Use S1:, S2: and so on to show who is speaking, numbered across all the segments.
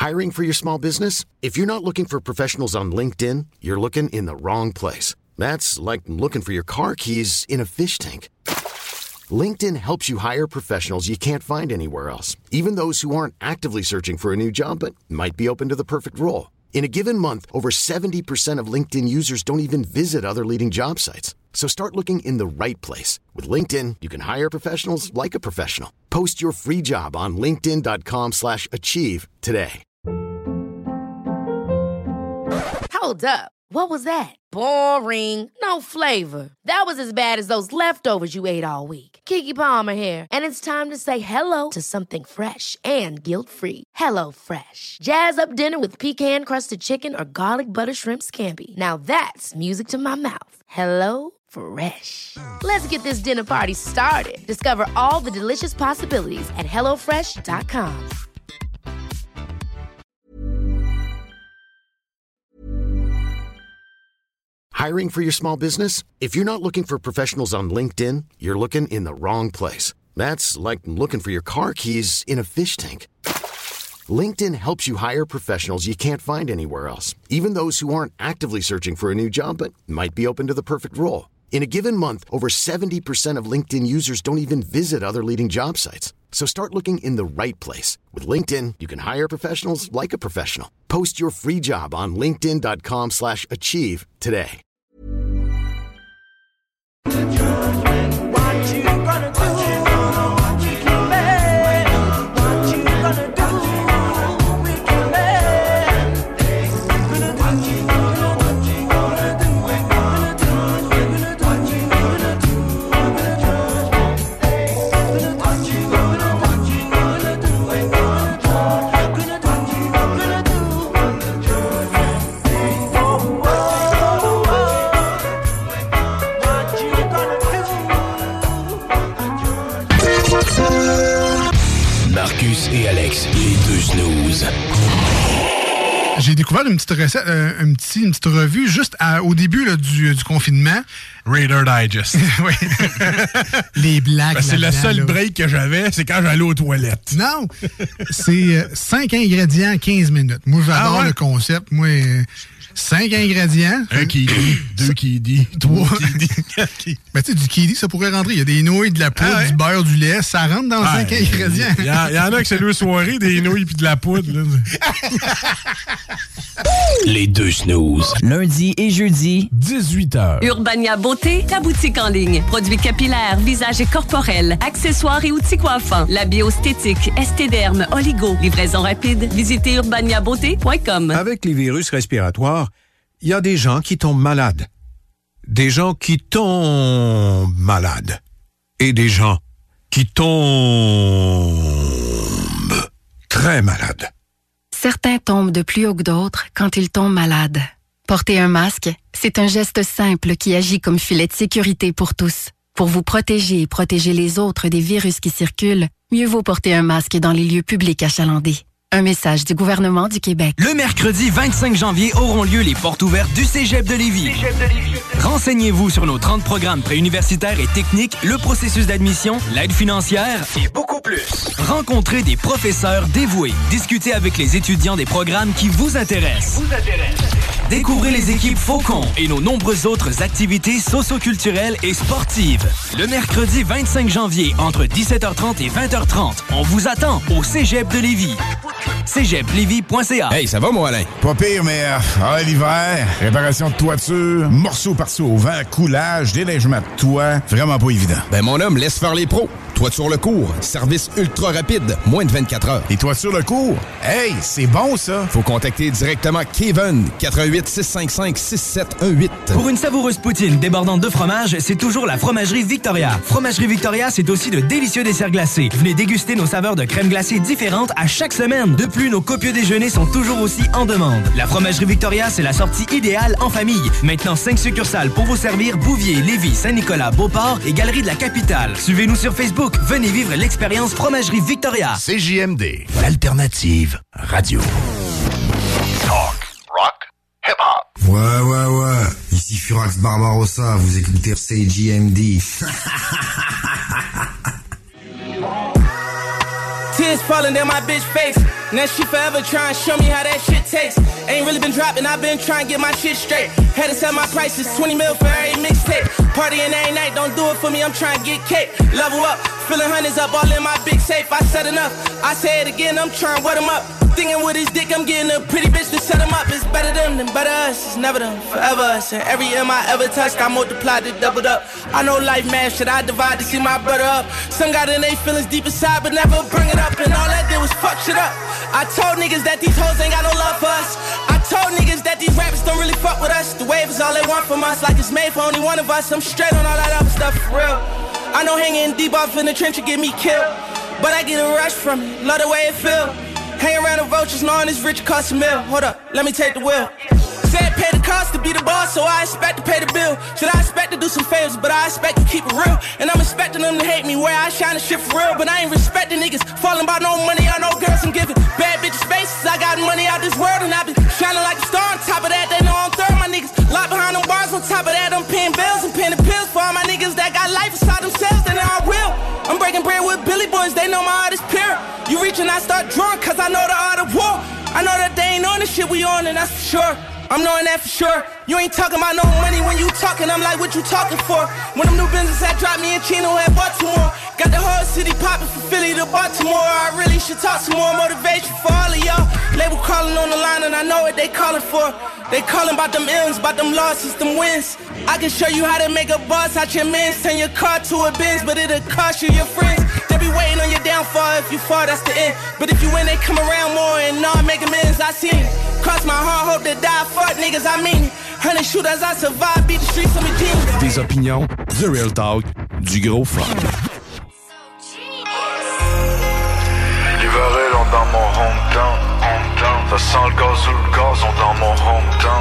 S1: Hiring for your small business? If you're not looking for professionals on LinkedIn, you're looking in the wrong place. That's like looking for your car keys in a fish tank. LinkedIn helps you hire professionals you can't find anywhere else, even those who aren't actively searching for a new job but might be open to the perfect role. In a given month, over 70% of LinkedIn users don't even visit other leading job sites. So start looking in the right place. With LinkedIn, you can hire professionals like a professional. Post your free job on linkedin.com/achieve today.
S2: Hold up. What was that? Boring. No flavor. That was as bad as those leftovers you ate all week. Keke Palmer here. And it's time to say hello to something fresh and guilt-free. Hello Fresh. Jazz up dinner with pecan-crusted chicken or garlic butter shrimp scampi. Now that's music to my mouth. Hello Fresh. Let's get this dinner party started. Discover all the delicious possibilities at HelloFresh.com.
S1: Hiring for your small business? If you're not looking for professionals on LinkedIn, you're looking in the wrong place. That's like looking for your car keys in a fish tank. LinkedIn helps you hire professionals you can't find anywhere else, even those who aren't actively searching for a new job but might be open to the perfect role. In a given month, over 70% of LinkedIn users don't even visit other leading job sites. So start looking in the right place. With LinkedIn, you can hire professionals like a professional. Post your free job on linkedin.com/achieve today.
S3: Marcus et Alex, les deux snooze.
S4: J'ai découvert une petite recette, une petite revue juste au début là, du confinement.
S5: Raider Digest.
S4: Oui. Les blagues.
S5: C'est le seul break que j'avais, c'est quand j'allais aux toilettes.
S4: Non, c'est 5 ingrédients, 15 minutes. Moi, j'adore le concept. Moi, 5 ingrédients.
S5: Un qui dit, 2 qui dit, 3 qui dit, 4 qui dit.
S4: Ben, tu sais, du kiwi, ça pourrait rentrer. Il y a des nouilles, de la poudre, du beurre, du lait. Ça rentre dans 5 ingrédients.
S5: Il y en a que c'est 2 soirées, des nouilles puis de la poudre. Là.
S3: Les deux snooze.
S6: Lundi et jeudi,
S5: 18h.
S7: Urbania Beauté, ta boutique en ligne. Produits capillaires, visage et corporels, accessoires et outils coiffants. La bioesthétique, estéderme, oligo. Livraison rapide. Visitez urbaniabeauté.com.
S8: Avec les virus respiratoires, il y a des gens qui tombent malades. Des gens qui tombent malades. Et des gens qui tombent très malades.
S9: Certains tombent de plus haut que d'autres quand ils tombent malades. Porter un masque, c'est un geste simple qui agit comme filet de sécurité pour tous. Pour vous protéger et protéger les autres des virus qui circulent, mieux vaut porter un masque dans les lieux publics achalandés. Un message du gouvernement du Québec.
S10: Le mercredi 25 janvier auront lieu les portes ouvertes du Cégep de Lévis. Renseignez-vous sur nos 30 programmes préuniversitaires et techniques, le processus d'admission, l'aide financière et beaucoup plus. Rencontrez des professeurs dévoués. Discutez avec les étudiants des programmes qui vous intéressent. Découvrez les équipes Faucon et nos nombreuses autres activités socio-culturelles et sportives. Le mercredi 25 janvier, entre 17h30 et 20h30, on vous attend au Cégep de Lévis. cégeplevy.ca.
S11: Hey, ça va, mon Alain? Pas pire, mais l'hiver, réparation de toiture, morceaux par-ci au vent, coulage, déneigement de toit, vraiment pas évident.
S12: Ben, mon homme, laisse faire les pros. Toiture Le Cours, service ultra rapide, moins de 24 heures.
S11: Et Toiture Le Cours? Hey, c'est bon, ça!
S12: Faut contacter directement Kevin, 88 655 6718.
S10: Pour une savoureuse poutine débordante de fromage, c'est toujours la Fromagerie Victoria. Fromagerie Victoria, c'est aussi de délicieux desserts glacés. Venez déguster nos saveurs de crème glacée différentes à chaque semaine. De plus, nos copieux déjeuners sont toujours aussi en demande. La Fromagerie Victoria, c'est la sortie idéale en famille. Maintenant, 5 succursales pour vous servir: Bouvier, Lévis, Saint-Nicolas, Beauport et Galerie de la Capitale. Suivez-nous sur Facebook. Venez vivre l'expérience Fromagerie Victoria.
S3: CJMD, l'alternative radio.
S13: Talk, rock, hip-hop.
S14: Ouais. Ici Furax Barbarossa, vous écoutez CJMD.
S15: Yeah.
S6: Millions falling down my bitch face. Now she forever trying to show me how that shit tastes. Ain't really been dropping, I've been trying to get my shit straight. Had to set my prices, 20 mil for every mixtape. Partying every night, don't do it for me, I'm trying to get cake. Level up, filling hundreds up all in my big safe. I said enough, I say it again, I'm trying to wet him up. Thinking with his dick, I'm getting a pretty bitch to set him up. It's better them than better us, it's never them, forever us. And every M I ever touched, I multiplied it, doubled up. I know life, man, should I divide to see my brother up? Some got in they feelings deep inside, but never bring it up. And all that did was fuck shit up. I told niggas that these hoes ain't got no love for us. I told niggas that these rappers don't really fuck with us. The wave is all they want from us, like it's made for only one of us. I'm straight on all that other stuff for real. I know hanging deep off in the trench will get me killed, but I get a rush from it, love the way it feel. Hang around the vultures knowing this rich cost a meal. Hold up, let me take the wheel. Said pay the cost to be the boss, so I expect to pay the bill. Should I expect to do some favors, but I expect to keep it real. And I'm expecting them to hate me where I shine the shit for real. But I ain't respecting niggas, falling by no money or no girls. I'm giving bad bitches faces, I got money out this world. And I been shining like a star on top of that, they know I'm third. My niggas locked behind them bars, on top of that I'm paying bills and paying the pills for all my niggas that got life inside themselves, then I will. I'm breaking bread with Billy Boys, they know my art is pure. You reach and I start drawing, cause I know the art of war. I know that they ain't on the shit we on, and that's for sure. I'm knowing that for sure. You ain't talking about no money when you talking, I'm like, what you talking for? When them new business had dropped me in Chino had Baltimore. Got the whole city popping from Philly to Baltimore. I really should talk some more motivation for all of y'all. Label calling on the line and I know what they calling for. They calling about them M's, about them losses, them wins. I can show you how to make a boss out your mans. Turn your car to a Benz, but it'll cost you your friends. They be waiting on your downfall, if you fall, that's the end. But if you win, they come around more and not make amends, I seen it. Cross my heart, hope to die, fuck niggas, I mean it. 100 shooters, I survive, beat the streets, I'm a genius.
S15: Des opinions, the real talk, du gros fun.
S16: L'hiver est long dans mon hometown. Ça sent le gaz ou le gazon dans mon hometown.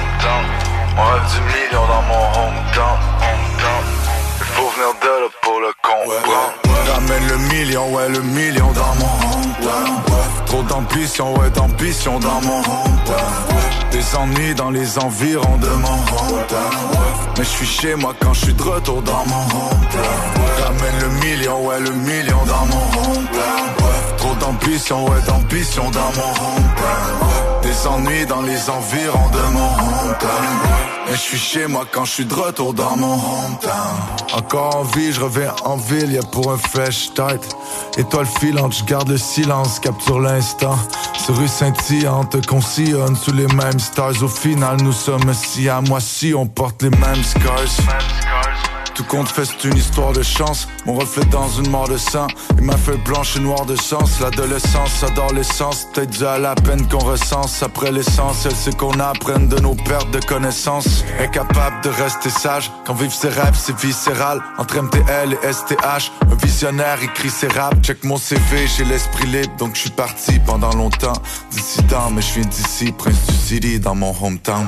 S16: On rêve du million dans mon hometown. Il faut venir de là pour le comprendre.
S17: Ramène le million, ouais le million dans mon hometown. Trop d'ambition, ouais d'ambition dans mon hometown. Des ennuis dans les environs de mon hometown. Mais je suis chez moi quand je suis de retour dans mon hometown. Ramène le million, ouais le million dans mon hometown. Trop d'ambition, ouais d'ambition dans mon hometown. Des ennuis dans les environs de mon hometown. Mais je suis chez moi quand je suis de retour dans mon hometown. Encore en vie, je reviens en ville, y'a pour un fresh start. Étoile filante, je garde le silence, capture l'instant. Ces rues scintillantes qu'on sillonne sous les mêmes stars. Au final, nous sommes si à moi si on porte les mêmes scars. Tout compte fait, c'est une histoire de chance. Mon reflet dans une mort de sang. Et ma feuille blanche et noire de sens. L'adolescence adore l'essence. Peut-être dû à la peine qu'on recense. Après l'essentiel, c'est qu'on apprenne de nos pertes de connaissances. Incapable de rester sage. Quand vivre ses rêves, c'est viscéral. Entre MTL et STH, un visionnaire écrit ses raps. Check mon CV, j'ai l'esprit libre. Donc je suis parti pendant longtemps. Dissident, mais je viens d'ici, prince du city, dans mon hometown.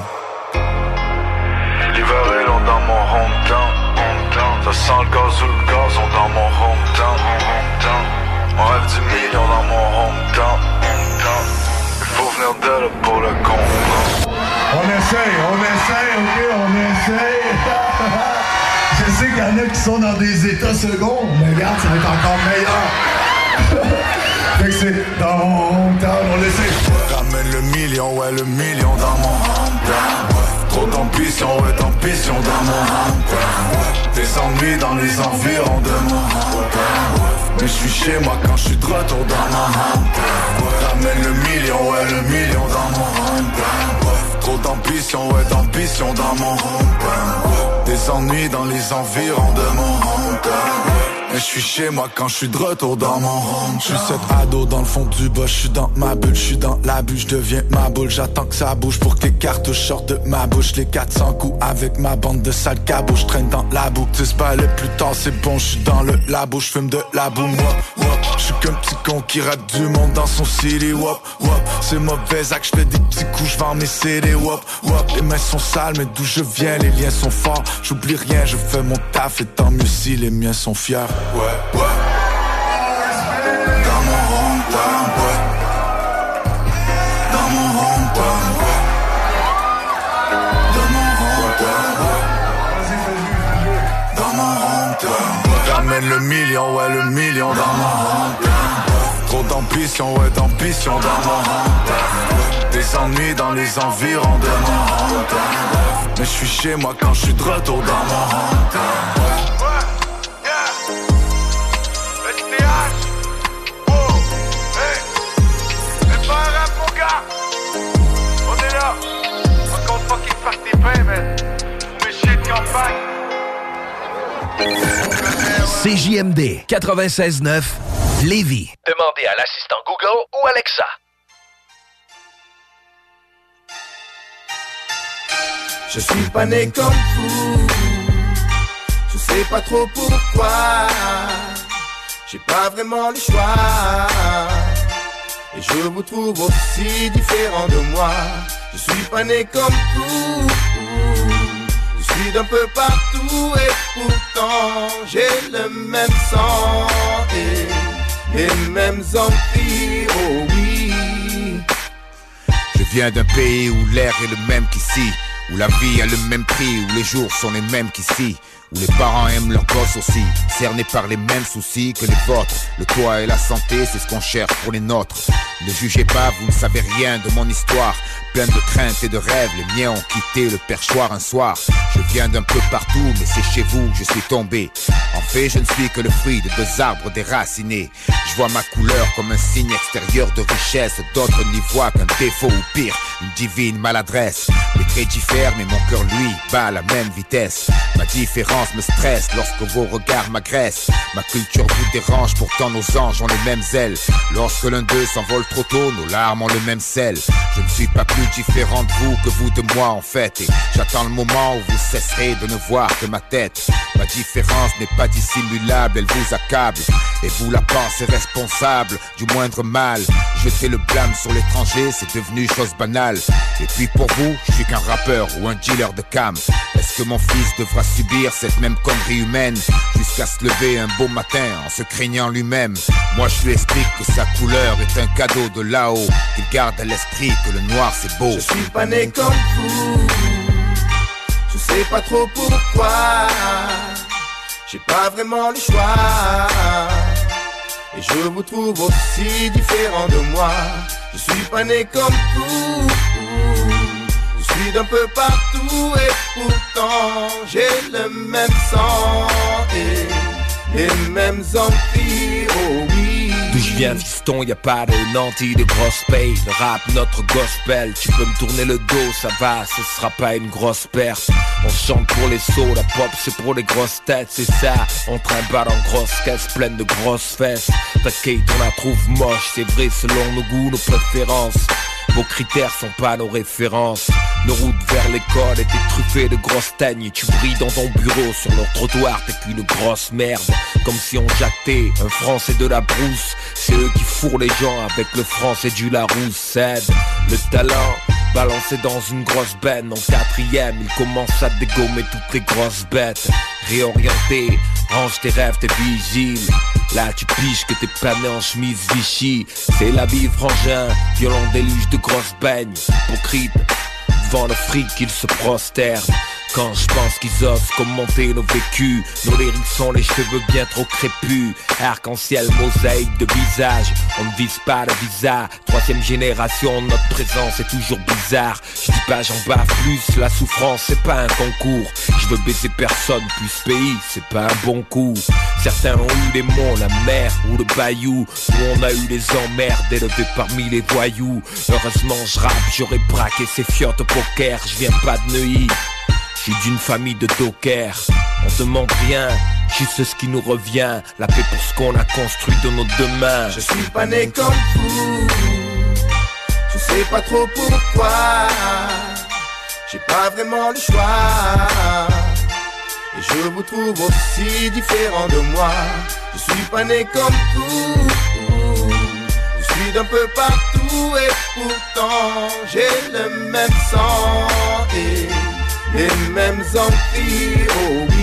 S16: L'hiver est long dans mon hometown. Ça sent le gaz ou le gazon dans mon hometown. On rêve du million dans mon hometown. Il faut venir de là pour le comprendre.
S18: On essaye, ok, on essaye. Je sais qu'il y en a qui sont dans des états seconds, mais regarde, ça va être encore meilleur. Fait que c'est dans mon hometown, on essaye.
S17: Ramène le million, ouais le million dans mon hometown. Trop d'ambition, ouais d'ambition dans mon hometown. Des ennuis dans les environs de mon hometown. Mais je suis chez moi quand je suis de retour dans mon hometown. Ramène le million, ouais le million dans mon hometown. Trop d'ambition, ouais d'ambition dans mon hometown. Des ennuis dans les environs de mon hometown. Mais je suis chez moi quand je suis de retour dans mon home. Je suis cet ado dans le fond du bas, je suis dans ma bulle, je suis dans la bulle, je deviens ma boule. J'attends que ça bouge pour que les cartouches sortent de ma bouche. Les 400 coups avec ma bande de sales cabots, je traîne dans la boue. 10 balles plus tard c'est bon, je suis dans le labo, je fume de la boue. Je suis qu'un petit con qui rappe du monde dans son city. Wop, wop, c'est mauvais acte, je fais des petits coups, je vends mes CD. Wop, wop, les mains sont sales mais d'où je viens, les liens sont forts. J'oublie rien, je fais mon taf et tant mieux si les miens sont fiers. Ouais, ouais. Dans mon hometown, ouais. Dans mon hometown, ouais. Dans mon hometown, ouais. Dans mon hometown, ouais. Ramène le million, ouais, le million dans mon hometown. Trop d'ambition, ouais, d'ambition dans mon hometown. Des ennuis dans les environs de mon hometown. Mais je suis chez moi quand je suis de retour dans mon hometown.
S3: CJMD 96.9 Lévis.
S13: Demandez à l'assistant Google ou Alexa.
S6: Je suis pas né comme vous, je sais pas trop pourquoi. J'ai pas vraiment le choix, et je vous trouve aussi différent de moi. Je suis pas né comme vous, je suis d'un peu partout et pourtant j'ai le même sang et les mêmes envies, oh oui.
S11: Je viens d'un pays où l'air est le même qu'ici, où la vie a le même prix, où les jours sont les mêmes qu'ici, où les parents aiment leurs gosses aussi, cernés par les mêmes soucis que les vôtres. Le toit et la santé, c'est ce qu'on cherche pour les nôtres. Ne jugez pas, vous ne savez rien de mon histoire. Plein de craintes et de rêves, les miens ont quitté le perchoir un soir. Je viens d'un peu partout, mais c'est chez vous que je suis tombé. En fait, je ne suis que le fruit de deux arbres déracinés. Je vois ma couleur comme un signe extérieur de richesse. D'autres n'y voient qu'un défaut ou pire, une divine maladresse. Les traits diffèrent, mais mon cœur, lui, bat à la même vitesse. Ma différence me stresse lorsque vos regards m'agressent. Ma culture vous dérange, pourtant nos anges ont les mêmes ailes. Lorsque l'un d'eux s'envole trop tôt, nos larmes ont le même sel. Je ne suis pas plus différent de vous que vous de moi en fait. Et j'attends le moment où vous cesserez de ne voir que ma tête. Ma différence n'est pas dissimulable, elle vous accable. Et vous la pensez responsable du moindre mal. Jeter le blâme sur l'étranger, c'est devenu chose banale. Et puis pour vous, je suis qu'un rappeur ou un dealer de cam. Est-ce que mon fils devra subir cette même connerie humaine jusqu'à se lever un beau matin en se craignant lui-même? Moi je lui explique que sa couleur est un cadeau de là-haut, qu'il garde à l'esprit que le noir c'est beau.
S6: Je suis pas né comme vous, je sais pas trop pourquoi. J'ai pas vraiment le choix, et je vous trouve aussi différent de moi. Je suis pas né comme vous, je suis d'un peu partout et pourtant j'ai le même sang et les mêmes envies, oh oui.
S19: D'où je viens fiston, y'a pas de nantis, de grosses payes. Le rap, notre gospel, tu peux me tourner le dos, ça va, ce sera pas une grosse perte. On chante pour les sauts, la pop c'est pour les grosses têtes, c'est ça. On trimballe en grosses caisses pleines de grosses fesses. T'inquiète, on la trouve moche, c'est vrai selon nos goûts, nos préférences. Vos critères sont pas nos références. Nos routes vers l'école étaient truffées de grosses teignes. Tu brilles dans ton bureau, sur leur trottoir t'es qu'une grosse merde. Comme si on jactait un français de la brousse. C'est eux qui fourrent les gens avec le français du Larousse. Cède le talent balancé dans une grosse benne. En quatrième, il commence à dégommer toutes les grosses bêtes. Réorienté, range tes rêves, t'es vigile. Là tu piges que t'es pané en chemise Vichy. C'est la vie frangin, violent déluge de grosses baignes. Hypocrite, devant le fric ils se prosternent. Quand je pense qu'ils osent commenter nos vécus, nos lyrics sont les cheveux bien trop crépus. Arc-en-ciel, mosaïque de visage, on ne vise pas le visa. Troisième génération, notre présence est toujours bizarre. Je dis pas j'en bats plus, la souffrance c'est pas un concours. Je veux baiser personne, plus pays, c'est pas un bon coup. Certains ont eu les monts, la mer ou le bayou, où on a eu les emmerdes élevés parmi les voyous. Heureusement je rappe, j'aurais braqué ces fiottes au poker. Je viens pas de Neuilly, je suis d'une famille de dockers. On demande rien, juste ce qui nous revient. La paix pour ce qu'on a construit de nos deux mains.
S6: Je suis pas né comme vous, je sais pas trop pourquoi. J'ai pas vraiment le choix, et je vous trouve aussi différent de moi. Je suis pas né comme vous, je suis d'un peu partout et pourtant j'ai le même sang et les mêmes envies, oh oui.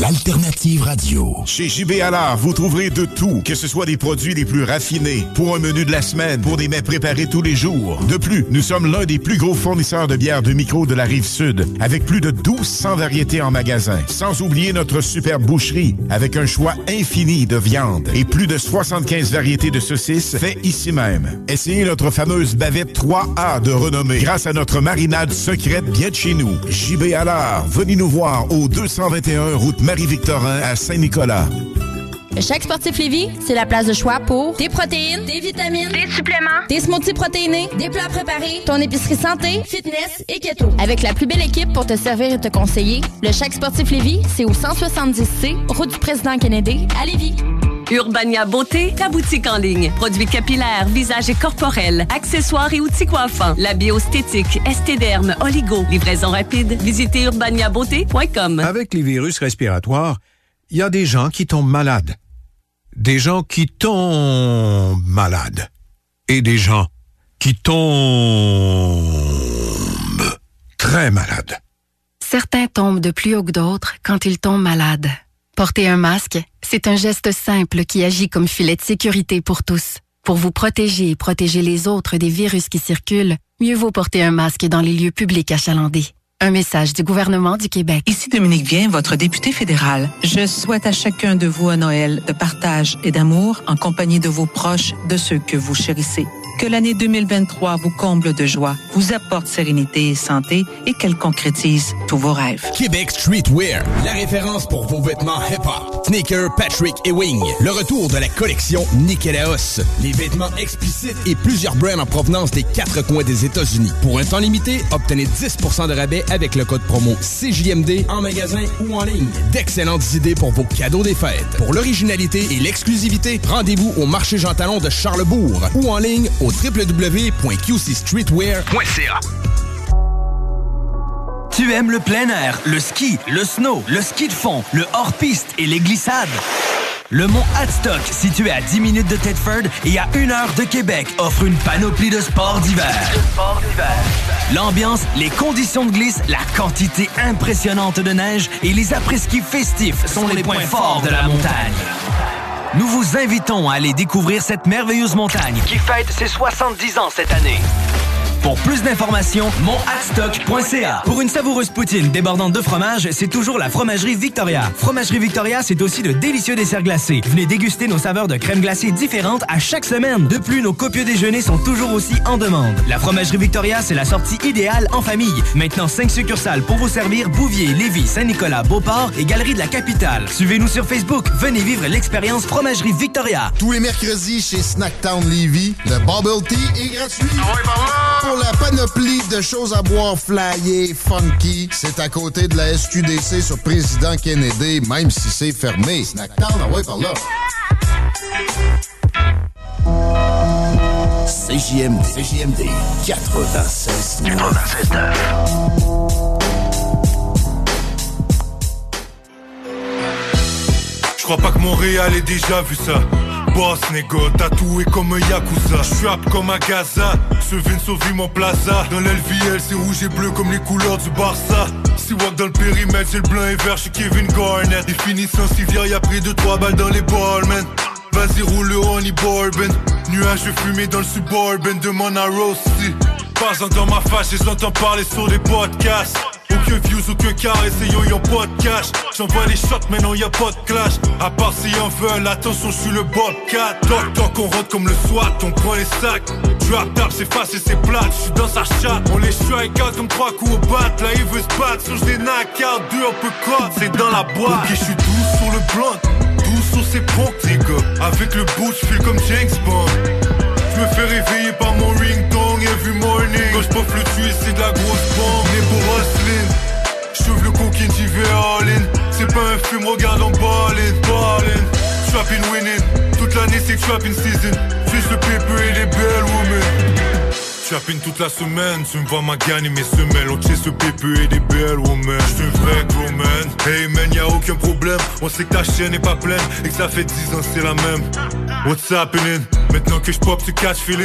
S3: l'alternative radio.
S20: Chez JB Allard, vous trouverez de tout, que ce soit des produits les plus raffinés, pour un menu de la semaine, pour des mets préparés tous les jours. De plus, nous sommes l'un des plus gros fournisseurs de bières de micro de la Rive-Sud, avec plus de 1200 variétés en magasin. Sans oublier notre superbe boucherie, avec un choix infini de viande et plus de 75 variétés de saucisses faites ici même. Essayez notre fameuse bavette 3A de renommée, grâce à notre marinade secrète bien de chez nous. JB Allard, venez nous voir au 221 route Marie-Victorin à Saint-Nicolas.
S21: Le Chèque Sportif Lévis, c'est la place de choix pour des protéines, des vitamines, des suppléments, des smoothies protéinés, des plats préparés, ton épicerie santé, fitness et keto. Avec la plus belle équipe pour te servir et te conseiller, le Chèque Sportif Lévis, c'est au 170C, route du Président Kennedy, à Lévis.
S7: Urbania Beauté, ta boutique en ligne. Produits capillaires, visage et corporels, accessoires et outils coiffants. La bioesthétique, estéderme, oligo. Livraison rapide. Visitez urbaniabeauté.com.
S8: Avec les virus respiratoires, il y a des gens qui tombent malades. Des gens qui tombent malades. Et des gens qui tombent très malades.
S9: Certains tombent de plus haut que d'autres quand ils tombent malades. Porter un masque, c'est un geste simple qui agit comme filet de sécurité pour tous. Pour vous protéger et protéger les autres des virus qui circulent, mieux vaut porter un masque dans les lieux publics achalandés. Un message du gouvernement du Québec.
S22: Ici Dominique Vien, votre député fédéral. Je souhaite à chacun de vous un Noël de partage et d'amour en compagnie de vos proches, de ceux que vous chérissez. Que l'année 2023 vous comble de joie, vous apporte sérénité et santé et qu'elle concrétise tous vos rêves.
S12: Québec Streetwear, la référence pour vos vêtements hip-hop. Sneaker, Patrick et Wing. Le retour de la collection Nikélaos. Les vêtements explicites et plusieurs brands en provenance des 4 coins des États-Unis. Pour un temps limité, obtenez 10% de rabais avec le code promo CJMD en magasin ou en ligne. D'excellentes idées pour vos cadeaux des fêtes. Pour l'originalité et l'exclusivité, rendez-vous au marché Jean Talon de Charlesbourg ou en ligne au www.qcstreetwear.ca.
S10: Tu aimes le plein air, le ski, le snow, le ski de fond, le hors-piste et les glissades? Le mont Hadstock, situé à 10 minutes de Thetford et à 1 heure de Québec, offre une panoplie de sports d'hiver. L'ambiance, les conditions de glisse, la quantité impressionnante de neige et les après-ski festifs sont les points forts de la montagne. Nous vous invitons à aller découvrir cette merveilleuse montagne qui fête ses 70 ans cette année. Pour plus d'informations, monthadstock.ca. Pour une savoureuse poutine débordante de fromage, c'est toujours la Fromagerie Victoria. Fromagerie Victoria, c'est aussi de délicieux desserts glacés. Venez déguster nos saveurs de crème glacée différentes à chaque semaine. De plus, nos copieux déjeuners sont toujours aussi en demande. La Fromagerie Victoria, c'est la sortie idéale en famille. Maintenant, 5 succursales pour vous servir: Bouvier, Lévis, Saint-Nicolas, Beauport et Galerie de la Capitale. Suivez-nous sur Facebook. Venez vivre l'expérience Fromagerie Victoria.
S23: Tous les mercredis chez Snacktown Lévis, le Bubble Tea est gratuit. Pour la panoplie de choses à boire flyées, funky, c'est à côté de la SQDC sur Président Kennedy, même si c'est fermé. Snacktown, par là.
S3: CJMD 96.
S24: Je crois pas que Montréal ait déjà vu ça. Boss négo, tatoué comme un Yakuza. J'rappe comme un Gaza, ce Vince au mon plaza. Dans l'LVL c'est rouge et bleu comme les couleurs du Barça. Si walk dans le périmètre c'est le blanc et vert, j'suis Kevin Garnett. Définition civière, y'a pris 2-3 balles dans les balles, man. Vas-y roule le honey bourbon. Nuages de fumée dans le suburban, demande à Rossi. Pas dans ma face, j'entends parler sur des podcasts. Aucun views, aucun carré, c'est yo, y'en pas de cash. J'envoie les shots, mais non, y'a pas de clash. À part si y'en veulent, attention, j'suis le Bobcat. Toc toc, on rentre comme le SWAT, on prend les sacs. Drop tap, c'est facile, c'est plate, j'suis dans sa chatte. On les strike out comme 3 coups au bat. Là, il veut se battre, sur des knock-out, 2 uppercut, c'est dans la boîte. Ok, j'suis doux sur le blunt, doux sur ses ponts, les gars. Avec le bout, j'file comme James Bond. J'me fais réveiller par mon ringtone every morning. Quand j'pouffe le tuer, c'est de la grosse bombe. Né pour Roslyn, j'ouvre le coquine, j'y vais all in. C'est pas un film, regarde en ballin'. Trappin' winning, toute l'année c'est trappin' season. Fiche le paper et les belles women. Trappin' toute la semaine, tu me vois ma gagne et mes semelles. On chase le paper et des belles women. J'suis un vrai gros man. Hey man, y'a aucun problème. On sait que ta chaîne est pas pleine et que ça fait 10 ans c'est la même. What's happening? Maintenant que j'pop, tu catch feeling.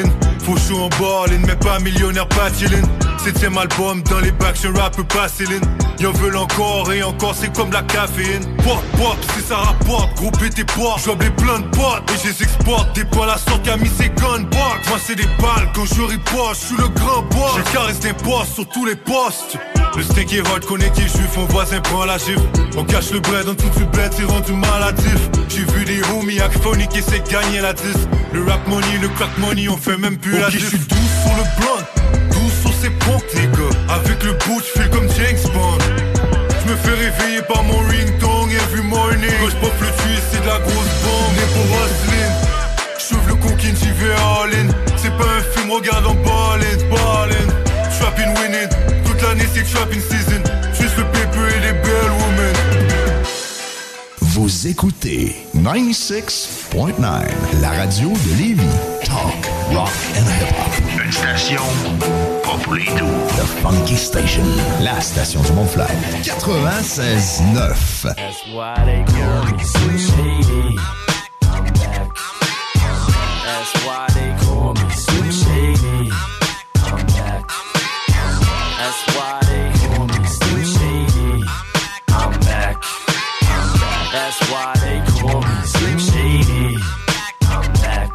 S24: Faux chaud en ballin', mais pas millionnaire, pas chillin'. 7ème album dans les bacs, je rappe pas Céline. Y'en veulent encore et encore, c'est comme la caféine. Pop, si ça rapporte, gros tes portes. J'vois plein de potes et je les exporte. Des balles à sorte, a mis ses gunbox. Moi c'est des balles quand je riposte, je suis le grand boss. J'ai caresse d'imposte sur tous les postes. Le steak est hot, connaît qui juif, mon voisin prend la gifle. On cache le bread, en tout du bled, c'est rendu maladif. J'ai vu des homies acphoniques qui essaient de gagner la 10. Le rap money, le crack money, on fait même plus la diff. Je suis doux sur le blunt, doux sur ses pompes, les gars. Avec le bout, je fais comme James Bond. Je me fais réveiller par mon ringtone every morning. Quand je pop le tuyau, c'est de la grosse bombe. Né pour Roselyne, j'ouvre le coquine, j'y vais all in. C'est pas un film, regarde en ballin'. Trappin' winning, toute l'année c'est trapping season. Juste le paper et les belles women.
S3: Vous écoutez 96.9, la radio de Lévis. Talk, rock and hip-hop. Une station pas pour les doux. The Funky Station, la station du Mont-Fly. 96.9.
S1: That's why they call me Slim Shady. I'm back. That's why they call me Slim Shady. I'm back. That's why they call me Slim Shady. I'm back. That's why they call me Slim Shady. I'm back.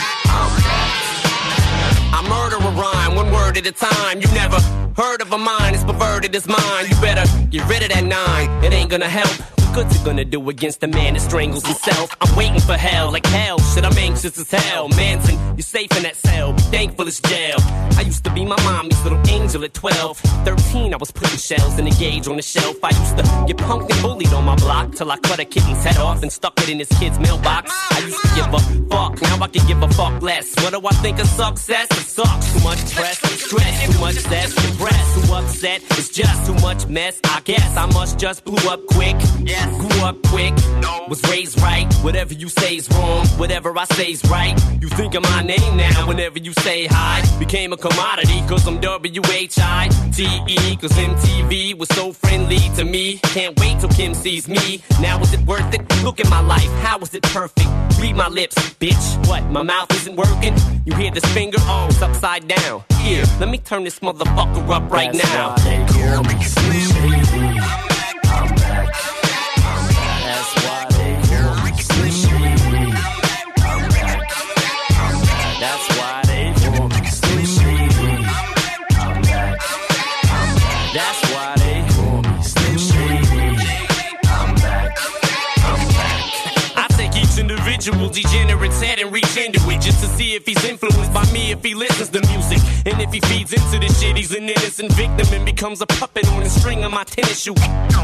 S2: I murder a rhyme, one word at a time. You never heard of a mind, it's perverted as mine. You better get rid of that 9, it ain't gonna help. What's it gonna do against a man that strangles himself? I'm waiting for hell, like hell, shit, I'm anxious as hell. Manson, you're safe in that cell, be thankful it's jail. I used to be my mommy's little angel at 12. 13, I was putting shells in the gauge on the shelf. I used to get punked and bullied on my block till I cut a kitten's head off and stuck it in his kid's mailbox. I used to give a fuck, now I can give a fuck less. What do I think of success? It sucks, too much press, stress, too much zest, depressed, too upset, it's just too much mess. I guess I must just blew up quick. Yeah. Grew up quick, was raised right. Whatever you say's wrong, whatever I say's right. You think of my name now whenever you say hi. Became a commodity cause I'm W-H-I-T-E. Cause MTV was so friendly to me. Can't wait till Kim sees me. Now is it worth it? Look at my life, how is it perfect? Read my lips, bitch. What, my mouth isn't working? You hear this finger? Oh, it's upside down. Here, let me turn this motherfucker up right now.
S1: That's why they call me Slim Shady. I'm back. That's why they call me Slim Shady. I'm back. That's why they call me Slim Shady. I'm back. That's why they call me Slim Shady. I'm back.
S2: I take each individual degenerate's head and reach into it just to see if he's influenced by me, if he listens to music. And if he feeds into this shit, he's an innocent victim and becomes a puppet on the string of my tennis shoe.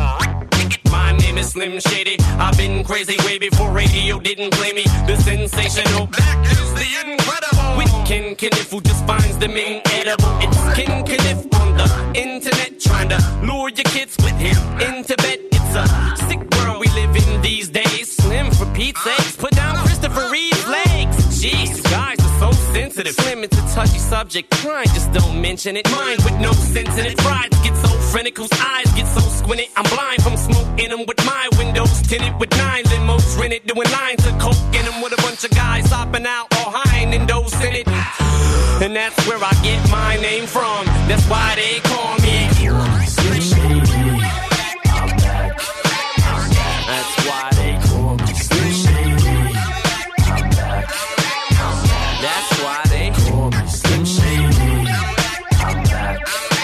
S2: My name is Slim Shady. I've been crazy way before radio didn't play me. The sensational, that is the incredible. With Ken Kniff who just finds them inedible. It's Ken Kniff on the internet trying to lure your kids with him into bed. It's a sick world we live in these days. Slim for Pete's sakes, put down Christopher Reeve's legs. Jeez, guys are so sensitive. Slim, it's a touchy subject. Crying, just don't mention it. Mind with no sense in it. Pride get so frantic, whose eyes get so squinted. I'm blind from smoking them with my windows tinted with 9 limos rented. Doing lines of coke in them with a bunch of guys hopping out all high and those in it. And that's where I get my name from. That's why they call me
S1: Slim Shady. I'm back. That's why they call me Slim Shady. I'm back.
S2: That's why they
S1: call me Slim Shady. I'm back.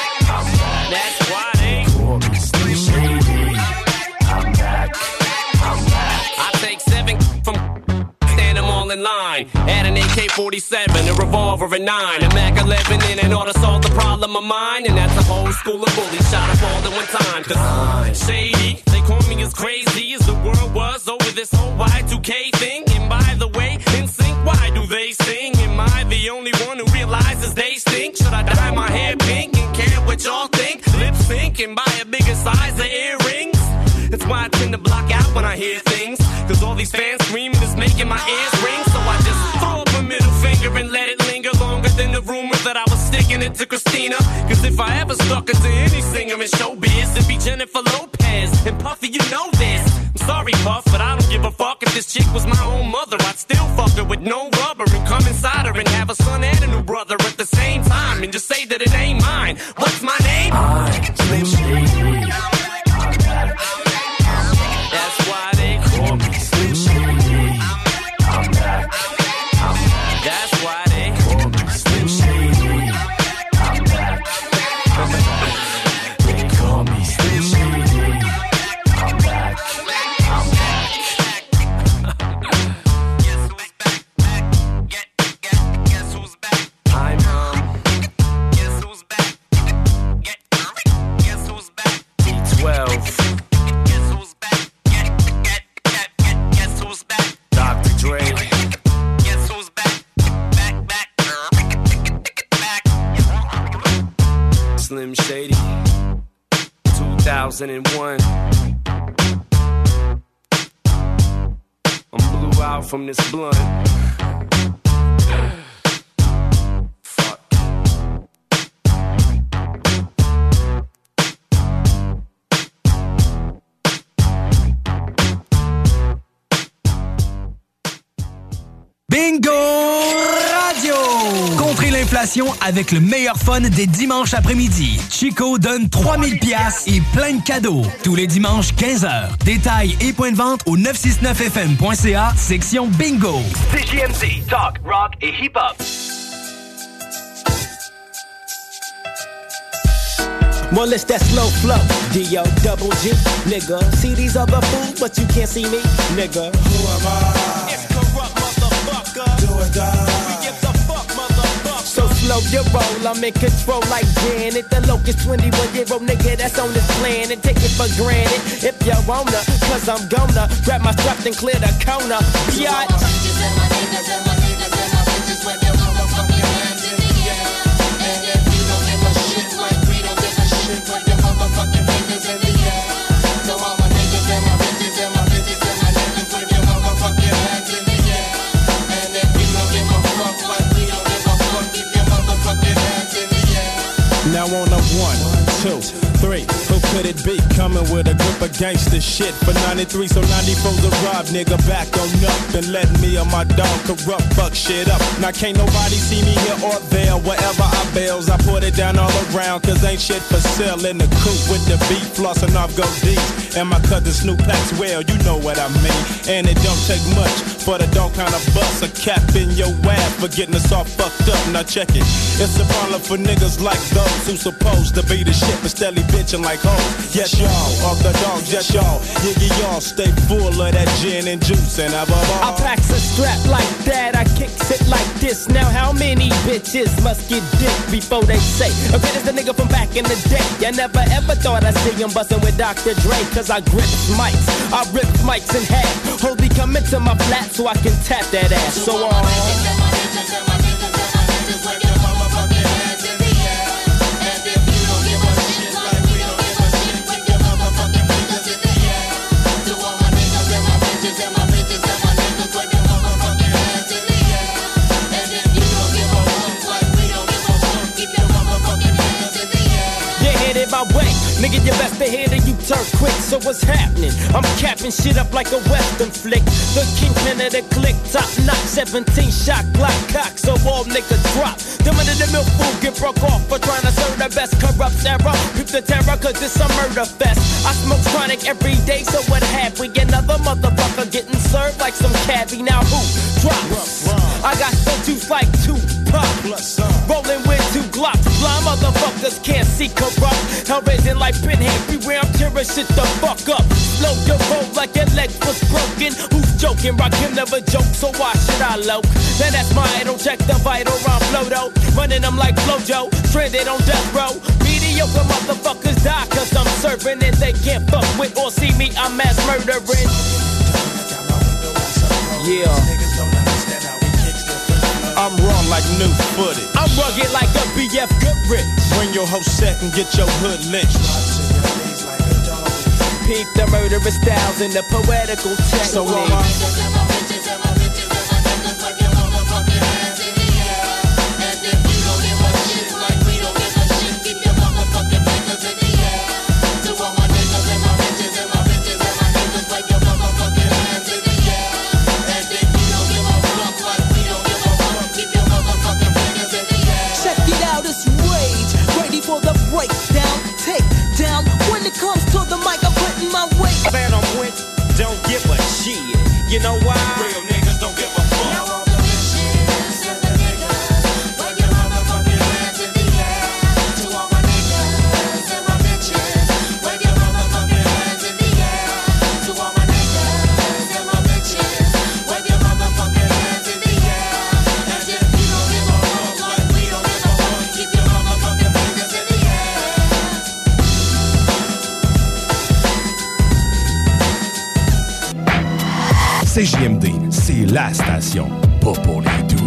S2: That's why they
S1: call me Slim Shady. I'm back.
S2: I take 7 from stand them all in line. Add an AK-47, a revolver, a 9, a Mac 11 in and ought to solve the problem of mine. And that's a whole school of bullies shot up all at one time. Cause shady, they call me as crazy as the world was over this whole Y2K thing. And by the way, NSYNC, why do they sing? Am I the only one who realizes they stink? Should I dye my hair pink and care what y'all think? Lip sync and buy a bigger size of earrings? That's why I tend to block out when I hear things. Cause all these fans screaming is making my ears ring. So I just throw up a middle finger and let it linger longer than the rumor that I was sticking it to Christina. Cause if I ever stuck it to any singer in showbiz, it'd be Jennifer Lopez. And Puffy, you know this. I'm sorry, Puff, but I don't give a fuck. If this chick was my own mother, I'd still fuck her with no rubber and come and beside her and have a son and a new brother at the same time and just say that it ain't mine. What's my name?
S1: I'm Slim Shady. I'm back.
S2: That's why they call me
S1: Slim Shady. I'm back.
S2: That's why they
S1: call me Slim Shady. I'm back. They call me Slim Shady. I'm back. I'm back.
S2: Guess who's back? I'm Guess who's back? Guess who's back? D12. Guess who's back? Guess who's back? Dr. Dre. Guess who's back? Back. Slim Shady. 2001. I'm blew out from this blunt. Fuck.
S10: Bingo Radio! Contrez l'inflation avec le meilleur fun des dimanches après-midi. Chico donne 3000 piastres et plein de cadeaux. Tous les dimanches, 15h. Détails et points de vente au 969fm.ca, section Bingo.
S13: CJMZ, talk, rock et hip-hop.
S4: Well, it's that slow flow, D-O-double-G, nigga. See these other fools, but you can't see me, nigga. Who am I? It's corrupt, motherfucker. Do or die. We give the fuck, motherfucker. So slow your roll, I'm in control like Janet. The locust 21-year-old nigga that's on this planet. Take it for granted if you wanna, cause I'm gonna grab my strap and clear the corner. Biatch.
S5: Now on a 1, 2, 3, who could it be? Coming with a group of gangster shit for 93, so 94's a rob, nigga, back on up and let me and my dog corrupt, fuck shit up. Now can't nobody see me here or there, wherever I bails, I put it down all around, cause ain't shit for sale in the coupe with the beat, flossing off gold D's, and my cousin Snoop Packs, well, you know what I mean, and it don't take much for the dog kind of bust a cap in your ass for getting us all fucked up. Now check it, it's a problem for niggas like those who supposed to be the shit but steadily bitching like hoes. Yes y'all, all the dogs, yes y'all, Yiggy y'all stay full of that gin and juice and have a ball.
S4: I packs a strap like that, I kicks it like this. Now how many bitches must get dick before they say okay, this the nigga from back in the day. I never ever thought I'd see him bustin' with Dr. Dre, cause I grips mics, I rip mics in half. Holy come into my flat so I can tap that ass. So my way, nigga, you best to hear that you turn quick. So what's happening? I'm capping shit up like a western flick. The kingpin of the click, top knock, 17 shot Glock cock, so all niggas drop. Them under the milk food get broke off for trying to serve the best corrupt era. Peep the terror, cause it's a murder fest. I smoke chronic every day, so what have we? Another motherfucker getting served like some cabbie. Now who drops? I got some juice like Tupac. Rolling with 2 Glocks. Blind motherfuckers can't see corrupt. Hell raising like pinhead, beware I'm tearing shit the fuck up. Slow your roll like your leg was broken. Who's joking? Rock him never joke, so why should I low? Then that's my idol, check the vital round flow though. Running them like Flojo, stranded on death row. Mediocre motherfuckers die cause I'm serving and they can't fuck with or see me, I'm mass murdering. Yeah.
S5: I'm raw like new footage.
S4: I'm rugged like a BF Goodrich.
S5: Bring your whole set and get your hood lynched.
S4: Peep the murderous styles and the poetical technique. So it comes to the mic, I'm putting my weight. Man, I'm with, don't give a shit. You know why? Real niggas don't give a fuck. Now all the bitches and the niggas, wave your motherfucking hands in the air. To all my niggas and my bitches, wave your motherfucking hands in the air. To all my niggas and my bitches, wave your motherfucking hands in the air. As if you don't give a fuck like we don't give a fuck. Keep your motherfucking fingers in the air.
S12: CJMD, c'est la station, pas pour les doux.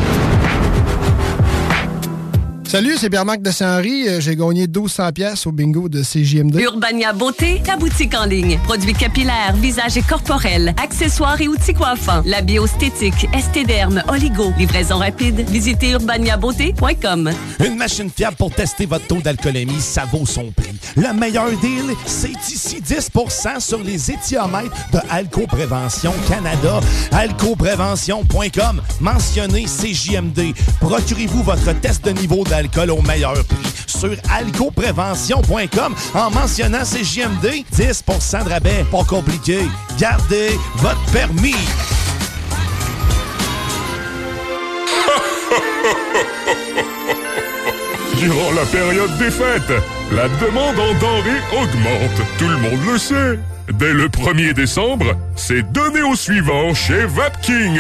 S14: Salut, c'est Pierre-Marc de Saint-Henri. J'ai gagné 1200 pièces au bingo de CJMD.
S7: Urbania Beauté, ta boutique en ligne. Produits capillaires, visage et corporels, accessoires et outils coiffants. La bioesthétique, estéderme, oligo. Livraison rapide. Visitez urbaniabeauté.com.
S12: Une machine fiable pour tester votre taux d'alcoolémie, ça vaut son prix. Le meilleur deal, c'est ici 10% sur les éthiomètres de Alco-Prévention Canada. Alcoprévention.com. Mentionnez CJMD. Procurez-vous votre test de niveau d'alcool au meilleur prix sur alcoprévention.com en mentionnant CJMD. 10% de rabais, pas compliqué. Gardez votre permis.
S15: Durant la période des fêtes, la demande en denrées augmente. Tout le monde le sait. Dès le 1er décembre, c'est donné au suivant chez Vapking.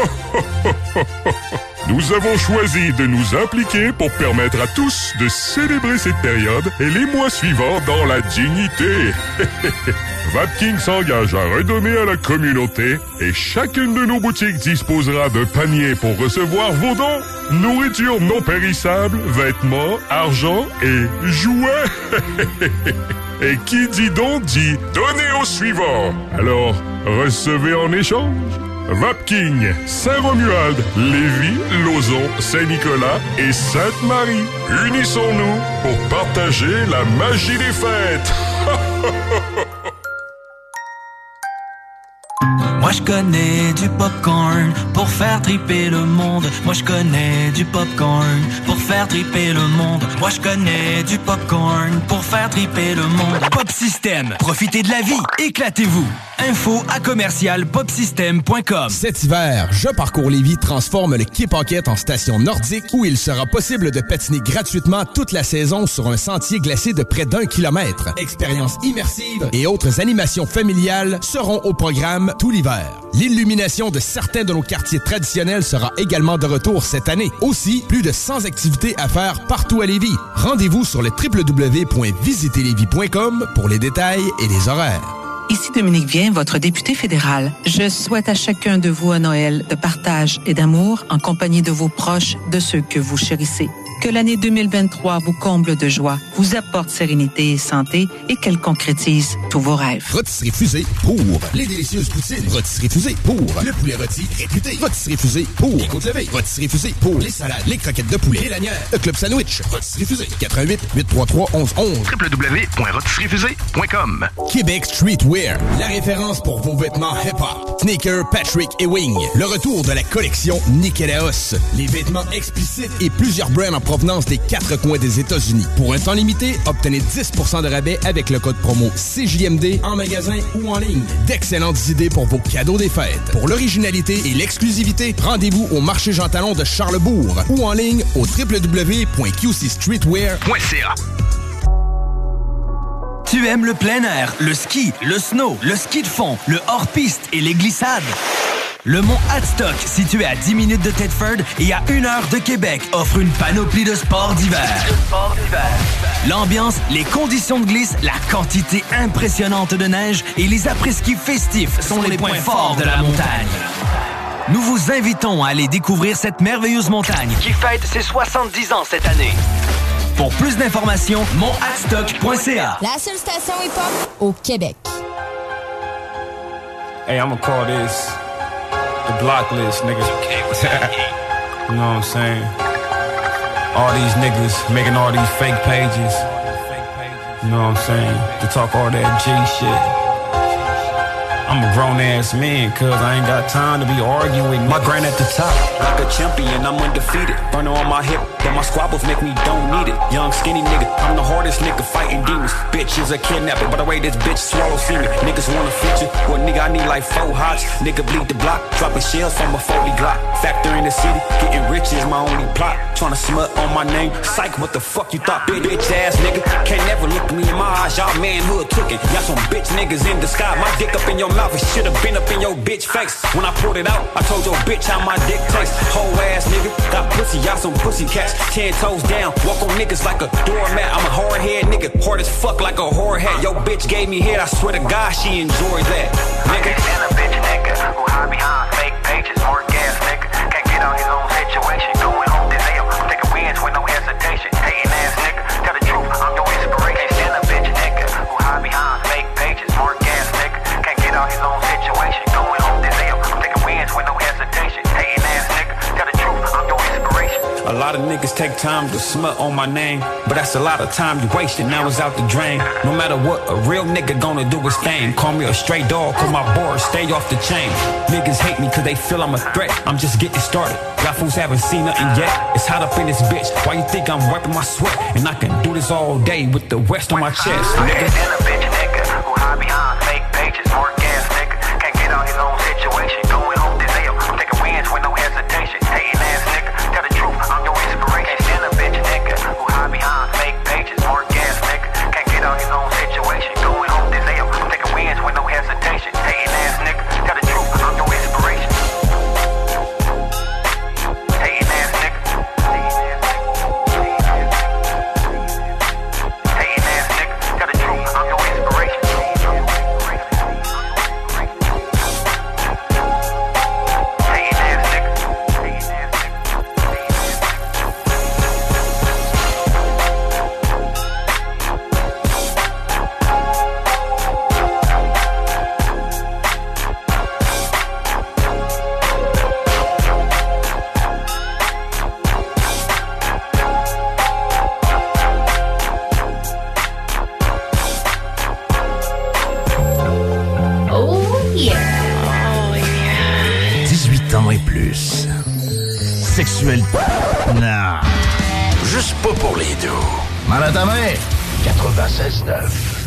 S15: Nous avons choisi de nous impliquer pour permettre à tous de célébrer cette période et les mois suivants dans la dignité. Vapking s'engage à redonner à la communauté et chacune de nos boutiques disposera d'un panier pour recevoir vos dons. Nourriture non périssable, vêtements, argent et jouets. Et qui dit don dit donner au suivant. Alors, recevez en échange. Vapking, Saint-Romuald, Lévis, Lauson, Saint-Nicolas et Sainte-Marie. Unissons-nous pour partager la magie des fêtes.
S16: Moi je connais du popcorn pour faire triper le monde. Moi je connais du popcorn pour faire triper le monde. Moi je connais du popcorn pour faire triper le monde.
S10: Pop System, profitez de la vie, éclatez-vous. Info à commercial popsystem.com.
S12: Cet hiver, Je Parcours Lévis transforme le Quai Paquette en station nordique où il sera possible de patiner gratuitement toute la saison sur un sentier glacé de près d'1 kilomètre. Expériences immersives et autres animations familiales seront au programme tout l'hiver. L'illumination de certains de nos quartiers traditionnels sera également de retour cette année. Aussi, plus de 100 activités à faire partout à Lévis. Rendez-vous sur le www.visiterlévis.com pour les détails et les horaires.
S22: Ici Dominique Vien, votre député fédéral. Je souhaite à chacun de vous un Noël de partage et d'amour en compagnie de vos proches, de ceux que vous chérissez. Que l'année 2023 vous comble de joie, vous apporte sérénité et santé et qu'elle concrétise tous vos rêves.
S12: Rôtisserie Fusée pour les délicieuses poutines. Rôtisserie Fusée pour le poulet rôti réputé. Rôtisserie Fusée pour les côtes levées. Rôtisserie Fusée pour les salades, les croquettes de poulet, les lanières, le club sandwich. Rôtisserie Fusée. 88 833 1111.
S3: www.rôtisserieFusée.com.
S12: Québec Streetwear, la référence pour vos vêtements hip-hop. Sneaker, Patrick et Wing. Le retour de la collection Nikélaos. Les vêtements explicites et plusieurs brands en provenance des 4 coins des États-Unis. Pour un temps limité, obtenez 10% de rabais avec le code promo CJMD en magasin ou en ligne. D'excellentes idées pour vos cadeaux des fêtes. Pour l'originalité et l'exclusivité, rendez-vous au marché Jean Talon de Charlesbourg ou en ligne au www.qcstreetwear.ca.
S10: Tu aimes le plein air, le ski, le snow, le ski de fond, le hors-piste et les glissades? Le mont Hadstock, situé à 10 minutes de Thetford et à 1 heure de Québec, offre une panoplie de sports d'hiver. L'ambiance, les conditions de glisse, la quantité impressionnante de neige et les après-ski festifs sont les points forts de la montagne. Nous vous invitons à aller découvrir cette merveilleuse montagne qui fête ses 70 ans cette année. Pour plus d'informations, monthadstock.ca.
S21: La seule station hip-hop au Québec.
S18: Hey, I'm gonna call this the block list, niggas. You know what I'm saying? All these niggas making all these fake pages. You know what I'm saying? To talk all that G shit. I'm a grown-ass man, cuz I ain't got time to be arguing. My grind at the top, like a champion, I'm undefeated. Burner on my hip, but my squabbles make me don't need it. Young, skinny nigga, I'm the hardest nigga fighting demons. Bitch, bitch is a kidnapper. By the way this bitch swallow semen. Niggas want a feature. Well, nigga, I need like 4 hots. Nigga bleed the block. Dropping shells from a 40 Glock. Factor in the city. Getting rich is my only plot. Tryna smut on my name. Psych, what the fuck you thought? Bitch ass nigga. Can't never look me in my eyes. Y'all manhood cooking. Y'all some bitch niggas in the sky. My dick up in your mouth. It should've been up in your bitch face. When I pulled it out, I told your bitch how my dick tastes. Whole ass nigga. Got pussy. Y'all some pussy cats. 10 toes down. Walk on niggas like a doormat. I'm a hard head nigga. Hard as fuck like a whore hat. Yo bitch gave me head. I swear to God she enjoyed that. Nigga.
S6: I can't stand a bitch nigga who hide behind fake pages. More gas nigga. Can't get on his own situation. Going home this L. Taking wins with no hesitation. Hating ass nigga. Tell the truth. I'm your inspiration. Can't stand a bitch nigga who hide behind fake pages. More gas nigga. Can't get on his own situation. Going home this L. Taking wins with no hesitation. Hating ass nigga. Tell the truth. I'm your inspiration.
S18: A lot of niggas take time to smut on my name, but that's a lot of time you wasted, now it's out the drain. No matter what, a real nigga gonna do his thing. Call me a stray dog, call my board, stay off the chain. Niggas hate me cause they feel I'm a threat, I'm just getting started. Y'all fools haven't seen nothing yet, it's hot up in this bitch. Why you think I'm wiping my sweat? And I can do this all day with the west on my chest, nigga.
S6: And a bitch nigga who hide behind fake pages. More gas nigga. Can't get on his own situation. Going home this L. Taking wins with no hesitation. Hating ass nigga. Tell the truth. I'm your inspiration. Stand a bitch nigga who hide behind fake pages. More gas nigga. Can't get on his own situation. Going home this L. Taking wins with no hesitation. Hating ass nigga. Tell the truth. I'm your inspiration. Hating ass nigga. Hating ass nigga. Tell the truth. I'm your inspiration. Hating ass nigga.
S11: Oh yeah. 18 ans et plus. Sexuel. Non. Juste pas pour les deux. Mal à ta main. 96.9.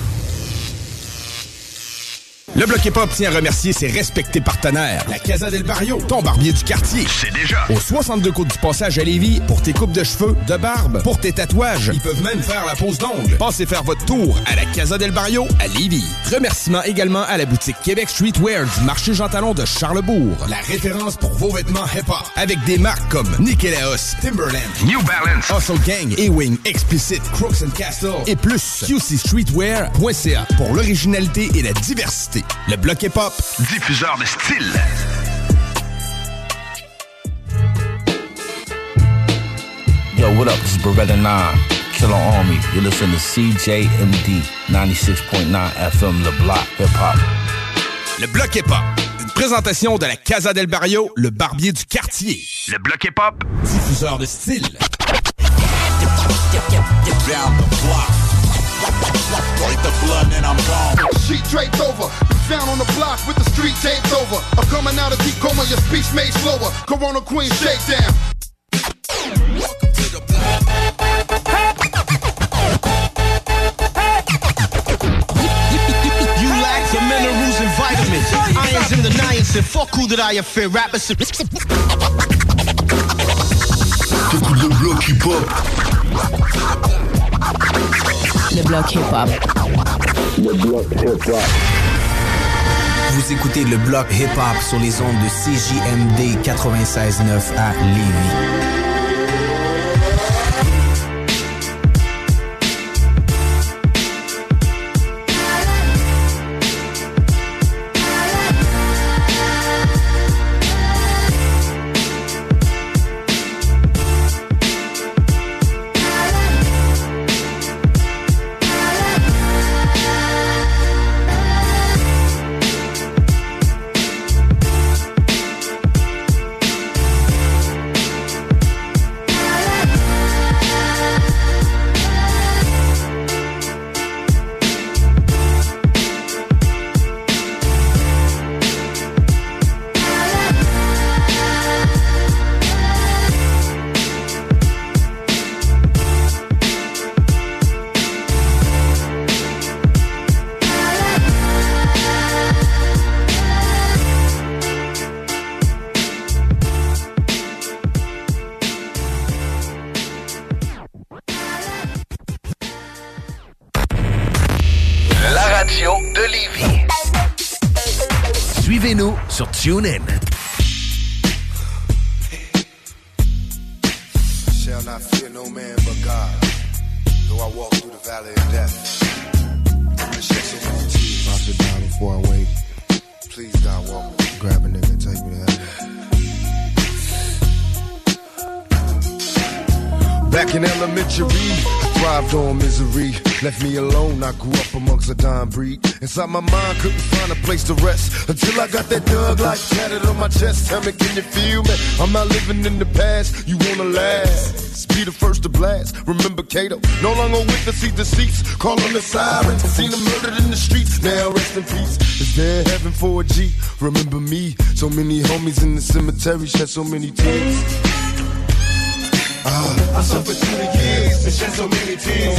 S12: Le Bloc Hip-Hop tient à remercier ses respectés partenaires. La Casa del Barrio, ton barbier du quartier.
S11: C'est déjà.
S12: Au 62 Côte du Passage à Lévis, pour tes coupes de cheveux, de barbe, pour tes tatouages. Ils peuvent même faire la pose d'ongles. Passez faire votre tour à la Casa del Barrio à Lévis. Remerciements également à la boutique Québec Streetwear du marché Jean Talon de Charlebourg. La référence pour vos vêtements hip-hop. Avec des marques comme Nikélaos, Timberland,
S11: New Balance,
S12: Hustle Gang, A-Wing, Explicit, Crooks and Castle et plus. QCStreetwear.ca pour l'originalité et la diversité. Le Bloc Hip-Hop,
S11: diffuseur de style.
S17: Yo, what up? This is Beretta 9, Killer Army. You listen to CJMD 96.9 FM, Le Bloc Hip-Hop.
S12: Le Bloc Hip-Hop, une présentation de la Casa del Barrio, le barbier du quartier.
S11: Le Bloc Hip-Hop,
S12: diffuseur de style.
S19: Down the block. Break the blood and I'm gone.
S23: Sheet draped over, found on the block with the street taped over. I'm coming out of deep coma, your speech made slower. Corona Queen shakedown.
S19: Welcome to the block.
S25: You lack the minerals and vitamins. Irons in the niacin. Fuck who that I fear. Rappers.
S3: T'écoutes le Bloc Hip-Hop.
S26: Le Bloc Hip-Hop.
S3: Le Bloc Hip-Hop.
S27: Vous écoutez le Bloc Hip-Hop sur les ondes de CJMD 96.9 à Lévis.
S3: radio de Lévis. Suivez-nous sur TuneIn.
S1: Shall not fear no man but God, though I walk through the valley of death. If I sit down before I wake, please God walk me, grab a nigga and take me to heaven. Back in elementary, I thrived on misery. Left me alone, I grew up amongst a dying breed. Inside my mind, couldn't find a place to rest until I got that Thug Life tatted on my chest. Tell me, can you feel me? I'm not living in the past, you wanna last. Be the first to blast. Remember Kato, no longer with the seat deceits. Call on the sirens, seen them murdered in the streets. Now rest in peace. Is there heaven for a G? Remember me, so many homies in the cemetery shed so many tears. I suffered through the years and shed so many tears.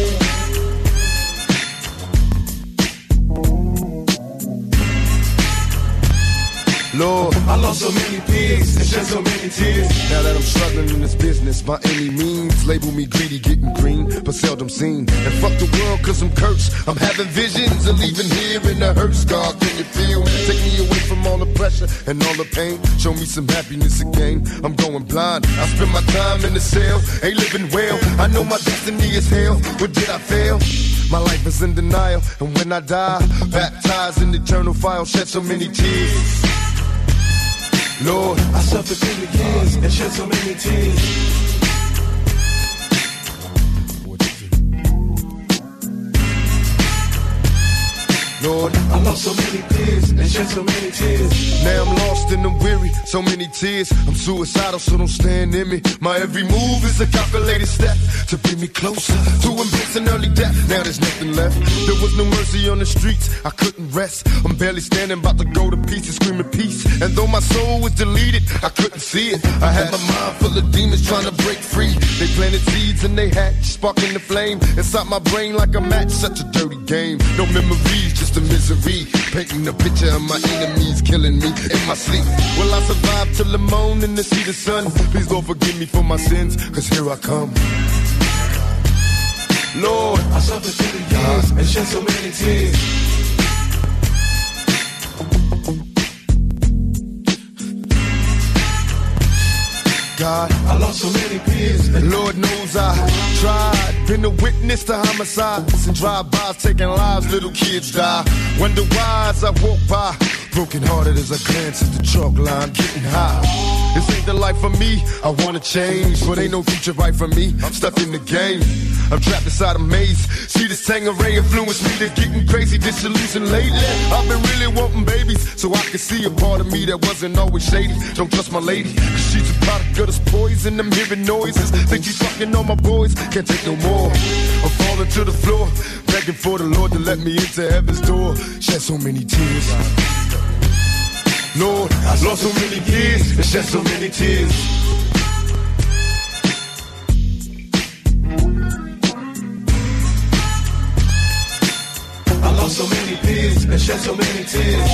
S1: Lord, I lost so many peers and shed so many tears. Now that I'm struggling in this business by any means, label me greedy, getting green, but seldom seen. And fuck the world cause I'm cursed. I'm having visions of leaving here in the hearse. God, can you feel me? Take me away from all the pressure and all the pain. Show me some happiness again. I'm going blind. I spend my time in the cell, ain't living well. I know my destiny is hell. What did I fail? My life is in denial, and when I die, baptized in eternal fire, shed so many tears. Lord, I suffered through the years and shed so many tears. Lord, I lost so many peers and shed so many tears. Now I'm lost and I'm weary, so many tears. I'm suicidal, so don't stand in me. My every move is a calculated step to bring me closer to embracing early death. Now there's nothing left. There was no mercy on the streets, I couldn't rest. I'm barely standing, about to go to pieces, screaming peace. And though my soul was deleted, I couldn't see it. I had my mind full of demons trying to break free. They planted seeds and they hatched, sparking the flame inside my brain like a match. Such a dirty game. No memories, just the misery, painting a picture of my enemies killing me in my sleep. Will I survive till the morning to see the sun? Please Lord forgive me for my sins, cause here I come. Lord, I suffered through the years and shed so many tears. God, I lost so many peers. And Lord knows I tried. Been a witness to homicides and drive-bys taking lives. Little kids die. Wonder why as I walk by, broken hearted as I glance at the chalk line, getting high. This ain't the life for me. I wanna change, but ain't no future right for me. I'm stuck in the game. I'm trapped inside a maze. See this Tangeray influence me to getting crazy, disillusioned lately. I've been really wanting babies, so I can see a part of me that wasn't always shady. Don't trust my lady, cause she's a product of this poison. I'm hearing noises, think she's fucking on my boys. Can't take no more. I'm falling to the floor, begging for the Lord to let me into heaven's door. Shed so many tears. Lord, I lost so many years and shed so many tears. I lost so many peers and shed so many tears.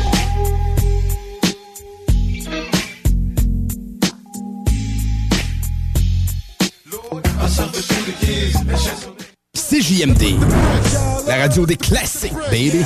S1: Lord, I suffered through the years and shed so many.
S12: CJMD, la radio des classiques, baby.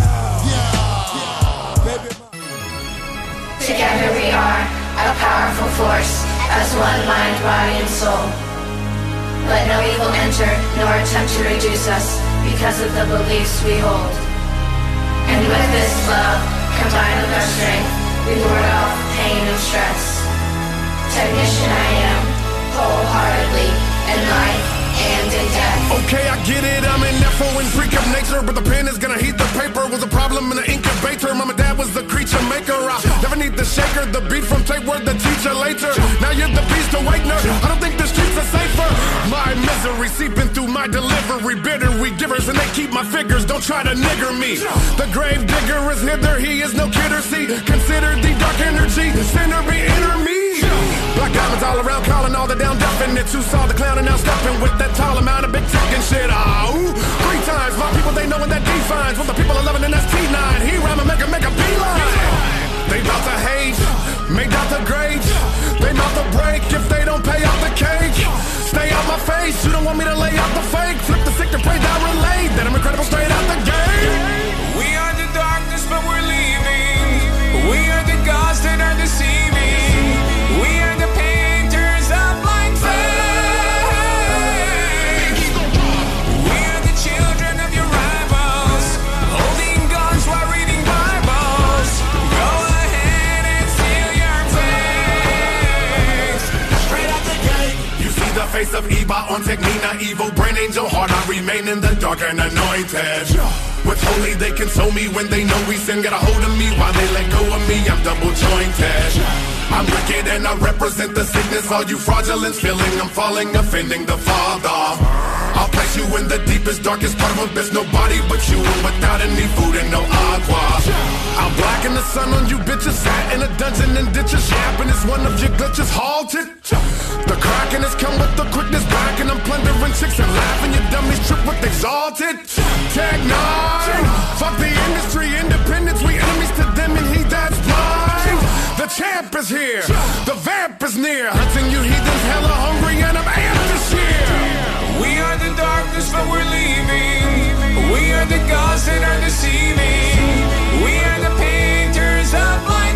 S2: Together we are a powerful force, as one mind, body, and soul. Let no evil enter, nor attempt to reduce us, because of the beliefs we hold. And with this love, combined with our strength, we ward off pain and stress. Technician I am, wholeheartedly, in life and in death.
S8: Okay, I get it, I'm an F.O. and freak of nature, but the pen is gonna heat the paper. Was a problem in the incubator, mom and dad was the creature maker. I never need the shaker, the beat from tape word, the teacher later. Now you're the beast awakener, I don't think the streets are safer. My misery seeping through my delivery, bitter we givers and they keep my figures, don't try to nigger me. The grave digger is hither, he is no kidder, see. Consider the dark energy, sinner be inner me. Black diamonds all around, calling all the down definites. Who saw the clown and now stepping with that tall amount of big tech and shit. Ooh, 3 times, my people they know when that defines. What the people are loving and that's T9. He rhyme and make a beeline. They bout to hate, make out the grades. They bout to break if they don't pay out the cake. Stay out my face, you don't want me to lay out the fake. Flip the sick and pray that relate, that I'm incredible straight out the gate. remain in the dark and anointed. With holy they console me when they know we sin. Get a hold of me while they let go of me. I'm double jointed. I'm wicked and I represent the sickness. All you fraudulence feeling I'm falling, offending the Father. I'll place you in the deepest, darkest part of abyss. Nobody but you and without any food and no agua. I'm blacking the sun on you bitches. Sat in a dungeon and ditches. Yapping is one of your glitches halted. The cracking has come with the quickness back. And I'm plundering chicks and laughing. You dummies trip with exalted. Tag 9. Fuck the industry, independence. We enemies to them and he that's blind. The champ is here. The vamp is near. Hunting you heathens hella hungry and I'm amped this year.
S4: We are the darkness, but we're leaving. We are the gods that are deceiving. We are the painters of blind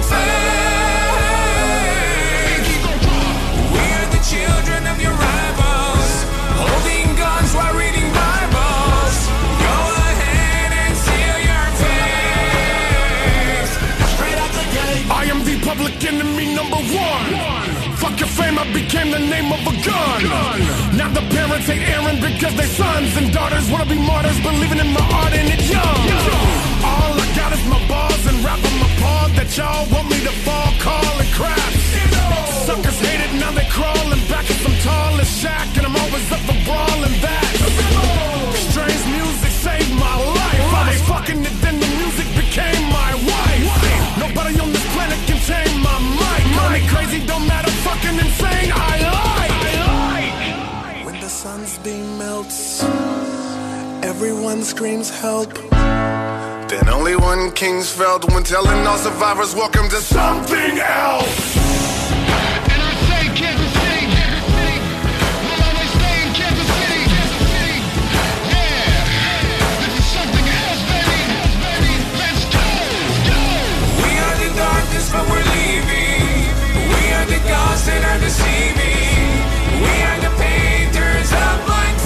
S4: faith. We are the children of your rivals, holding guns while reading Bibles. Go ahead and seal your face. Straight out the gate.
S8: I am the public enemy number one. Fuck your fame, I became the name of a gun. Now the parents hate Aaron because their sons and daughters wanna be martyrs, believing in my art and it's young. All I got is my bars and rap on my paw that y'all want me to fall, call and crap. Suckers hate it, now they crawling back as I'm tall as Shaq and I'm always up for brawling that. Strange music saved my life. I was fucking it, then the music became my wife. Nobody on this planet can tame my mic. Call me crazy, don't matter, fucking insane. I like.
S5: When the sun's beam melts, everyone screams help.
S8: Then only one king's felt when telling all survivors welcome to something else.
S5: And I say Kansas City, Kansas City. We'll always stay in Kansas City, Kansas City. Yeah, this is something else, baby. Let's go, go.
S4: We are the darkness, but we're leaving. We are the gods that are deceiving. We are the painters of blind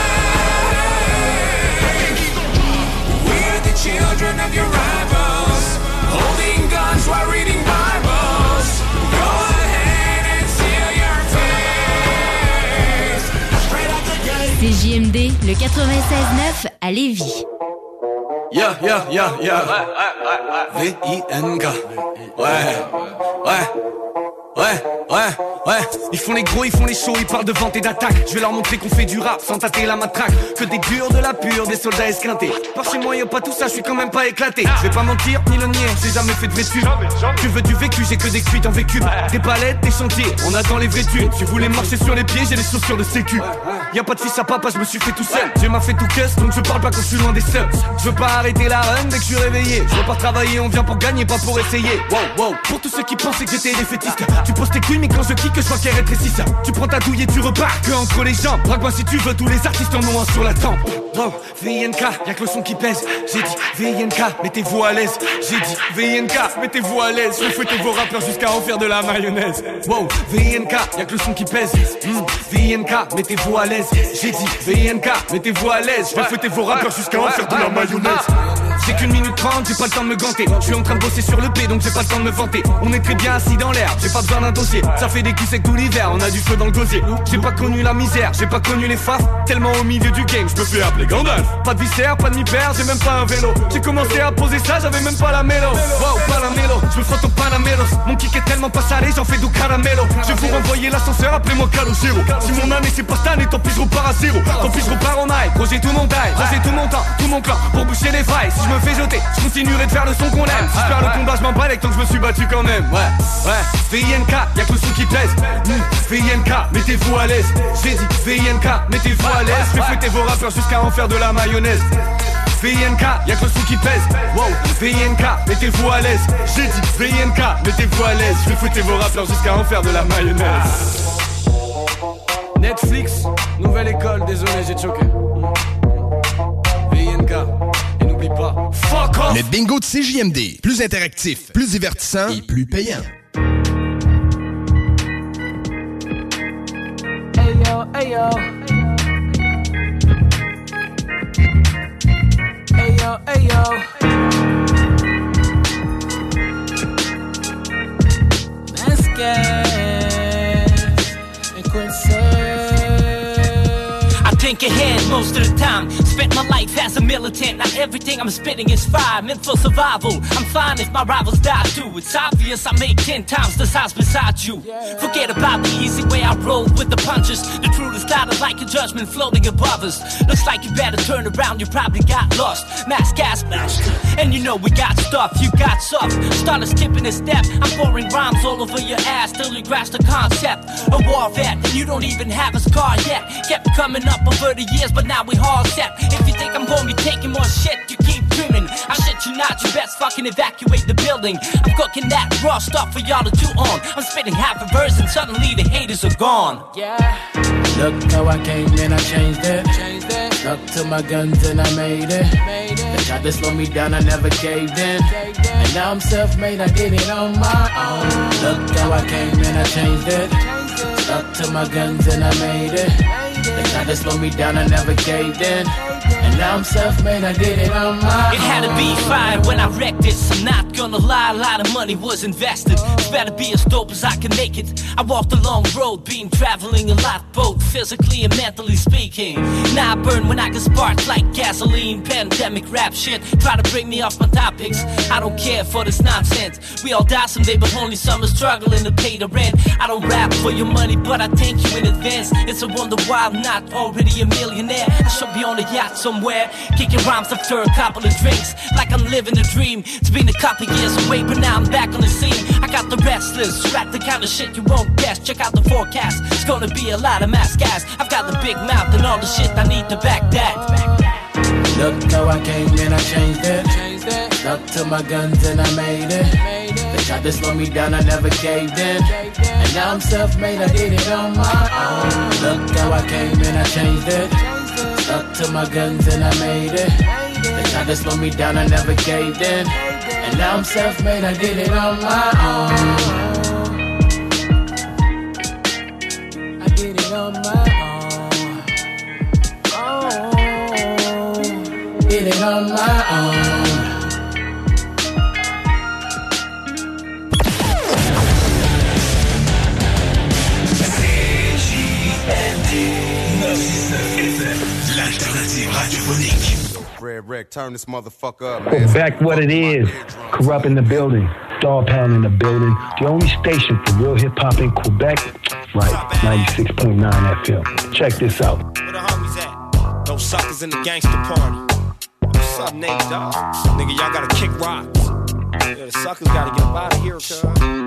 S4: faith. We are the children of your rivals, holding guns while reading Bibles. Go ahead and seal your face. Straight out the gate.
S21: CJMD, le 96.9 à Lévis.
S25: Yeah. V-I-N-K. Ouais. Ils font les gros, ils font les shows, ils parlent de vente et d'attaque. Je vais leur montrer qu'on fait du rap sans tâter la matraque. Que des durs, de la pure, des soldats esquintés. Par chez moi y'a pas tout ça, je suis quand même pas éclaté. Je vais pas mentir, ni le nier, j'ai jamais fait de vécu. Tu veux du vécu, j'ai que des cuites en vécu. Des palettes, des chantiers, on attend les vêtus. Tu voulais marcher sur les pieds, j'ai les chaussures de sécu. Y'a pas de fils à papa, je me suis fait tout seul. J'ai m'a fait tout cuss, donc je parle pas quand je suis loin des subs. Je veux pas arrêter la run dès que je suis réveillé. Je veux pas travailler, on vient pour gagner, pas pour essayer. Wow. Pour tous ceux qui pensaient que j'étais défaitiste, tu poses tes couilles, mais quand je kick, je vois qu'elles rétrécissent. Tu prends ta douille et tu repars que entre les jambes. Drague-moi si tu veux, tous les artistes en ont un sur la tempe. Wow, VNK, y'a que le son qui pèse. J'ai dit VNK, mettez-vous à l'aise. J'ai dit VNK, mettez-vous à l'aise. Je vais fouetter vos rappeurs jusqu'à en faire de la mayonnaise. Wow, VNK, y'a que le son qui pèse. VNK, mettez-vous à l'aise. J'ai dit VNK, mettez-vous à l'aise. Je vais fouetter vos rappeurs jusqu'à en faire de la mayonnaise. J'ai qu'une minute 30, j'ai pas le temps de me ganter. Je suis en train de bosser sur le P, donc j'ai pas le temps de me vanter. On est très bien assis dans l'air, j'ai pas besoin d'un dossier. Ça fait des culs secs tout l'hiver, on a du feu dans le gosier. J'ai pas connu la misère, j'ai pas connu les faces. Tellement au milieu du game, je me fais appeler Gandalf. Pas de viscère, pas de mi-père, j'ai même pas un vélo. J'ai commencé à poser ça, j'avais même pas la mélo. Wow, pas la mélo, je me frotte au Panamelos. Mon kick est tellement pas salé, j'en fais du caramelo. Je vais vous renvoyer l'ascenseur, appelez-moi Calogero. Si mon année c'est pas cette année, tant pis je repars à zéro. Tant pis je repars en high, projet tout mon taille. J'ai tout mon temps, tout mon clan, pour boucher les failles. Si je me fais jeter, je continuerai de faire le son qu'on aime. Si je perds le combat, je m'en bats avec tant que je me suis battu quand même. Ouais, VNK, y'a que le son qui pèse. VNK, mettez-vous à l'aise. J'ai dit VNK, mettez-vous à l'aise. Je vais fouetter vos rappeurs jusqu'à en faire de la mayonnaise. VNK, y'a que le son qui pèse. Wow, VNK, mettez-vous à l'aise. J'ai dit VNK, mettez-vous à l'aise. Je vais fouetter vos rappeurs jusqu'à en faire de la mayonnaise. Netflix, nouvelle école, désolé j'ai choqué. VNK, et n'oublie pas, fuck off.
S12: Le bingo de CJMD, plus interactif, plus divertissant et plus payant.
S16: Hey yo. Hey yo.
S9: I think ahead,
S7: most of the time. Spent my life as a militant. Not everything I'm spitting is fire, meant for survival. I'm fine if my rivals die too. It's obvious I make 10 times the size beside you. Forget about the easy way I roll with the punches. The truth is clouded like a judgment floating above us. Looks like you better turn around, you probably got lost. Mask gas master, and you know we got stuff, you got soft. Started skipping a step, I'm pouring rhymes all over your ass till you grasp the concept. A war vet, and you don't even have a scar yet. Kept coming up over the years, but now we all set. If you think I'm gonna be taking more shit, you keep dreaming. I shit you not, you best fucking evacuate the building. I'm cooking that raw stuff for y'all to chew on. I'm spitting half a verse and suddenly the haters are gone.
S9: Yeah. Look how I came and I changed it. Stuck to my guns and I made it. They tried to slow me down, I never caved in. And now I'm self-made, I did it on my own. Look how I came and I changed it. Stuck to my guns and I made it. They tried to slow me down, I never caved in. And now I'm self-made, I did it on my own.
S7: It had to be fire when I wrecked this. I'm not gonna lie, a lot of money was invested. It's better be as dope as I can make it. I walked a long road, been traveling a lot, both physically and mentally speaking. Now I burn when I get sparked like gasoline. Pandemic rap shit, try to bring me off my topics. I don't care for this nonsense. We all die someday, but only some are struggling to pay the rent. I don't rap for your money, but I thank you in advance. It's a wonder why I'm not already a millionaire. I should be on a yacht somewhere, kicking rhymes after a couple of drinks, like I'm living a dream. It's been a couple years away, but now I'm back on the scene. I got the restless, rap the kind of shit you won't guess. Check out the forecast, it's gonna be a lot of mass gas. I've got the big mouth and all the shit I need to back that.
S9: Look how I came and I changed it. Stuck to my guns and I made it. They tried to slow me down, I never caved in. And now I'm self-made, I did it on my own. Look how I came and I changed it. Stuck to my guns and I made it. They tried to slow me down, I never caved in. And now I'm self-made, I did it on my own. I did it on my own. Oh, did it on my own.
S13: L'alternative radiophonique.
S8: Red Rick, turn this motherfucker up,
S14: Go
S8: man.
S14: back what it is. Corrupt in the building. Dog Pound in the building. The only station for real hip hop in Quebec. Right, 96.9 FM. Check this out.
S15: Where the homies at? Those suckers in the gangster party. What's up, Nate, dog? Nigga, y'all gotta kick rocks. Yeah, the suckers gotta get up out of here, cuz.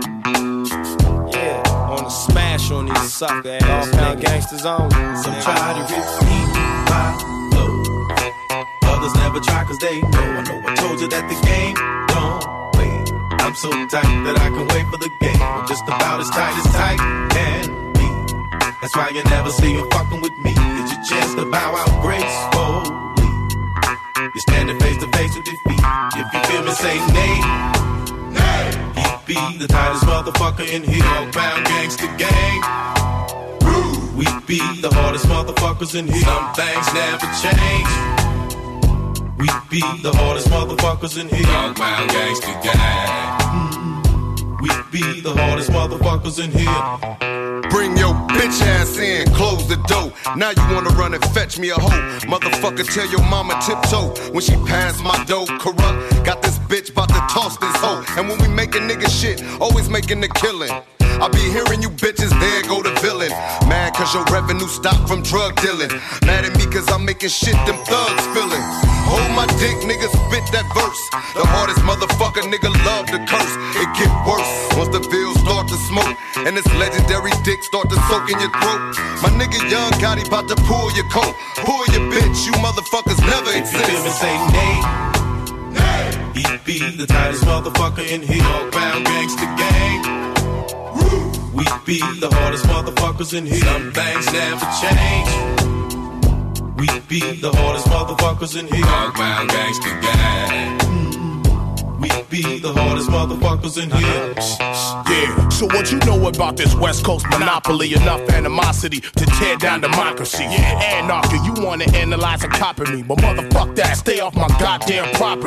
S15: Yeah, on a smash on these sucker ass niggas. Gangsters on.
S19: Some try to repeat my flow. Others never try cause they know. I know I told you that the game don't wait. I'm so tight that I can wait for the game. I'm just about as tight can be. That's why you never see you fucking with me. It's your chance to bow out gracefully. You're standing face to face with defeat. If you feel me, say nay. He be the tightest motherfucker in here. Bound gangsta gang. We be the hardest motherfuckers in here. Some things never change. We be the hardest motherfuckers in here. Dogbound gangsta gang. We be the hardest motherfuckers in here.
S1: Bring your bitch ass in, close the door. Now you wanna run and fetch me a hoe. Motherfucker, tell your mama tiptoe when she pass my dough. Corrupt, got this bitch bout to toss this hoe. And when we making nigga shit, always making the killing. I be hearing you bitches, there go the villain. Mad cause your revenue stopped from drug dealing. Mad at me cause I'm making shit them thugs feeling. Hold my dick, nigga, spit that verse. The hardest motherfucker, nigga, love to curse. It get worse once the bills start to smoke. And this legendary dick start to soak in your throat. My nigga Young Gotti bout to pull your coat. Pull your bitch, you motherfuckers never exist.
S19: If you feel me, say nay. He be the tightest motherfucker in here. Dogbound gangsta gang. We be the hardest motherfuckers in here. Some things never change. We be the hardest motherfuckers in here. Dogbound gangsta gang. We be the hardest motherfuckers in here.
S20: Yeah, so what you know about this West Coast monopoly? Enough animosity to tear down democracy. Anarchy, you wanna analyze and copy me, but motherfuck that, stay off my goddamn property.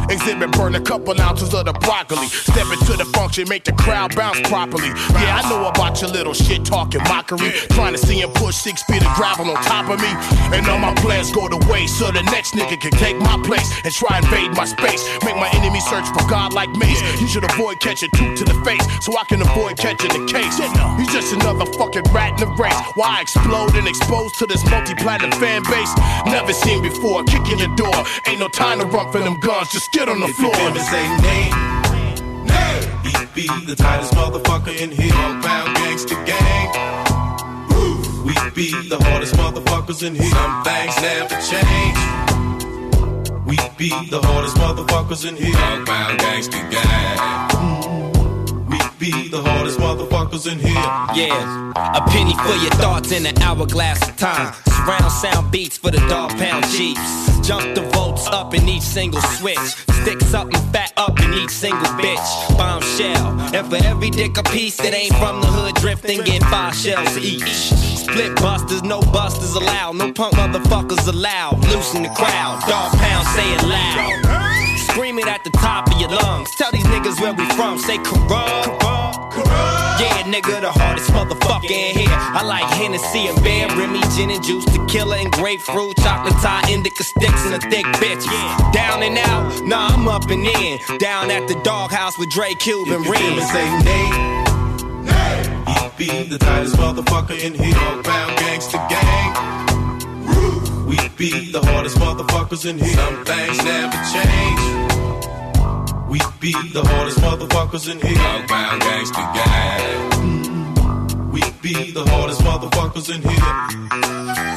S20: Exhibit burn a couple ounces of the broccoli. Step into the function, make the crowd bounce properly. Yeah, I know about your little shit talking mockery. Trying to see him push 6 feet of gravel on top of me. And all my plans go to waste, so the next nigga can take my place and try and invade my space. Make my enemy search for God like Mace. You should avoid catching 2 to the face, so I can avoid catching the case. He's just another fucking rat in the race. Why I explode and exposed to this multi-platinum fan base? Never seen before, kick in the door. Ain't no time to run for them guns, just get on the floor.
S19: If you say nay, nay, he be the tightest motherfucker in here. Pound gangsta gang. We be the hardest motherfuckers in here. Some things never change. We be the hardest motherfuckers in here. Pound gangsta gang. We be the hardest motherfuckers in here.
S6: Yeah, a penny for your thoughts in an hourglass of time. Surround sound beats for the dog pound Jeeps. Jump the volts up in each single switch. Stick something fat up in each single bitch. Bombshell. And for every dick a piece that ain't from the hood drifting, get 5 shells each. Split busters, no busters allowed. No punk motherfuckers allowed. Loosen the crowd. Dog pound, say it loud. Scream it at the top of your lungs. Tell these niggas where we from. Say corrupt. Yeah, nigga, the hardest motherfucker in here. I like Hennessy and Bear, Remy, gin and juice, tequila and grapefruit, chocolate tie, indica sticks, and a thick bitch. Down and out, nah, I'm up and in. Down at the doghouse with Dre, Cube, and Reed.
S19: Say nay, nay. He be the tightest motherfucker in here. Pound gangsta gang. We be the hardest motherfuckers in here. Some things never change. We be the hardest motherfuckers in here. Pound gangsta gang. We be the hardest motherfuckers in here.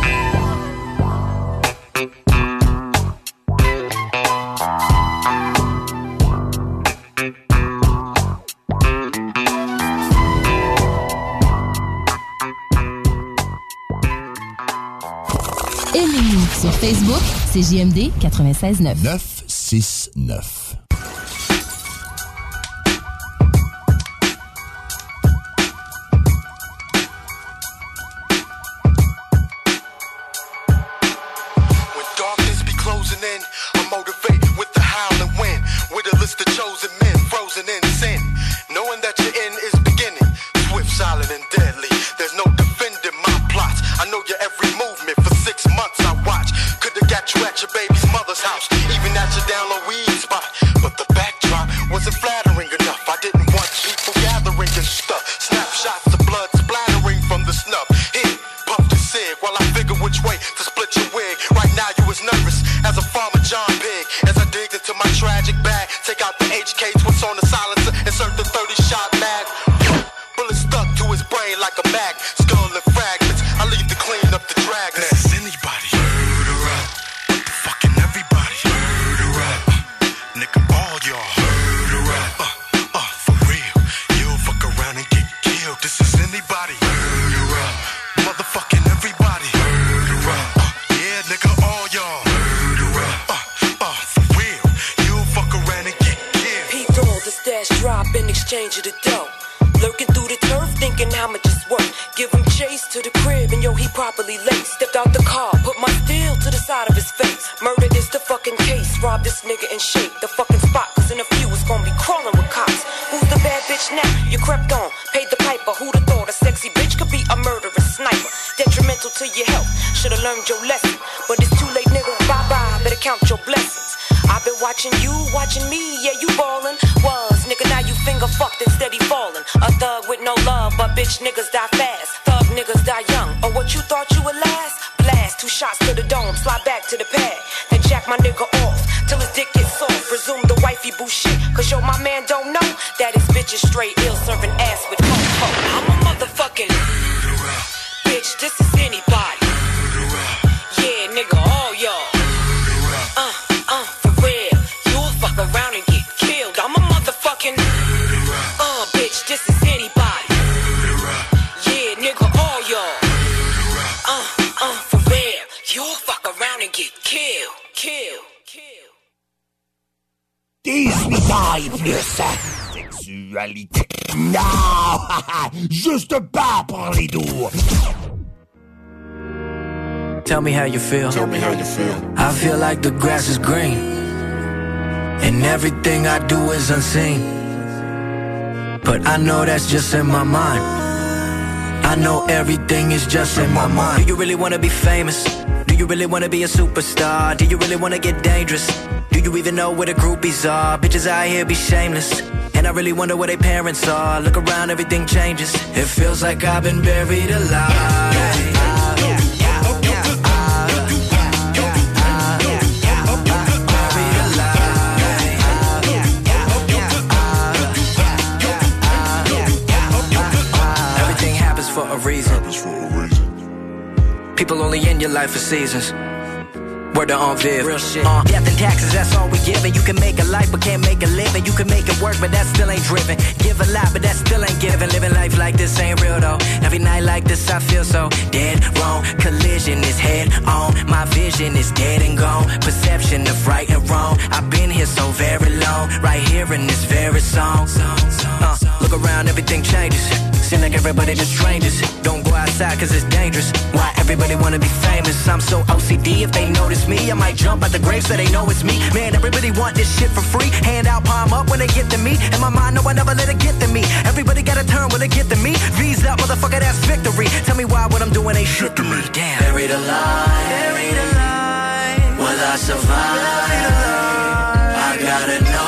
S21: Aimez-nous sur Facebook, c'est JMD 96.9.
S3: 969.
S10: Juste pas pour les doux.
S11: Tell me how you feel.
S10: Tell me how you feel.
S11: I feel like the grass is green. And everything I do is unseen, but I know that's just in my mind. I know everything is just in my mind. Do you really wanna be famous? Do you really wanna be a superstar? Do you really wanna get dangerous? Do you even know where the groupies are? Bitches out here be shameless, and I really wonder where their parents are. Look around, everything changes. It feels like I've been buried alive. For a reason. People only in your life for seasons. Word to on Viv. Real shit. Death and taxes, that's all we giving. You can make a life, but can't make a living. You can make it work, but that still ain't driven. Give a lot, but that still ain't giving. Living life like this ain't real though. Every night like this, I feel so dead wrong. Collision is head on. My vision is dead and gone. Perception of right and wrong. I've been here so very long. Right here in this very song. Look around, everything changes. Seem like everybody just strangers. Don't go outside cause it's dangerous. Why everybody wanna be famous? I'm so OCD, if they notice me I might jump out the grave so they know it's me. Man, everybody want this shit for free. Hand out, palm up when they get to me. In my mind, no, I never let it get to me. Everybody gotta turn when they get to me. V's up, motherfucker, that's victory. Tell me why what I'm doing ain't shit to me. Damn. Buried alive. Buried alive. Will I survive? Buried alive. I gotta know.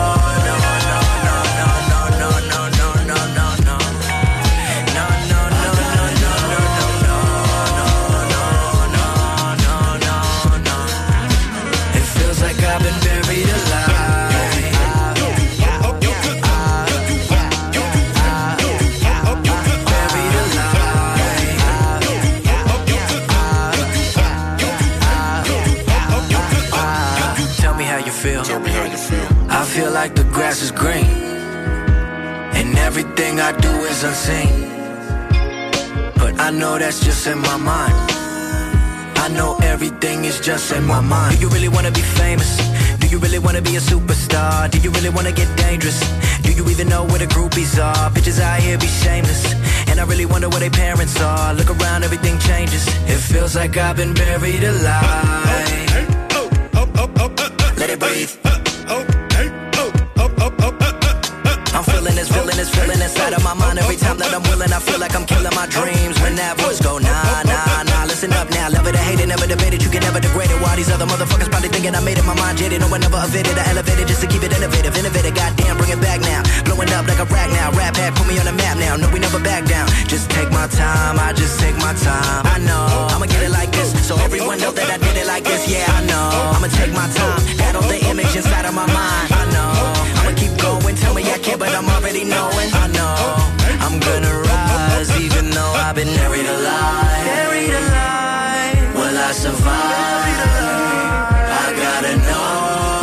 S11: I feel like the grass is green, and everything I do is unseen, but I know that's just in my mind. I know everything is just in my mind. Do you really wanna be famous? Do you really wanna be a superstar? Do you really wanna get dangerous? Do you even know where the groupies are? Bitches out here be shameless, and I really wonder where their parents are. Look around, everything changes. It feels like I've been buried alive. Let it breathe. I'm feeling this feeling inside of my mind. Every time that I'm willing, I feel like I'm killing my dreams. When that voice go, nah, nah, nah. Listen up now, love it or hate it, never debate it. You can never degrade it. While these other motherfuckers probably thinking I made it, my mind jaded. No, I never evaded, I elevated just to keep it innovative. Innovative, goddamn, bring it back now. Blowing up like a rag now. Rap pack, put me on the map now. No, we never back down. Just take my time, I just take my time. I know, I'ma get it like this, so everyone know that I did it like this. Yeah, I know, I'ma take my time. Battle the image inside of my mind. I know, I'ma keep going. Tell me I can't, but I'm already knowing. I know, I'm gonna rise, even though I've been buried alive. Buried alive. Will I survive? Buried alive. I gotta know.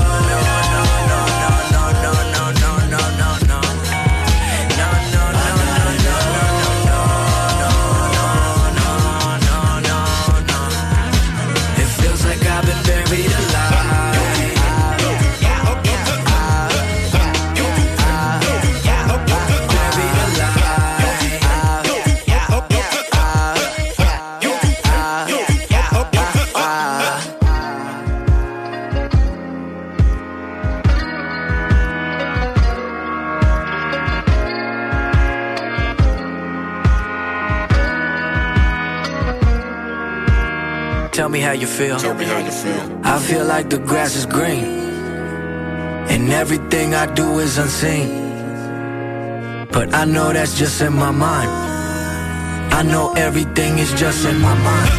S11: Tell me how you feel. Tell me how you feel. I feel like the grass is green, and everything I do is unseen, but I know that's just in my mind. I know everything is just in my mind.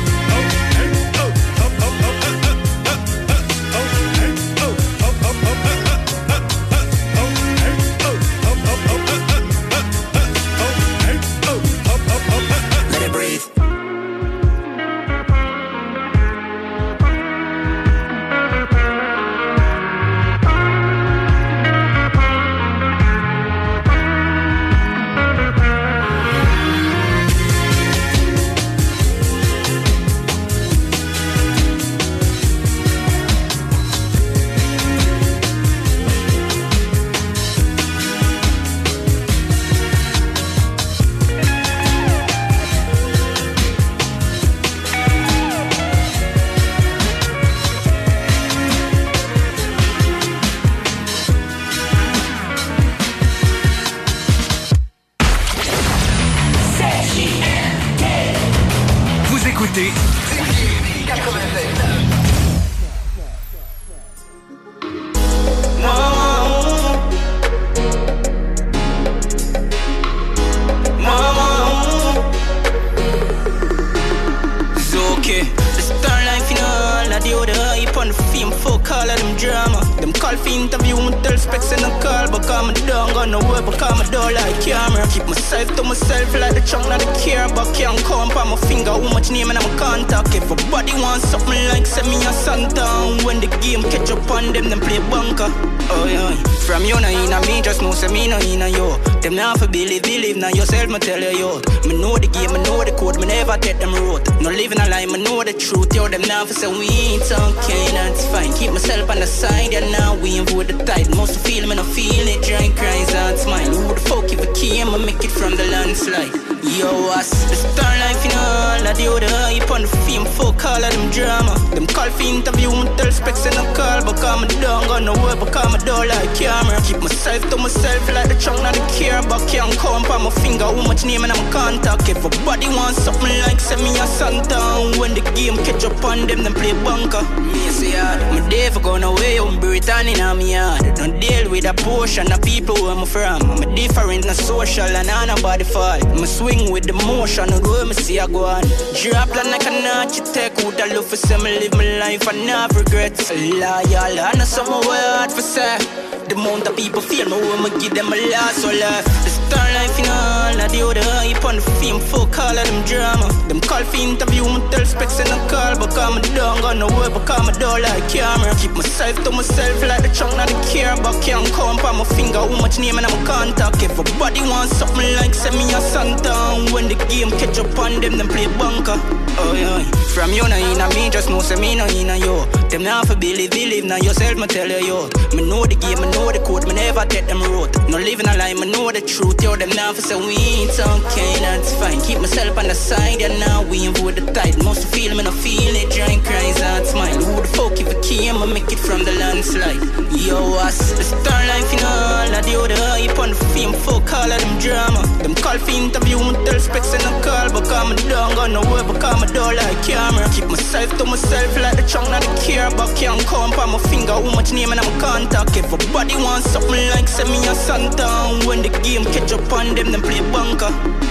S17: call for interview, me tell specs in a call, but come I don't got no work, but come I don't like camera. Keep myself to myself like the chunk, not the care, but can't count on my finger how much name and I'm contact. If everybody wants something like send me a Santa, when the game catch up on them play bunker. Oh yeah, from you no inna me, just know say me no inna you. Them not for believe now yourself, me tell you yo. Me know the game, me know the code, me never take them road. No living a lie, me know the truth. Yo, them now for say we ain't okay, that's fine. Keep myself on the side, and now we ain't with the tide. Most feel me no feel it, drink cries and smile. Who the fuck if I came and make it from the landslide? Yo, us the star life in all, I do the hype on the fame, fuck all of them drama. Them call for interview, me tell specs in a call, but come I don't got no work, but come I don't like camera. Keep myself to myself like the chunk, not the care, but can't count on my finger how much name and I'm contact. If everybody wants something like send me a Santa, when the game catch up on them play bunker. Me say hard, my day for gone away, I'm Britannia in my yard. Don't deal with a portion of people where I'm from. I'm different, not social, and I nobody fall. I'm swing with the motion, I go me see I go on. Drop like an architect, would I love for some live my life and not regrets. Loyal, I know somewhere hard for say. The amount of people feel me when I give them a last or life. The star life in all, I do the hype on the fame, fuck all of them drama. Them call for interview, me tell specs in a call, but come I don't got no work, but come I don't like camera. Keep myself to myself like the chunk, not the care, but can't count on my finger how much name and I'm contact. If everybody wants something like send me a Santa, when the game catch up on them play bunker. Oh yeah, from you no inna me, just know say me no inna you. Them not for believe now yourself, me tell you yo. Me know the game, me know the code, me never take them road. No living a lie, me know the truth. Yo, them now for say we ain't okay, that's fine. Keep myself on the side, and now we ain't with the tide. Most feel me no feel it, drink cries and smile. Who the fuck if I came and make it from the landslide? Yo, us the star life in all, I do the hype on the fame, fuck all of them drama. Them call for interview, me tell specs in a call, but come I don't got no work, but come I don't like camera. Keep myself to myself like the chunk, not the care, but can't count on my finger how much name and I'm contact. If everybody wants something like send me a Santa, when the game catch up on them play bunker.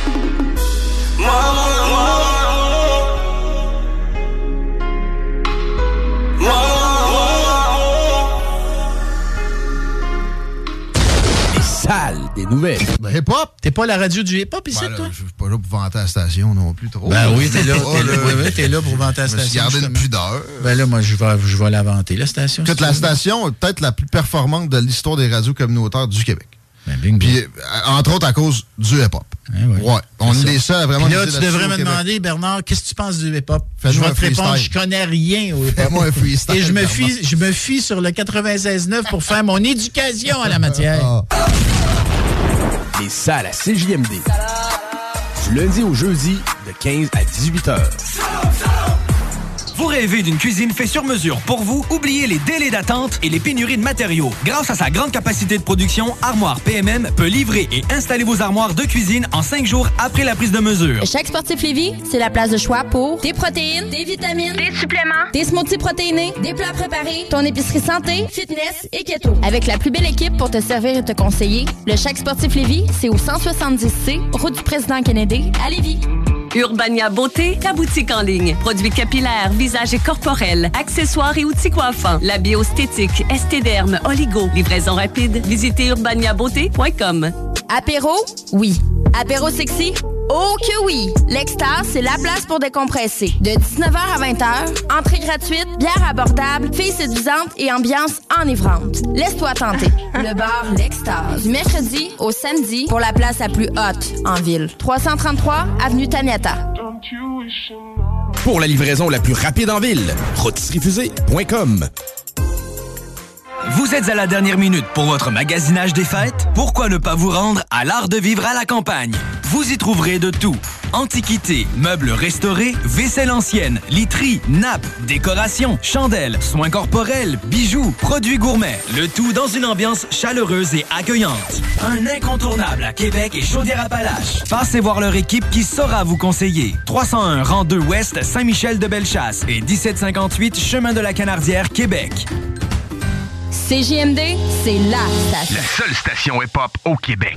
S12: Sale des nouvelles.
S18: Ben, hip-hop.
S22: T'es pas la radio du hip-hop ici, toi?
S18: Je suis pas là pour vanter la station non plus trop.
S22: Ben oui, t'es là. T'es là pour vanter la station.
S18: Je me suis gardé une pudeur.
S22: Ben là, moi, je vais la vanter, la station.
S18: Écoute, la station est peut-être la plus performante de l'histoire des radios communautaires du Québec.
S22: Ben, bingo.
S18: Puis, entre autres, à cause du hip-hop.
S22: Ouais.
S18: On est des seuls à vraiment...
S22: Puis là, tu devrais me demander, Bernard, qu'est-ce que tu penses du hip-hop?
S18: Je
S22: vais te répondre, je connais rien au hip-hop.
S18: Fais-moi un freestyle.
S22: Et je me fie sur le 96.9 pour faire mon éducation à la matière.
S12: Les salles à CJMD. Du lundi au jeudi, de 15 à 18 heures.
S23: Vous rêvez d'une cuisine faite sur mesure pour vous? Oubliez les délais d'attente et les pénuries de matériaux. Grâce à sa grande capacité de production, Armoire PMM peut livrer et installer vos armoires de cuisine en 5 jours après la prise de mesure.
S21: Chaque Sportif Lévis, c'est la place de choix pour des protéines, des vitamines, des suppléments, des smoothies protéinés, des plats préparés, ton épicerie santé, fitness et keto. Avec la plus belle équipe pour te servir et te conseiller, le Chaque Sportif Lévis, c'est au 170C, route du Président Kennedy, à Lévis.
S24: Urbania Beauté, ta boutique en ligne. Produits capillaires, visage et corporel, accessoires et outils coiffants. La biostétique, estéderme, oligo. Livraison rapide. Visitez urbaniabeauté.com.
S21: Apéro? Oui. Apéro sexy? Oh que oui! L'Extase, c'est la place pour décompresser. De 19h à 20h, entrée gratuite, bière abordable, filles séduisantes et ambiance enivrante. Laisse-toi tenter. Le bar L'Extase. Du mercredi au samedi pour la place la plus haute en ville. 333 avenue Taniata.
S12: Pour la livraison la plus rapide en ville, rotisseriefusée.com.
S23: Vous êtes à la dernière minute pour votre magasinage des fêtes? Pourquoi ne pas vous rendre à l'Art de vivre à la campagne? Vous y trouverez de tout. Antiquités, meubles restaurés, vaisselle ancienne, literie, nappes, décorations, chandelles, soins corporels, bijoux, produits gourmets. Le tout dans une ambiance chaleureuse et accueillante. Un incontournable à Québec et Chaudière-Appalaches. Passez voir leur équipe qui saura vous conseiller. 301 rang 2 Ouest, Saint-Michel-de-Bellechasse et 1758 Chemin de la Canardière, Québec.
S21: CJMD, c'est la station.
S13: La seule station hip-hop au Québec.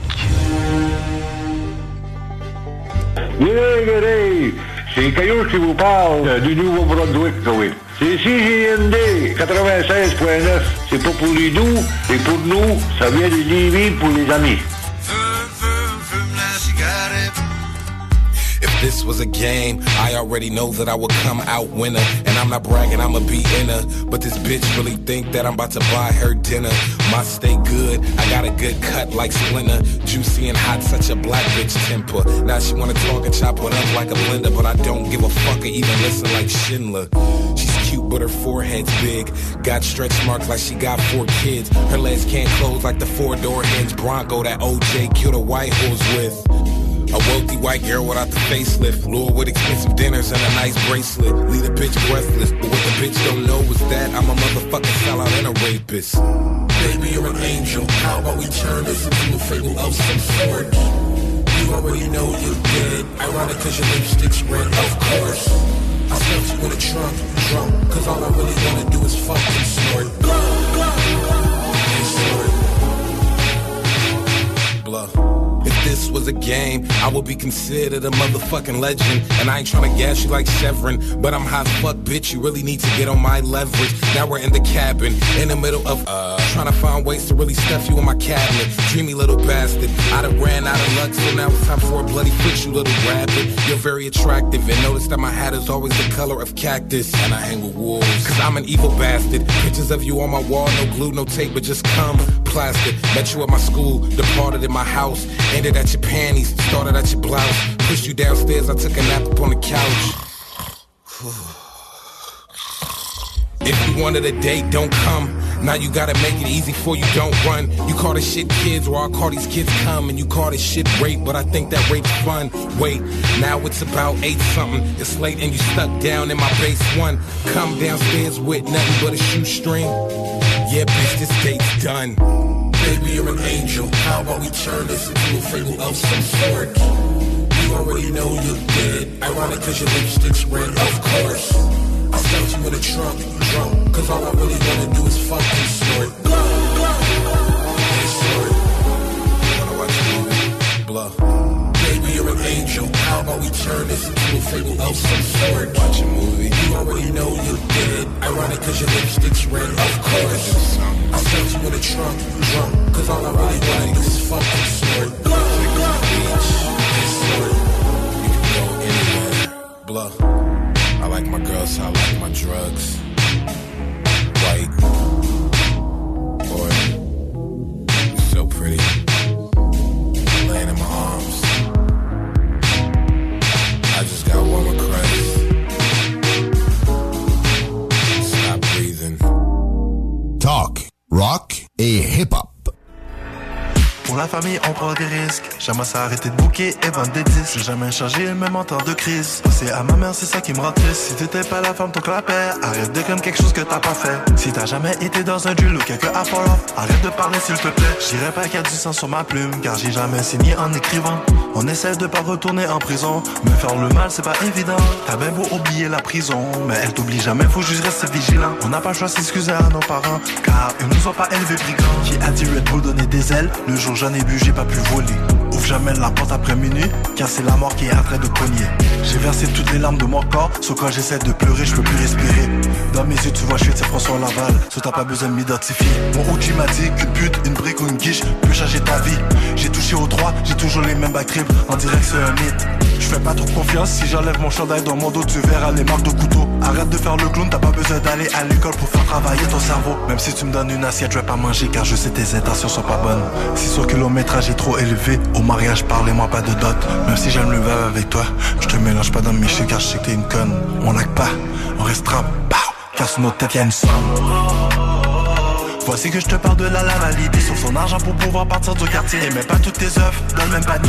S26: Yeah, c'est Caillou qui vous parle du Nouveau-Brunswick, oui.
S2: C'est CJMD 96.9. C'est pas pour les doux, et pour nous, ça vient de Lévis pour les amis.
S4: If this was a game, I already know that I would come out winner. And I'm not bragging, I'ma be in her. But this bitch really think that I'm about to buy her dinner. My stay good, I got a good cut like Splinter. Juicy and hot, such a black bitch temper. Now she wanna talk and chop it up like a blender. But I don't give a fuck or even listen like Schindler. She's cute but her forehead's big. Got stretch marks like she got 4 kids. Her legs can't close like the 4-door hinge Bronco that OJ killed a white horse with. A wealthy white girl without the facelift. Lure with expensive dinners and a nice bracelet. Leave a bitch breathless. But what the bitch don't know is that I'm a motherfucking sellout and a rapist.
S5: Baby, you're an angel. How about we turn this into a fable of some sort? You already know you're dead. Ironic cause your lipstick's red, of course. I stuffed you in a trunk, drunk. Cause all I really wanna do is fucking snort. And snort.
S4: Bluff. If this was a game, I would be considered a motherfucking legend. And I ain't tryna gas you like Chevron, but I'm hot fuck, bitch. You really need to get on my leverage. Now we're in the cabin, in the middle of trying to find ways to really stuff you in my cabinet. Dreamy little bastard. I done ran out of luck, so now it's time for a bloody fix, you little rabbit. You're very attractive, and notice that my hat is always the color of cactus. And I hang with wolves, cause I'm an evil bastard. Pictures of you on my wall, no glue, no tape, but just cum. Plastic. Met you at my school, departed in my house. Ended at your panties, started at your blouse. Pushed you downstairs, I took a nap up on the couch. If you wanted a date, don't come. Now you gotta make it easy for you, don't run. You call this shit kids, or I'll call these kids come. And you call this shit rape, but I think that rape's fun. Wait, now it's about 8 something. It's late and you stuck down in my base 1. Come downstairs with nothing but a shoestring. Yeah, bitch, this date's done.
S5: Baby, you're an angel. How about we turn this into a fable of some sort? You already know you're dead. Ironic cause your lipstick's red, of course. I stuffed you in a trunk, drunk. Cause all I really wanna do is fucking snort. And snort.
S4: Wanna watch a movie? Bluff.
S5: Baby, you're an angel. How about we turn this into a fable of some sort?
S4: Watch a movie.
S5: You already know you're dead. Ironic cause your lipstick's red, of course. I stuffed you in a trunk, drunk. Cause all I really wanna do is fucking snort. And snort.
S4: You can go anywhere. Bluff. I like my girls, I like my drugs. White. Boy. You're so pretty. Laying in my arms. I just got one request. Stop breathing.
S3: Talk, rock et hip-hop.
S16: Pour la famille, on prend des risques. Jamais s'arrêter de bouquer et vendre des disques. J'ai jamais changé, même en temps de crise. C'est à ma mère, c'est ça qui me rend triste. Si t'étais pas la femme, ton clapet. Arrête de comme quelque chose que t'as pas fait. Si t'as jamais été dans un duel ou quelques Apollo, arrête de parler s'il te plaît. J'irai pas qu'il y a du sang sur ma plume, car j'ai jamais signé en écrivant. On essaie de pas retourner en prison, mais faire le mal, c'est pas évident. T'as bien beau oublier la prison, mais elle t'oublie jamais, faut juste rester vigilant. On n'a pas le choix de s'excuser à nos parents, car ils nous ont pas élevés brigands. Qui a dit Red Bull donner des ailes? Le jour j'en ai bu, j'ai pas pu voler. Ouvre jamais la porte après minuit, car c'est la mort qui est en train de cogner. J'ai versé toutes les larmes de mon corps, sauf quand j'essaie de pleurer, je peux plus respirer. Dans mes yeux, tu vois, je suis François Laval, sauf t'as pas besoin de m'identifier. Mon OG m'a dit qu'une pute, une brique ou une guiche peut changer ta vie. J'ai touché aux 3, j'ai toujours les mêmes backtrips, on dirait que c'est un mythe. Je fais pas trop confiance, si j'enlève mon chandail dans mon dos, tu verras les marques de couteau. Arrête de faire le clown, t'as pas besoin d'aller à l'école pour faire travailler ton cerveau. Même si tu me donnes une assiette, je vais pas manger, car je sais tes intentions sont pas bonnes. Si son kilométrage est trop élevé, au mariage, parlez-moi pas de dot. Même si j'aime le verre avec toi, je te mélange pas dans mes chiffres, car je sais que t'es une conne. On lag pas, on restera, car sur notre tête y'a une somme. Voici que je te parle de la validée sur son argent pour pouvoir partir du quartier. Et mets pas toutes tes œufs dans le même panier.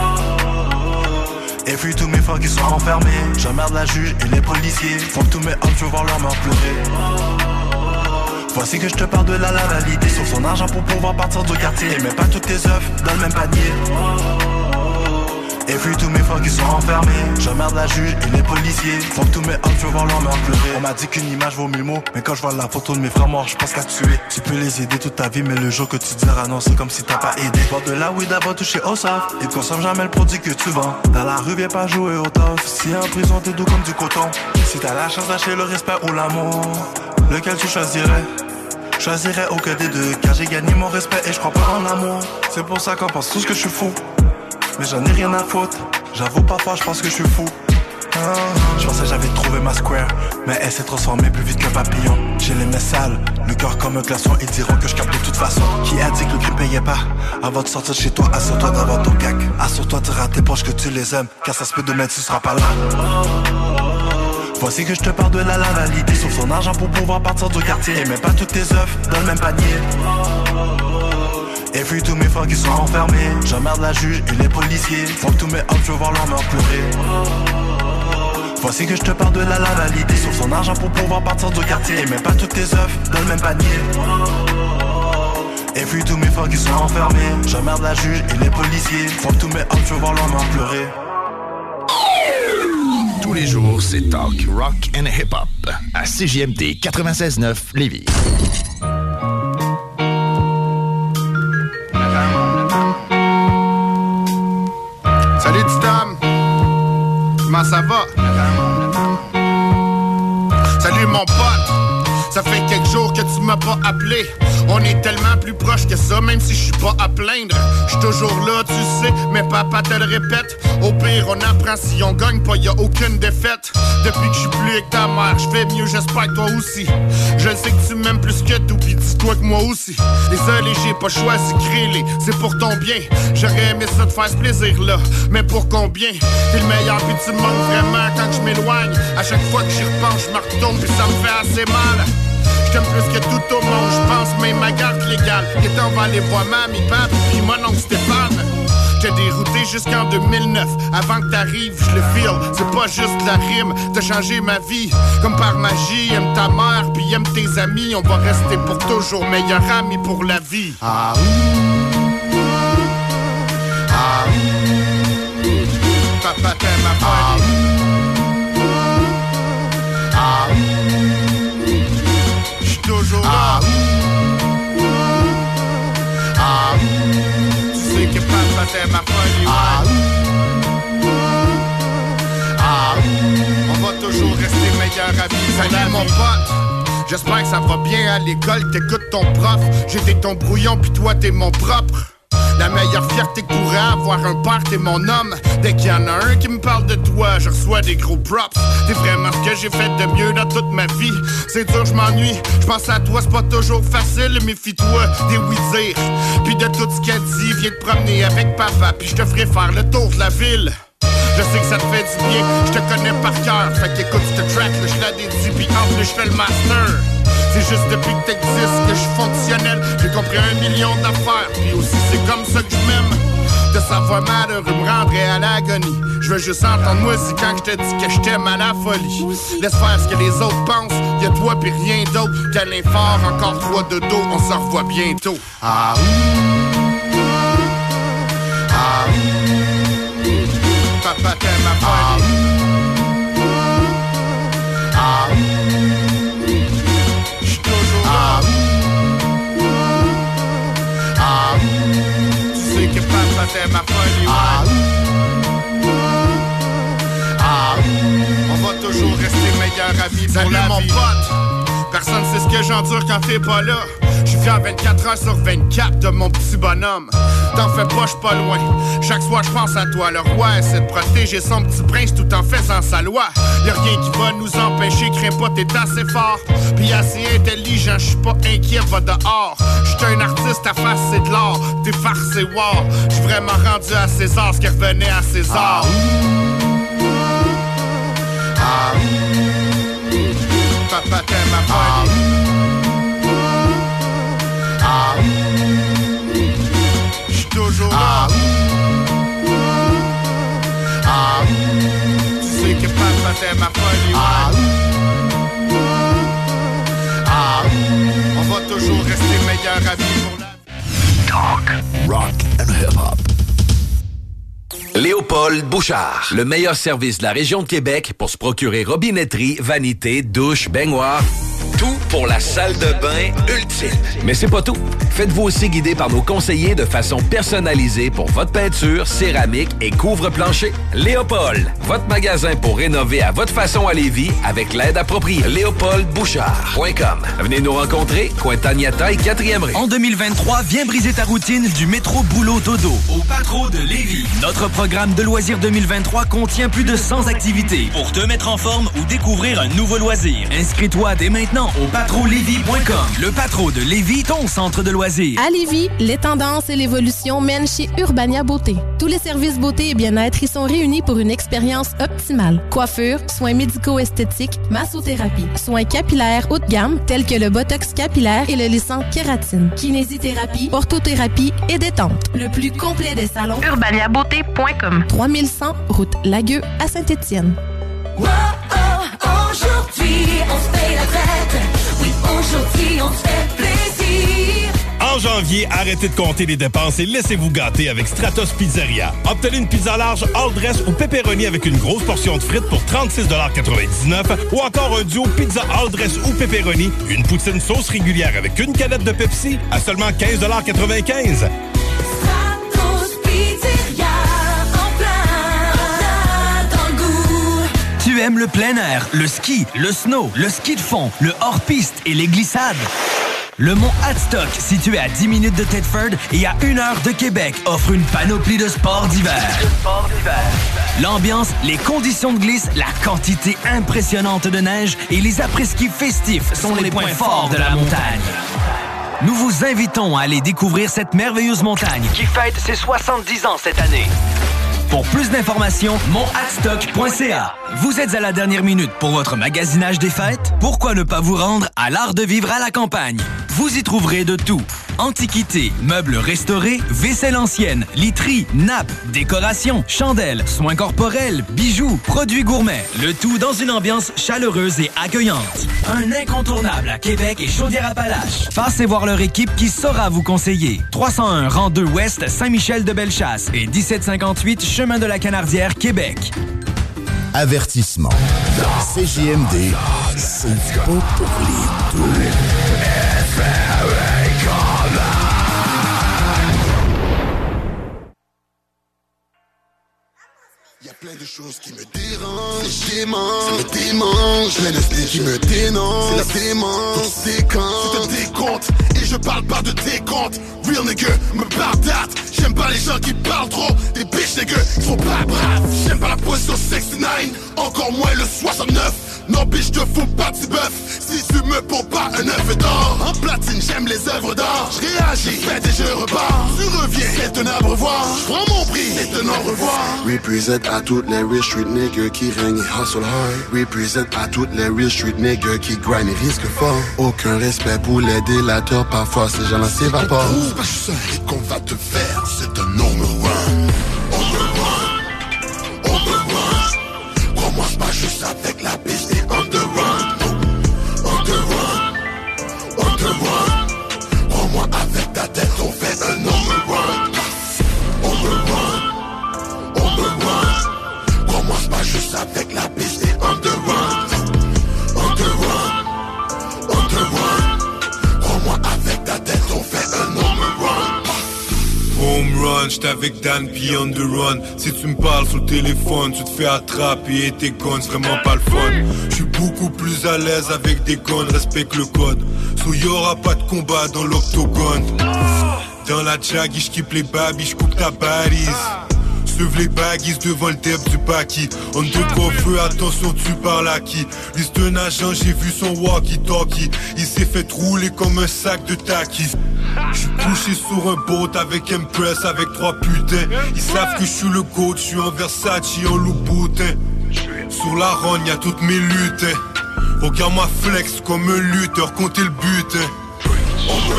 S16: Et puis tous mes frères qui sont enfermés. J'emmerde la juge et les policiers. Faut que tous mes hommes, je veux voir leur mort pleurer. Voici que je te parle de la validée sur son argent pour pouvoir partir du quartier. Et mets pas toutes tes œufs dans le même panier. Et puis tous mes frères qui sont enfermés. J'emmerde la juge et les policiers. Faut que tous mes hommes, je veux voir leur mère pleurer. On m'a dit qu'une image vaut 1000 mots. Mais quand je vois la photo de mes frères morts, je pense qu'à tuer. Tu peux les aider toute ta vie, mais le jour que tu diras non, c'est comme si t'as pas aidé. Voir de la weed avant toucher au soft. Et consomme jamais le produit que tu vends. Dans la rue, viens pas jouer au tof. Si en prison, t'es doux comme du coton. Si t'as la chance d'acheter le respect ou l'amour, lequel tu choisirais? Choisirais aucun des deux, car j'ai gagné mon respect et je crois pas en l'amour. C'est pour ça qu'on pense tous que je suis fou, mais j'en ai rien à foutre. J'avoue parfois je pense que je suis fou. Je pensais que j'avais trouvé ma square, mais elle s'est transformée plus vite qu'un papillon. J'ai les mains sales, le cœur comme un glaçon. Ils diront que je capte de toute façon. Qui a dit que le crime payait pas? Avant de sortir de chez toi, assure-toi d'avoir ton cac. Assure-toi de tirer à tes poches que tu les aimes, car ça se peut demain tu seras pas là. Voici que je te parle de la validité. Sur son argent pour pouvoir partir du quartier. Et mets pas toutes tes œufs dans le même panier. Et puis tous mes frères qui sont enfermés. J'emmerde la juge et les policiers. Faut que tous mes hommes, je veux voir leur mère pleurer. Voici que je te parle de la validité. Sur son argent pour pouvoir partir du quartier. Et mets pas toutes tes œufs dans le même panier. Et puis tous mes frères qui sont enfermés. J'emmerde la juge et les policiers. Faut que tous mes hommes, je veux voir leur mère pleurer.
S3: Tous les jours, c'est talk, rock and hip-hop à CJMD 96.9 Lévis.
S1: Salut Titam, comment ça va? Salut mon pote, ça fait quelques jours que tu m'as pas appelé. On est tellement plus proche que ça, même si je suis pas à plaindre. Je suis toujours là, tu sais, mais papa te le répète. Au pire, on apprend si on gagne pas, y'a aucune défaite. Depuis que je suis plus avec ta mère, je fais mieux, j'espère que toi aussi. Je sais que tu m'aimes plus que tout, pis dis-toi que moi aussi. Désolé, j'ai pas choisi créer, c'est pour ton bien. J'aurais aimé ça te faire ce plaisir-là, mais pour combien? T'es le meilleur, pis tu me manques vraiment quand je m'éloigne. À chaque fois que j'y repense, je me retourne, pis ça me fait assez mal. J't'aime plus que tout au monde, j'pense même ma garde légale. Et on va aller voir mamie, papi, pis mon oncle Stéphane. J't'ai dérouté jusqu'en 2009, avant que t'arrives, j'le feel. C'est pas juste la rime, t'as changé ma vie. Comme par magie, aime ta mère, pis aime tes amis. On va rester pour toujours meilleurs amis pour la vie. Ah ah papa t'aime ma folie. Ah toujours là. Tu sais que papa t'aime ma folie, on va toujours rester meilleurs amis. Salut mon pote, j'espère que ça va bien à l'école. T'écoutes ton prof, j'étais ton brouillon puis toi t'es mon propre. La meilleure fierté que pourrait avoir un père, t'es mon homme. Dès qu'il y en a un qui me parle de toi, je reçois des gros props. T'es vraiment ce que j'ai fait de mieux dans toute ma vie. C'est dur, je m'ennuie, je pense à toi, c'est pas toujours facile. Méfie-toi des oui-dire, puis de tout ce qu'elle dit. Viens te promener avec papa, puis je te ferai faire le tour de la ville. Je sais que ça te fait du bien, je te connais par cœur. Fait qu'écoute ce track, là, je la dédie, puis en plus je fais le master. C'est juste depuis que t'existes que je suis fonctionnel. J'ai compris 1 million d'affaires, puis aussi c'est comme ça que je m'aime. De savoir malheureux me rendrait à l'agonie. Je veux juste entendre moi si quand je te dis que je t'aime à la folie. Laisse faire ce que les autres pensent, y'a toi pis rien d'autre. Câlin fort, encore 3 de dos, on se revoit bientôt. Ah ah papa t'aime ma folie. Ah j'suis toujours là. Ah tu sais que papa t'aime ma folie. On va toujours rester meilleurs amis pour la vie. Mon pote, personne sait ce que j'endure quand t'es pas là. J'suis fier 24 heures sur 24 de mon petit bonhomme. T'en fais pas, j'suis pas loin. Chaque soir j'pense à toi. Le roi essaie de protéger son petit prince tout en faisant sa loi. Y'a rien qui va nous empêcher, crains pas, t'es assez fort. Pis assez intelligent, j'suis pas inquiet, va dehors. J'suis un artiste à face, c'est de l'art. T'es farcé, wow. J'suis vraiment rendu à César, ce qui revenait à César. Papa t'aime ma folie. J'suis toujours là. Tu sais que papa t'aime ma folie. On va toujours rester meilleurs amis pour la
S3: Talk, rock and hip-hop.
S7: Léopold Bouchard. Le meilleur service de la région de Québec pour se procurer robinetterie, vanité, douche, baignoire. Tout pour la salle de bain ultime. Mais c'est pas tout. Faites-vous aussi guider par nos conseillers de façon personnalisée pour votre peinture, céramique et couvre-plancher. Léopold, votre magasin pour rénover à votre façon à Lévis avec l'aide appropriée. LéopoldBouchard.com. Venez nous rencontrer, Cointagnata et 4e rue.
S23: En 2023, viens briser ta routine du métro boulot dodo au Patro de Lévis. Notre programme de loisirs 2023 contient plus de 100 activités pour te mettre en forme ou découvrir un nouveau loisir. Inscris-toi dès maintenant au patrolévis.com. Le Patro de Lévis, ton centre de loisirs.
S8: À Lévis, les tendances et l'évolution mènent chez Urbania Beauté. Tous les services beauté et bien-être y sont réunis pour une expérience optimale. Coiffure, soins médico-esthétiques, massothérapie, soins capillaires haut de gamme tels que le botox capillaire et le lissant kératine, kinésithérapie, orthothérapie et détente. Le plus complet des salons.
S21: urbaniabeauté.com.
S8: 3100 route Lagueux à Saint-Étienne.
S9: Oh, oh, aujourd'hui, on se paye la fête. Oui, aujourd'hui, on se fait plaisir.
S14: En janvier, arrêtez de compter les dépenses et laissez-vous gâter avec Stratos Pizzeria. Obtenez une pizza large, all dress ou pepperoni avec une grosse portion de frites pour 36,99$ ou encore un duo pizza all dress ou pepperoni, une poutine sauce régulière avec une canette de Pepsi à seulement 15,95$.
S23: Tu aimes le plein air, le ski, le snow, le ski de fond, le hors-piste et les glissades? Le mont Hadstock, situé à 10 minutes de Thetford et à 1 heure de Québec, offre une panoplie de sports d'hiver. L'ambiance, les conditions de glisse, la quantité impressionnante de neige et les après-ski festifs sont les points forts de la montagne. Nous vous invitons à aller découvrir cette merveilleuse montagne qui fête ses 70 ans cette année. Pour plus d'informations, monthadstock.ca. Vous êtes à la dernière minute pour votre magasinage des fêtes? Pourquoi ne pas vous rendre à l'Art de vivre à la campagne? Vous y trouverez de tout. Antiquités, meubles restaurés, vaisselle ancienne, literie, nappes, décorations, chandelles, soins corporels, bijoux, produits gourmets. Le tout dans une ambiance chaleureuse et accueillante. Un incontournable à Québec et Chaudière-Appalaches. Passez voir leur équipe qui saura vous conseiller. 301 rang 2 Ouest, Saint-Michel-de-Bellechasse et 1758 Chemin de la Canardière, Québec.
S3: Avertissement. CJMD, c'est pas pour les doux.
S1: Y'a plein de choses qui me dérangent, ça me démange, plein de styles qui me dénoncent, c'est la démence, c'est un décompte, et je parle pas de décompte, real nigga, me pardate, j'aime pas les gens qui parlent trop, des bitch nigga, ils sont pas braves, j'aime pas la position 69, encore moins le 69, non bitch te fous pas de bœuf, si tu me poses pas un œuf d'or, en platine j'aime les œuvres d'art, je réagis, fête et je repars, tu reviens, c'est un abreuvoir, je prends mon prix, c'est un au revoir,
S25: represent à toutes les real street niggas qui règnent et hustle hard. Represent à toutes les real street niggas qui grind et risquent fort. Aucun respect pour les délateurs, parfois ces gens-là s'évaporent.
S1: C'est pas juste un hit qu'on va te faire, c'est un no me run. On me run, on me run. Crois-moi, c'est pas juste avec la piste et on the run. On te run, on te run. Crois-moi, avec ta tête, on fait un no me run. On me run, on me run. Crois-moi, c'est pas juste avec la piste et on the run. On te run, on te run. Crois-moi, avec ta tête, on fait un no me run.
S26: Home run, j'étais avec Dan P on the run. Si tu me parles sur le téléphone, tu te fais attraper et tes guns, c'est vraiment pas le fun. J'suis beaucoup plus à l'aise avec des guns, respecte le code. So y'aura pas de combat dans l'octogone. Dans la jaggy, j'kippe les babys, j'coupe ta balise. Suive les baguises devant le dep du baki. On te coffre, attention tu parles à qui. Lui c'est un agent, j'ai vu son walkie-talkie. Il s'est fait rouler comme un sac de takis. J'suis couché sur un boat avec Empress, avec 3 putains. Ils savent que j'suis le GOAT, j'suis en Versace, en Louboutin. Sur la ronde y'a toutes mes luttes. Regarde-moi flex comme un lutteur, comptez le butin.
S1: On me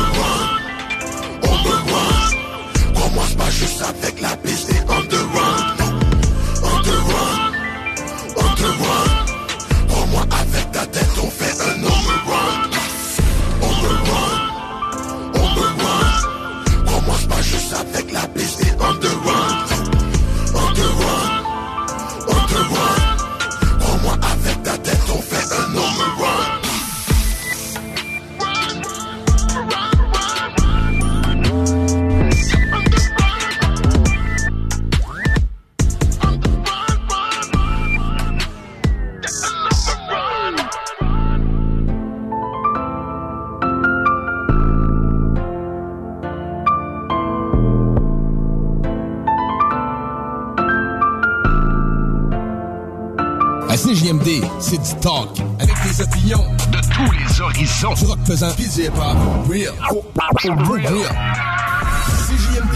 S1: run, on me run. Crois-moi c'est pas juste avec la piste et on the run. On te run, on te run. Crois-moi avec ta tête on fait un on me run. On me run, on me run. Crois-moi c'est pas juste avec la piste et on the run. On te
S12: CJMD, c'est du talk. Avec des opinions de tous les horizons. Du rock pesant, pis du hip-hop. Real. Real. CJMD.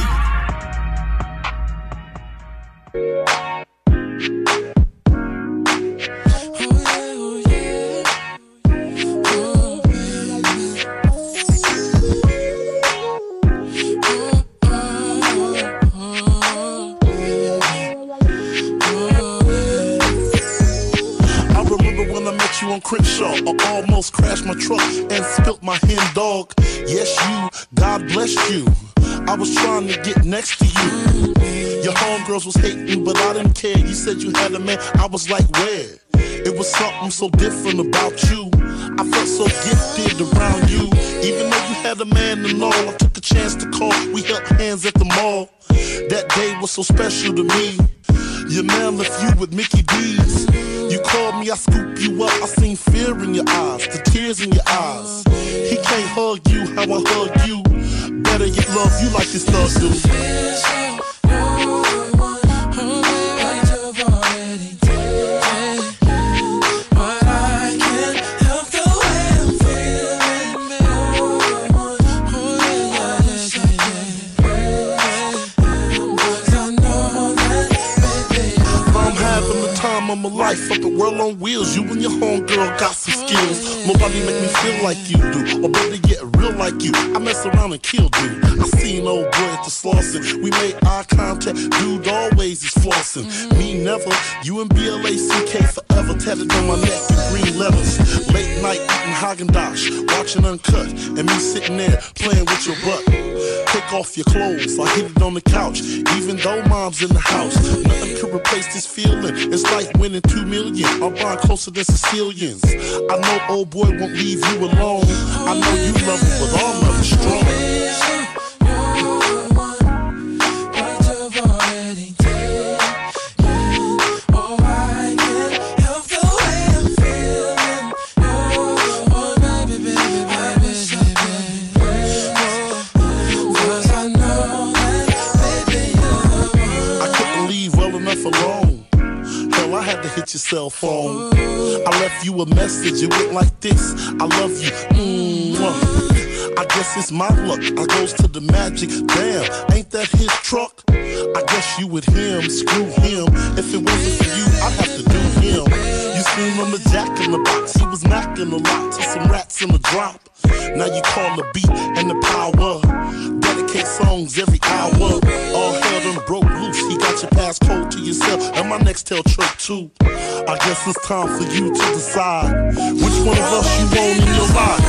S6: On Crenshaw, I almost crashed my truck and spilt my hen dog. Yes, you, God blessed you. I was trying to get next to you. Your homegirls was hating, but I didn't care. You said you had a man, I was like, where? It was something so different about you. I felt so gifted around you. Even though you had a man and all, I took a chance to call. We held hands at the mall. That day was so special to me. Your man left you with Mickey D's. You called me, I scooped you up. I seen fear in your eyes, the tears in your eyes. He can't hug you how I hug you. Better yet, love you like his thug do. Of my life, up the world on wheels. You and your homegirl got some skills. Nobody make me feel like you do, or better yet, real like you. I mess around and kill dude. I seen old boy at the Slauson. We made eye contact, dude always is flossing. Me never, you and BLACK forever. Tatted on my neck in green letters. Late night eating Haagen-Dazs, watching Uncut, and me sitting there playing with your butt. Take off your clothes, I hit it on the couch. Even though mom's in the house, nothing could replace this feeling. It's like winning 2 million. I'm buying closer than Sicilians. I know old boy won't leave you alone. I know you love him, but all love is strong. Hit your cell phone. I left you a message, it went like this: I love you. I guess it's my luck. I goes to the Magic. Damn, ain't that his truck? I guess you with him, screw him. If it wasn't for you, I'd have to do him. You seen him the Jack in the Box. He was knocking a lot to some rats in the drop. Now you call the beat and the power. Dedicate songs every hour. All hell done broke loose. He got your passcode to yourself and my Nextel trick too. I guess it's time for you to decide which one of us you want in your life.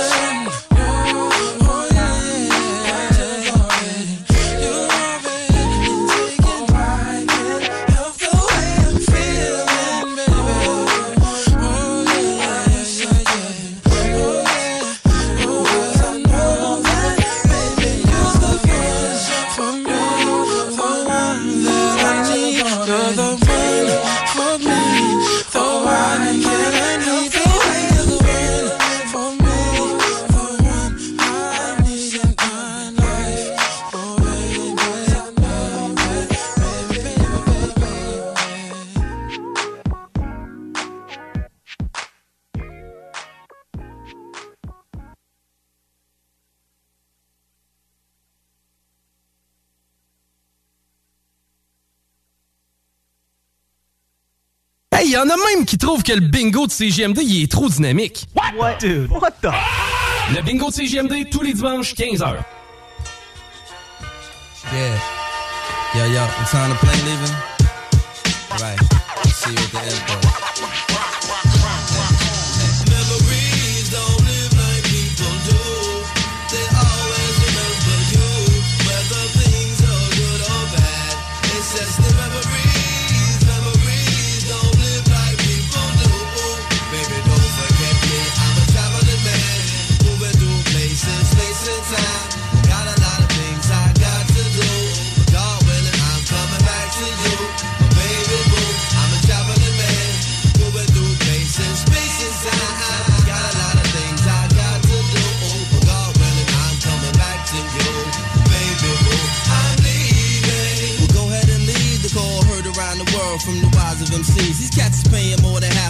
S10: Hey, y en a même qui trouvent que le bingo de CJMD, il est trop dynamique.
S11: What? Dude, what the?
S10: Le bingo de CJMD, tous les dimanches, 15h.
S15: Yeah. Yo, what time the plane leaving? Right. See you at the airport.
S9: Memories don't live like people do. They always remember you. Whether things are good or bad. It's just the memories. Memories don't live like people do. Baby, don't forget me. I'm a traveling man. Moving through places, space and time. Got a lot of things I got to do. But God willing, I'm coming back to you. But baby boo, I'm a traveling man. Moving through places, space and time. Got a lot of things I got to do. But God willing, I'm coming back to you. Baby boo, I'm leaving.
S15: Well, go ahead and leave the call heard around the world from the wise of MCs. These cats is paying more than half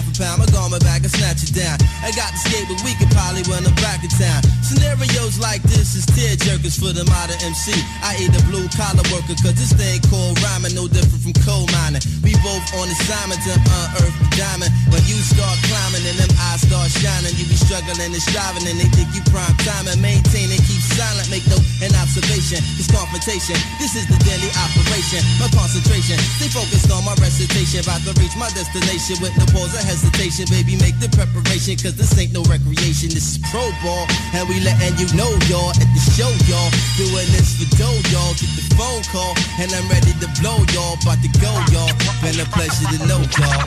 S15: snatch it down. I got to skate, but we could probably run them back to town. Scenarios like this is tear jerkers for the modern MC. I ain't a blue collar worker, cause this thing called rhyming no different from coal mining. We both on assignment to unearth the diamond. When you start climbing and them eyes start shining, you be struggling and striving and they think you prime time and maintain and keep silent. Make no an observation, it's confrontation. This is the daily operation. My concentration, stay focused on my recitation. About to reach my destination with no pause or hesitation. Baby, make the preparation, cause this ain't no recreation. This is pro ball, and we letting you know, y'all, at the show, y'all. Doing this for dough, y'all. Get the phone call, and I'm ready to blow, y'all. About to go, y'all. Been a pleasure to know, y'all.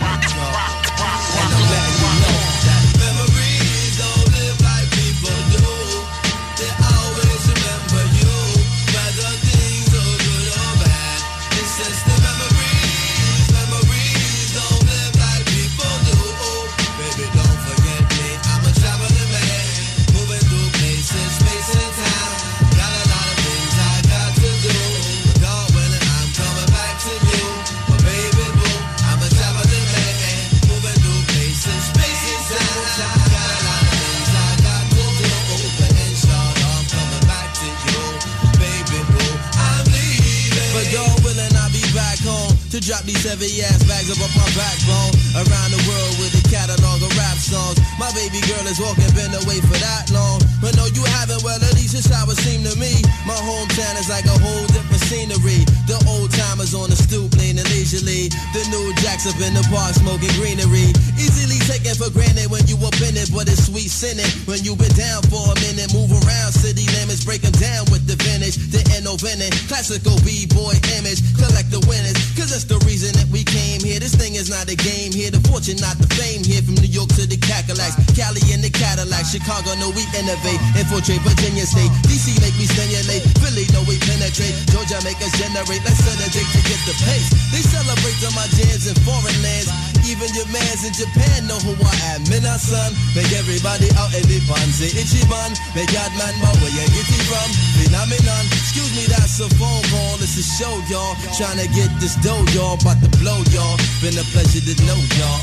S15: And I'm letting you know that memories don't live like people do. They always remember you, whether things are good or bad. It's just the memories. Memories don't live like people do. Baby, don't forget me. I'm a traveling man, moving through places, space and time. Got a lot of things I got to do. But God willing, I'm coming back to you. But baby, boo, I'm a traveling man, moving through places, space and time. Got a lot of things I got to do. But inshallah, I'm coming back to you. Baby, boo, I'm leaving. But God willing, I'll be back home to drop these heavy ass bags up my backbone. Around the world with a catalog of rap songs. My baby girl is walking, been away for that long. But no, you haven't, well, at least it's how it seemed to me. My hometown is like a whole different scenery. The old timers on the stoop, leaning leisurely. The new jacks up in the park, smoking greenery. Easily taken for granted when you up in it, but it's sweet sinning. When you been down for a minute, move around city limits, break them down with the vintage. The innovative, classical B-boy image. Collect the winners, cause that's the reason that we came here. This thing is not a game here. The fortune, not the fame here. From New York to the Cadillacs, Cali in the Cadillac, Chicago, no, we innovate. Infiltrate Virginia State, DC make me stimulate. Philly, no, we penetrate. Georgia make us generate. Let's set a date to get the pace. They celebrate on my jams in foreign lands. Even your mans in Japan know who I am. Mina son, make everybody out in the fun. Say Ichiban, make God man, but where you get it from? Phenomenon, excuse me, that's a phone call. It's a show, y'all. Trying to get this dough, y'all. About to blow, y'all. Been a pleasure to know, y'all.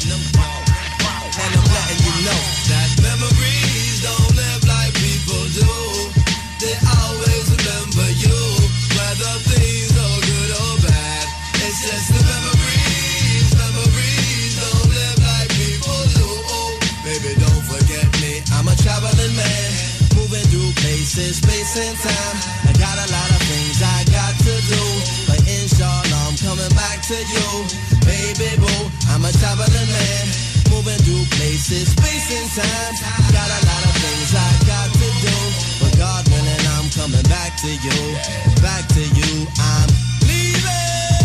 S15: And I'm letting you know that memories don't live like people do. They always remember you, whether things are good or bad. It's just the memories. Memories don't live like people do. Baby, don't forget me. I'm a traveling man, moving through places, space and time. I got a lot of things I got to do, but inshallah I'm coming back to you. Baby boo, I'm a traveling man, moving through places, space and time. Got a lot of things I got to do, but God willing, I'm coming back to you. Back to you, I'm leaving.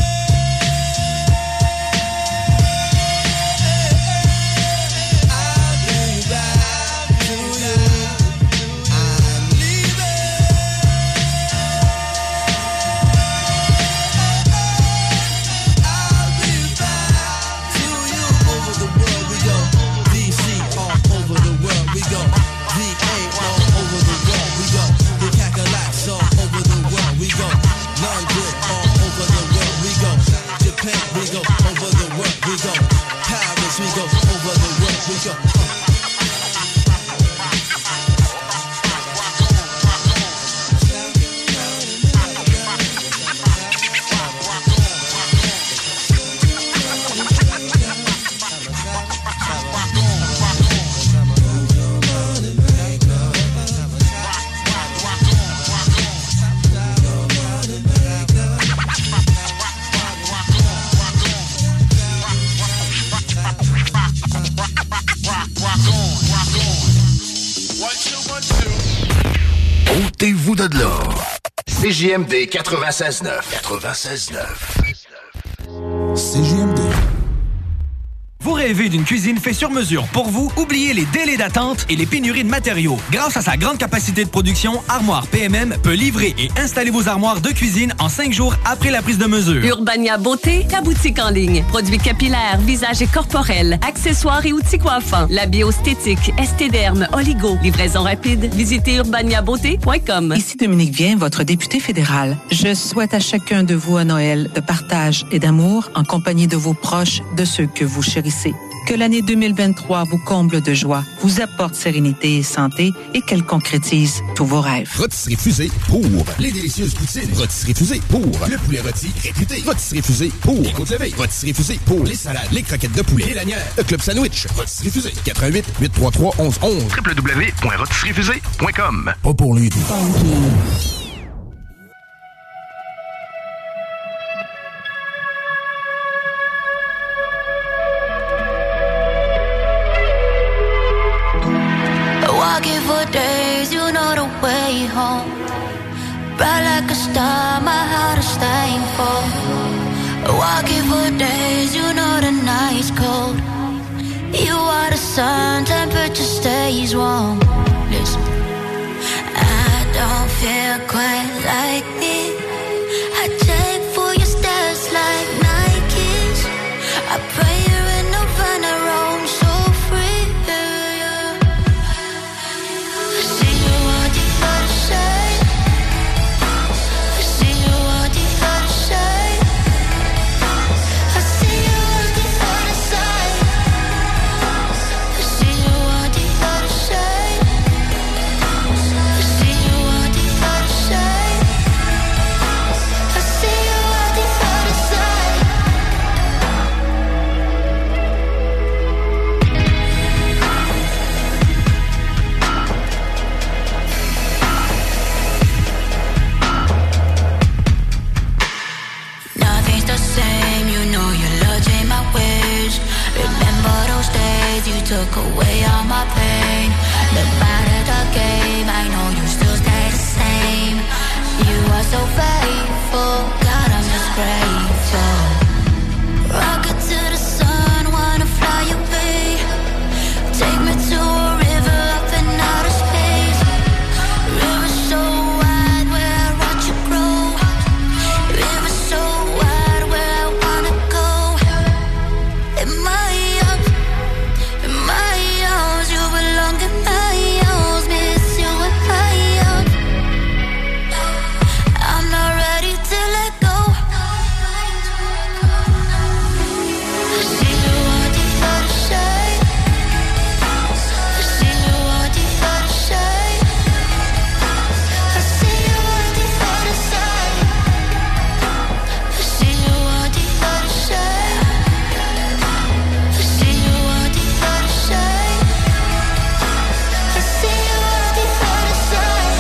S15: I'll be back to you. I'm leaving. I'll be back to you. Over the world we go. DC all over the world we go. VA all over the world we go. The Cadillacs all over the world we go. London all over the world we go. Japan we go. Over the world we go. Paris we go. Over the world we go.
S3: Ôtez-vous de là. CJMD 96.9. 96.9.
S23: CJMD. Vous rêvez d'une cuisine faite sur mesure pour vous? Oubliez les délais d'attente et les pénuries de matériaux. Grâce à sa grande capacité de production, Armoire PMM peut livrer et installer vos armoires de cuisine en 5 jours après la prise de mesure.
S24: Urbania Beauté, ta boutique en ligne. Produits capillaires, visage et corporel, accessoires et outils coiffants. La bioesthétique, estéderme, oligo. Livraison rapide. Visitez urbaniabeauté.com.
S11: Ici Dominique Vien, votre député fédéral. Je souhaite à chacun de vous un Noël de partage et d'amour en compagnie de vos proches, de ceux que vous chérissez. Que l'année 2023 vous comble de joie, vous apporte sérénité et santé et qu'elle concrétise tous vos rêves.
S12: Rôtisserie Fusée pour les délicieuses poutines. Rôtisserie Fusée pour le poulet rôti réputé. Rôtisserie Fusée pour les côtes levées. Rôtisserie Fusée pour les salades, les croquettes de poulet, les lanières, le club sandwich. Rôtisserie Fusée. 88 833 1111.
S3: www.rotisseriefusée.com.
S12: Pas pour lui.
S13: Walking for days, you know the way home. Bright like a star, my heart is staying cold. Walking for days, you know the night's cold. You are the sun, temperature stays warm. Listen, I don't feel quite like me. I take for your steps like Nikes. I pray you're in Nirvana, roam so free. See you on the other side. See you on the other side. I see you on the other side. See you on the other side. See you on the other side. I see you on the other side. Nothing's the same, you know your love changed my ways. Remember those days you took away all my pain. No matter the game, I know you still stay the same. You are so faithful, God, I'm just grateful. Rocket to the sun, wanna fly away. Take me to a river up in outer space. River so wide where I watch you grow. River so wide where I wanna go. In my arms, you belong in my arms. Miss you in my arms. I'm not ready to let go. See you on the other side. See you on the other side. I see you on the other side. See you on the other side. See you on the other side. I see you on the other side.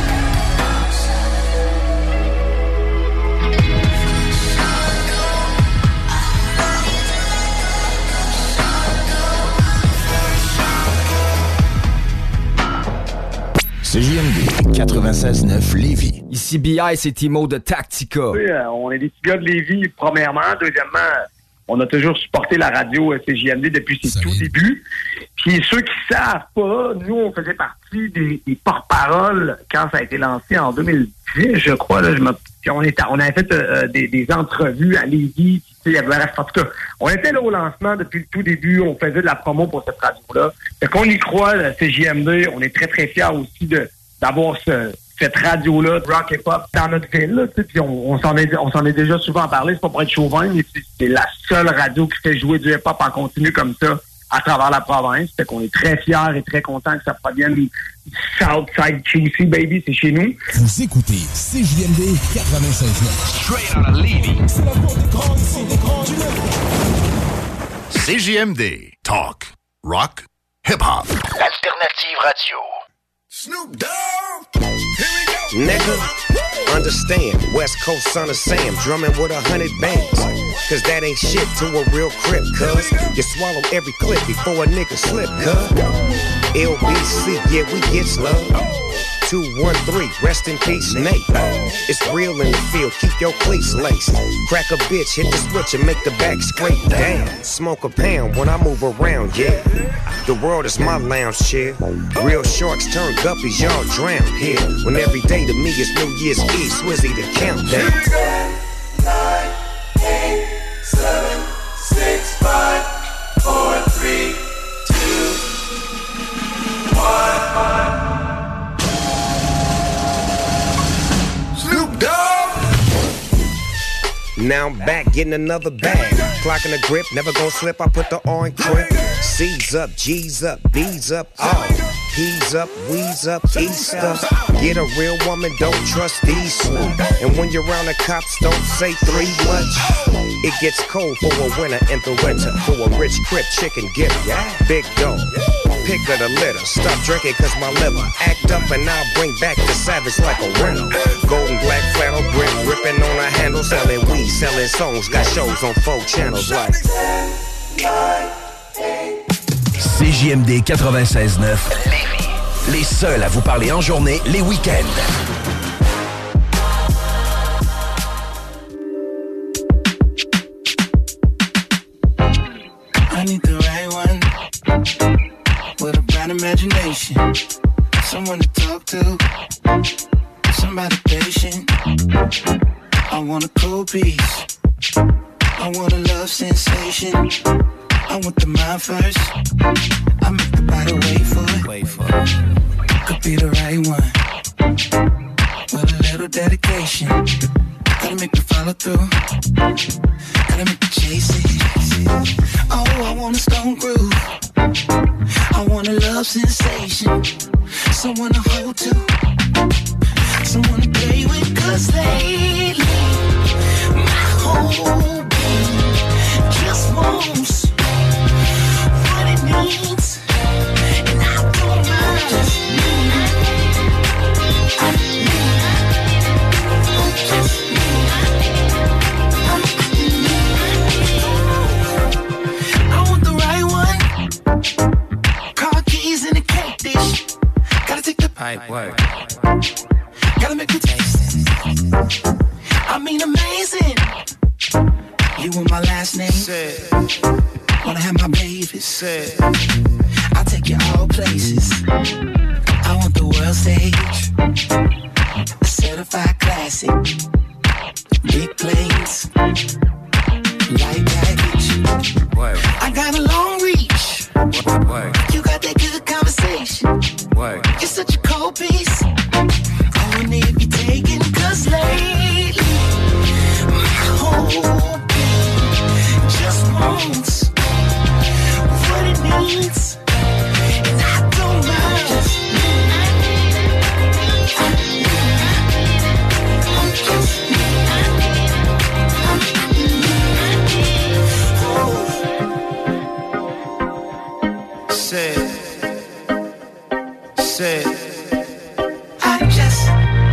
S3: CJMD 96.9 Lévis.
S10: Ici BI, c'est Timo de Tactica.
S17: Oui, on est des petits gars de Lévis, premièrement. Deuxièmement, on a toujours supporté la radio CJMD depuis ses tout débuts. Puis ceux qui savent pas, nous, on faisait partie des porte-paroles quand ça a été lancé en 2010, je crois. Là, on avait fait des entrevues à Lévis. Bref, en tout cas, on était là au lancement depuis le tout début. On faisait de la promo pour cette radio-là. Fait qu'on y croit, la CJMD. On est très, très fiers aussi d'avoir cette radio-là, rock et pop, dans notre ville. Là, puis on s'en est déjà souvent parlé. C'est pas pour être chauvin, mais c'est la seule radio qui fait jouer du hip-hop en continu comme ça à travers la province. Fait qu'on est très fiers et très contents que ça provienne du Southside QC, baby. C'est chez nous.
S12: Vous écoutez CJMD 96.9.
S3: Straight out of Lévis.
S12: C'est la voix des grands, ici, des grands du
S3: CJMD. Talk. Rock. Hip-hop. L'alternative radio.
S5: Snoop Dogg. Here we go.
S18: Nigga, understand, West Coast son of Sam, drumming with 100 bands. Cause that ain't shit to a real crip, cuz you swallow every clip before a nigga slip, cuz LBC, yeah, we get slow. 213, rest in peace, Nate. It's real in the field, keep your cleats laced. Crack a bitch, hit the switch and make the back scrape down. Smoke a pound when I move around, yeah. The world is my lounge chair. Real sharks turn guppies, y'all drown here. When every day to me is New Year's Eve, Swizzy the countdown.
S5: 9, 8, 7, 6, 5, 4, 3, 2, 1.
S18: Now I'm back getting another bag. Clocking the grip, never gon' slip. I put the R in grip. C's up, G's up, B's up, all. P's up, We's up, East up. Get a real woman, don't trust these. And when you're around the cops, don't say three much. It gets cold for a winter in the winter. For a rich crib, chicken gift. Big dog, pick of the litter. Stop drinking cause my liver act up and I'll bring back the savage like a rental. Golden black flannel grip, ripping on a handle. Selling weed, selling songs, got shows on 4 channels like
S7: CJMD 96.9 Lévis. Les seuls à vous parler en journée, les week-ends.
S2: I need the right one with a bright imagination, someone to talk to, somebody patient. I want a cold piece, I want a love sensation. I want the mind first, I make the body wait for it. Could be the right one with a little dedication. Gotta make me follow through, gotta make me chase it. Oh, I want a stone groove, I want a love sensation, someone to hold to, someone to play with. Cause lately my whole being just wants what it needs, and I don't mind. Just me, just me. I want the right one. Car keys in a cake dish. Gotta take the pipe work. Gotta make me taste it. I mean amazing. You want my last name? Said. Wanna have my baby? Said. I'll take you all places. I want the world stage, a certified classic, big planes, light baggage. Word. I got a long reach. Word. You got that good conversation. Word. You're such a cold piece. I wanna be taken, cause lately my whole being just wants what it needs, and I don't mind. Just me. Just me. Say I just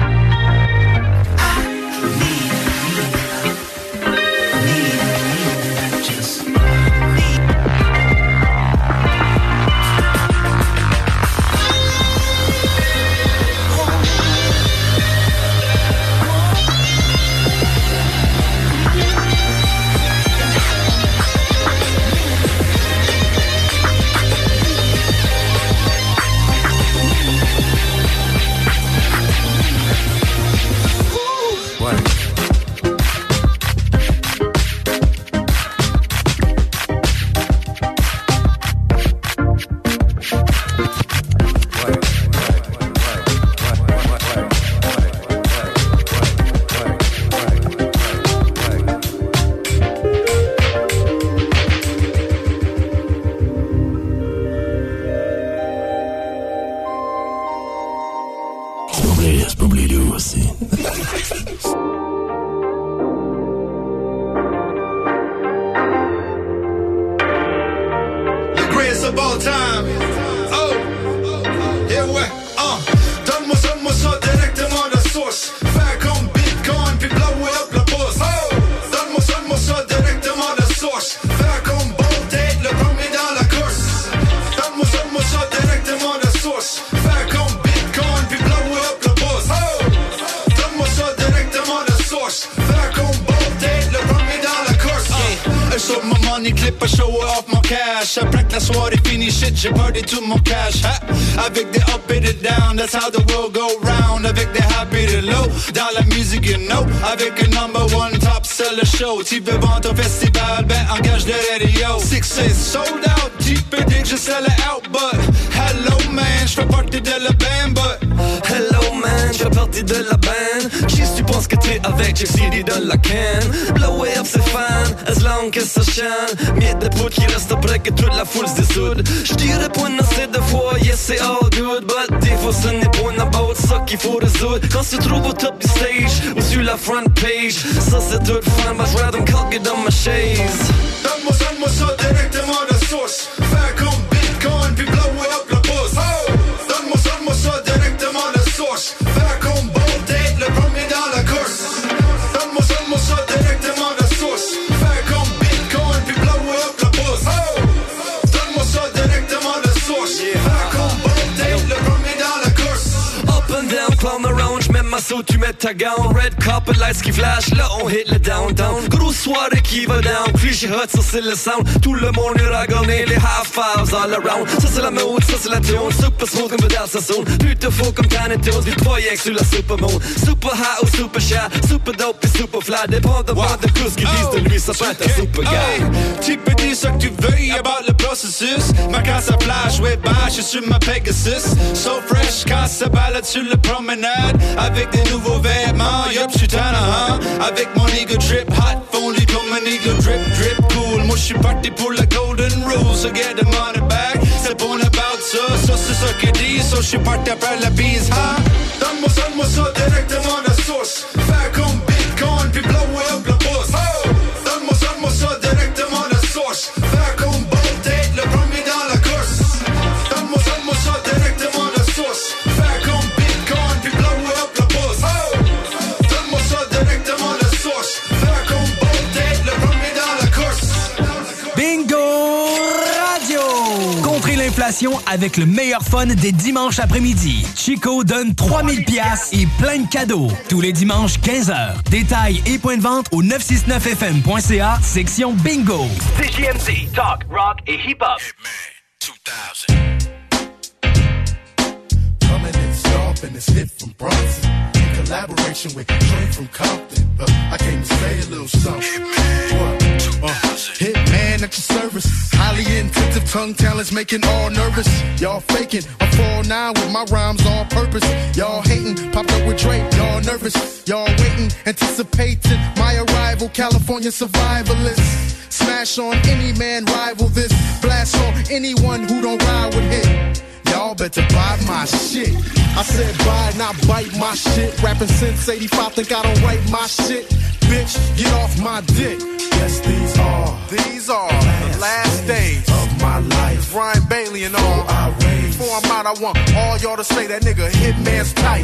S4: J'ai party tout mon cash, hein? Avec des up et des down, that's how the world go round. Avec des high et des low, dans la musique you know. Avec un number one top seller show. Tu veux vendre ton festival, ben engage de radio. 6 sold out, tu peux dire que je sell it out. But hello man, j'fais partie de la band. But hello man,
S8: man, j'fais partie de la band. Qui tu penses que t'es avec, j'ai CD dans la can. Blow up c'est fan, as long que ça chante. Miette de poudre qui reste après que toute la foule se dessoude. J'dirais pas une assez de fois, yes c'est all good. But des fois ce n'est pas une about ça qu'il faut résoudre. Quand tu te trouves au top du stage, ou sur la front page, ça c'est tout fun, but j'rate me cocker dans ma chaise.
S26: Donne-moi ça directement de source. Faire comme Bitcoin, puis blow up la bourse. Donne-moi ça directement de source. Faire comme Bold Date, le premier dans la course. Donne-moi ça directement de source. Faire comme Bitcoin, puis blow up la bourse. Donne-moi ça directement de source. Faire comme Bold Date, le premier dans la course.
S8: Up and down, clown around, j'mets ma sauce, tu mets ta gown. Red carpet lights qui flash, là on hit le downtown. Grosse soirée qui va down, cliché hot, ça c'est le sound. Tout le monde est ragonné, les high fives all around. Ça c'est la mode, ça c'est la tune. Super smooth comme Vidal Sassoon. Plutôt faux comme Tiny Toons, puis 3X sur la supermoon. Super high ou super shy, super dope et super fly. Dépendamment de ce qu'ils disent de lui, ça peut être un super guy.
S4: Tu peux dire ce que tu veux about le processus. Ma casse à flash, ouais, je suis sur ma Pegasus. So fresh, casse se balade sur le promenade. Avec des nouveaux vêtements, yup, j'suis tannant, avec mon ego drip, hot, fondu comme un ego drip, drip, cool. Moi j'suis parti pour la golden rule, so get the money back. C'est bon about ça c'est ça que dit, so j'suis parti après la bise, huh?
S26: Donne-moi ça directement de source. Faire comme Bitcoin, puis blow up la bourse. Donne-moi ça directement de source. Faire comme Bold Date, le premier dans la course. Donne-moi ça directement de source. Faire comme Bitcoin, puis blow up la bourse. Donne-moi ça directement de source. Faire comme Bold Date, le premier dans la course.
S23: Bingo Radio! Contrez l'inflation avec le meilleur fun des dimanches après-midi. Chico donne 3000 piastres et plein de cadeaux. Tous les dimanches, 15h. Détails et points de vente au 969fm.ca, section Bingo.
S7: CJMD, talk, rock et hip-hop.
S6: Coming in sharp and it's hit from Bronson. In collaboration with Trey from Compton. I came to say a little something. Hitman at your service. Highly intensive tongue talents making all nervous. Y'all faking. I'm 4'9" with my rhymes on purpose. Y'all hating. Popped up with Drake. Y'all nervous. Y'all waiting. Anticipating my arrival. California survivalist. Smash on any man, rival this. Blast on anyone who don't ride with hit. Y'all better buy my shit. I said buy, not bite my shit. Rapping since 85, think I don't write my shit. Bitch, get off my dick. Yes, these are the last days of my life. Ryan Bailey and all. Before I'm out, I want all y'all to say that nigga Hitman's tight.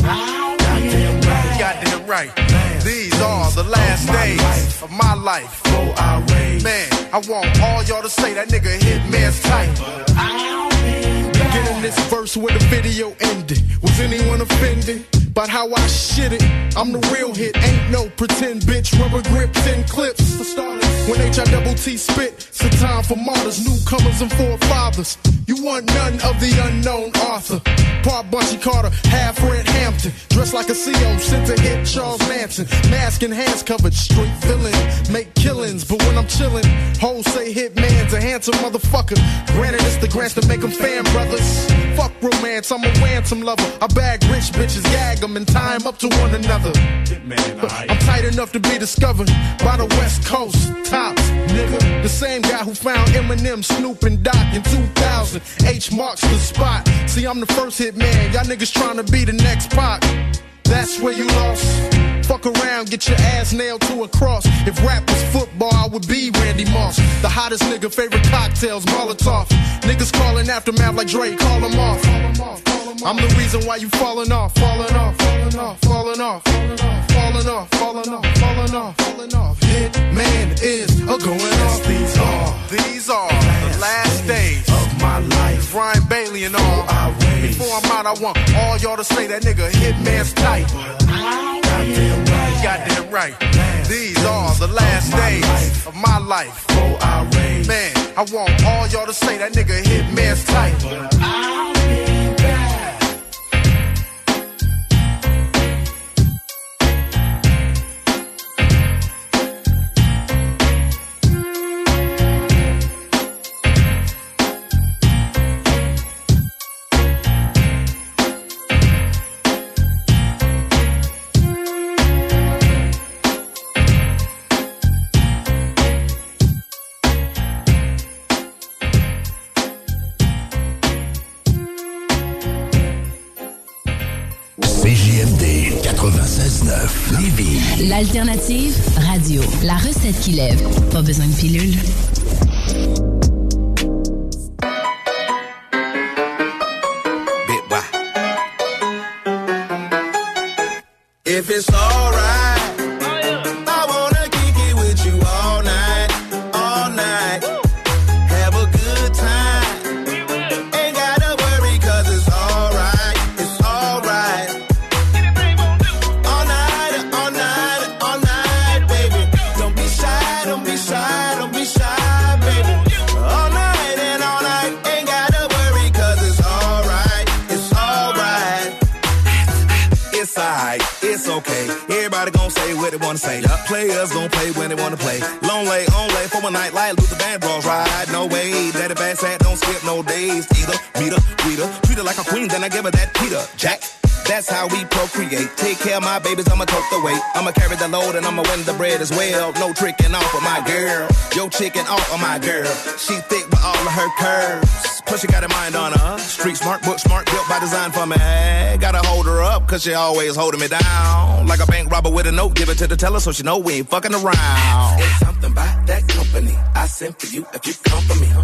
S6: Goddamn right. These are the last days of my life. Man, I want all y'all to say that nigga Hitman's tight. Beginning this verse where the video ended. Was anyone offended about how I shit it? I'm the real hit, ain't no pretend bitch. Rubber grip, 10 clips for starters. When H-I-double-T spit, it's a time for martyrs, newcomers and forefathers. You want none of the unknown author. Part Bunchy Carter, half Fred Hampton. Dressed like a CO, sent to hit Charles Manson. Mask and hands covered, straight villain. Make killings, but when I'm chillin', hoes say Hitman's a handsome motherfucker. Granted, it's the grants to make them fan brothers. Fuck romance, I'm a ransom lover. I bag rich bitches, gag them and tie them up to one another. I'm tight enough to be discovered by the West Coast. Tops, nigga. The same guy who found Eminem, Snoop, and Doc in 2000. H marks the spot. See, I'm the first hit man. Y'all niggas trying to be the next Pac. That's where you lost. Fuck around, get your ass nailed to a cross. If rap was football, I would be Randy Moss. The hottest nigga, favorite cocktails, Molotov. Niggas calling Aftermath like Drake, call them off. I'm the reason why you falling off, falling off, falling off, falling off, falling off, falling off, falling off, falling off. Hitman is a going off. These are the last days of my life. Ryan Bailey and all. Before I'm out, I want all y'all to say that nigga Hitman's tight. Goddamn right. These are the last days of my life. Man, I want all y'all to say that nigga Hitman's tight.
S3: Lévis.
S14: L'alternative radio. La recette qui lève. Pas besoin de pilule.
S15: If it's alright, I wanna kick it with you all night, all night. Have a good time. Ain't gotta worry 'cause it's alright, it's alright. All night, all night, all night, baby. Don't be shy, don't be shy, don't be shy, baby. All night and all night, ain't gotta worry 'cause it's alright, it's alright. It's alright. It's okay. Everybody gon' say what they wanna say. Players gon' play when they wanna play. Long lay, on lay for one night like Luther Vandross ride. No way, daddy bad sad, don't skip no days. Either, meet her, greet her, treat her like a queen, then I give her that Peter Jack. That's how we procreate. Take care of my babies, I'ma tote the weight. I'ma carry the load and I'ma win the bread as well. No tricking off of my girl. Yo chicken off of my girl. She thick with all of her curves. Plus she got a mind on her. Street smart, book smart, built by design for me. Gotta hold her up, 'cause she always holding me down. Like a bank robber with a note, give it to the teller so she know we ain't fucking around. It's something about that company I sent for you if you come for me.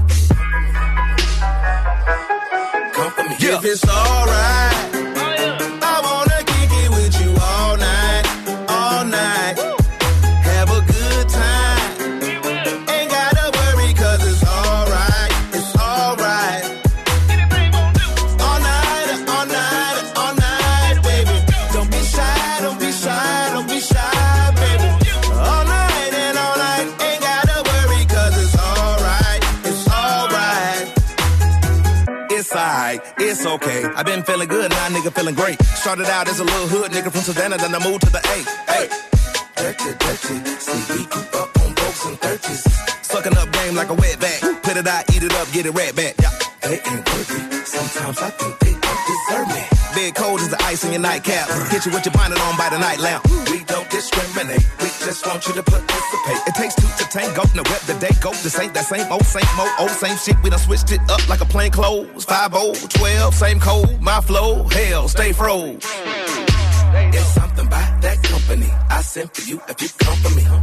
S15: Come for me. Yeah. If it's alright, I wanna kick it with you all night, all night. Have a good time. Ain't gotta worry 'cause it's alright, it's alright. All night, all night, all night, baby. Don't be shy, don't be shy, don't be shy, baby. All night and all night, ain't gotta worry 'cause it's alright, it's alright. It's alright, it's okay. I've been feeling good, now nigga feeling great. Started out as a little hood nigga from Savannah, then I moved to the A. Hey, dirty, dirty. See, we grew up on folks in 30s. Sucking up game like a wet back. Put it out, eat it up, get it right back. Yeah. They ain't worthy. Sometimes I think they don't deserve me. Big cold is the ice in your nightcap. Hit you with your bonnet on by the night lamp. We don't discriminate. We just want you to participate. It takes two to tango. Now where the day go? This ain't that same old, same shit. We done switched it up like a plain clothes. 5-0, 12, same code. My flow, hell, stay froze. It's something about that company I sent for you if you come for me.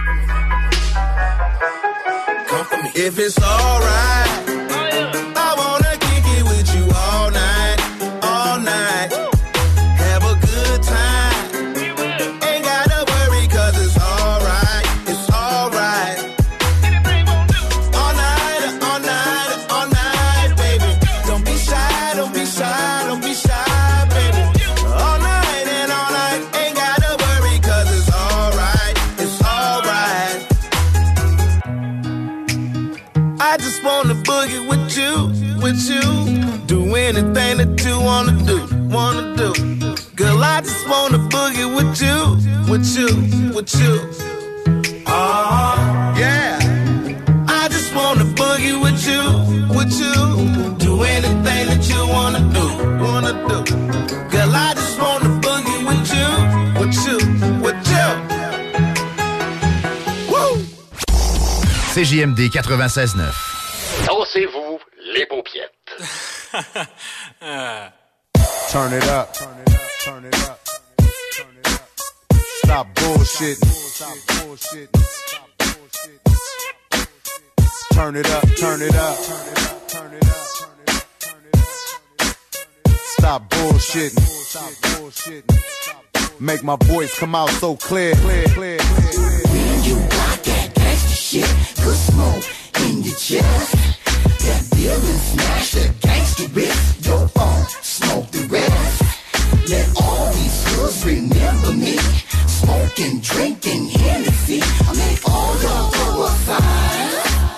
S15: Come for me. If it's alright, I wanna kick it with you all night, all night. Have a good time. Ain't gotta worry 'cause it's alright, it's alright. All night, all night, all night, baby. Don't be shy, don't be shy, don't be shy, baby. All night and all night, ain't gotta worry 'cause it's alright, it's alright. I just wanna boogie with you, with you. Do anything that you wanna do, wanna do. Girl, I just wanna boogie with you, with you, with you. Yeah. I just wanna boogie with you, with you. Do anything that you wanna do, wanna do. Girl, I just wanna boogie with you, with you, with you. Woo!
S16: CJMD 96.9.
S19: Dansez-vous les paupiètes.
S1: Turn it up. Turn it up. Stop bullshitting. Turn it up. Turn it up. Stop bullshitting. Make my voice come out so clear. When
S2: you got that gangsta shit, good smoke in your chest. That building smash, that gangsta wrist, your phone, smoke the rest. Let all these hoods remember me, smoking, drinking Hennessy. I make all y'all go aside.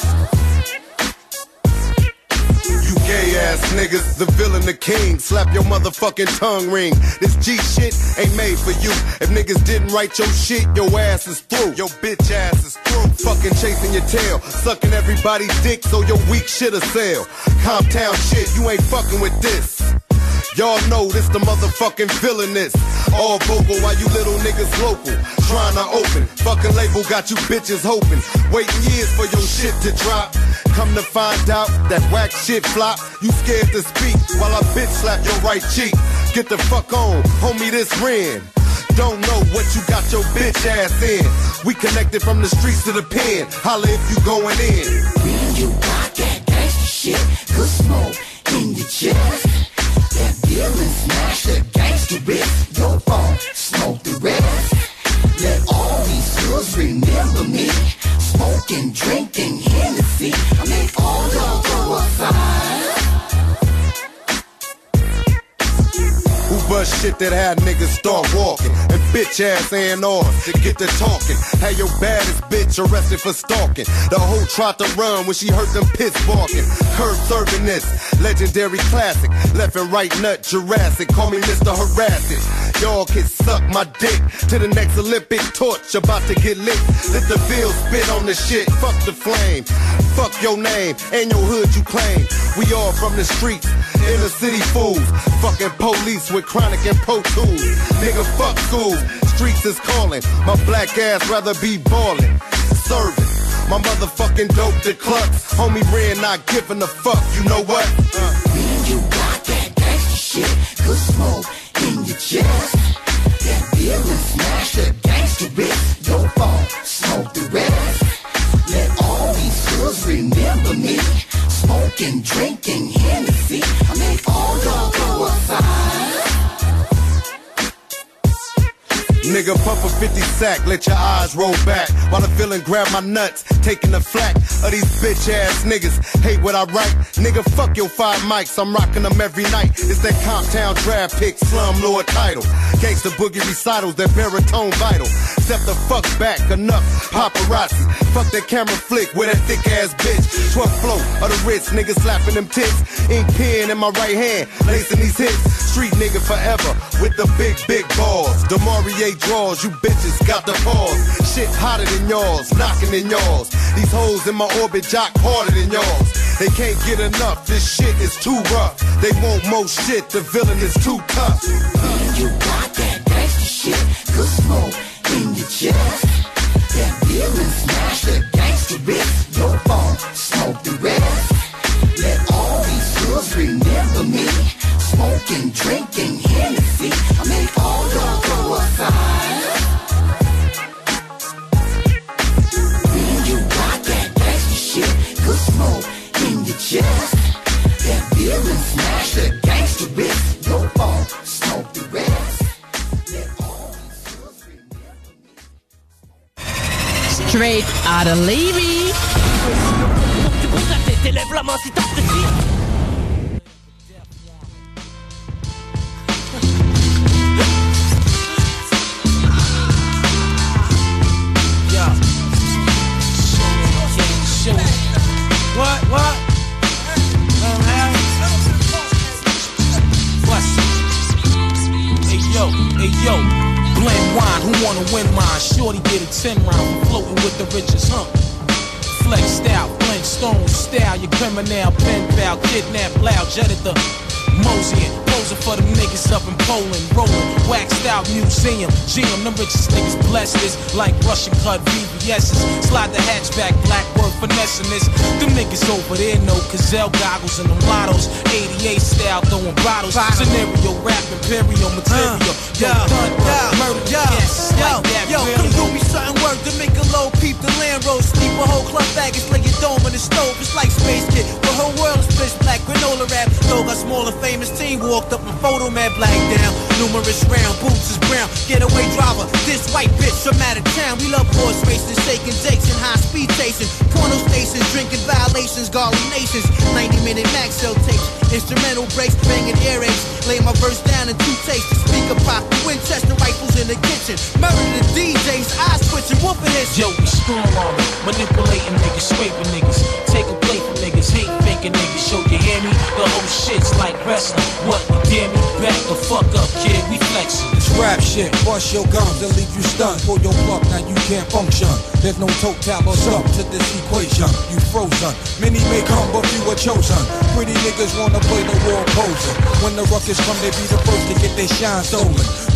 S1: You gay ass niggas, the villain, the king. Slap your motherfucking tongue ring. This G shit ain't made for you. If niggas didn't write your shit, your ass is through. Your bitch ass is through. Fucking chasing your tail, sucking everybody's dick so your weak shit'll sell. Comptown shit, you ain't fucking with this. Y'all know this the motherfucking villainous. All vocal while you little niggas local. Trying to open, fucking label got you bitches hoping. Waiting years for your shit to drop. Come to find out that whack shit flop. You scared to speak while I bitch slap your right cheek. Get the fuck on, homie, this Ren. Don't know what you got let your bitch ass in. We connected from the streets to the pen. Holla if you going in.
S2: When you got that gangsta shit, good smoke in your chest. That deal and smash the gangsta wrist. Your phone, smoke the rest. Let all these girls remember me. Smoking, drinking Hennessy. I make all y'all go outside.
S1: Who bust shit that had niggas start walking? And bitch ass ain't ours to get to talking. Had your baddest bitch arrested for stalking. The hoe tried to run when she heard them pits barking. Curb serving this legendary classic. Left and right nut Jurassic. Call me Mr. Harass It. Y'all can suck my dick to the next Olympic torch about to get lit. Let the bill spit on the shit. Fuck the flame. Fuck your name and your hood you claim. We all from the streets, inner city fools. Fucking police with chronic and pro tools. Nigga, fuck school. Streets is calling. My black ass rather be ballin'. Serving. My motherfucking dope to clucks. Homie Ren not giving a fuck. You know what?
S2: When you got that gangsta shit, good smoke in your chest. That beer and smash the gangsta wrist. Your phone, smoke the rest. Let all these girls remember me. Smoking, drinking Hennessy. I make all y'all go outside.
S1: Nigga, pump a 50 sack, let your eyes roll back. While the villain grab my nuts, taking the flack of these bitch ass niggas. Hate what I write, nigga, fuck your 5 mics, I'm rocking them every night. It's that Comptown draft pick, slumlord title. Gangsta boogie recitals, that baritone vital. Step the fuck back, enough paparazzi. Fuck that camera flick with that thick ass bitch. 12th flow of the Ritz, nigga slapping them tits. Ink pen in my right hand, lacing these hits. Street nigga forever, with the big balls. DeMaurier draws, you bitches got the pause. Shit hotter than yours, knocking in yours. These hoes in my orbit jock harder than yours. They can't get enough, this shit is too rough. They want more shit, the villain is too tough.
S2: When you got that gangsta shit, good smoke in your chest. That beer and smash the gangsta wrist. Your phone, smoke the rest. Let all these girls remember me. Smoking, drinking Hennessy. I make all y'all go outside. When you got that gangsta shit, good smoke in your chest. That beer and smash the gangsta wrist. Your phone, smoke the rest. Let all these girls remember me.
S14: Straight out of Levy.
S9: C'est pour ça que t'élèves la main si t'apprécies.
S20: What? Hey yo, blend wine, who wanna win mine? Shorty did a 10 round, floating with the richest, huh? Flex style, Flintstone style, your criminal, pen pal, kidnap, loud, jetted the Moseying, posing for them niggas up in Poland, rolling, waxed out museum, GM, them richest niggas blessed this, like Russian cut VVS's, slide the hatchback, black work finessing this, them niggas over there know Gazelle goggles and them lottos, 88 style throwing bottles, scenario rap, imperial material, murder, yes, like that,
S21: yo, come do me something work to make a low peep the land road, sleep a whole club baggage, lay your dome in the stove, it's like Space Kid, the whole world is pitch black, granola rap, though got smaller famous team walked up and photo man black down, numerous round, boots is brown, getaway driver, this white bitch from out of town, we love horse racing, shaking jakes and high speed chasing, porno stations, drinking violations, garlic nations, 90-minute max cell tapes, instrumental breaks, banging earaches, lay my verse down in 2 takes, the speaker pop, the Winchester rifles in the kitchen, murder the DJs, eyes twitching, whooping his.
S20: Yo, we strong on it, manipulating niggas, scraping niggas, take a plate from niggas, hate faking niggas, show you hear me, the whole shit's like wrestling, what, you dare me, back the fuck up, kid, we flexing.
S22: It's rap shit, bust your gums and leave you stunned, pull your plug, now you can't function, there's no total or sum to this equation, you frozen, many may come but few are chosen, pretty niggas wanna play the war poser, when the ruckus come they be the first to get their shine stolen,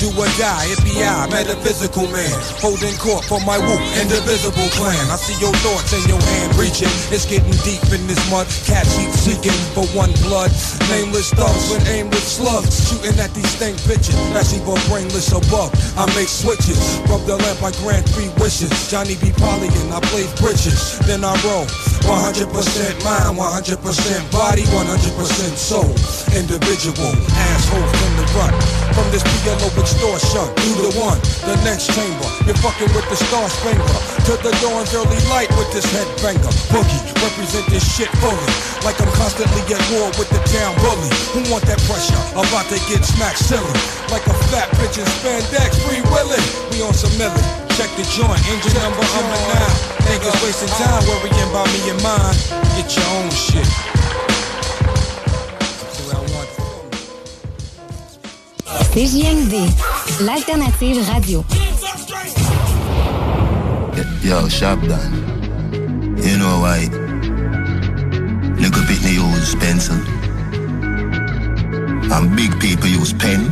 S22: do or die, it be I, metaphysical man, holding court for my whoop, indivisible clan. I see your thoughts in your hand reaching, it's getting deep in this mud. Cats keep seeking for one blood. Nameless thugs with aimless slugs, shooting at these stank bitches. That's even brainless above. I make switches, rub the lamp, I grant 3 wishes. Johnny B. Polyan, I play bridges, then I roll. 100% mind, 100% body, 100% soul. Individual, assholes in the run. From this PLO extortion, you the one, the next chamber. You're fucking with the Star Springer. To the dawn's early light with this headbanger. Boogie, represent this shit fully. Like I'm constantly at war with the town bully. Who want that pressure? About to get smacked silly. Like a fat bitch in spandex, free willing. We on some milli. Check the joint, engine number, I'm a 9. Niggas wasting time worrying about me and mine. Get your own shit.
S14: CJMD, l'alternative radio.
S10: Yo, Sharp Dan. You know why? Little bit they use pencil. And big people use pen.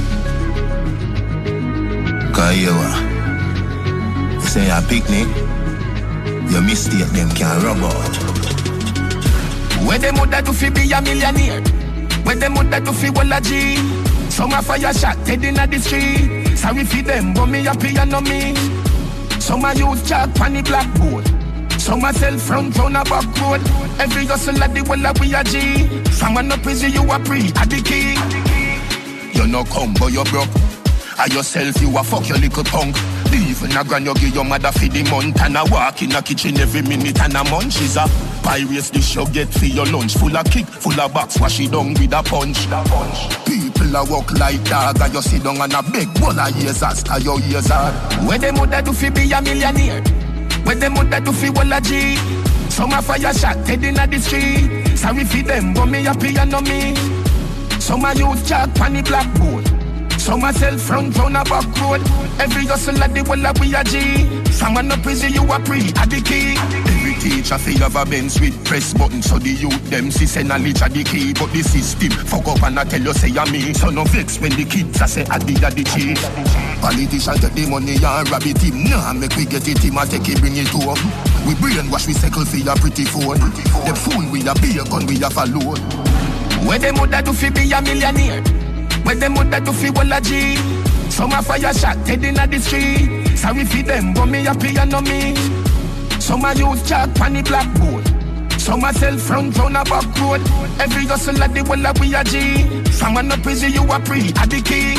S10: Cause you say a picnic, your mistake them can rub out.
S11: Where them would do fi be a millionaire? Where them would do fi wall a G? Some a fire shot dead inna the street. Sorry fi them, but me happy and no me. Some a use chalk on the blackboard. Some a sell front round a back road. Every hustle at the wall a we a G. Some a no prison you a pre at the key. You no come but you broke. A yourself you a fuck your little punk. Even a grand you give your mother for the month. And a walk in a kitchen every minute and a munch. Is a pirates dish you get for your lunch. Full of kick, full of box, wash it down with a punch. People a walk like dog. And you sit down and a big bowl of years as your ears are. Where them would do fi be a millionaire? Where them would do fi wall a G? Some a fire shot dead inna the street. Sorry fi them but me happy and no me. Some a use chalk on the blackboard. Some a sell front round a back road. Every hustle at the wall we a G. Some a no prison you a pre at the key. Every teacher fi have a Benz with press button. So the youth them see say knowledge a the key. But the system fuck up and I tell you say a me. So no vex when the kids a say a the chief. Politicians get the money and rob it him. Nah make we get it him and take it bring it home. We brainwash we circle for your pretty phone. The fool we a be a gun we a follow. Where them would do fi be a millionaire? Where them would do fi wall a G? Some a fire shot dead inna the street. Sorry fi them but me happy and no me. Some a use chalk on the blackboard. Some a sell front round a back road. Every hustle at the wall we a G. Some a no prison you a pre at the key.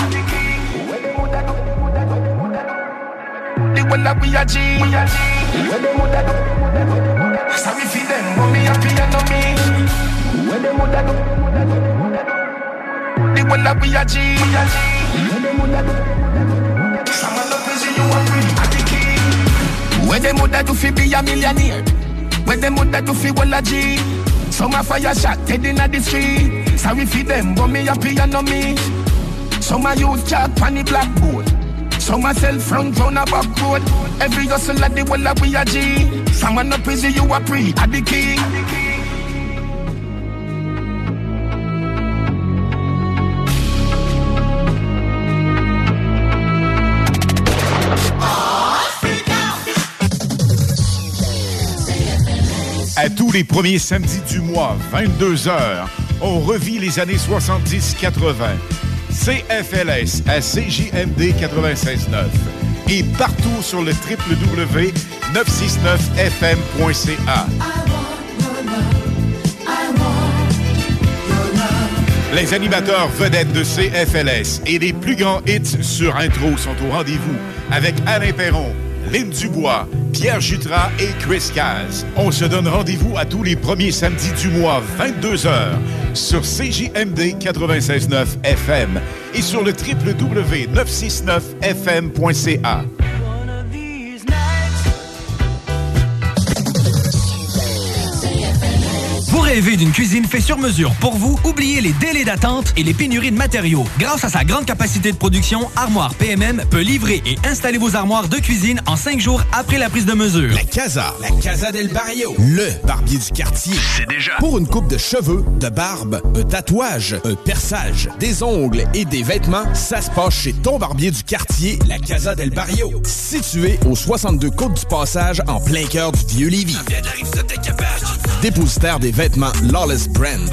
S11: The wall we a G. Sorry fi them but me happy and no me. Where them would do? The wall we a G. Some a no prison you a pre at the key. Where them would do fi be a millionaire? Where them would do fi wall a G? Some a fire shot dead inna the street. Sorry fi them but me happy and no me. Some a use chalk on the blackboard. Some a sell front round a back road. Every hustle at the wall we a G. Some a no prison you a pre at the key.
S13: À tous les premiers samedis du mois, 22h, on revit les années 70-80. CFLS à CJMD 96.9 et partout sur le www.969fm.ca. Les animateurs vedettes de CFLS et les plus grands hits sur intro sont au rendez-vous avec Alain Perron, Lynn Dubois, Pierre Jutras et Chris Caz. On se donne rendez-vous à tous les premiers samedis du mois, 22h, sur CJMD 96.9 FM et sur le www.969fm.ca.
S23: Vous rêvez d'une cuisine faite sur mesure pour vous? Oubliez les délais d'attente et les pénuries de matériaux. Grâce à sa grande capacité de production, Armoire PMM peut livrer et installer vos armoires de cuisine en 5 jours après la prise de mesure.
S5: La Casa del Barrio, le barbier du quartier. C'est déjà. Pour une coupe de cheveux, de barbe, un tatouage, un perçage, des ongles et des vêtements, ça se passe chez ton barbier du quartier, la Casa del Barrio. Situé au 62 Côte du Passage, en plein cœur du Vieux-Lévis. Dépositaire des vêtements Lawless Brand.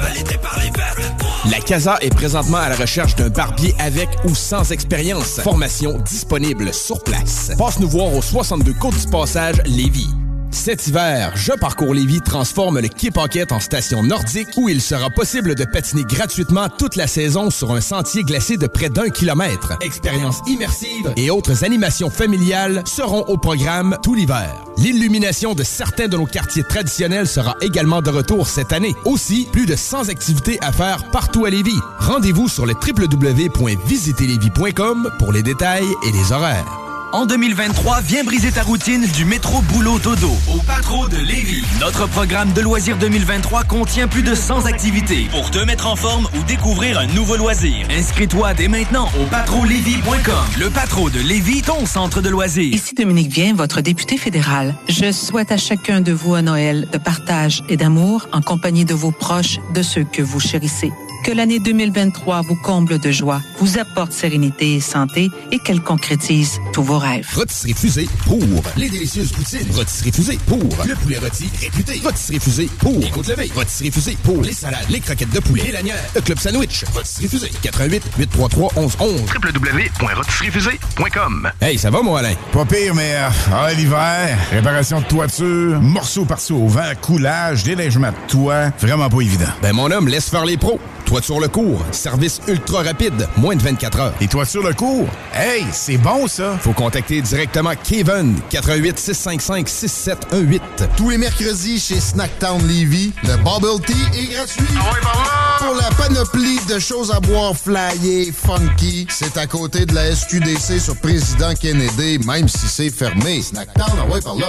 S5: La Casa est présentement à la recherche d'un barbier avec ou sans expérience. Formation disponible sur place. Passe nous voir au 62 Côte du Passage, Lévis. Cet hiver, Je Parcours Lévis transforme le Quai Paquette en station nordique où il sera possible de patiner gratuitement toute la saison sur un sentier glacé de près d'1 kilomètre. Expériences immersives et autres animations familiales seront au programme tout l'hiver. L'illumination de certains de nos quartiers traditionnels sera également de retour cette année. Aussi, plus de 100 activités à faire partout à Lévis. Rendez-vous sur le www.visiterlévis.com pour les détails et les horaires.
S23: En 2023, viens briser ta routine du métro boulot dodo au Patro de Lévis. Notre programme de loisirs 2023 contient plus de 100 activités pour te mettre en forme ou découvrir un nouveau loisir. Inscris-toi dès maintenant au patrolévis.com. Le Patro de Lévis, ton centre de loisirs.
S12: Ici Dominique Vien, votre député fédéral. Je souhaite à chacun de vous un Noël de partage et d'amour en compagnie de vos proches, de ceux que vous chérissez. Que l'année 2023 vous comble de joie, vous apporte sérénité et santé et qu'elle concrétise tous vos rêves.
S5: Rôtisserie Fusée pour les délicieuses poutines. Rôtisserie Fusée pour le poulet rôti réputé. Rôtisserie Fusée pour les côtes levées. Rôtisserie Fusée pour les salades, les croquettes de poulet, les lanières, le club sandwich. Rôtisserie Fusée. 88 833 1111.
S16: www.rôtisseriefusée.com.
S5: Hey, ça va, mon Alain?
S17: Pas pire, mais l'hiver, réparation de toiture, morceaux par-ci au vent, coulage, déneigement de toit, vraiment pas évident.
S5: Ben, mon homme, laisse faire les pros. Toiture Le Cours, service ultra rapide, moins de 24 heures.
S17: Et Toiture Le Cours? Hey, c'est bon ça!
S5: Faut contacter directement Kevin, 88 655 6718.
S1: Tous les mercredis chez Snacktown Lévis, le Bubble Tea est gratuit.
S17: Ah ouais, par là!
S1: Pour la panoplie de choses à boire flyées, funky, c'est à côté de la SQDC sur Président Kennedy, même si c'est fermé. Snacktown, ah ouais, par là!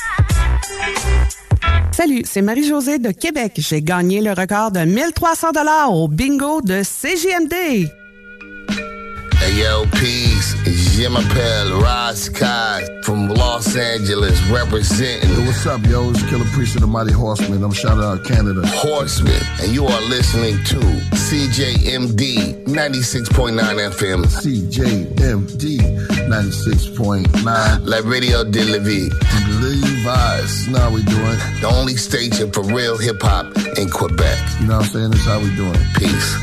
S18: Salut, c'est Marie-Josée de Québec. J'ai gagné le record de 1300 $ au bingo de CJMD.
S24: Hey yo, peace. It's Jim Appel, Ross Kai from Los Angeles representing.
S25: Yo, what's up, yo? It's Killer Priest of the Mighty Horsemen. I'm shouting out Canada.
S24: Horsemen, and you are listening to CJMD 96.9 FM.
S25: CJMD 96.9.
S24: La Radio de Lévis.
S25: Levi's. Now we doing.
S24: The only station for real hip hop in Quebec.
S25: You know what I'm saying? That's how we doing.
S24: Peace.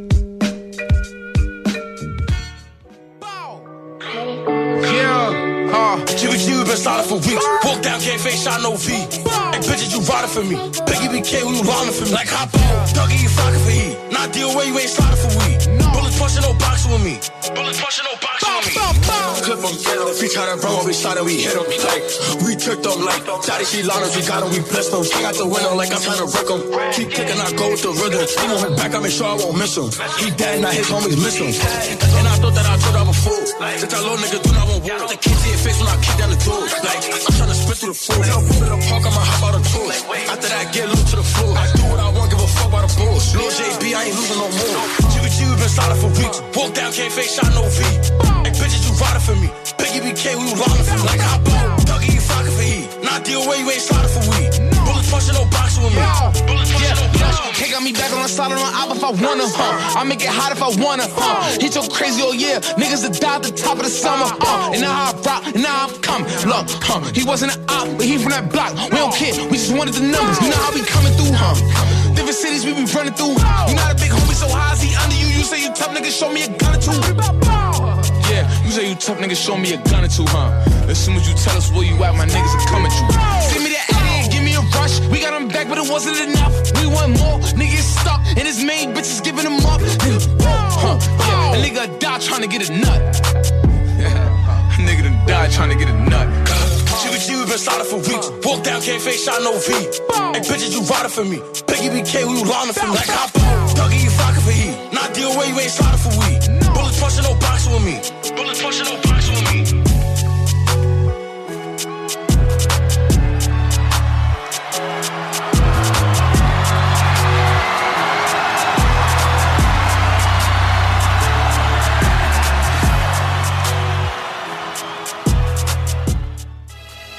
S27: GBG, we been solid for weeks. Walk down, can't face shot, no V. Hey, bitches, you riding for me. Biggie BK, we rolling for me. Like hop on, Dougie, you flocking for heat. Not deal where you ain't sliding for weed. Bullets pushing, no boxing with me. Bullets pushing, no boxing with me. Clip them, if we try to run, we shot and we hit them. Like, we tricked them, like, Daddy, she liners, we got them, we blessed them. I got the window, like I'm trying to wreck them. Keep kicking, I go with the rhythm. He on his back, I make sure I won't miss him. He dead, now his homies miss him. And I thought that I told I'm a fool. Since that little nigga do not want war. The kids see your face when I kick down the door. Like, I'm trying to spit through the floor. In the park, I'ma hop out of tour. After that, get loose to the floor. I do what I want, give a fuck about the bulls. Lil JB, I ain't losing no more. GBG, we been solid for weeks. Walk down, can't face shot, no V. Hey, bitches, you riding for me. Biggie BK, we rolling for me. Like, hop on, Dougie, you flocking for heat. Not deal where you ain't sliding for weed. Bullets pushing, no boxing with me. Bullets pushing, no boxing with me.
S21: He got me back on the side of my album if I wanna, I make it hot if I wanna, He so crazy all year, niggas that die at the top of the summer, And now I rock, and now I'm coming. Look, he wasn't an op, but he from that block. We don't care, we just wanted the numbers. You know how we coming through, Different cities we be running through. You not a big homie, so high is he under you? You say you tough, nigga, show me a gun or two. Yeah, you say you tough, nigga, show me a gun or two, As soon as you tell us where you at, my niggas are coming through. Send me that Eddie, give me a rush. We got him back, but it wasn't enough. We want more, niggas stuck, and his main bitches giving him up. Yeah, a nigga die trying to get a nut. A nigga done died trying to get a nut.
S27: GBG, we been solid for weeks. Walk down, can't face shot, no V. Hey, bitches, you riding for me. Biggie BK, we rolling for me. Like hop on, Dougie, you flocking for heat. Not deal where you ain't sliding for weed. Bullets pushing, no boxing with me. Bullets pushing, no boxing with me.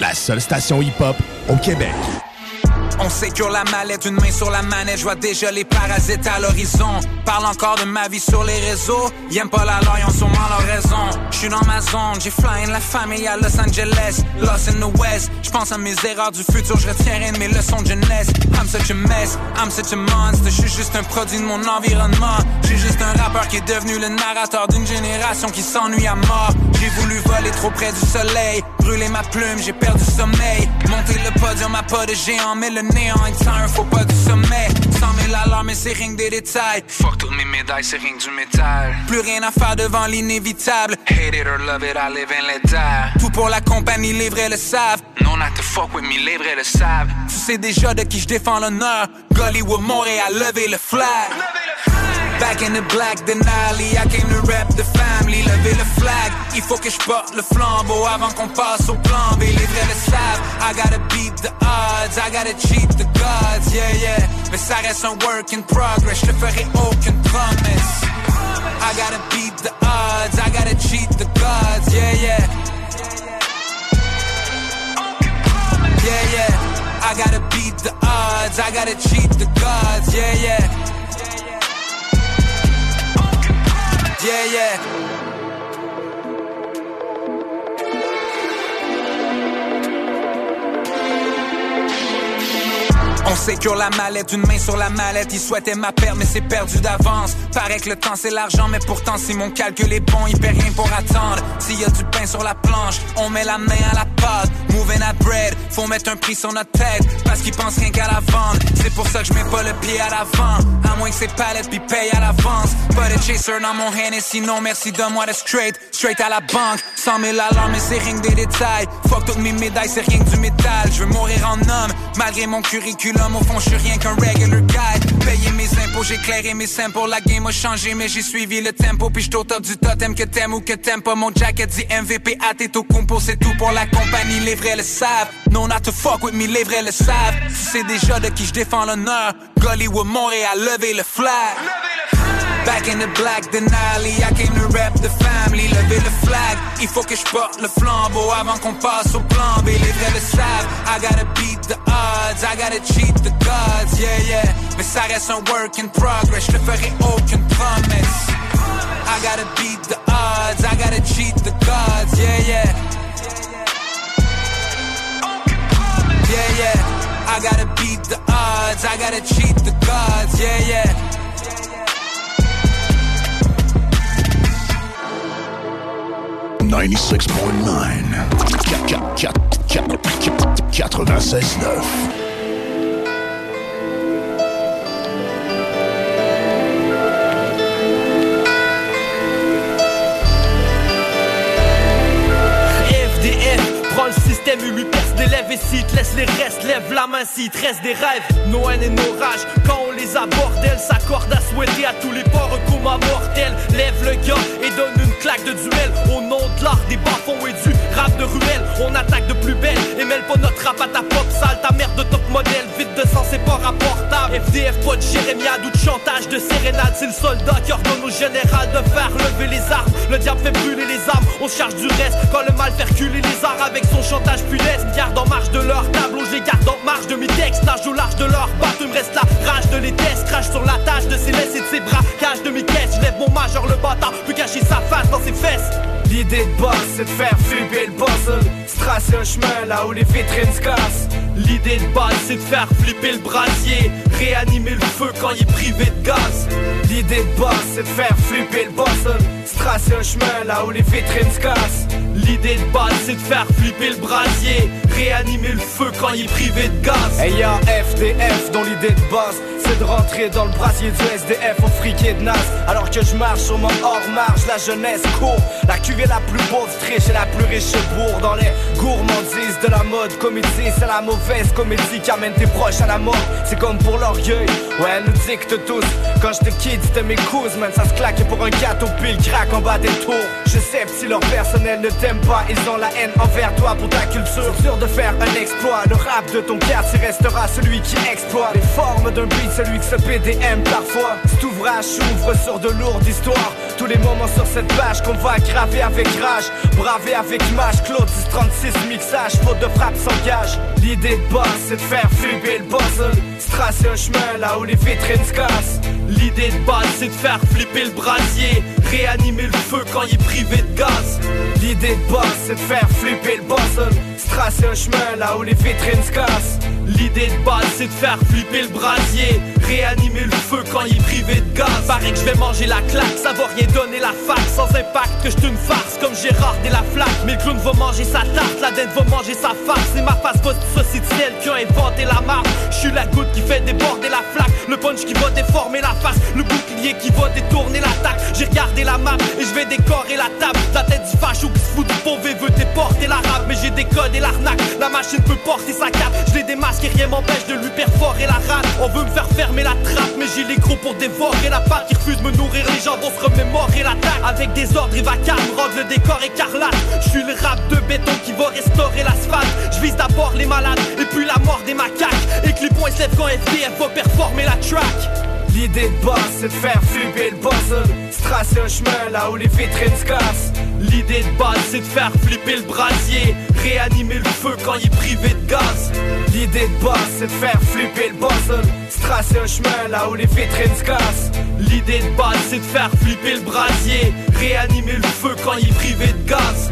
S3: la seule station hip-hop au Québec.
S20: On sécure la mallette, une main sur la manette, je vois déjà les parasites à l'horizon. Parle encore de ma vie sur les réseaux, ils aiment pas la loi, ils ont sûrement leur raison. J'suis dans ma zone, j'ai fly in la famille à Los Angeles, lost in the West. J'pense à mes erreurs du futur, je retiendrai de mes leçons de jeunesse. I'm such a mess, I'm such a monster, j'suis juste un produit de mon environnement. J'suis juste un rappeur qui est devenu le narrateur d'une génération qui s'ennuie à mort. J'ai voulu voler trop près du soleil, brûler ma plume, j'ai perdu sommeil. Monter le podium à pas de géant, mais le néant est un faux pas du sommet. 100 000 alarmes, mais c'est rien que des détails. Fuck toutes mes médailles, c'est rien que du métal. Plus rien à faire devant l'inévitable. Hate it or love it, I live and let die. Tout pour la compagnie, les vrais le savent. No not to fuck with me, les vrais le savent. Tu sais déjà de qui je défends l'honneur. Gollywood, Montréal, levez le flag. Back in the black Denali, I came to rap the family, lever le flag. Il faut que je porte le flambeau avant qu'on passe au plan B. Les vrais le savent, I gotta beat the odds, I gotta cheat the gods, yeah, yeah. Mais ça reste un work in progress, je te ferai aucune promesse. I gotta beat the odds, I gotta cheat the gods, yeah, yeah. Yeah, yeah. I gotta beat the odds, I gotta cheat the gods, yeah, yeah. Yeah, yeah. On sécure la mallette, une main sur la mallette. Ils souhaitaient ma perte, mais c'est perdu d'avance. Paraît que le temps c'est l'argent, mais pourtant si mon calcul est bon, il paie rien pour attendre. S'il y a du pain sur la planche, on met la main à la pâte. Moving at bread, faut mettre un prix sur notre tête, parce qu'ils pensent rien qu'à la vente. C'est pour ça que je mets pas le pied à l'avant, à moins que ces palettes puis paye à l'avance. Pas de chaser dans mon hand, et sinon merci, donne-moi de straight à la banque. 100 000 alarmes, mais c'est rien que des détails. Fuck toutes mes médailles, c'est rien que du métal. Je veux mourir en homme, malgré mon curriculum. Au fond, je suis rien qu'un regular guy. Payer mes impôts, j'ai clairé mes samples. La game a changé, mais j'ai suivi le tempo. Puis j'suis au top du totem, que t'aimes ou que t'aimes pas. Mon jacket dit MVP, Antetokounmpo, c'est tout pour la compagnie. Les vrais le savent. No not to fuck with me, les vrais le savent. Tu sais déjà de qui je défends l'honneur. Gollywood, Montréal, levez le flag. Back in the black Denali, I came to rap the family, lever le flag. Il faut que je porte le flambeau avant qu'on passe au plan B. Les vrais le savent, I gotta beat the odds, I gotta cheat the gods, yeah, yeah. Mais ça reste un work in progress, je te ferai aucune promesse. I gotta beat the odds, I gotta cheat the gods, yeah, yeah. Yeah, yeah. I gotta beat the odds, I gotta cheat the gods, yeah, yeah.
S4: 96.9 96.9
S9: Prends le système et lui perce des lèvres. Et si te laisse les restes, lève la main s'il te reste des rêves. Nos haines et nos rages, quand on les aborde, elles s'accordent à souhaiter à tous les porcs un coma mortel. Lève le gars et donne une claque de duel. Au nom de l'art, des bas-fonds et du rap de ruelle. On attaque de plus belle et mêle pas notre rap à ta pop sale. Ta merde de top modèle, vide de sang, c'est pas rapportable. FDF, pas de jérémiade ou de chantage de sérénade. C'est le soldat qui ordonne au général de faire lever les armes. Le diable fait brûler les armes, on se charge du reste. Quand le mal fait reculer les arts avec son chantage funeste. Garde en marge de leur tableau, j'ai garde en marge de mes textes. Nage au large de leur bateau, il me reste la rage de les tests. Crache sur la tâche de ses laisses et de ses bras. Cage de mes caisses, je lève mon majeur le bâtard, peut cacher sa face dans ses fesses.
S21: L'idée de boss, c'est de faire flipper le puzzle. Se tracer un chemin là où les vitrines se cassent.
S9: L'idée de base, c'est de faire flipper le brasier. Réanimer le feu quand il est privé de gaz.
S21: L'idée de boss, c'est de faire flipper le puzzle. Se tracer un chemin là où les vitrines se cassent.
S9: L'idée de base, c'est de faire flipper le brasier. Réanimer le feu quand il est privé de gaz.
S21: Et y'a FDF dont l'idée de base, c'est de rentrer dans le brasier du SDF au friquet de naze. Alors que je marche sur mon hors-marge, la jeunesse court. La cuvée la plus pauvre triche et la plus riche bourre. Dans les gourmandises de la mode comédie, c'est la mauvaise comédie qui amène tes proches à la mort. C'est comme pour l'orgueil, ouais elle nous dicte tous. Quand j'étais kid c'était mes cousins, man ça se claquait pour un gâteau pile crack en bas des tours. Je sais que si leur personnel ne t'aime pas, ils ont la haine envers toi pour ta culture. Sûr de faire un exploit, le rap de ton quartier restera celui qui exploite les formes d'un beat, celui que ce PDM parfois. Cet ouvrage s'ouvre sur de lourdes histoires. Tous les moments sur cette page qu'on va graver avec rage, braver avec mâche. Claude 1036 mixage,
S9: faute de frappe s'engage. L'idée de base c'est de faire flipper le puzzle, se tracer un chemin là où les vitrines se cassent. L'idée de base c'est de faire flipper le brasier, réanimer le feu quand il est privé de gaz. L'idée de base c'est de faire flipper le puzzle, se tracer un chemin là où les vitrines se cassent. L'idée de base c'est de faire flipper le brasier, réanimer le feu quand il est privé de gaz. Paraît que je vais manger la claque, ça va rien donner la fac. Sans impact que je une farce comme Gérard et la flaque. Mais le clown va manger sa tarte, la dinde va manger sa farce. C'est ma face post saucisse celle qui a inventé la marque. Je suis la goutte qui fait déborder la flaque, le punch qui va déformer la face, le bouclier qui va détourner l'attaque. J'ai regardé la map et je vais décorer la table. La tête du facho qui se fout du pauvre et veut déporter l'arabe. Mais j'ai décodé l'arnaque, la machine peut porter sa cape. Je l'ai démasqué et rien m'empêche de lui perforer la rate. On veut me faire fermer la trappe, mais j'ai les gros pour dévorer la pâte qui refuse de me nourrir. Les gens vont se remémorer l'attaque. Avec des ordres et vacarmes, rendre le décor écarlate. Je suis le rap de béton qui va restaurer l'asphalte. Je vise d'abord les malades et puis la mort des macaques. Et que les points se lèvent quand FDF va performer la track. L'idée de base c'est de faire flipper le puzzle, se tracer un chemin là où les vitrines se cassent. L'idée de base c'est de faire flipper le brasier, réanimer le feu quand il est privé de gaz. L'idée de base c'est de faire flipper le puzzle, se tracer un chemin là où les vitrines se cassent. L'idée de base c'est de faire flipper le brasier, réanimer le feu quand il est privé de gaz.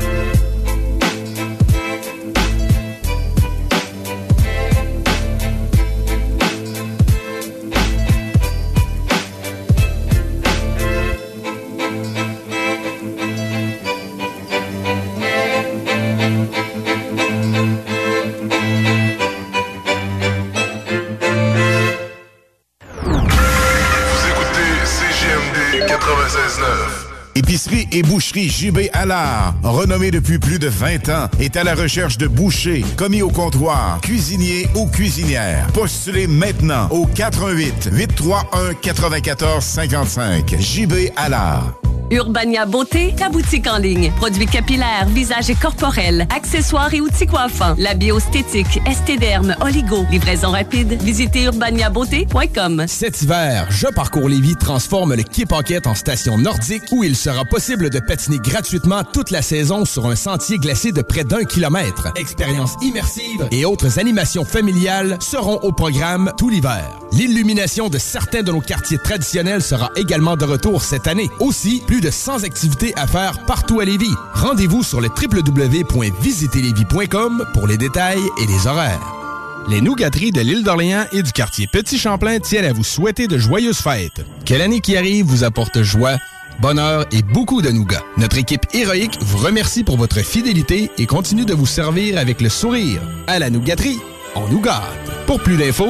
S17: Épicerie et boucherie J.B. Allard, renommée depuis plus de 20 ans, est à la recherche de bouchers, commis au comptoir, cuisiniers ou cuisinières. Postulez maintenant au 418 831 94 55. J.B. Allard.
S4: Urbania Beauté, ta boutique en ligne. Produits capillaires, visage et corporels, accessoires et outils coiffants. La bioesthétique, estéderme, oligo. Livraison rapide. Visitez urbaniabeauté.com.
S5: Cet hiver, Je Parcours Lévis transforme le Quai Paquette en station nordique où il sera possible de patiner gratuitement toute la saison sur un sentier glacé de près d'1 kilomètre. Expériences immersives et autres animations familiales seront au programme tout l'hiver. L'illumination de certains de nos quartiers traditionnels sera également de retour cette année. Aussi, plus de 100 activités à faire partout à Lévis. Rendez-vous sur le www.visiterlévis.com pour les détails et les horaires.
S3: Les Nougateries de l'île d'Orléans et du quartier Petit-Champlain tiennent à vous souhaiter de joyeuses fêtes. Que l'année qui arrive vous apporte joie, bonheur et beaucoup de nougats. Notre équipe héroïque vous remercie pour votre fidélité et continue de vous servir avec le sourire. À la Nougaterie, on nous gâte. Pour plus d'infos,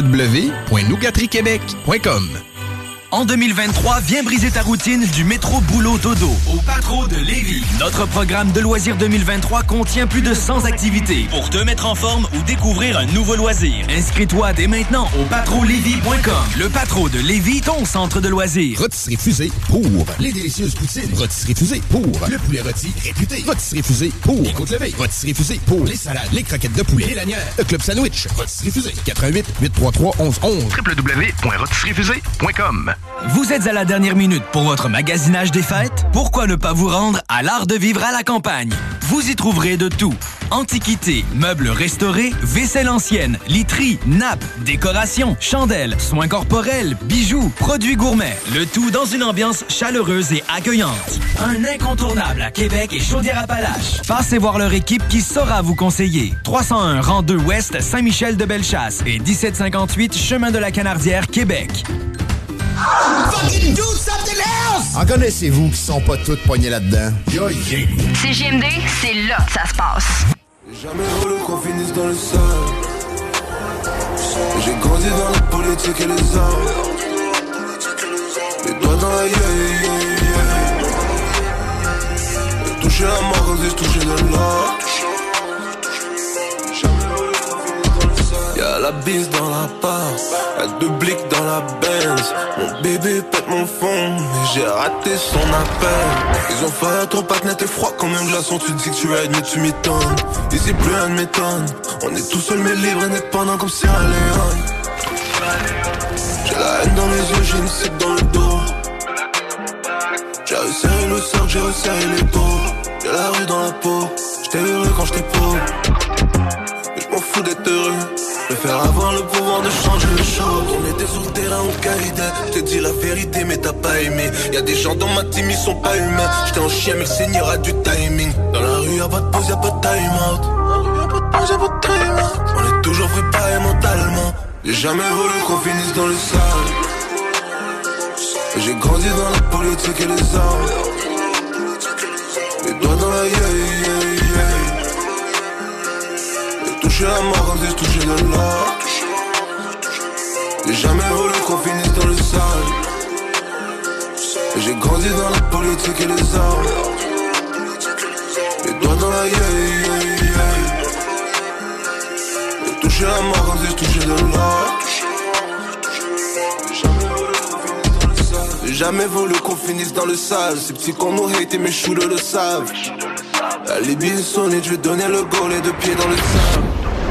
S3: www.nougateriequebec.com.
S23: En 2023, viens briser ta routine du métro boulot dodo au Patro de Lévis. Notre programme de loisirs 2023 contient plus de 100 activités pour te mettre en forme ou découvrir un nouveau loisir. Inscris-toi dès maintenant au patrolévis.com. Le Patro de Lévis, ton centre de loisirs.
S5: Rôtisserie Fusée pour les délicieuses poutines. Rôtisserie Fusée pour le poulet rôti réputé. Rôtisserie Fusée pour les côtes levées. Rôtisserie Fusée pour les salades, les croquettes de poulet, les lanières, le club sandwich. Rôtisserie Fusée 88 833 1111.
S23: www.rôtisseriefusée.com. Vous êtes à la dernière minute pour votre magasinage des fêtes? Pourquoi ne pas vous rendre à l'Art de vivre à la campagne? Vous y trouverez de tout. Antiquités, meubles restaurés, vaisselle ancienne, literie, nappes, décorations, chandelles, soins corporels, bijoux, produits gourmets. Le tout dans une ambiance chaleureuse et accueillante. Un incontournable à Québec et Chaudière-Appalaches. Passez voir leur équipe qui saura vous conseiller. 301 rang 2 Ouest, Saint-Michel-de-Bellechasse et 1758 Chemin de la Canardière, Québec.
S6: Fucking do something else!
S16: En connaissez-vous qui sont pas toutes poignées là-dedans?
S7: CJMD, c'est là que ça se passe.
S8: Jamais voulu qu'on finisse dans le sol. J'ai grandi dans la politique et les armes. Les doigts dans la J'ai touché la mort comme si je touchais de l'or. Y'a la bise dans la part, y'a 2 blics dans la Benz. Mon bébé pète mon fond, mais j'ai raté son appel. Ils ont fait ton patin, t'es froid comme un glaçon. Tu dis que tu rides mais tu m'étonnes. Ici plus rien ne m'étonne. On est tout seul mais libre, indépendant comme Sierra Leone. J'ai la haine dans les yeux, j'ai une cible dans le dos. J'ai resserré le cercle, j'ai resserré les dos. Y'a la rue dans la peau, j'étais heureux quand j'étais pauvre. fous d'être heureux. Je préfère avoir le pouvoir de changer les choses. On était sur le terrain au Qaïda. Je t'ai dit la vérité mais t'as pas aimé. Y'a des gens dans ma team ils sont pas humains. J'étais en chien mais le Seigneur a du timing. Dans la rue y'a pas de pause, y'a pas de time out. On est toujours préparé mentalement. J'ai jamais voulu qu'on finisse dans le sale. J'ai grandi dans la politique et les armes. Les doigts dans la yeah. J'ai touché la mort comme si je touchais de l'or. J'ai jamais voulu qu'on finisse dans le sale. J'ai grandi dans la politique et les armes. Les doigts dans la yeah. J'ai touché la mort comme si je touchais de l'or. J'ai jamais voulu qu'on finisse dans le sale. Ces petits qu'on nous hate et mes shooters le savent. La Libye est sonnée, je vais donner le goal, les deux pieds dans le sable.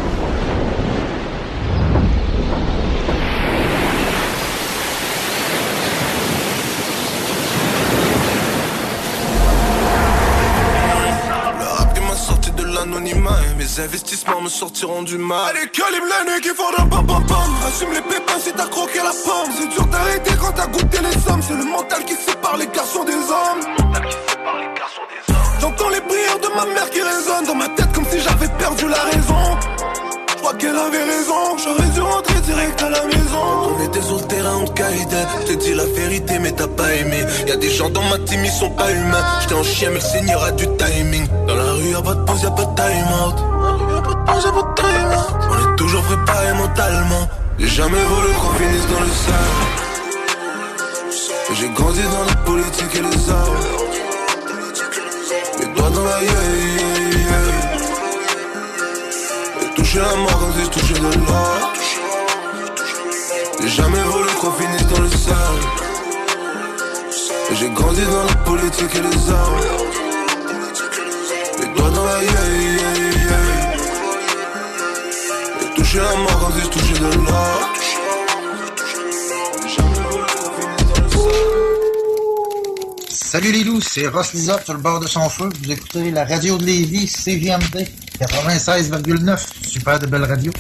S8: Le rap qui m'a sorti de l'anonymat et mes investissements me sortiront du mal. Allez, calibre l'année qui font d'un pam pam pam. Assume les pépins si t'as croqué la pomme. C'est dur d'arrêter quand t'as goûté les sommes. C'est le mental qui sépare les garçons des hommes. J'entends les prières de ma mère qui résonnent dans ma tête comme si j'avais perdu la raison. Je crois qu'elle avait raison, j'aurais dû rentrer direct à la maison. On était sur le terrain au Qaïda. Je te dis la vérité mais t'as pas aimé. Y'a des gens dans ma team ils sont pas humains. J'étais en chien mais le Seigneur a du timing. Dans la rue y'a pas de pause, y'a pas de time out. On est toujours préparé mentalement. J'ai jamais voulu qu'on finisse dans le sale. J'ai grandi dans la politique et les armes. Les doigts dans la yeah. J'ai touché la mort comme si je touchais de l'or. J'ai jamais voulu qu'on finisse dans le sale. J'ai grandi dans la politique et les armes. Les doigts dans la yeah. J'ai touché la mort comme si je touchais de l'or.
S2: Salut les loups, c'est Ross Lizotte sur le bord de son feu. Vous écoutez la radio de Lévis, CJMD 96,9. Super de belle radio.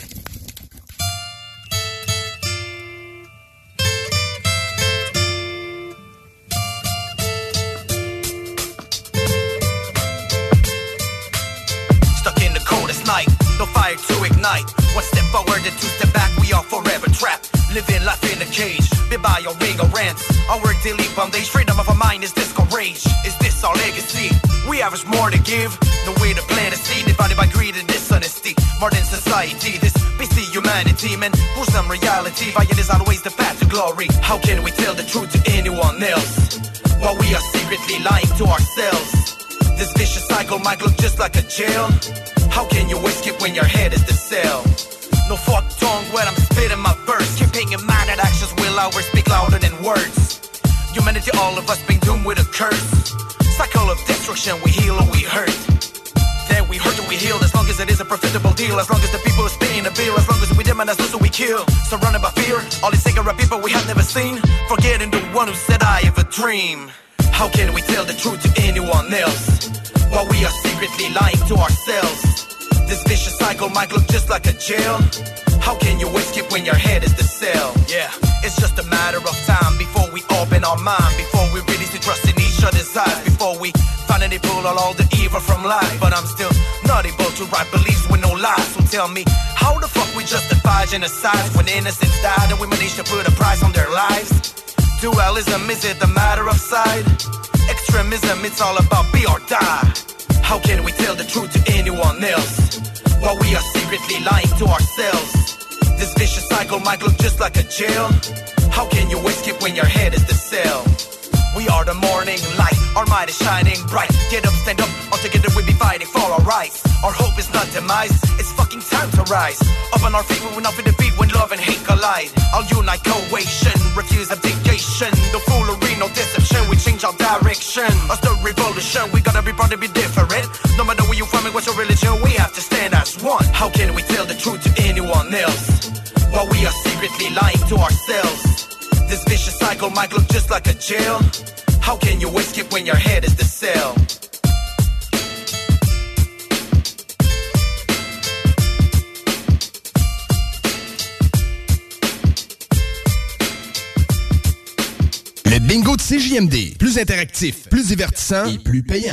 S10: Stuck in the coldest night, no fire to ignite. One step forward and two step back, we are forever trapped. Living life in a cage, bit by your ring of rents. Our work daily bondage, freedom of our mind is discouraged. Is this our legacy? We have much more to give, no way to plant a seed. Divided by greed and dishonesty, modern society. This busy humanity, man, for some reality. Violence is always the path to glory. How can we tell the truth to anyone else, while we are secretly lying to ourselves? This vicious cycle might look just like a jail. How can you escape when your head is the cell? No fork tongue when I'm spitting my verse. Keeping in mind that actions will always speak louder than words. Humanity, all of us been doomed with a curse. Cycle of destruction, we heal or we hurt. Then we hurt or we heal, as long as it is a profitable deal. As long as the people are paying the bill. As long as we demonize those who we kill. Surrounded by fear, all these cigarette people we have never seen. Forgetting the one who said I have a dream. How can we tell the truth to anyone else, while we are secretly lying to ourselves? This vicious cycle might look just like a jail. How can you escape when your head is the cell? Yeah, it's just a matter of time before we open our mind, before we release the trust in each other's eyes, before we finally pull all the evil from life. But I'm still not able to write beliefs with no lies. So tell me, how the fuck we justify genocide when innocents died and we managed to put a price on their lives? Dualism, is it a matter of side? Extremism, it's all about be or die. How can we tell the truth to anyone else, while we are secretly lying to ourselves? This vicious cycle might look just like a jail. How can you escape when your head is the cell? We are the morning light, our mind is shining bright. Get up, stand up, all together we'll be fighting for our rights. Our hope is not demise, it's fucking time to rise. Up on our feet, we will not be defeat when love and hate collide. I'll unite cohesion, refuse abdication. The foolery, no deception, we change our direction. Us the revolution, we gotta be proud to be different. No matter where you from and what's your religion, we have to stand as one. How can we tell the truth to anyone else, while we are secretly lying to ourselves? This vicious cycle might look just like a jail. How can you escape when your head is the cell?
S3: bingo de CJMD. Plus interactif, plus divertissant et plus payant.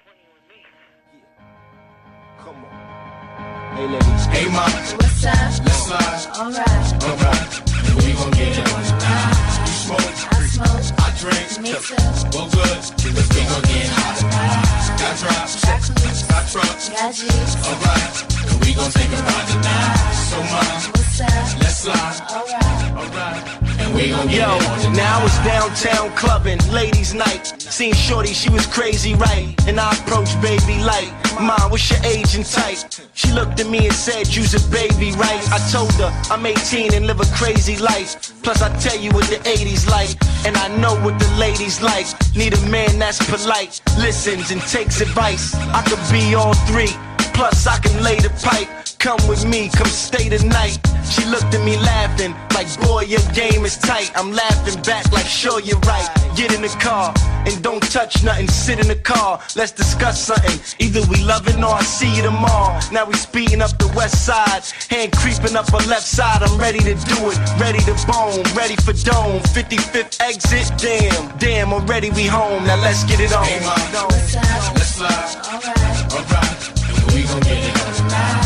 S27: Hey ladies, hey ma, what's up? Let's slide. Alright, and we gon' get it on tonight. You smoke, I smoke, I drink, me too. Well good, cause we gon' get hot tonight. Got drops, got trucks, got G's. Alright, and we gon' take a ride tonight. So ma, what's up? Let's slide. Alright.
S9: Yo, now it's downtown clubbing, ladies' night. Seen Shorty, she was crazy, right? And I approached baby like, Mom, what's your age and type? She looked at me and said, you's a baby, right? I told her, I'm 18 and live a crazy life. Plus I tell you what the 80s like, and I know what the ladies like. Need a man that's polite, listens and takes advice. I could be all three, plus I can lay the pipe. Come with me, come stay the night. She looked at me laughing, like boy your game is tight. I'm laughing back like sure you're right. Get in the car, and don't touch nothing, sit in the car. Let's discuss something, either we loving or I see you tomorrow. Now we speeding up the west side, hand creeping up her left side. I'm ready to do it, ready to bone, ready for dome. 55th exit, damn, already we home. Now let's get it on.
S27: Hey mom, let's slide. Alright, and we gon' get it on tonight.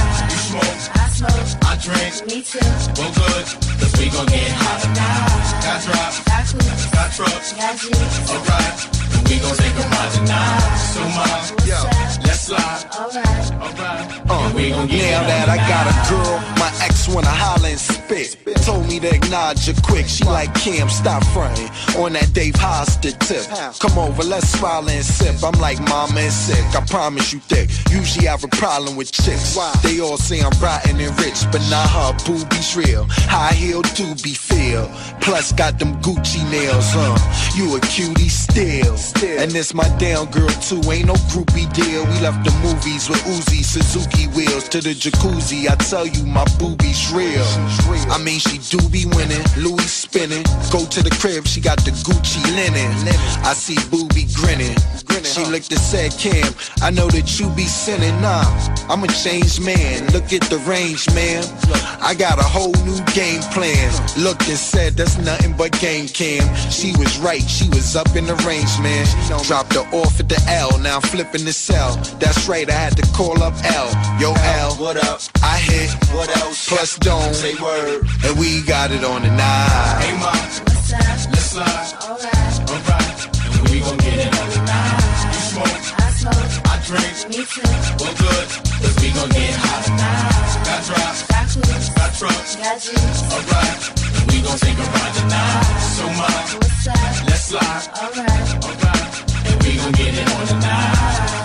S27: I smoke, I drink, me too. Well good, cause we gon' get hot tonight. Got drops, got trucks, got G's. Alright, and we gon' take a ride tonight. So mom, yo, let's slide. Alright, and we gon' get
S21: now that I got a girl, my ex wanna holler and spit. Told me to acknowledge her quick. She like, Cam, stop fronting on that Dave Hostert tip. Come over, let's smile and sip. I'm like, mama is sick, I promise you thick. Usually I have a problem with chicks. They all say I'm rotten and rich, but nah, her boobies real. High heel doobie feel. Plus got them Gucci nails, You a cutie still. And this my down girl too, ain't no groupie deal. We left the movies with Uzi, Suzuki wheels to the jacuzzi. I tell you, my boobies real. I mean, she do be winning, Louis spinning. Go to the crib, she got the Gucci linen. I see Boobie grinning. She looked and said, Cam, I know that you be sinning. Nah, I'm a changed man. Look at the range, man. I got a whole new game plan. Looked and said, that's nothing but game, Cam. She was right, she was up in the range, man. Dropped her off at the L, now I'm flipping the cell. That's right, I had to call up L. Yo, L, what up? I hit, what else? Plus don't say word, and we got it on tonight.
S27: Hey mom, what's up? Let's slide. Alright, and we gon' get it on tonight. You smoke, I smoke, I drink, me too. Well good, cause we gon' get hot tonight. Got drops, got trucks, got G's. Alright, and we gon' take a ride tonight. So mom, what's up? Let's slide. Alright, and we gon' get it on tonight.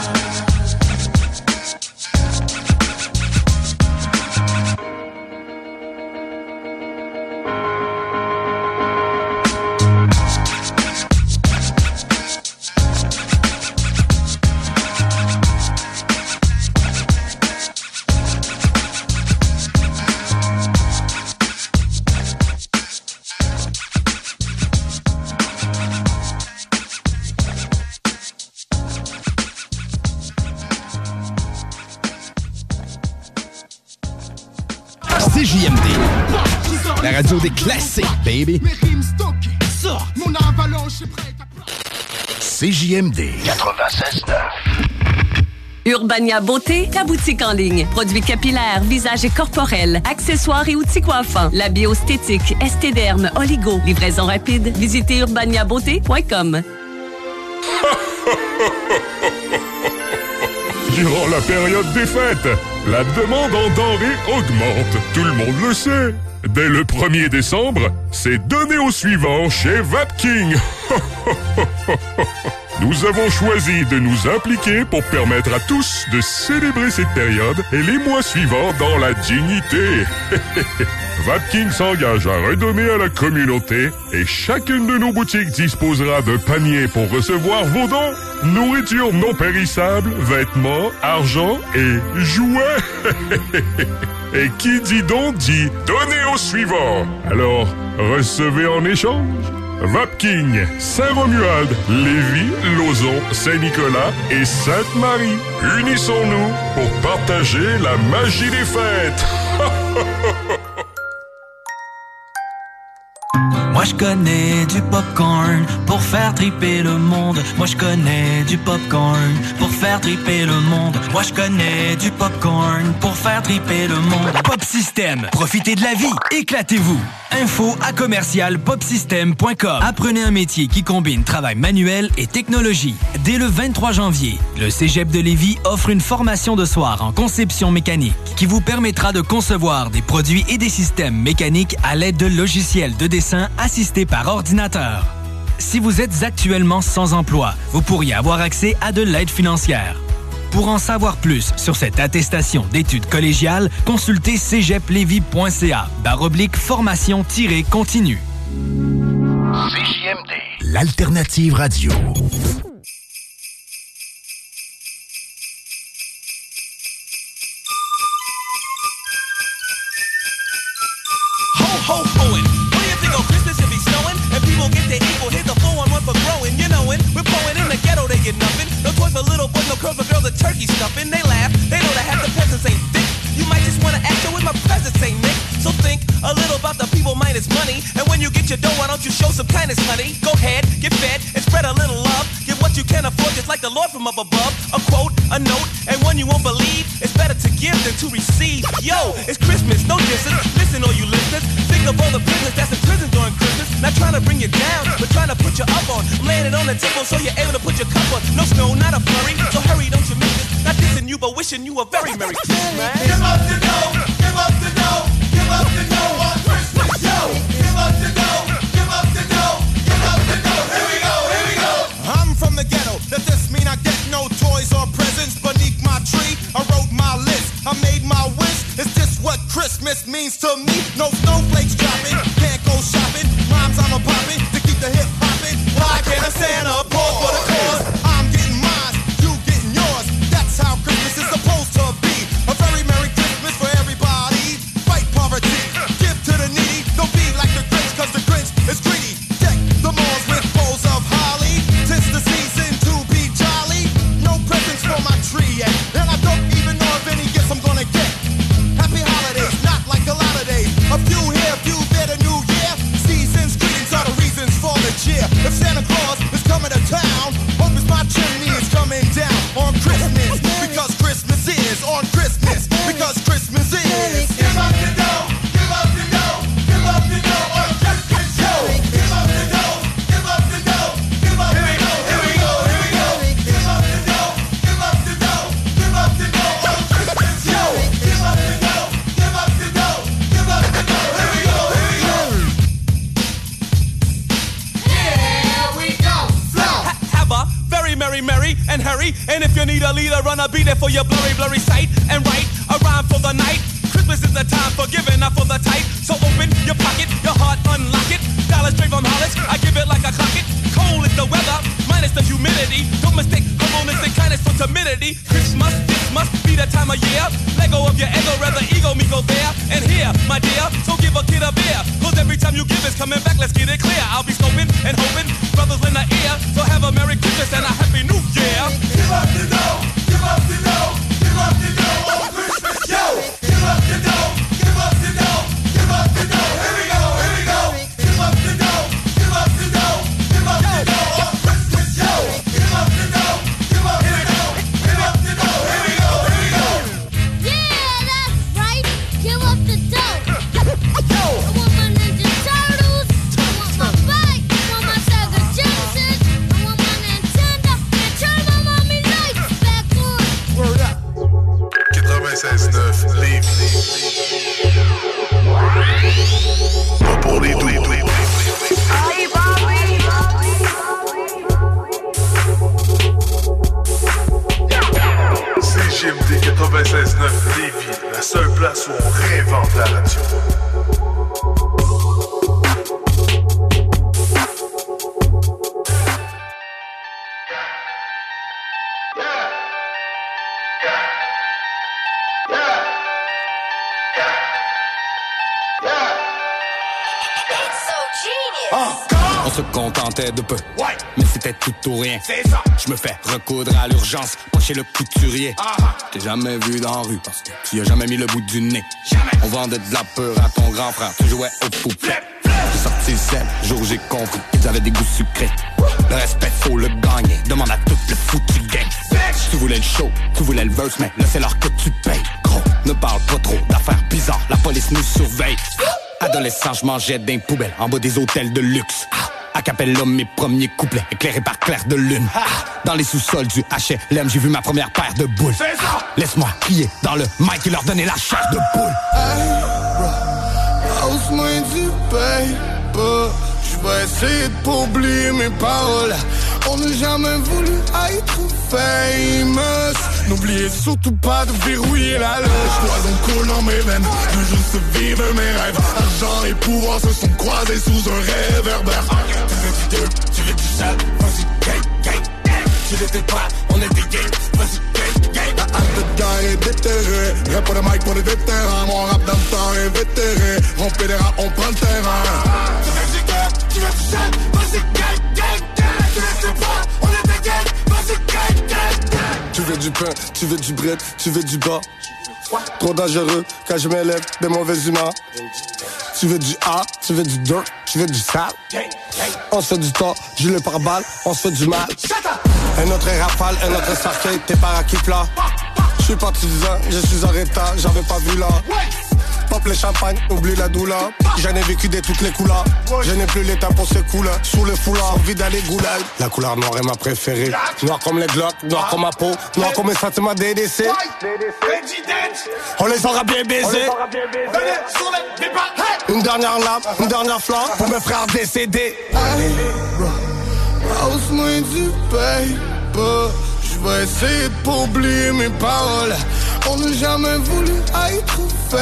S3: CJMD, la radio des classiques, baby. CJMD 96.9.
S4: Urbania Beauté, ta boutique en ligne. Produits capillaires, visage et corporel, accessoires et outils coiffants. La biostétique, estéderme, oligo. Livraison rapide. Visitez urbaniabeauté.com.
S11: Durant la période des fêtes, la demande en denrées augmente. Tout le monde le sait. Dès le 1er décembre, c'est donné au suivant chez Vapking. Nous avons choisi de nous impliquer pour permettre à tous de célébrer cette période et les mois suivants dans la dignité. Vapking s'engage à redonner à la communauté et chacune de nos boutiques disposera de paniers pour recevoir vos dons. Nourriture non périssable, vêtements, argent et jouets. Et qui dit don dit donner au suivant. Alors, recevez en échange. Vapking, Saint-Romuald, Lévis, Lauson, Saint-Nicolas et Sainte-Marie. Unissons-nous pour partager la magie des fêtes.
S23: Moi je connais du popcorn pour faire triper le monde. Moi je connais du popcorn pour faire triper le monde. Moi je connais du popcorn pour faire triper le monde. Pop System, profitez de la vie, éclatez-vous. info@commercialpopsystem.com. Apprenez un métier qui combine travail manuel et technologie. Dès le 23 janvier, le Cégep de Lévis offre une formation de soir en conception mécanique qui vous permettra de concevoir des produits et des systèmes mécaniques à l'aide de logiciels de dessin assistés par ordinateur. Si vous êtes actuellement sans emploi, vous pourriez avoir accès à de l'aide financière. Pour en savoir plus sur cette attestation d'études collégiales, consultez cégeplevy.ca/formation-continue.
S17: CJMD, l'alternative radio.
S21: Ho, hoeing. What do you think on Christmas if he's snowing? And people get their equal, here's a 4-on-1 for growing. You know it, we're pouring in the ghetto, they get nothing. No toys for little boys, no curls for girls, the turkey stuffing. They laugh, they know that half the peasants ain't thick. You might just wanna act with my presence ain't Nick. So think a little about the people minus money. And when you get your dough, why don't you show some kindness, honey? Go ahead, get fed, and spread a little love. Give what you can afford, just like the Lord from up above. A quote, a note, and one you won't believe. It's better to give than to receive. Yo, it's Christmas, no distance. Listen, all you listeners, think of all the prisoners that's in prison during Christmas. Not trying to bring you down, but trying to put you up on. I'm laying it on the table so you're able to put your cup on. No snow, not a flurry, so hurry, don't you miss this. Not dissing you, but wishing you a very Merry Christmas, man.
S6: Give up the dough, give up the dough, give up the dough on Christmas, yo. Give up the dough, give up the dough, give up the dough. Here we go, here we go.
S21: I'm from the ghetto. Does this mean I get no toys or presents beneath my tree? I wrote my list, I made my wish. Is this what Christmas means to me? No snowflakes dropping, can't go shopping. Rhymes I'm a popping to keep the hip hopping. Why can't a Santa pause for the cause? I'm getting mine, you getting yours. That's how Christmas is supposed to be. A very Merry Christmas for everybody. Fight poverty, give to the needy. Don't be like the Grinch, cause the Grinch is greedy. Deck the malls with bowls of holly. 'Tis the season to be jolly. No presents for my tree yet, and I don't even know if any gifts I'm gonna get. Happy holidays, not like a lot of days. A few here, few there, the new year. Seasons, greetings are the reasons for the cheer. If Santa Claus is coming to town, hope it's my chimney is coming down on Christmas. Because Christmas is on Christmas. Because Christmas is.
S6: Give up the dough, give up the dough, give up the dough on Christmas, yo. Give up the dough, give up the dough, give up the dough. Here we go, here we go. Give up the dough, give up the dough, give up the dough on Christmas, yo. Give up the dough, give up the dough, give up the dough. Here we go, here we go. Here we go, flow.
S21: Have a very merry and hurry. And if you need a leader, run, I'll be there for your blurry sight. And write a rhyme for the night. Christmas is the time for giving, not for the type. So open your pocket, your heart, unlock it. Dollars straight from Hollis, I give it like I clock it. Cold is the weather, minus the humidity. Don't mistake humbleness and kindness for timidity. Christmas, this must be the time of year. Let go of your ego, rather ego me go there. And here, my dear, so give a kid a beer. Cause every time you give it's coming back, let's get it clear. I'll be scoping and hoping, brothers in the ear. So have a Merry Christmas and a Happy New Year.
S6: Give up the dough, give up the dough, give up the dough on Christmas, yo. Give up the dough, give up the dough, give up the dough. Here we go, here we go. Give up the dough, give up the dough, give up the dough on Christmas, yo. Give up the dough, give up the dough, give up the dough. Here we go, here we go.
S12: Yeah, that's right. Give up the dough. I want my Ninja Turtles. I want my bike. I want my Sega Genesis. I want my Nintendo. And turn my mommy lights back on.
S6: Word up.
S11: 96.9 Lévis. Pas pour les doux. CJMD 96.9 Lévis, la seule place où on réinvente la radio.
S13: On se contentait de peu, mais c'était tout ou rien. Je me fais recoudre à l'urgence, pas chez le couturier. T'ai jamais vu dans la rue parce que tu y as jamais mis le bout du nez. On vendait de la peur à ton grand frère, tu jouais au poupées. J'ai sorti C'est le seul jour où j'ai compris qu'ils avaient des goûts sucrés. Le respect, faut le gagner. Demande à tout le foutu gang. Tu voulais le show, tu voulais le verse, mais là c'est l'heure que tu payes. Gros, ne parle pas trop d'affaires bizarres, la police nous surveille. Adolescent, je mangeais d'un poubelle en bas des hôtels de luxe. Acapella mes premiers couplets, éclairés par clair de lune. Dans les sous-sols du HLM, j'ai vu ma première paire de boules. Laisse-moi crier dans le mic et leur donner la chair de poule.
S27: Hey, bro, hausse-moi du paper. J'vais essayer de pas oublier mes paroles. On n'a jamais voulu être famous. N'oubliez surtout pas de verrouiller la loge. Poison coule dans mes veines, je veux juste vivre mes rêves. Argent et pouvoir se sont croisés sous un réverbère. Tu veux du deux, tu veux du sale, vas-y, gang, gang, gang. Tu l'étais pas, on était gay, vas-y, gang, gang. La hâte de gagner déterré. Rap pour le mic pour les vétérans. Mon rap dans le temps est vétéré. On pédéra, on prend le terrain. Tu veux du deux, tu veux du sale, vas-y, gang, gang, gang. Tu l'étais pas, on était gay, vas-y, gang, gang, gang. Tu veux du pain, tu veux du bread, tu veux du bas. Trop dangereux quand je m'élève des mauvaises humeurs. Tu veux du A, tu veux du dirt, tu veux du sale. On se fait du temps, gilet par balle, on se fait du mal. Un autre rafale, un autre cercueil, t'es par qui plat. Je suis partisan, je suis en retard, j'avais pas vu là. Pop les champagnes, oublie la douleur. J'en ai vécu de toutes les couleurs. Je n'ai plus l'état pour ces couleurs. Sous le foulard, envie d'aller goulag. La couleur noire est ma préférée. Noir comme les glocks, noir comme ma peau. Noir comme mes sentiments DDC. On les aura bien baisés. Une dernière lame, une dernière flamme pour mes frères décédés. Hey, bro, hausse-moi du paper. J'vais essayer de pas oublier mes paroles. On n'a jamais voulu être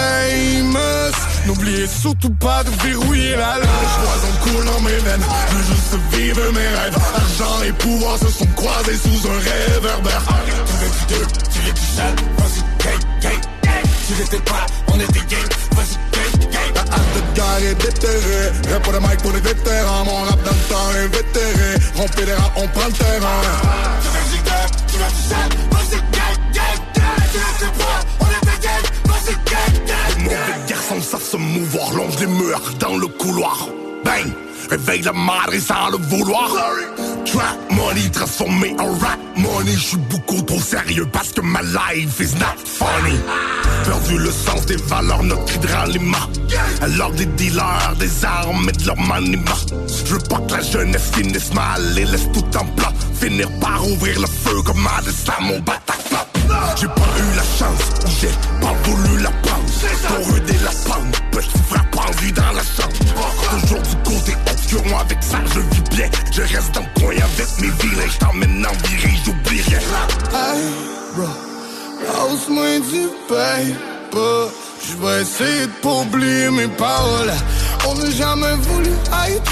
S27: famous. N'oubliez surtout pas de verrouiller la loge. Poison coule dans mes veines, je veux juste vivre mes rêves. Argent et pouvoir se sont croisés sous un réverbère. Tu veux du deux, tu veux du sale, vas-y, gang, gang, gang. Tu l'étais pas, on était gay, vas-y, gang, gang. La hâte de gagner déterré. Rap pour le mic pour les vétérans. Mon rap dans le temps est vétéré. On pédéra, on prend le terrain. Tu veux du deux, tu veux du sale, vas-y, gang, gang, gang. Tu l'étais pas, on était gay, vas-y, gang, gang. Mauvais garçons savent se mouvoir, longe les murs dans le couloir. Bang, réveille la madre sans le vouloir. Trap money transformé en rap money. J'suis beaucoup trop sérieux parce que ma life is not funny. Perdu le sens des valeurs, notre cri de ralliement. Alors des dealers, des armes et de leur maniement. J'veux pas que la jeunesse finisse mal et laisse tout en plat. Finir par ouvrir le feu comme un destin mon Bataclan. J'ai pas eu la chance, j'ai pas voulu la prendre. Pour ruder la pente, petit frère pendu dans la chambre. Toujours du côté obscur, moi avec ça je vis bien. Je reste dans le coin avec mes vilains, j't'emmène en virée, j'oublie rien. Hey, bro, hausse-moi du paper. J'vais essayer de pas oublier mes paroles. On n'a jamais voulu être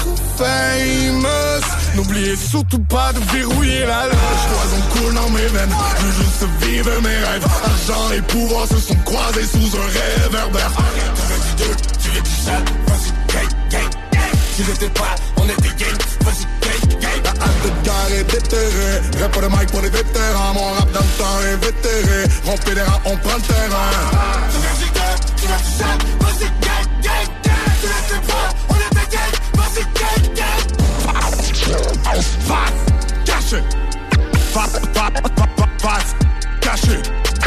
S27: famous. N'oubliez surtout pas de verrouiller la loge. Poison coule dans mes veines, je veux juste vivre mes rêves. Argent et pouvoir se sont croisés sous un réverbère. Tu veux du deux, tu veux du sale, vas-y, gang, gang, gang. Tu l'étais pas, on était gay, vas-y, gang, gang. La hâte de gagner déterré. Rap pour le mic pour les vétérans. Mon rap dans le temps est vétéré. On pédéra, on prend le terrain. Tu veux du deux, tu veux du sale, vas-y, gang, gang, gang. Tu l'étais pas, on était gay, vas-y, gang, gang. Face, caché. Face, caché.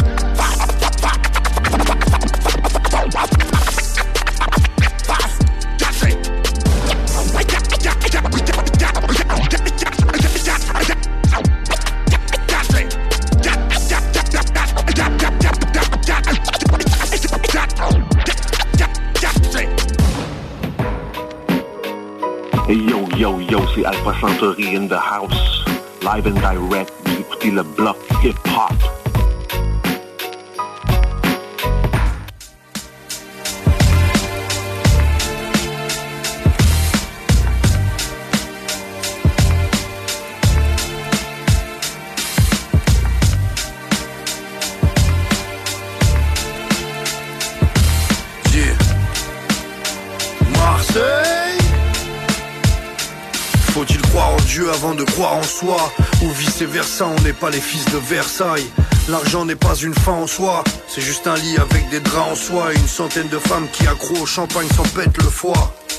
S1: Hey yo, yo, yo, c'est Alpha Centauri in the house. Live and direct, vous écoutez le bloc hip-hop.
S14: Yeah. Marseille. Faut-il croire en Dieu avant de croire en soi? Ou vice versa, on n'est pas les fils de Versailles. L'argent n'est pas une fin en soi, c'est juste un lit avec des draps en soie. Et une centaine de femmes qui accroent au champagne s'en pètent le foie.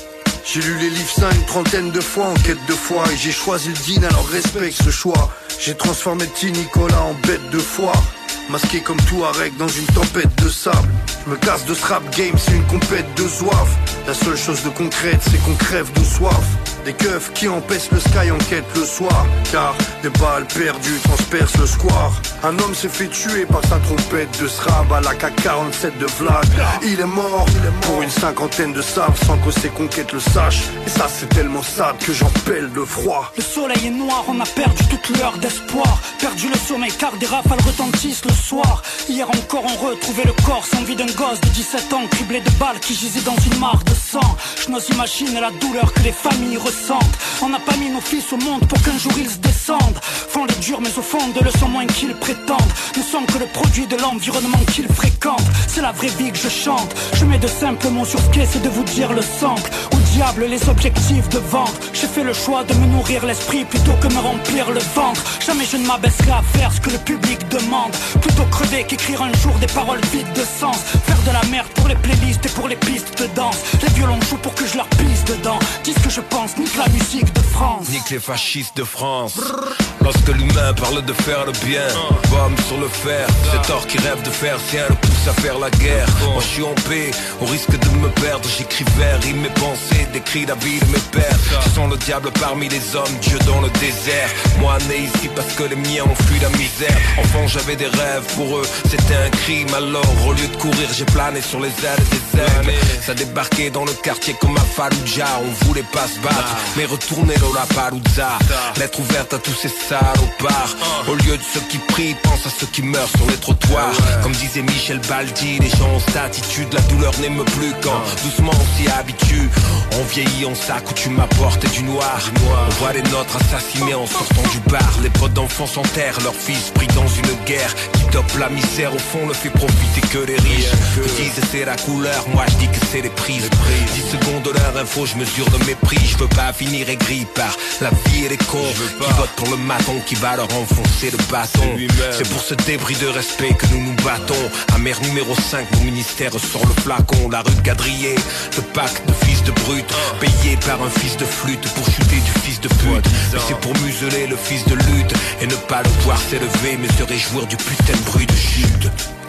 S14: J'ai lu les livres saints une trentaine de fois en quête de foi. Et j'ai choisi le dîner, alors respecte ce choix. J'ai transformé petit Nicolas en bête de foire. Masqué comme Touareg dans une tempête de sable. Je me casse de ce rap game, c'est une compète de soif. La seule chose de concrète, c'est qu'on crève de soif. Des keufs qui empêchent le sky en quête le soir. Car des balles perdues transpercent le square. Un homme s'est fait tuer par sa trompette de srab à la K47 de Vlad. Il est mort pour une cinquantaine de sables sans que ses conquêtes le sachent. Et ça c'est tellement sad que j'en pèle de froid.
S15: Le soleil est noir, on a perdu toute l'heure d'espoir. Perdu le sommeil car des rafales retentissent le soir. Hier encore on retrouvait le corps sans vie d'un gosse de 17 ans, criblé de balles qui gisait dans une mare de sang. Je n'ose imaginer la douleur que les familles ressentent. On n'a pas mis nos fils au monde pour qu'un jour ils se descendent. Font les durs mais au fond de le sont moins qu'ils prétendent. Ne sommes que le produit de l'environnement qu'ils fréquentent. C'est la vraie vie que je chante. Je mets de simples mots sur ce qu'est, c'est de vous dire le sample. Au diable les objectifs de vente. J'ai fait le choix de me nourrir l'esprit plutôt que me remplir le ventre. Jamais je ne m'abaisserai à faire ce que le public demande. Plutôt crever qu'écrire un jour des paroles vides de sens. Faire de la merde pour les playlists et pour les pistes de danse. Les violons jouent pour que je leur pisse dedans. Dis ce que je pense, nique la musique de France.
S18: Nique les fascistes de France. Lorsque l'humain parle de faire le bien, pomme sur le fer. Cet or qui rêve de faire sien le pousse à faire la guerre. Moi je suis en paix, au risque de me perdre. J'écris vers rimes mes pensées, décris la vie de mes pères. Je sens le diable parmi les hommes, Dieu dans le désert. Moi né ici parce que les miens ont fui la misère. Enfant j'avais des rêves, pour eux c'était un crime. Alors au lieu de courir j'ai plané sur les ailes des ailes. Ça débarquait dans le quartier comme à Fallujah. On voulait pas se battre, mais retourner dans la Palouza. Lettre ouverte à tous ces salopards. Au lieu de ceux qui prient, pense à ceux qui meurent sur les trottoirs. Comme disait Michel Baldi, les gens ont cette attitude. La douleur n'aime plus quand doucement on s'y habitue. On vieillit, on s'accoutume à porter du noir. On voit les nôtres assassinés en sortant du bar. Les potes d'enfants s'enterrent, leurs fils pris dans une guerre qui dope la misère. Au fond ne fait profiter que les riches. Ils disent c'est la couleur, moi je dis que c'est les prises. 10 secondes de leur info, je mesure de mépris. Je veux pas finir aigri par la vie et les cons qui votent pour le maton qui va leur enfoncer le bâton. C'est pour ce débris de respect que nous nous battons. Amer numéro 5, mon ministère sort le flacon. La rue de Gadrier, le pacte de fils de brute, payé par un fils de flûte pour chuter du fils de pute. Mais c'est pour museler le fils de lutte et ne pas le voir s'élever mais se réjouir du putain de bruit de chute.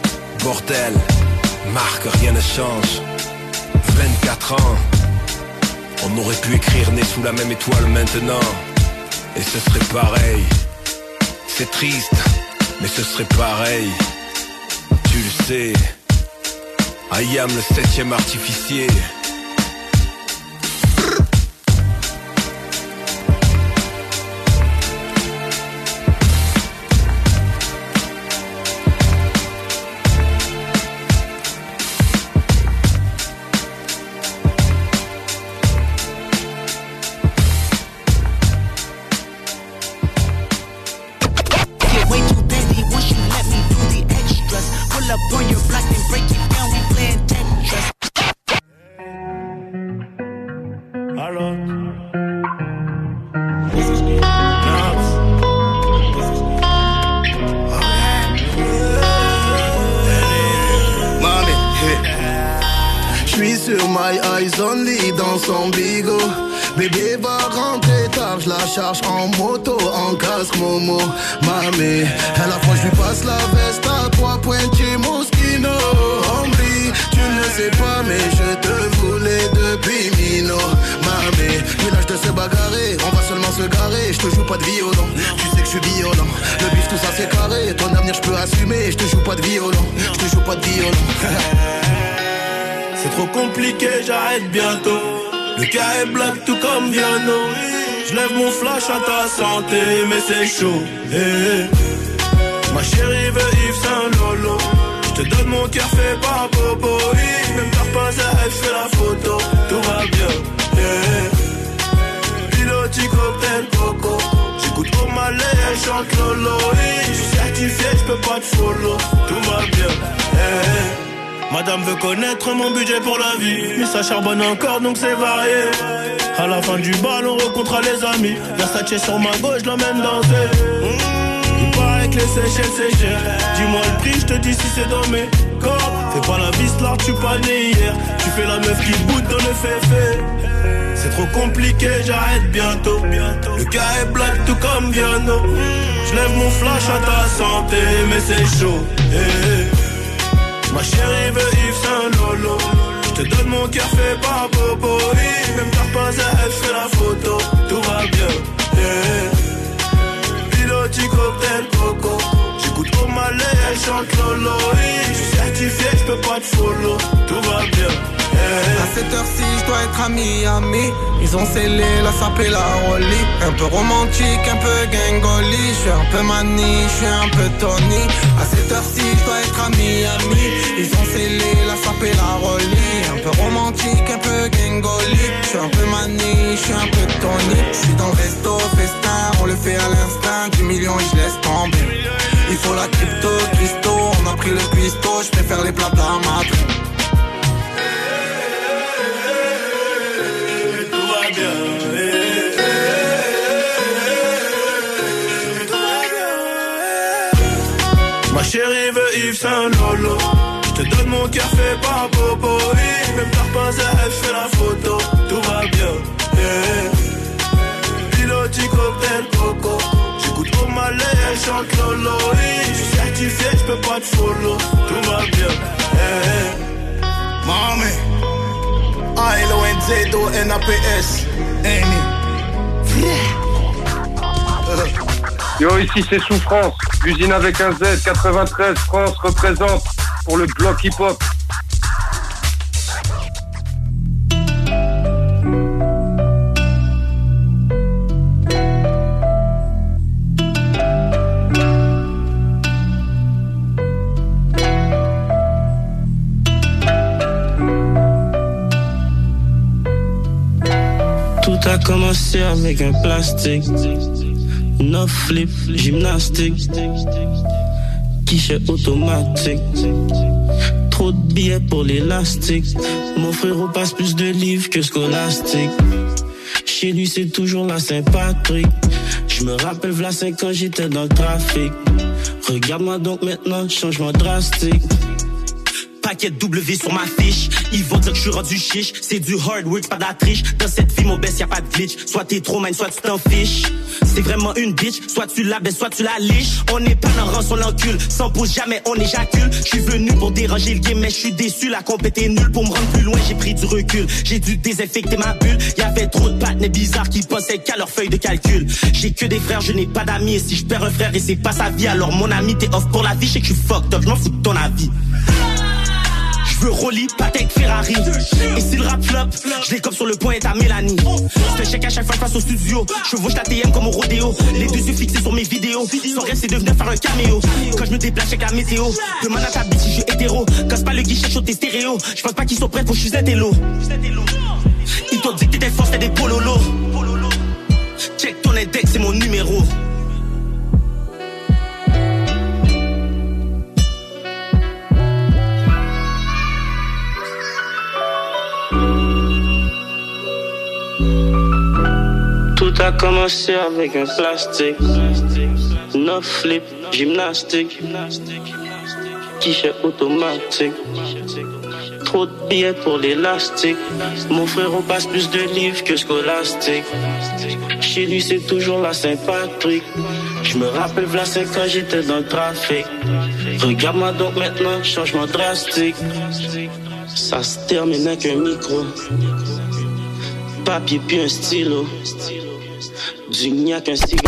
S18: Bordel, Marc, rien ne change. 24 ans, on aurait pu écrire né sous la même étoile maintenant. Et ce serait pareil. C'est triste, mais ce serait pareil. Tu le sais, I am le 7e artificier.
S19: Bébé va rentrer tard, je la charge en moto, en casque Momo. Mamé, à la fois je lui passe la veste à 3 pointiers Moschino. Hombre, tu ne le sais pas mais je te voulais depuis Mino. Mamé, village de se bagarrer, on va seulement se garer. Je te joue pas de violon, tu sais que je suis violent. Le bif tout ça c'est carré, ton avenir je peux assumer. Je te joue pas de violon, je te joue pas de violon.
S22: C'est trop compliqué, j'arrête bientôt. Le cas est black tout comme Viano. Je lève mon flash à ta santé, mais c'est chaud. Hey. Ma chérie veut Yves Saint Lolo. Je te donne mon cœur fait par Bobo. Même par pas elle fait la photo. Tout va bien. Hey. Piloti cocktail coco. J'écoute au malais, elle chante Lolo. Je suis certifié, je peux pas te follow. Tout va bien. Hey. Madame veut connaître mon budget pour la vie, mais ça charbonne encore donc c'est varié. À la fin du bal on rencontrera les amis. Versace sur ma gauche, je l'emmène danser. Il paraît que les Seychelles c'est cher. Dis-moi le prix, je te dis si c'est dans mes corps. Fais pas la vis là, tu pas né hier. Tu fais la meuf qui boude dans le féfé. C'est trop compliqué, j'arrête bientôt. Le cas est black tout comme Viano. J'lève mon flash à ta santé, mais c'est chaud. Ma chérie veut Yves Saint Lolo. J'te donne mon cœur fait par Bobo. Même par pas elle fait la photo. Tout va bien. Piloti cocktail coco. J'écoute au malais, elle chante Lolo. J'suis certifié, j'peux pas te follow. Tout va bien.
S5: À cette heure-ci, je dois être à Miami. Ils ont scellé la sape et la rollie. Un peu romantique, un peu gangoli. Je suis un peu mani, je suis un peu Tony. À cette heure-ci, je dois être à Miami. Ils ont scellé la sape et la rollie. Un peu romantique, un peu gangoli. Je suis un peu mani, je suis un peu Tony. Je suis dans le resto, festin, on le fait à l'instinct. 10 millions et je laisse tomber. Il faut la crypto, Christo. On a pris le cuistot, je préfère les plats d'Amatra.
S22: Ma chérie veut Yves Saint Lolo. J'te donne mon cœur fait par Bobo. Même par pas elle fait la photo. Tout va bien. Piloti cocktail coco. J'écoute au malais, elle chante Lolo. J'suis certifié, j'peux pas te follow. Tout va bien.
S19: Mami, A-L-O-N-Z-O-N-A-P-S. Annie.
S7: Yo, ici c'est Souffrance, usine avec un Z, 93, France représente pour le bloc hip-hop.
S22: Tout a commencé avec un plastique. 9 flip, gymnastique, guichet automatique. Trop de billets pour l'élastique. Mon frérot passe plus de livres que scolastique. Chez lui c'est toujours la Saint-Patrick. Je me rappelle v'là 5 ans j'étais dans le trafic. Regarde-moi donc maintenant, changement drastique. Paquet W sur ma fiche. Ils vont dire que je suis rendu chiche. C'est du hard work, pas de la triche. Dans cette vie, mon best, y'a pas de glitch. Soit t'es trop man, soit tu t'en fiches. C'est vraiment une bitch. Soit tu la baisses, soit tu la liches. On n'est pas dans le rang, on l'encule. Sans pause, jamais on éjacule. Je suis venu pour déranger le game, mais je suis déçu. La compète est nulle. Pour me rendre plus loin, j'ai pris du recul. J'ai dû désinfecter ma bulle. Y'avait trop de partenaires bizarres qui pensaient qu'à leur feuille de calcul. J'ai que des frères, je n'ai pas d'amis. Et si je perds un frère et c'est pas sa vie, alors mon ami, t'es off pour la vie. Je sais que je suis fucked up, je m'en fous de ton avis. Je veux Rolly, Patek, Ferrari. Et si le rap flop, je les cope sur le point et à Mélanie. Je te check à chaque fois que je passe au studio. Je chevauche la TM comme au rodéo. Les deux yeux fixés sur mes vidéos. Son rêve c'est de venir faire un caméo. Quand je me déplace, check la météo. Demande à ta bitch si je suis hétéro. Casse pas le guichet chaud tes stéréo. Je pense pas qu'ils sont prêts pour que je suis un télo. Ils t'ont dit que t'étais force, t'es des pololos. Check ton index, c'est mon numéro. Tout a commencé avec un plastique. 9 flip, gymnastique, guichet automatique. Trop de billets pour l'élastique. Mon frère on passe plus de livres que scolastique. Chez lui c'est toujours la Saint-Patrick. Je me rappelle v'là 5 ans j'étais dans le trafic. Regarde-moi donc maintenant, changement drastique. Ça se termine avec un micro. Papier puis un stylo. Du gnac, un cigare.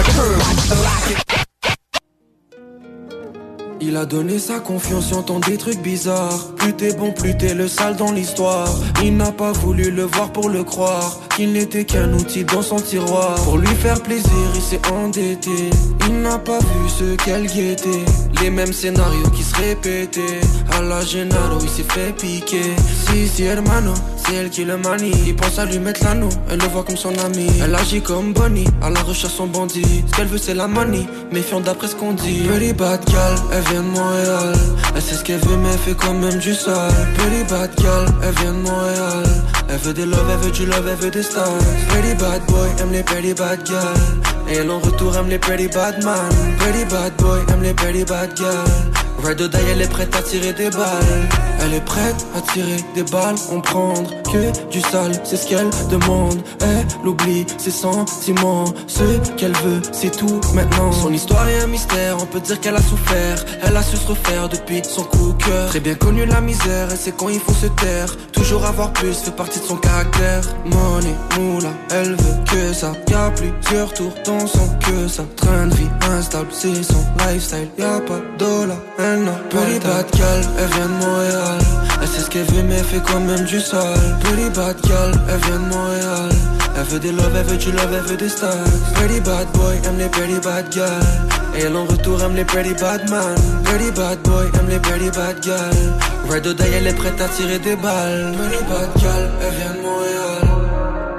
S16: Il a donné sa confiance, j'entends des trucs bizarres. Plus t'es bon, plus t'es le sale dans l'histoire. Il n'a pas voulu le voir pour le croire. Qu'il n'était qu'un outil dans son tiroir. Pour lui faire plaisir, il s'est endetté. Il n'a pas vu ce qu'elle guettait. Les mêmes scénarios qui se répétaient. À la Gennaro, il s'est fait piquer. Si, hermano, c'est elle qui le manie. Il pense à lui mettre l'anneau, elle le voit comme son ami. Elle agit comme Bonnie, à la recherche son bandit. Ce qu'elle veut c'est la manie, méfiant d'après ce qu'on dit. Pretty bad girl, elle vient de Montréal. Elle sait ce qu'elle veut mais elle fait quand même du sale. Pretty bad girl, elle vient de Montréal. Elle veut des love, elle veut du love, elle veut des stars. Pretty bad boy, aime les pretty bad girls. Et elle en retour aime les pretty bad man. Pretty bad boy, aime les pretty bad girls. Ride or die, elle est prête à tirer des balles. Elle est prête à tirer des balles, on prendre que du sale, c'est ce qu'elle demande. Elle oublie ses sentiments, ce qu'elle veut, c'est tout maintenant. Son histoire est un mystère, on peut dire qu'elle a souffert. Elle a su se refaire depuis son coup de cœur. Très bien connu la misère, elle sait quand il faut se taire. Toujours avoir plus fait partie de son caractère. Money, moula, elle veut que ça. Y'a plusieurs tours dans son que ça. Train de vie instable, c'est son lifestyle. Y'a pas de dollar, elle n'a pas de bad gal, elle vient de Montréal. Elle sait ce qu'elle veut mais elle fait quand même du sale. Pretty bad gal, elle vient de Montréal. Elle veut des love, elle veut du love, elle veut des stars. Pretty bad boy, aime les pretty bad gal. Et elle en retour aime les pretty bad man. Pretty bad boy, aime les pretty bad gal. Ride or die, elle est prête à tirer des balles. Pretty bad gal, elle vient de Montréal.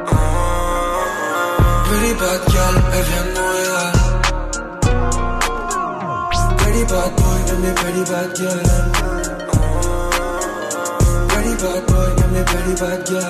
S16: Pretty bad gal, elle vient de Montréal. Pretty bad boy, aime les pretty bad gal. Pretty bad boy, aime les pretty bad gal.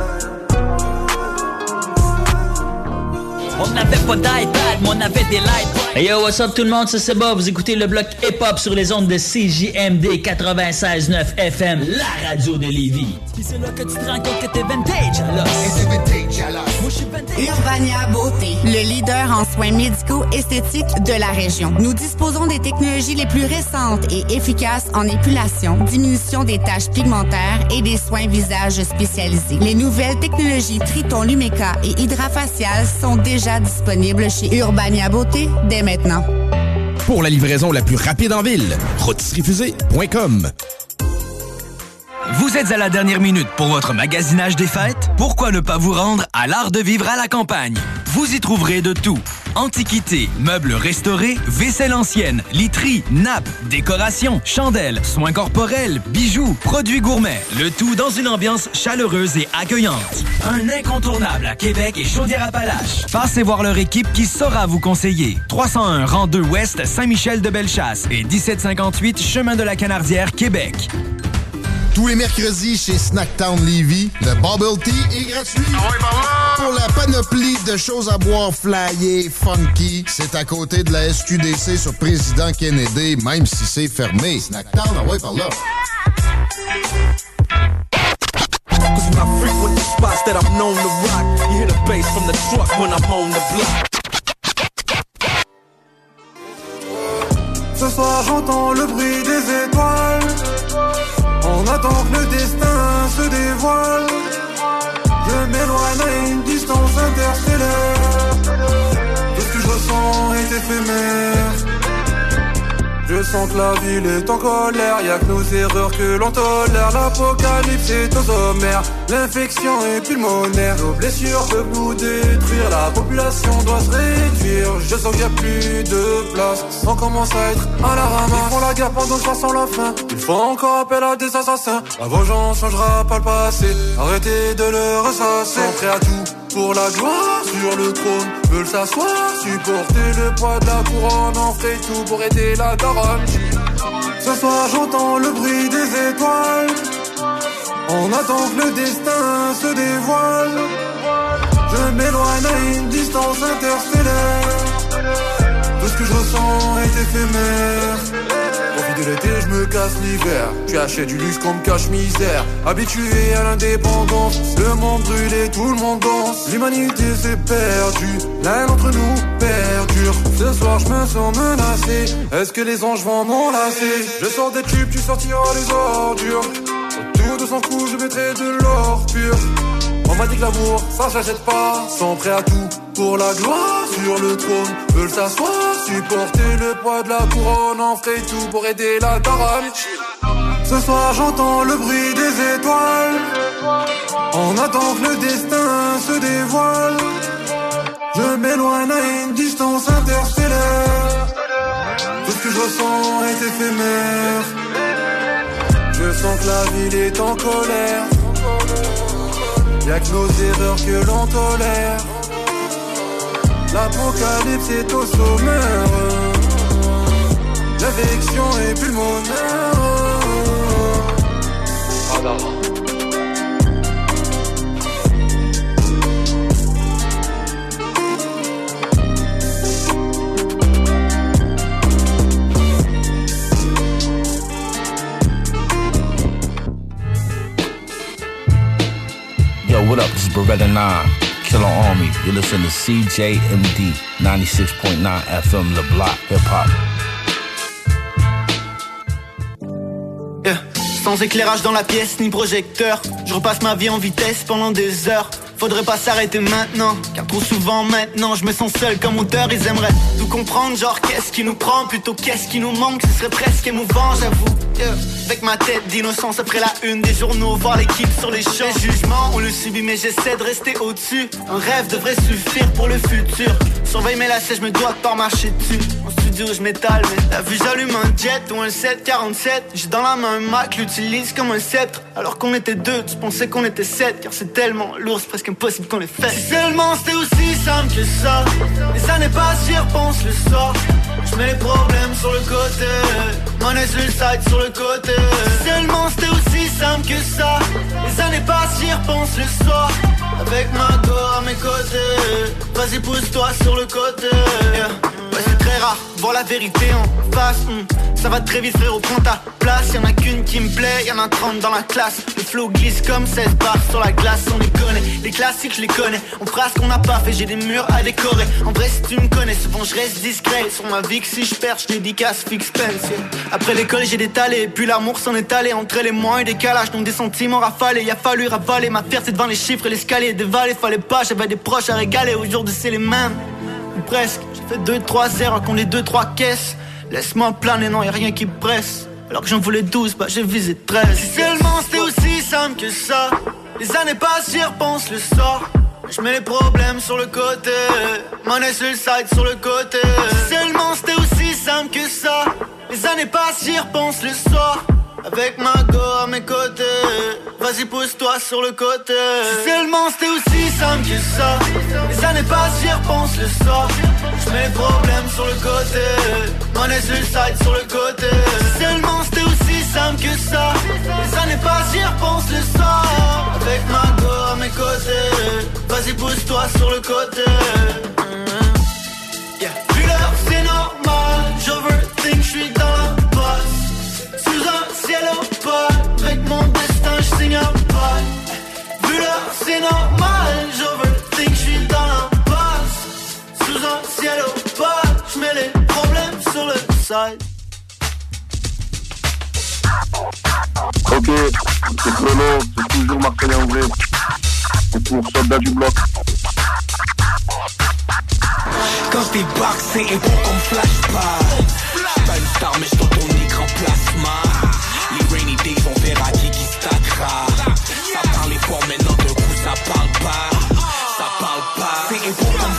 S2: On n'avait pas d'iPad, mais on avait des lights. Hey yo, what's up tout le monde, c'est Bob. Vous écoutez le bloc hip-hop sur les ondes de CJMD 96.9 FM, la radio de Lévis. Puis c'est là que tu te rends compte que t'es vintage, alors. Et t'es vintage, alors. Moi, je suis vintage.
S8: Urbania Beauté, le leader en soins médicaux esthétiques de la région. Nous disposons des technologies les plus récentes et efficaces en épilation, diminution des taches pigmentaires et des soins visage spécialisés. Les nouvelles technologies Triton Lumeka et Hydrafacial sont déjà disponibles chez Urbania Beauté dès maintenant.
S3: Pour la livraison la plus rapide en ville, rôtisseriefusée.com.
S23: Vous êtes à la dernière minute pour votre magasinage des fêtes? Pourquoi ne pas vous rendre à l'Art de vivre à la campagne? Vous y trouverez de tout. Antiquités, meubles restaurés, vaisselle ancienne, literie, nappes, décorations, chandelles, soins corporels, bijoux, produits gourmets. Le tout dans une ambiance chaleureuse et accueillante. Un incontournable à Québec et Chaudière-Appalaches. Passez voir leur équipe qui saura vous conseiller. 301 rang 2 Ouest, Saint-Michel-de-Bellechasse et 1758 Chemin de la Canardière, Québec.
S10: Tous les mercredis chez Snacktown Lévis, le Bubble Tea est gratuit. Pour la panoplie de choses à boire flyées, funky, c'est à côté de la SQDC sur Président Kennedy, même si c'est fermé. Snacktown, envoie par là.
S20: Cause when I frequent the spots that I'm known to rock, you hear the bass from the truck when I'm on the block.
S5: Ce soir j'entends le bruit des étoiles. On attend que le destin se dévoile. Je m'éloigne à une distance interstellaire. Tout ce que je ressens est éphémère. Je sens que la ville est en colère. Y'a que nos erreurs que l'on tolère. L'apocalypse est aux sommaires. L'infection est pulmonaire. Nos blessures peuvent nous détruire. La population doit se réduire. Je sens qu'il n'y a plus de place. On commence à être à la ramasse. Ils font la guerre pendant que je sens la fin. Ils font encore appel à des assassins. La vengeance changera pas le passé. Arrêtez de le ressasser. Sont prêts à tout pour la gloire sur le trône. Veulent s'asseoir, supporter le poids de la couronne. On fait tout pour aider la daronne. Ce soir j'entends le bruit des étoiles. On attend que le destin se dévoile. Je m'éloigne à une distance interstellaire. Tout ce que je ressens est éphémère. Profite de l'été, je me casse l'hiver. Tu achètes du luxe comme cache misère. Habitué à l'indépendance, le monde brûle et tout le monde danse. L'humanité s'est perdue, l'un d'entre nous perdure. Ce soir je me sens menacé. Est-ce que les anges vont m'enlacer? Je sors des tubes, tu sortiras les ordures. Autour de son cou, je mettrai de l'or pur. On m'a dit que l'amour, ça s'achète pas. Sont prêts à tout pour la gloire sur le trône. Veulent s'asseoir, supporter le poids de la couronne. On ferait tout pour aider la daronne. Ce soir j'entends le bruit des étoiles. On attend que le destin se dévoile. Je m'éloigne à une distance interstellaire. Tout ce que je ressens est éphémère. Je sens que la ville est en colère. Y'a que nos erreurs que l'on tolère. L'apocalypse est au sommaire. L'infection est pulmonaire.
S4: Yo, what up? This is Beretta 9, Killer Army. You're listening to CJMD 96.9 FM, Le Bloc, Hip Hop.
S9: Yeah. Sans éclairage dans la pièce ni projecteur, je repasse ma vie en vitesse pendant des heures. Faudrait pas s'arrêter maintenant, car trop souvent maintenant je me sens seul comme auteur. Ils aimeraient tout comprendre, genre qu'est-ce qui nous prend, plutôt qu'est-ce qui nous manque. Ce serait presque émouvant, j'avoue. Avec ma tête d'innocence après la une des journaux, voir l'équipe sur les champs. Les jugements, on le subit mais j'essaie de rester au-dessus. Un rêve devrait suffire pour le futur. Surveille mes lacets, je me dois de pas marcher dessus. En studio je m'étale, mais t'as vu j'allume un jet ou un 747. J'ai dans la main un Mac, l'utilise comme un sceptre. Alors qu'on était deux, tu pensais qu'on était 7. Car c'est tellement lourd, c'est presque impossible qu'on les fait. Si seulement c'était aussi simple que ça. Les années passent, j'y repense le soir. Je mets les problèmes sur le côté, money sur le side sur le côté. Si seulement c'était aussi simple que ça. Les années passent, j'y repense le soir. Avec ma go à mes côtés. Vas-y pousse-toi sur le côté, yeah. Ouais, c'est très rare, voir la vérité en face. Ça va très vite frérot, prends ta place. Y'en a qu'une qui me plaît, y'en a 30 dans la classe. Le flow glisse comme 16 barres sur la glace. On les connaît, les classiques je les connais. On fera ce qu'on n'a pas fait, j'ai des murs à décorer. En vrai si tu me connais, souvent je reste discret. Sur ma vie que si je perds, je dédicace Fix Pence, yeah. Après l'école j'ai détalé, puis l'amour s'en est allé. Entre les mois et décalage, donc des sentiments rafalés. Y a fallu ravaler ma fierté devant les chiffres et l'escalier. Dévaler, fallait pas, j'avais des proches à régaler. Aujourd'hui c'est les mêmes, ou presque. J'ai fait 2-3 erreurs qu'on les 2-3 caisses. Laisse-moi planer, non y'a rien qui presse. Alors que j'en voulais 12, bah j'ai visé 13. Si seulement c'était aussi simple que ça. Les années passent, j'y repense le soir. Je mets les problèmes sur le côté, money sur le side sur le côté. Si seulement c'était aussi simple que ça. Les années passent, j'y repense le soir. Avec ma go à mes côtés. Vas-y pousse-toi sur le côté. Si seulement c'était aussi simple que ça. Les années passent, j'y repense le soir. Je mets les problèmes sur le côté, money sur le side sur le côté. Si seulement c'était aussi simple que ça. Les années passent, j'y repense le soir. Avec ma go à mes côtés. Vas-y pousse-toi sur le côté, yeah. Plus l'heure c'est normal, j'overthink, j'suis dans la passe. Sous un ciel opaque, avec mon destin j'signe un bail. Vu l'heure c'est normal, j'overthink, j'suis dans la passe. Sous un ciel opaque, j'mets les problèmes sur le side.
S1: Ok, c'est Chrono, c'est toujours Marseillais en vrai. C'est pour Soldat du Bloc.
S27: Quand t'es back, c'est épo comme flashback. Pas une star, mais j't'en ton écran plasma. Les rainy days, on verra qui stackera. Ça parle fort, maintenant d'un coup ça parle pas. Ça parle pas. C'est épo comme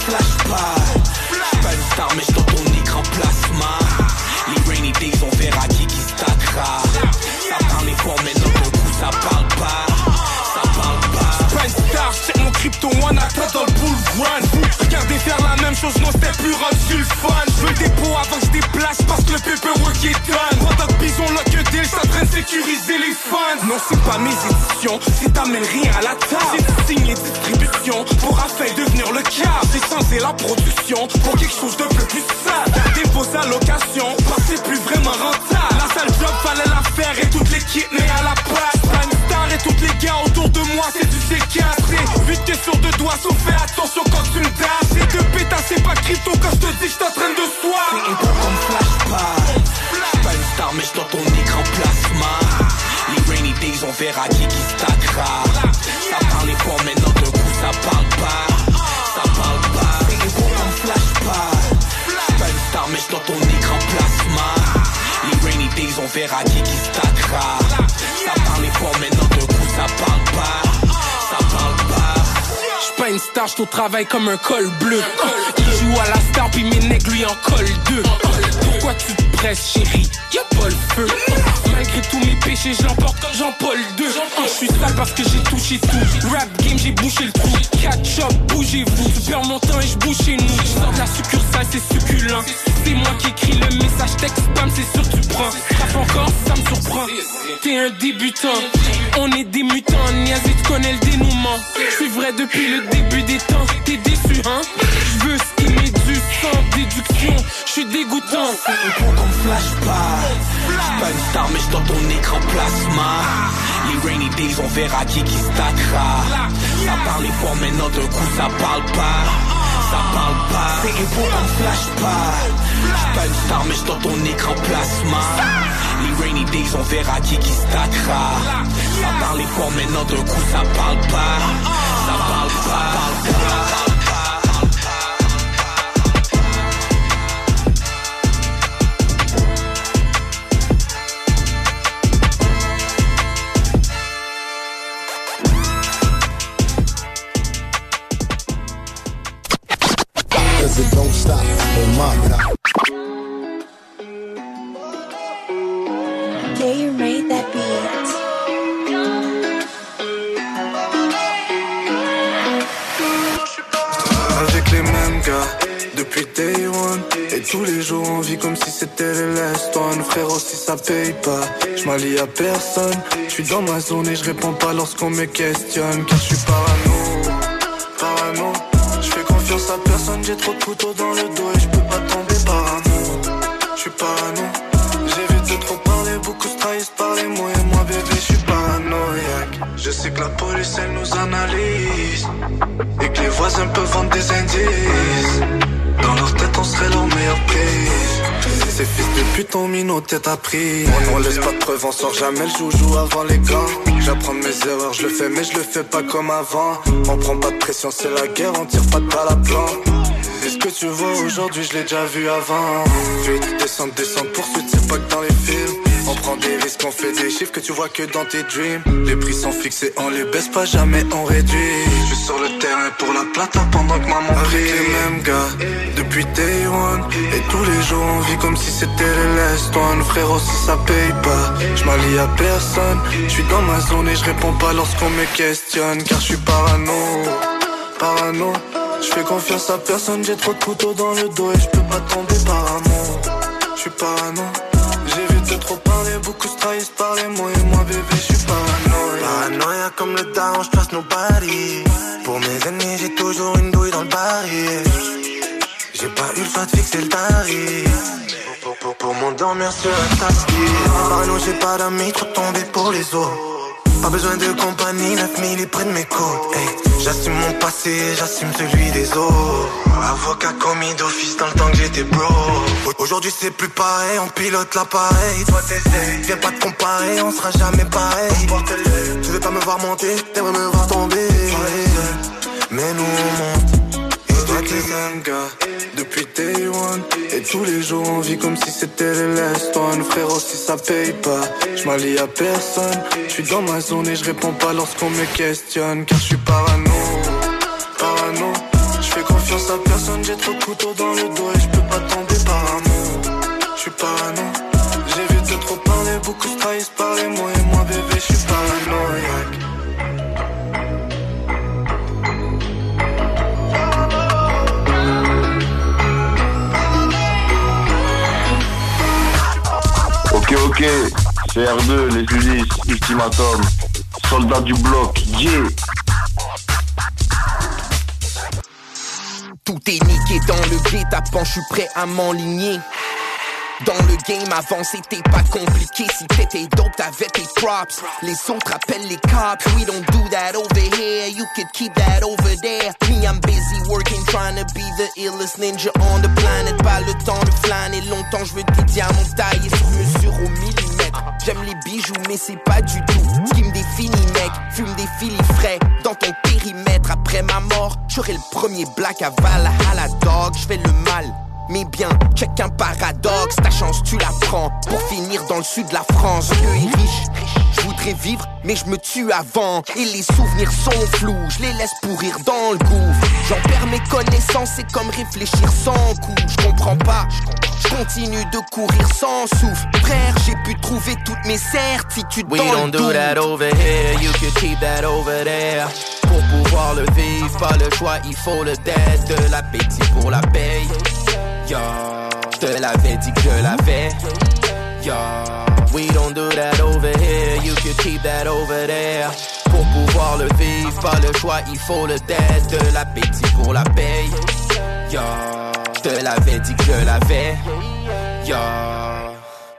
S27: flashback. Pas une star, mais j't'en ton écran plasma. Les rainy days, on verra qui stackera. Ça parle fort, maintenant d'un coup ça parle pas. Ça parle pas. C'est pas une star, j'check mon crypto one attaque dans le bull run. Regardez faire la même chose, non c'était plus rendu le fun. Je veux le dépôt avant que je déplace parce que le paperwork est done. Pendant que bison lock a deal, ça traîne sécuriser les funds. Non c'est pas mes éditions, si t'amènes rien à la table. C'est signé distribution pour afin devenir le cas. J'ai changé la production pour quelque chose de plus sale. Gardez vos allocations, parce que c'est plus vraiment rentable. La sale job fallait la faire et toute l'équipe n'est à la place. Pas une star et tous les gars autour de moi c'est du C4. C'est 8 que sur 2 doigts, sauf fais attention quand tu me dashes. C'est de pétas, c'est pas crypto quand je te dis j'suis en train de soir. C'est épo comme flashback. Pas une star mais j'suis dans ton écran plasma. Les rainy days on verra qui stackera. Ça parle fort maintenant d'un coup ça parle pas. Ça parle pas. C'est épo comme flashback. Pas une star mais j'suis dans ton écran plasma. Les rainy days on verra qui stackera. Ça parle fort maintenant d'un coup ça parle pas. Ça parle pas. J'suis pas une star, j'suis au travail comme un col bleu. Il joue à la star puis mes nègres lui en collent deux. Pourquoi tu te presses chérie, y'a pas le feu. Malgré tous mes péchés, je l'emporte comme Jean-Paul II. Je suis sale parce que j'ai touché tout. Rap game, j'ai bouché le trou. Catch up, bougez-vous. Tu perds mon temps et je bouge chez nous. Je sors de la succursale, c'est succulent. C'est moi qui écris le message texte spam, c'est sûr tu prends. Frappe encore, ça me surprend. T'es un débutant, on est des mutants. Niazi, tu connais le dénouement. Je suis vrai depuis le début des temps. T'es déçu, hein? Je veux ce qui m'est dû sans déduction. Je suis dégoûtant. C'est épo comme flashback. Pas une star, mais j'suis dans ton écran plasma. Les rainy days, on verra qui stackera. Ça parlait fort, maintenant d'un coup ça parle pas. Ça parle pas, c'est info, on flash pas. J'suis pas une star mais j'suis dans ton écran plasma. Les rainy days on verra qui stackera. Ça parlait fort, maintenant d'un coup ça parle pas. Ça parle pas.
S10: Cause it don't stop on my top.
S6: Yeah, you made that beat.
S5: Avec les mêmes gars, depuis day one. Et tous les jours on vit comme si c'était les last one. Frérot, si ça paye pas, j'm'allie à personne. J'suis dans ma zone et j'réponds pas lorsqu'on me questionne. Car j'suis parano. J'fais confiance à personne, j'ai trop de couteaux dans le dos et j'peux pas tomber parano. J'suis parano. J'évite de trop parler, beaucoup se trahissent par les mots. Et moi bébé, j'suis paranoïaque. Je sais que la police elle nous analyse et que les voisins peuvent vendre des indices. Dans leur tête on serait leur meilleure prise. Ces fils de pute ont mis nos têtes à prix. On laisse pas de preuves, on sort jamais le joujou avant les gants. J'apprends de mes erreurs, je le fais mais je le fais pas comme avant. On prend pas de pression, c'est la guerre, on tire pas de balle à blanc. Et ce que tu vois aujourd'hui, je l'ai déjà vu avant. Fuite, descente, poursuite, c'est pas que dans les films. On prend des risques, on fait des chiffres que tu vois que dans tes dreams. Les prix sont fixés, on les baisse pas, jamais on réduit. Je suis sur le terrain pour la plata pendant que maman prie. Avec les mêmes gars, depuis day one. Et tous les jours on vit comme si c'était les last one. Frérot, si ça paye pas, j'm'allie à personne. J'suis dans ma zone et j'réponds pas lorsqu'on me questionne. Car j'suis parano. J'fais confiance à personne, j'ai trop de couteaux dans le dos et j'peux pas tomber par amour. J'suis parano. J'évite de trop parler, beaucoup se trahissent par les mots. Et moi bébé, j'suis paranoïa. Paranoïa comme le down, j'trace nos paris. Pour mes ennemis, j'ai toujours une douille dans le baril. J'ai pas eu le choix de fixer le tarif. Pour m'endormir sur un tapis. Parano, j'ai pas d'amis, trop tombé pour les autres. Pas besoin de compagnie, 9000 est près de mes côtes. Hey, j'assume mon passé, j'assume celui des autres. Avocat commis d'office dans le temps que j'étais bro. Aujourd'hui c'est plus pareil, on pilote l'appareil. Toi t'essayes, viens pas te comparer, on sera jamais pareil. Tu veux pas me voir monter, t'aimerais me voir tomber. Mais nous on monte. Et toi t'es un gars, depuis day one. Et tous les jours on vit comme si c'était les last one. Frérot, si ça paye pas, j'm'allie à personne. J'suis dans ma zone et j'réponds pas lorsqu'on me questionne. Car j'suis parano. J'fais confiance à personne, j'ai trop de couteaux dans le dos et j'peux pas tomber par amour. J'suis parano. J'évite de trop parler, beaucoup se trahissent par les mots. Et moi bébé, j'suis paranoïaque.
S1: Ok, c'est R2, les Ulysses, Ultimatum, soldat du bloc, yeah.
S12: Tout est niqué dans le guet-apens, je suis prêt à m'enligner. Dans le game avant c'était pas compliqué. Si t'étais dope t'avais tes props. Les autres appellent les cops. We don't do that over here. You could keep that over there. Me I'm busy working trying to be the illest ninja on the planet. Pas le temps de flâner longtemps. Je veux des diamants taillés sur mesure au millimètre. J'aime les bijoux mais c'est pas du tout ce qui me définit mec. Fume des filis frais dans ton périmètre. Après ma mort j'aurai le premier black à Valhalla dog. J'fais le mal mais bien, check un paradoxe, ta chance tu la prends pour finir dans le sud de la France. Dieu est riche, je voudrais vivre mais je me tue avant. Et les souvenirs sont flous, je les laisse pourrir dans le gouffre. J'en perds mes connaissances, c'est comme réfléchir sans coup. Je comprends pas, je continue de courir sans souffle. Frère, j'ai pu trouver toutes mes certitudes dans le doute.
S17: We don't do that over here, you could keep that over there. Pour pouvoir le vivre, pas le choix, il faut le dead. De l'appétit pour la paye. Yo, te l'avais dit que je l'avais. Yo, we don't do that over here. You could keep that over there. Pour pouvoir le vivre, pas le choix, il faut le dead. De l'appétit pour la paye. Yo, te l'avais dit que je l'avais. Yo.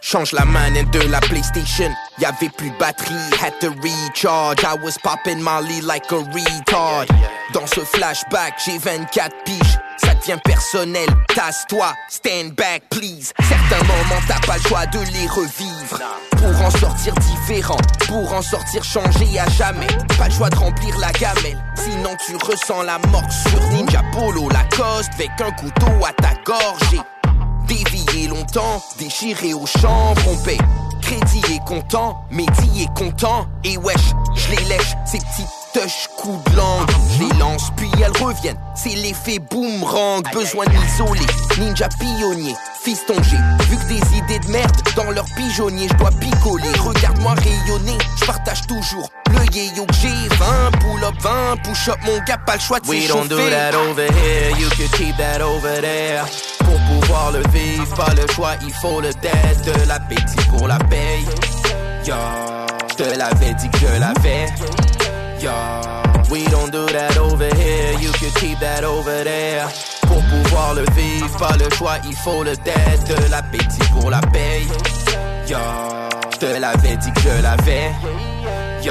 S12: Change la manette de la PlayStation. Y'avait plus de batterie, had to recharge. I was popping Molly like a retard. Dans ce flashback, j'ai 24 piges. Ça devient personnel, tasse-toi, stand back please. Certains moments t'as pas le choix de les revivre. Pour en sortir différent, pour en sortir changé à jamais. Pas le choix de remplir la gamelle, sinon tu ressens la mort sur Ninja Polo Lacoste. Avec un couteau à ta gorge. Dévié longtemps, déchiré au chanvre, on paie. Crédit est content, Mehdi est content. Et wesh, je les lèche, ces petites touches coups de langue. Je les lance puis elles reviennent, c'est l'effet boomerang. Besoin de m'isoler, ninja pionnier. Fiston, j'ai vu que des idées de merde dans leur pigeonnier, je dois picoler. Regarde-moi rayonner, je partage toujours le yéyo que j'ai. 20 pull-up, 20 push-up, mon gars, pas le choix de s'échauffer.
S17: We don't do that over here, you can keep that over there. Pour pouvoir le vivre, pas le choix, il faut le dead. De l'appétit pour la paye. Yo, je te l'avais dit que je l'avais. Yo, we don't do that over here, you can keep that over there. Pour pouvoir le vivre, pas le choix, il faut le dead. De l'appétit pour la paye. Yo, je te l'avais dit que je l'avais. Yo.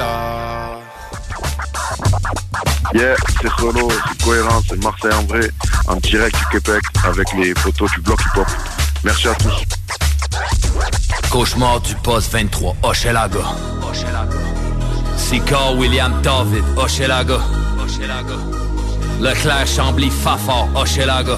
S1: Yeah, c'est Solo, c'est Cohérent, c'est Marseille en vrai, en direct du Québec avec les potos du bloc hip-hop. Merci à tous.
S11: Cauchemar du poste 23, Hochelaga. Sicard William David, Hochelaga. Leclerc Chambly Fafard, Hochelaga.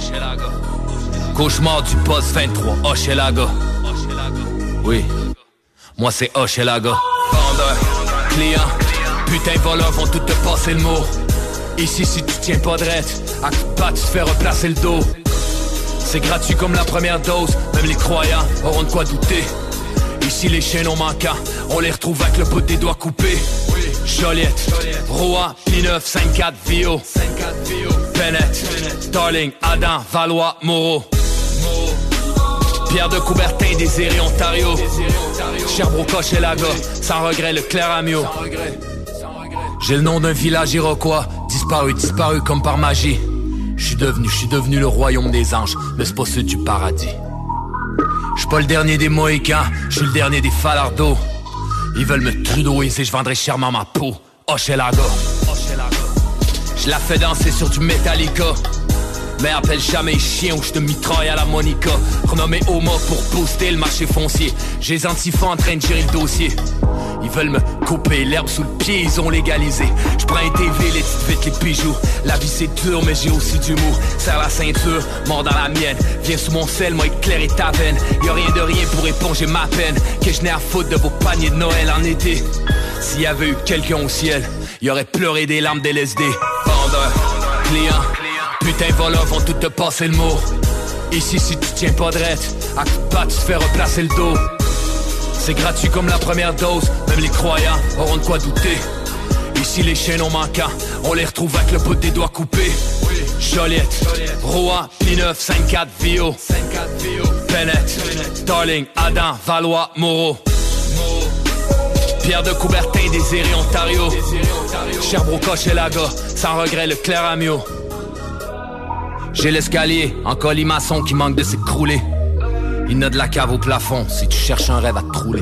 S11: Cauchemar du poste 23, Hochelaga. Oui, moi c'est Hochelaga. Vendeur, client, putain voleurs vont tout te passer le mot. Ici si tu tiens pas drette, à coup de patte tu te fais replacer le dos. C'est gratuit comme la première dose, même les croyants auront de quoi douter. Ici les chaînons manquants, on les retrouve avec le bout des doigts coupés. Joliette, Rouen, P9, 5-4, Vio, Bennett, Darling, Adam, Valois, Moreau. Pierre de Coubertin, Désiré, Ontario. Sherbrooke, Hochelaga, sans regret, le Clair-Amio. J'ai le nom d'un village iroquois, disparu comme par magie. Je suis devenu le royaume des anges, mais c'est pas ceux du paradis. Je suis pas le dernier des Mohicans, je suis le dernier des Falardeaux. Ils veulent me trudeauiser, je vendrai chèrement ma peau. Hochelaga. Je la fais danser sur du Metallica. Mais appelle jamais chien ou je te mitraille à la Monica. Renommé Homo pour booster le marché foncier. J'ai les antifas en train de gérer le dossier. Ils veulent me couper l'herbe sous le pied, ils ont légalisé. Je prends un TV, les petites vites, les bijoux. La vie c'est dur, mais j'ai aussi du mou. Serre la ceinture, mort dans la mienne. Viens sous mon sel, moi éclairer ta veine. Y'a rien de rien pour éponger ma peine. Que je n'ai à foutre de vos paniers de Noël en été. S'il y avait eu quelqu'un au ciel, il aurait pleuré des larmes d'LSD. Vendeur, client, putain voleurs vont tout te passer le mot. Ici si tu tiens pas drette, à coup de patte tu te fais replacer le dos. C'est gratuit comme la première dose, même les croyants auront de quoi douter. Ici les chaînons manquants, on les retrouve avec le bout des doigts coupés. Joliette, Rouen, P9, 5-4, Vio, Bennett, Darling, Adam, Valois, Moreau. Pierre de Coubertin, Désiré, Ontario. Sherbrooke, Hochelaga, sans regret, le Clair-Amio. J'ai l'escalier en colimaçon qui manque de s'écrouler. Il n'a de la cave au plafond si tu cherches un rêve à te trouler.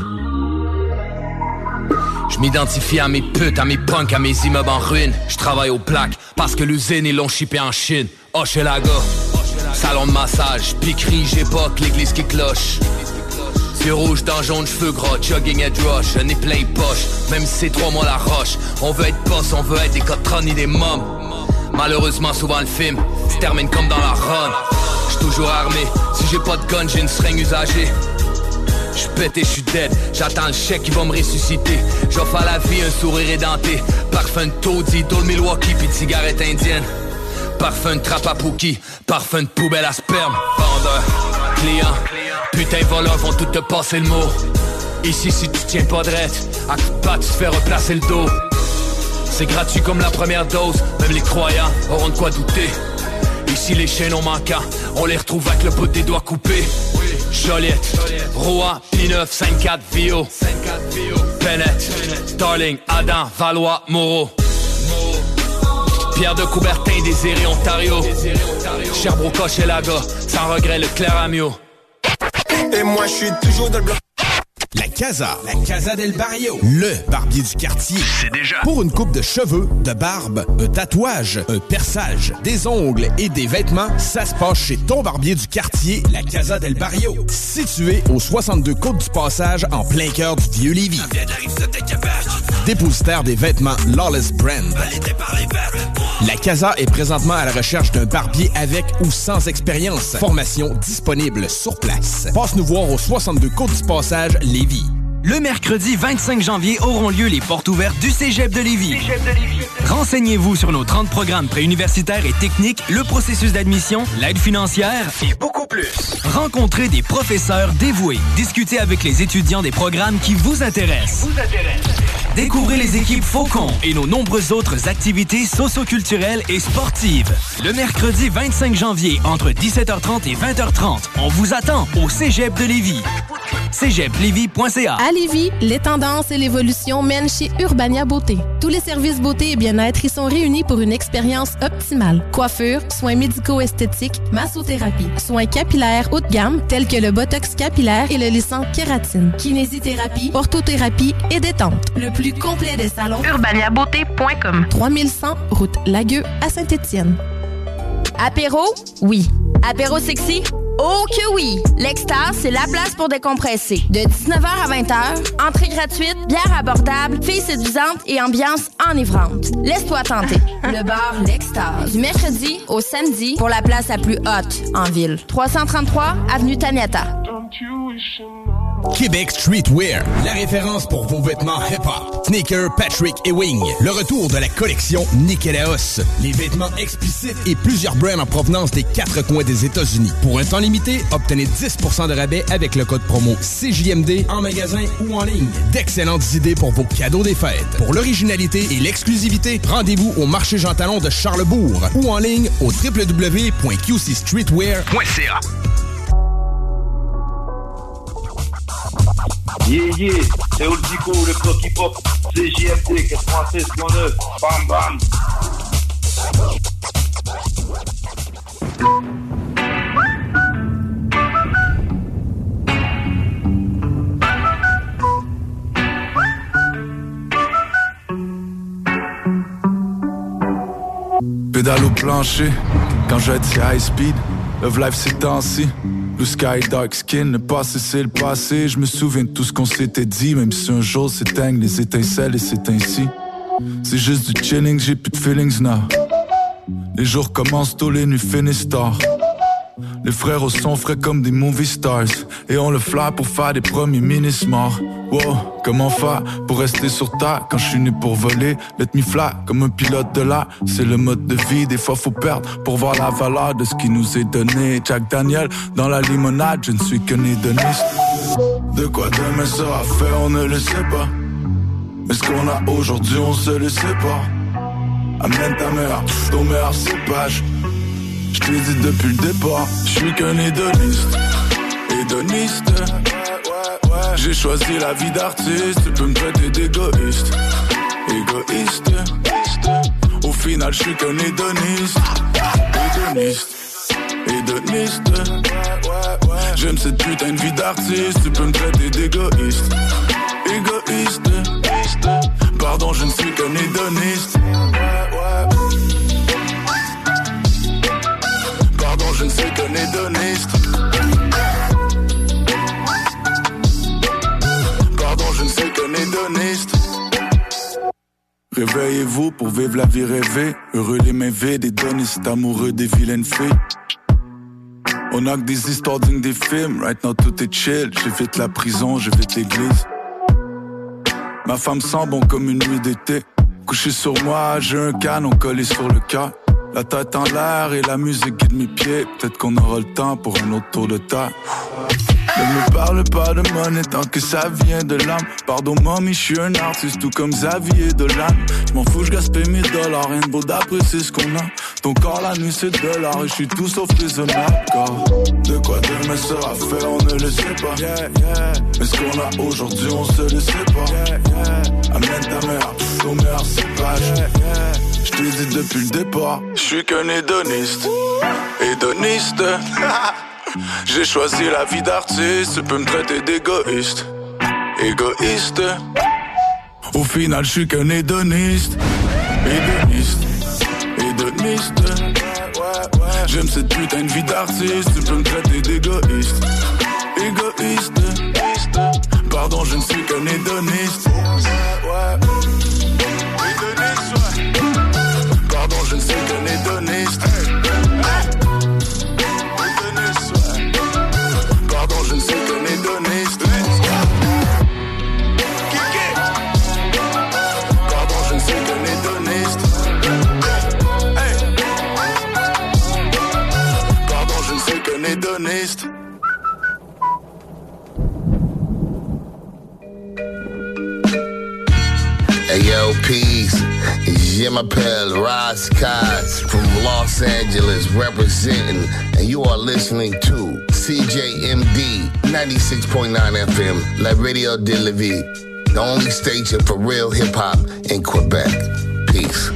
S11: Je m'identifie à mes putes, à mes punks, à mes immeubles en ruine. Je travaille aux plaques parce que l'usine ils l'ont shippé en Chine. Hochelaga, salon de massage, piquerie, j'époque, l'église qui cloche. Yeux rouges dans jaune, cheveux gras, jogging head rush, un nez plein poche, même si c'est 3 mois la roche. On veut être boss, on veut être des cotrons ni des mômes. Malheureusement souvent le film se termine comme dans la run. J'suis toujours armé, si j'ai pas de gun j'ai une seringue usagée. J'suis pété, j'suis dead, j'attends le chèque qui va me ressusciter. J'offre à la vie un sourire édenté. Parfum de taudis, d'eau de Milwaukee pis de cigarette indienne. Parfum de trappe à Pookie, parfum de poubelle à sperme. Vendeur, client, putain voleurs vont tout te passer le mot. Ici si tu tiens pas drette, à coup de patte tu te fais replacer le dos. C'est gratuit comme la première dose, même les croyants auront de quoi douter. Ici les chaînons manquants, on les retrouve avec le bout des doigts coupés. Joliette, Rouen, P9, 5-4, Vio, Bennett, Darling, Adam, Valois, Moreau. Pierre de Coubertin, Désiré, Ontario. Sherbrooke, Hochelaga, sans regret, le Clair-Amio.
S13: Et moi je suis toujours dans le bloc.
S3: La Casa del Barrio, le barbier du quartier. C'est déjà. Pour une coupe de cheveux, de barbe, un tatouage, un perçage, des ongles et des vêtements, ça se passe chez ton barbier du quartier, la Casa del Barrio. Situé au 62 Côte du Passage, en plein cœur du Vieux-Lévis. Dépositaire des vêtements Lawless Brand. La Casa est présentement à la recherche d'un barbier avec ou sans expérience. Formation disponible sur place. Passe nous voir au 62 Côte du Passage, Lévis.
S23: Le mercredi 25 janvier auront lieu les portes ouvertes du Cégep de Lévis. Renseignez-vous sur nos 30 programmes préuniversitaires et techniques, le processus d'admission, l'aide financière et beaucoup plus. Rencontrez des professeurs dévoués. Discutez avec les étudiants des programmes qui vous intéressent. Découvrez les équipes Faucon et nos nombreuses autres activités socio-culturelles et sportives. Le mercredi 25 janvier, entre 17h30 et 20h30, on vous attend au Cégep de Lévis. cégeplevy.ca.
S14: À Lévis, les tendances et l'évolution mènent chez Urbania Beauté. Tous les services beauté et bien-être y sont réunis pour une expérience optimale. Coiffure, soins médico-esthétiques, massothérapie, soins capillaires haut de gamme tels que le botox capillaire et le lissant kératine, kinésithérapie, orthothérapie et détente. Le plus complet des salons, urbaniabeauté.com. 3100 route Lagueux à Saint-Étienne.
S15: Apéro? Oui. Apéro sexy? Oh que oui! L'Extase, c'est la place pour décompresser. De 19h à 20h, entrée gratuite, bière abordable, filles séduisantes et ambiance enivrante. Laisse-toi tenter. Le bar L'Extase. Du mercredi au samedi pour la place la plus haute en ville. 333 avenue Taniata.
S3: Québec Streetwear, la référence pour vos vêtements hip-hop. Sneaker, Patrick et Wing. Le retour de la collection Nikelaos. Les vêtements explicites et plusieurs brands en provenance des 4 coins des États-Unis. Pour un temps limité, obtenez 10% de rabais avec le code promo CJMD en magasin ou en ligne. D'excellentes idées pour vos cadeaux des fêtes. Pour l'originalité et l'exclusivité, rendez-vous au marché Jean Talon de Charlesbourg ou en ligne au www.qcstreetwear.ca.
S21: Yeah, c'est Oldico, le bloc hip-hop, CJMD 96.9, bam bam.
S24: Pédale au plancher, quand je vais être high speed, love life c'est temps-ci. Blue sky, dark skin, le passé c'est le passé. Je me souviens de tout ce qu'on s'était dit, même si un jour s'éteignent les étincelles et c'est ainsi. C'est juste du chilling, j'ai plus de feelings now. Les jours commencent tôt, les nuits finissent tard. Les frères au son frais comme des movie stars. Et on le fly pour faire des premiers mini-smarts. Wow, comment faire pour rester sur terre quand je suis né pour voler? Let me fly comme un pilote de l'air. C'est le mode de vie, des fois faut perdre pour voir la valeur de ce qui nous est donné. Jack Daniel dans la limonade, je ne suis qu'un hédoniste. De quoi demain sera fait, on ne le sait pas. Mais ce qu'on a aujourd'hui, on se le sait pas. Amène ta mère, ton meilleur cépage. Je te l'ai dit depuis le départ, je suis qu'un hédoniste. Hédoniste. J'ai choisi la vie d'artiste, tu peux me traiter d'égoïste. Égoïste. Au final, je suis qu'un hédoniste. Hédoniste. J'aime cette putain de vie d'artiste, tu peux me traiter d'égoïste. Égoïste. Pardon, je ne suis qu'un hédoniste. Pardon, je ne suis qu'un hédoniste. Je ne suis qu'un hédoniste. Réveillez-vous pour vivre la vie rêvée. Heureux les mains vides, hédonistes, amoureux des vilaines filles. On a que des histoires dignes des films. Right now tout est chill. J'évite la prison, j'évite l'église. Ma femme sent bon comme une nuit d'été. Couché sur moi, j'ai un canon collé sur le cœur. La tête en l'air et la musique guide mes pieds. Peut-être qu'on aura le temps pour un autre tour de terre. Ne me parle pas de monnaie tant que ça vient de l'âme. Pardon mommy, je suis un artiste tout comme Xavier Dolan. J'm'en fous, j'gaspille $1000. Rien de beau d'apprécier ce qu'on a. Ton corps la nuit c'est $. Et je suis tout sauf raisonnable. Car de quoi demain sera fait on ne le sait pas. Mais ce qu'on a aujourd'hui on se le sait pas. Amène ta mère, ton meilleur cépage. Je te l'ai dit depuis le départ, je suis qu'un hédoniste. Hédoniste. J'ai choisi la vie d'artiste, tu peux me traiter d'égoïste. Égoïste. Au final, je suis qu'un hédoniste. Hédoniste. Hédoniste. J'aime cette putain de vie d'artiste, tu peux me traiter d'égoïste. Égoïste. Pardon, je ne suis qu'un hédoniste. Pardon, je ne suis qu'un hédoniste. Pardon, je ne suis qu'un hédoniste. Pardon, je ne suis qu'un hédoniste. Pardon, je ne suis qu'un hédoniste.
S7: Hey yo, peace. Je m'appelle Ras Kass from Los Angeles representing, and you are listening to CJMD 96.9 FM, La Radio de la Vie, the only station for real hip-hop in Quebec. Peace.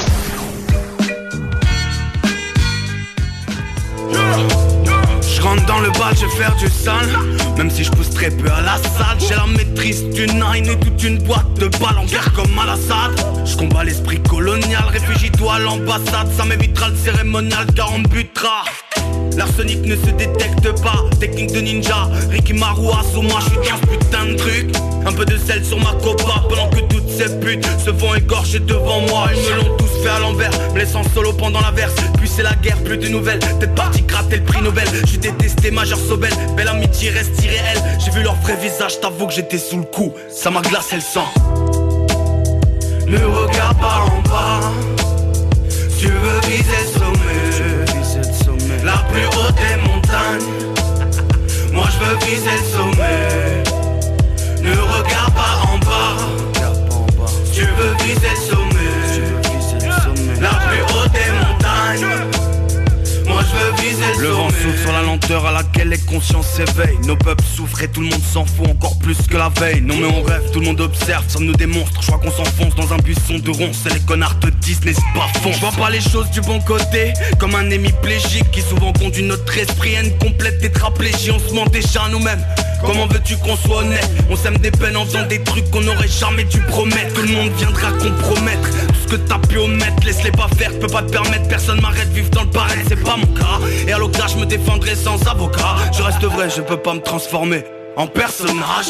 S13: Rentre dans le bal, je vais faire du sale. Même si je pousse très peu à la salle, j'ai la maîtrise du nine et toute une boîte de balles en guerre comme à l'Assad. Je combats l'esprit colonial, réfugie-toi à l'ambassade. Ça m'évitera le cérémonial car on me butera. L'arsenic ne se détecte pas, technique de ninja. Ricky Maru, Asuma, je suis dans ce putain de truc. Un peu de sel sur ma copa pendant que toutes ces putes se font égorger devant moi. Ils me l'ont tous fait à l'envers, me laissant solo pendant la verse. Puis c'est la guerre, plus de nouvelles. Peut-être parti gratter le prix Nobel. J'ai détesté Major Sobel, belle amitié reste irréelle. J'ai vu leur vrai visage, t'avoue que j'étais sous le coup. Ça m'a glacé le sang. Ne regarde pas en bas. Tu veux viser le sommet, la plus haute des montagnes. Moi je veux viser le sommet. Ne regarde pas en bas. Tu veux viser le sommet, la plus haute des montagnes. Moi je veux viser le vent souffle sur la lenteur à laquelle les consciences s'éveillent. Nos peuples souffrent et tout le monde s'en fout encore plus que la veille. Non mais on rêve, tout le monde observe, ça nous démonstre. Je crois qu'on s'enfonce dans un buisson de ronces. Et les connards te disent n'hésite pas à fond. Je vois pas les choses du bon côté, comme un hémiplégique qui souvent conduit notre esprit à une complète tétraplégie. On se ment déjà nous-mêmes. Comment veux-tu qu'on soit honnête? On sème des peines en faisant des trucs qu'on aurait jamais dû promettre. Tout le monde viendra compromettre tout ce que t'as pu omettre. Laisse-les pas faire, peux pas te permettre. Personne m'arrête, vivre dans le pareil, c'est pas mon cas. Et à l'occasion je me défendrai sans avocat. Je reste vrai, je peux pas me transformer en personnage.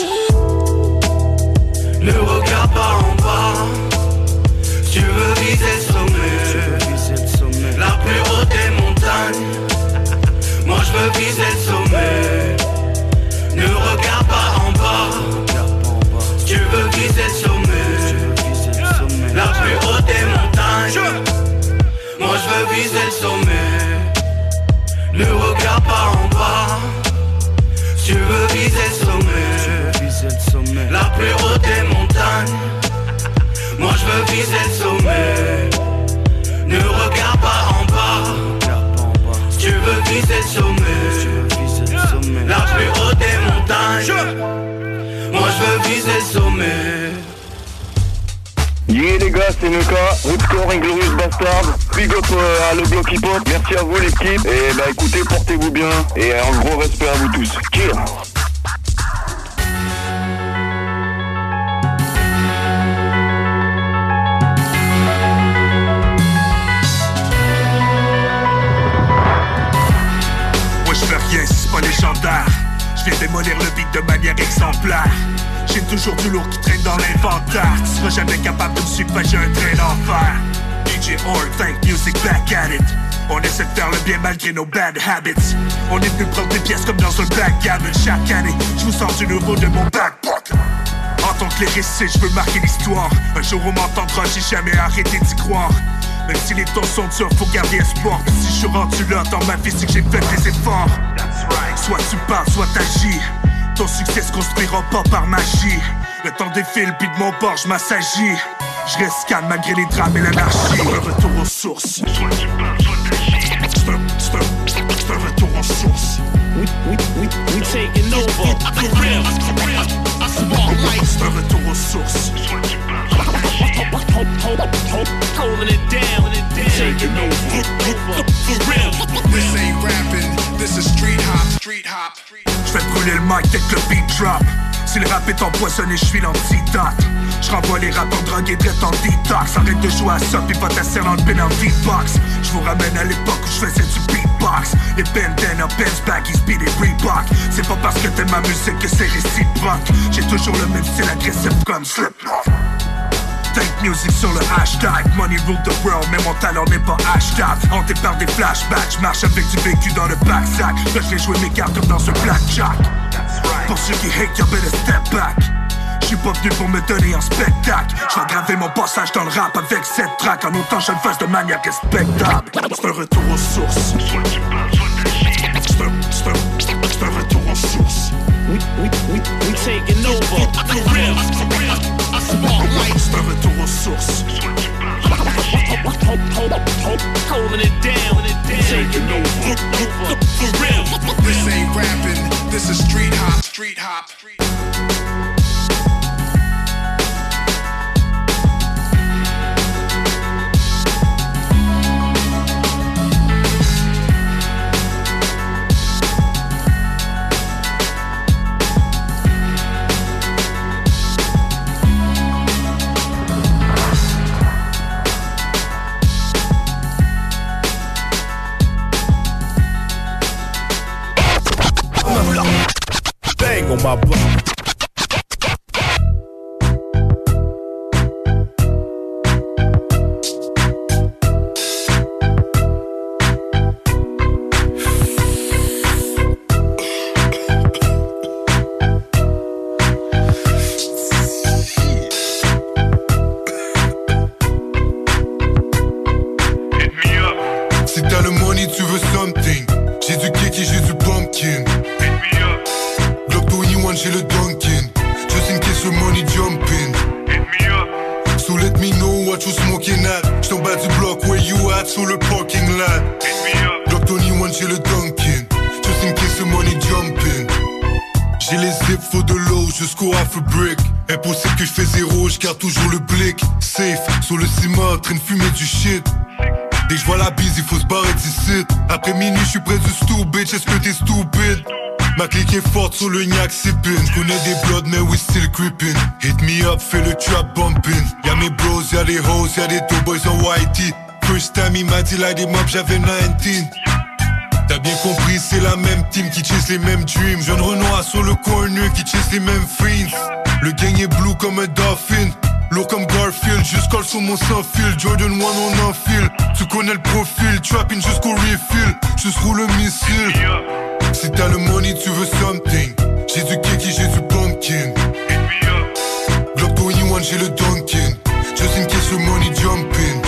S13: Ne regarde pas en bas. Tu veux viser le sommet, la plus haute des montagnes. Moi je veux viser le sommet. Ne regarde pas en bas. Tu veux viser le sommet, la plus haute des montagnes. Moi je veux viser le sommet. Ne regarde pas en bas. Tu veux viser le sommet, la plus haute des montagnes. Moi je veux viser le sommet. Ne regarde pas en bas. Tu veux viser le sommet, la plus haute des montagnes. Moi je veux viser le sommet.
S21: Yeah les gars, c'est Nuka, Rootscore Inglorious Bastard, big up à le bloc hip hop, merci à vous l'équipe, et bah écoutez, portez-vous bien, et un gros respect à vous tous. Cheers.
S18: Moi je fais rien si c'est pas légendaire, je viens démolir le beat de manière exemplaire. J'ai toujours du lourd qui traîne dans l'inventaire. Tu seras jamais capable de me suivre, j'ai un train d'enfer. DJ All, think music back at it. On essaie de faire le bien malgré nos bad habits. On est venu prendre des pièces comme dans un backgammon. Chaque année, je vous sors du nouveau de mon backpocket. En tant que lyriciste, je veux marquer l'histoire. Un jour on m'entendra, j'ai jamais arrêté d'y croire. Même si les temps sont durs, faut garder espoir. Puis si je suis rendu là dans ma vie, c'est que j'ai fait des efforts. Soit tu parles, soit t'agis. Ton succès se construira pas par magie. Le temps défile, puis de mon bord, je m'assagis. Je reste calme malgré les drames et l'anarchie. Un retour aux sources. Soit tu parles, soit t'agis. C'est un retour aux sources. We taking over. For real. C'est un retour aux sources. Soit tu parles, soit t'agis. Holding it down. Taking over. For real. This ain't rapping, this is street hop. J'fais brûler le mic dès que le beat drop. Si le rap est empoisonné, j'suis l'antidote. J'renvoie les rappeurs drogués direct en detox. Arrête de jouer à ça pis va t'asseoir dans le penalty box. J'vous ramène à l'époque où j'faisais du beatbox. Les bandana, Benz, baggies, beat et Reebok. C'est pas parce que t'aimes ma musique que c'est réciproque. J'ai toujours le même style agressif comme Slipknot. Tank music sur le hashtag. Money rule the world, mais mon talent n'est pas hashtag. Hanté par des flashbacks, j'marche avec du vécu dans le backsack. Là j'ai joué mes cartes comme dans un blackjack. Pour ceux qui hate, y'all better step back. J'suis pas venu pour me donner un spectacle. J'vais graver mon passage dans le rap avec cette track. En autant je le fasse de manière respectable. C'est un retour aux sources. C'est un retour aux sources.
S27: We taking over. For real.
S18: C'est un retour aux sources.
S27: Holding it down. Taking over. For real.
S2: This ain't rapping. This is street hop. Street hop.
S24: Bang on my block.
S2: Si t'as le money, tu veux something. J'ai du cake et j'ai du pumpkin. Glock 21, j'ai le Dunkin. Just in case the money jumping. So let me know what you smoking at. J't'en bas du bloc, where you at? Sur le parking lot. Glock 21, j'ai le Dunkin. Just in case the money jumping. J'ai les zips, faut de l'eau jusqu'au half a brick. Impossible que j'fais zéro, j'garde toujours le blick. Safe, sur le ciment, train de fumer du shit. Dès que j'vois la bise, il faut se barrer d'ici. Après minuit, j'suis près du stool, bitch, est-ce que t'es stupide? Ma clique est forte sur le gnac sippin'. J'connais des bloods, mais we still creepin'. Hit me up, fais le trap bumpin'. Y'a mes bros, y'a des hoes, y'a des two boys en whitey. First time, il m'a dit light him up, j'avais 19. T'as bien compris, c'est la même team qui chase les mêmes dreams. Jeune Renoir sur le corner qui chase les mêmes fiends. Le gang est blue comme un dolphin. Lourd comme Garfield, juste colle sur mon sans-fil. Jordan 1 on enfile. Tu connais le profil, trapping jusqu'au refill. Juste roule le missile. Si t'as le money, tu veux something. J'ai du cake et j'ai du pumpkin. Glock 21, j'ai le Dunkin. Just in case the money jumping.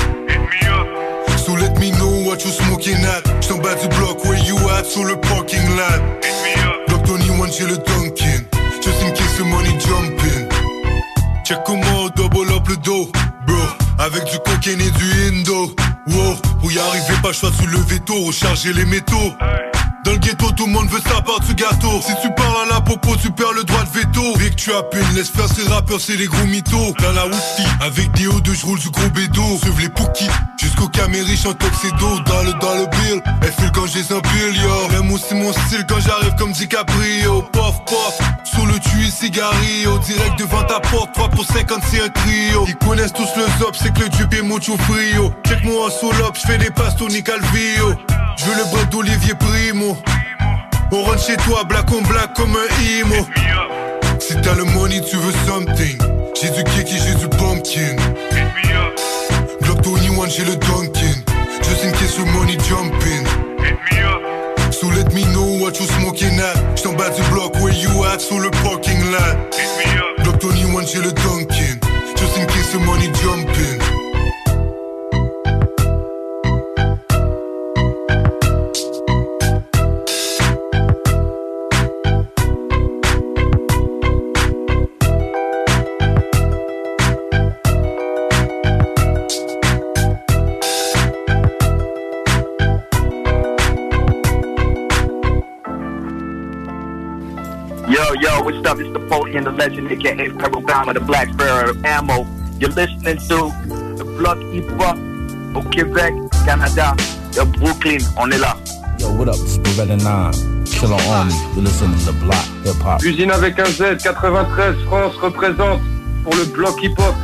S2: So let me know what you smoking at. J't'en bas du bloc, where you at? Sur le parking lot. Glock 21, j'ai le Dunkin. Just in case the money jumping. Check comment on double up le dos, bro. Avec du cocaine et du indo. Wow, pour y arriver, pas le choix de soulever tôt, recharger les métaux. Dans le ghetto, tout le monde veut sa part du gâteau. Si tu parles à la popo, tu perds le droit de veto. Vic, tu as peine, laisse faire ces rappeurs, c'est les gros mythos. Dans la Woodie, avec des hauts de j'roule du gros bédo. Suive les Pookies, jusqu'au Camériche en tuxedo. Dans le bill, elle file quand j'ai un bill, yo. J'aime aussi mon style quand j'arrive comme DiCaprio. Pof, pof, sur le tuyau, cigarillo. Direct devant ta porte, 3 pour 50, c'est un trio. Ils connaissent tous le zop, c'est que le dupe est mucho frio. Check-moi en solo, j'fais des passes Tony Calvillo. J'veux le bras d'Olivier Primo. On rentre chez toi, black on black comme un imo. Si t'as le money, tu veux something. J'ai du cake et j'ai du pumpkin. Glock 21, j'ai le Dunkin. Just in case the money jumping. So let me know what you smoking at. J't'en bas du bloc, where you at? Sur le parking lot. Glock 21, j'ai le Dunkin. Just in case the money jumping.
S21: Yo, what's up? It's the Poli and the legend, aka Pharaoh Bound of the Black Sparrow Ammo. You're listening to the Block Hip Hop au Québec, Canada, de Brooklyn. On est là.
S4: Yo, what up? It's Beretta 9. Killer Army. You listen to the block, hip hop.
S21: Usine avec un Z, 93 France représente pour le bloc hip-hop.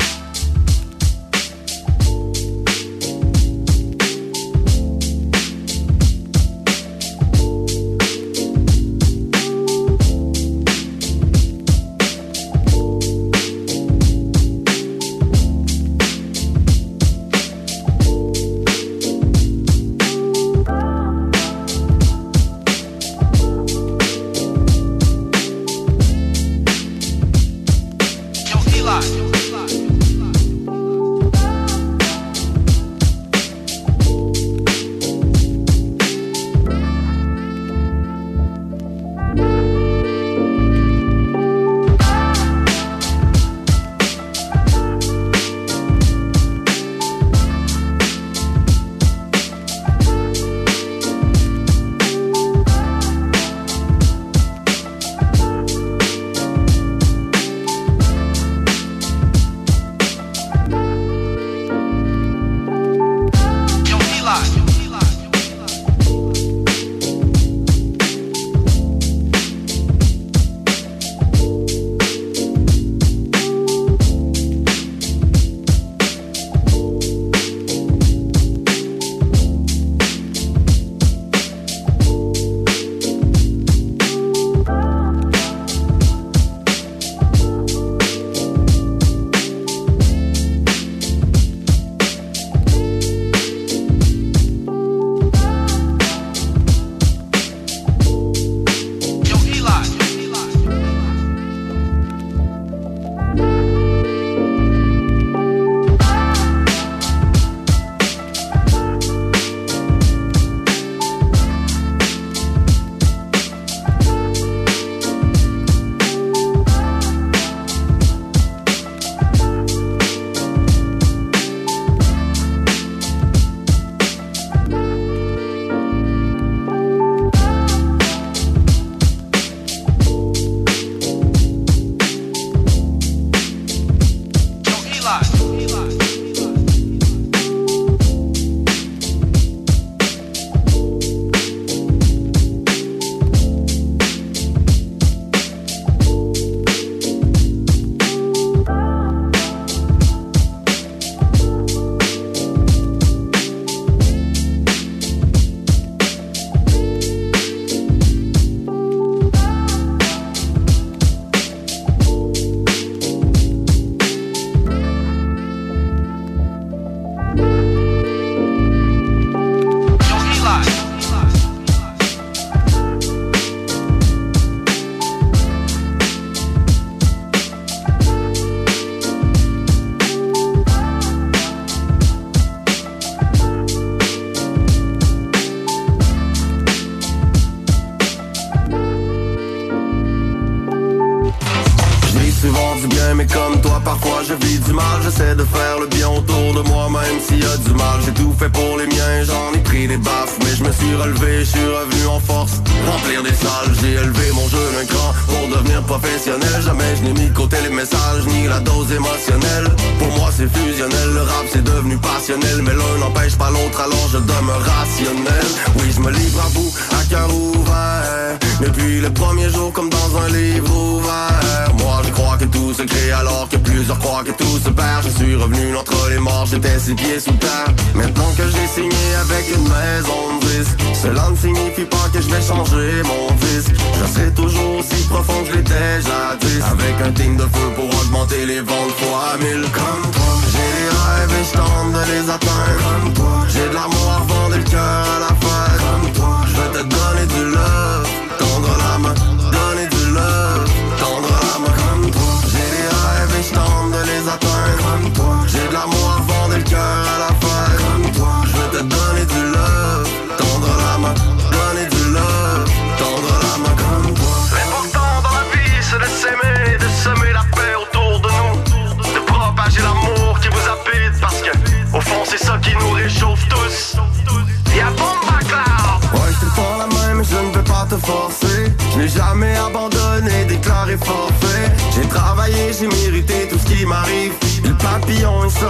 S8: mais comme toi parfois je vis du mal. J'essaie de faire le bien autour de moi même s'il y a du mal. J'ai tout fait pour les miens, j'en ai pris des baffes, mais je me suis relevé, je suis revenu en force. Remplir des salles, j'ai élevé mon jeu d'un cran pour devenir professionnel. Jamais je n'ai mis de côté les messages ni la dose émotionnelle. Pour moi c'est fusionnel, le rap c'est devenu passionnel, mais l'un n'empêche pas l'autre alors je demeure rationnel. Oui je me livre à vous à cœur ouvert, depuis le premier jour comme dans un livre ouvert. Moi je crois que tout se crée alors que plusieurs croient que tout se perd. Je suis revenu entre les morts, j'étais 6 pieds sous terre. Maintenant que j'ai signé avec une maison de disque, cela ne signifie pas que je vais changer mon disque. Je serai toujours aussi profond que je l'étais jadis, avec un team de feu pour augmenter les ventes fois 1000. Comme toi, j'ai des rêves et je tente de les atteindre. Comme toi, j'ai de l'amour à revendre le cœur à la fête. Comme toi, je vais te donner du love, tendre la main, donner du love, tendre la main. Comme toi, j'ai des rêves et je tente de les atteindre. Comme toi, j'ai de l'amour à revendre le cœur à la fête. Comme toi, je vais te donner du love, tendre la main, donner du love, tendre la main. Comme toi. L'important dans la vie c'est de s'aimer, de semer la paix autour de nous, de propager l'amour qui vous habite, parce que au fond c'est ça qui nous réchauffe tous. Y'a bomba cloud. Ouais je te prends la main mais je ne peux pas te forcer. Je n'ai jamais abandonné, déclaré forfait. J'ai travaillé, j'ai mérité tout ce qui m'arrive. Le papillon est sorti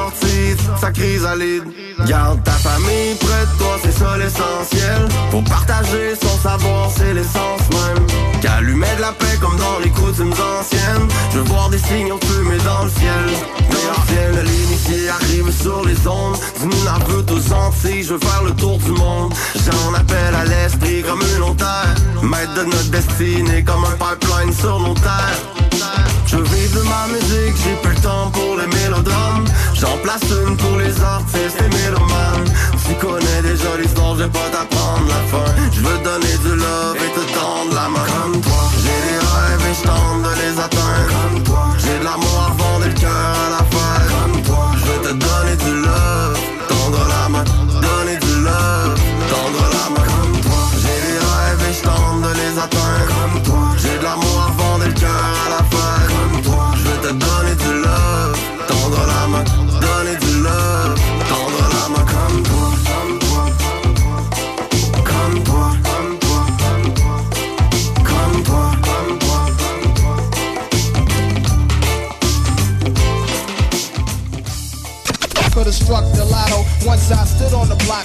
S8: beats, ça chrysalide. Garde ta famille près de toi, c'est ça l'essentiel. Pour partager son savoir, c'est l'essence même. Qu'allumer de la paix comme dans les coutumes anciennes. Je veux voir des signaux de fumée dans le ciel. Mais ancienne, l'initié arrive sur les ondes. Du Nunavut aux Antilles, je veux faire le tour du monde. J'en appelle à l'esprit comme une terre. Maître de notre destinée comme un pipeline sur nos terres. Je vive de ma musique, j'ai plus le temps pour les mélodrames. J'en place une pour les artistes et mélomanes. Tu connais déjà l'histoire, je vais pas t'apprendre la fin. Je veux donner du love et te tendre la main. Comme toi, j'ai des rêves et je tente de les atteindre. Comme toi, j'ai de l'amour à vendre et le cœur à la faire. Comme toi, je veux te donner du love, tendre la main. Donner du love, tendre la main. Comme toi, j'ai des rêves et je tente de les atteindre. Comme toi, j'ai de l'amour à vendre et le cœur à la faire. Comme toi, je veux te donner du love, tendre la main. Donner du love, tendre la main. Comme toi, comme toi, comme toi, comme toi, comme toi,
S9: Could have struck the lotto once I stood on the block.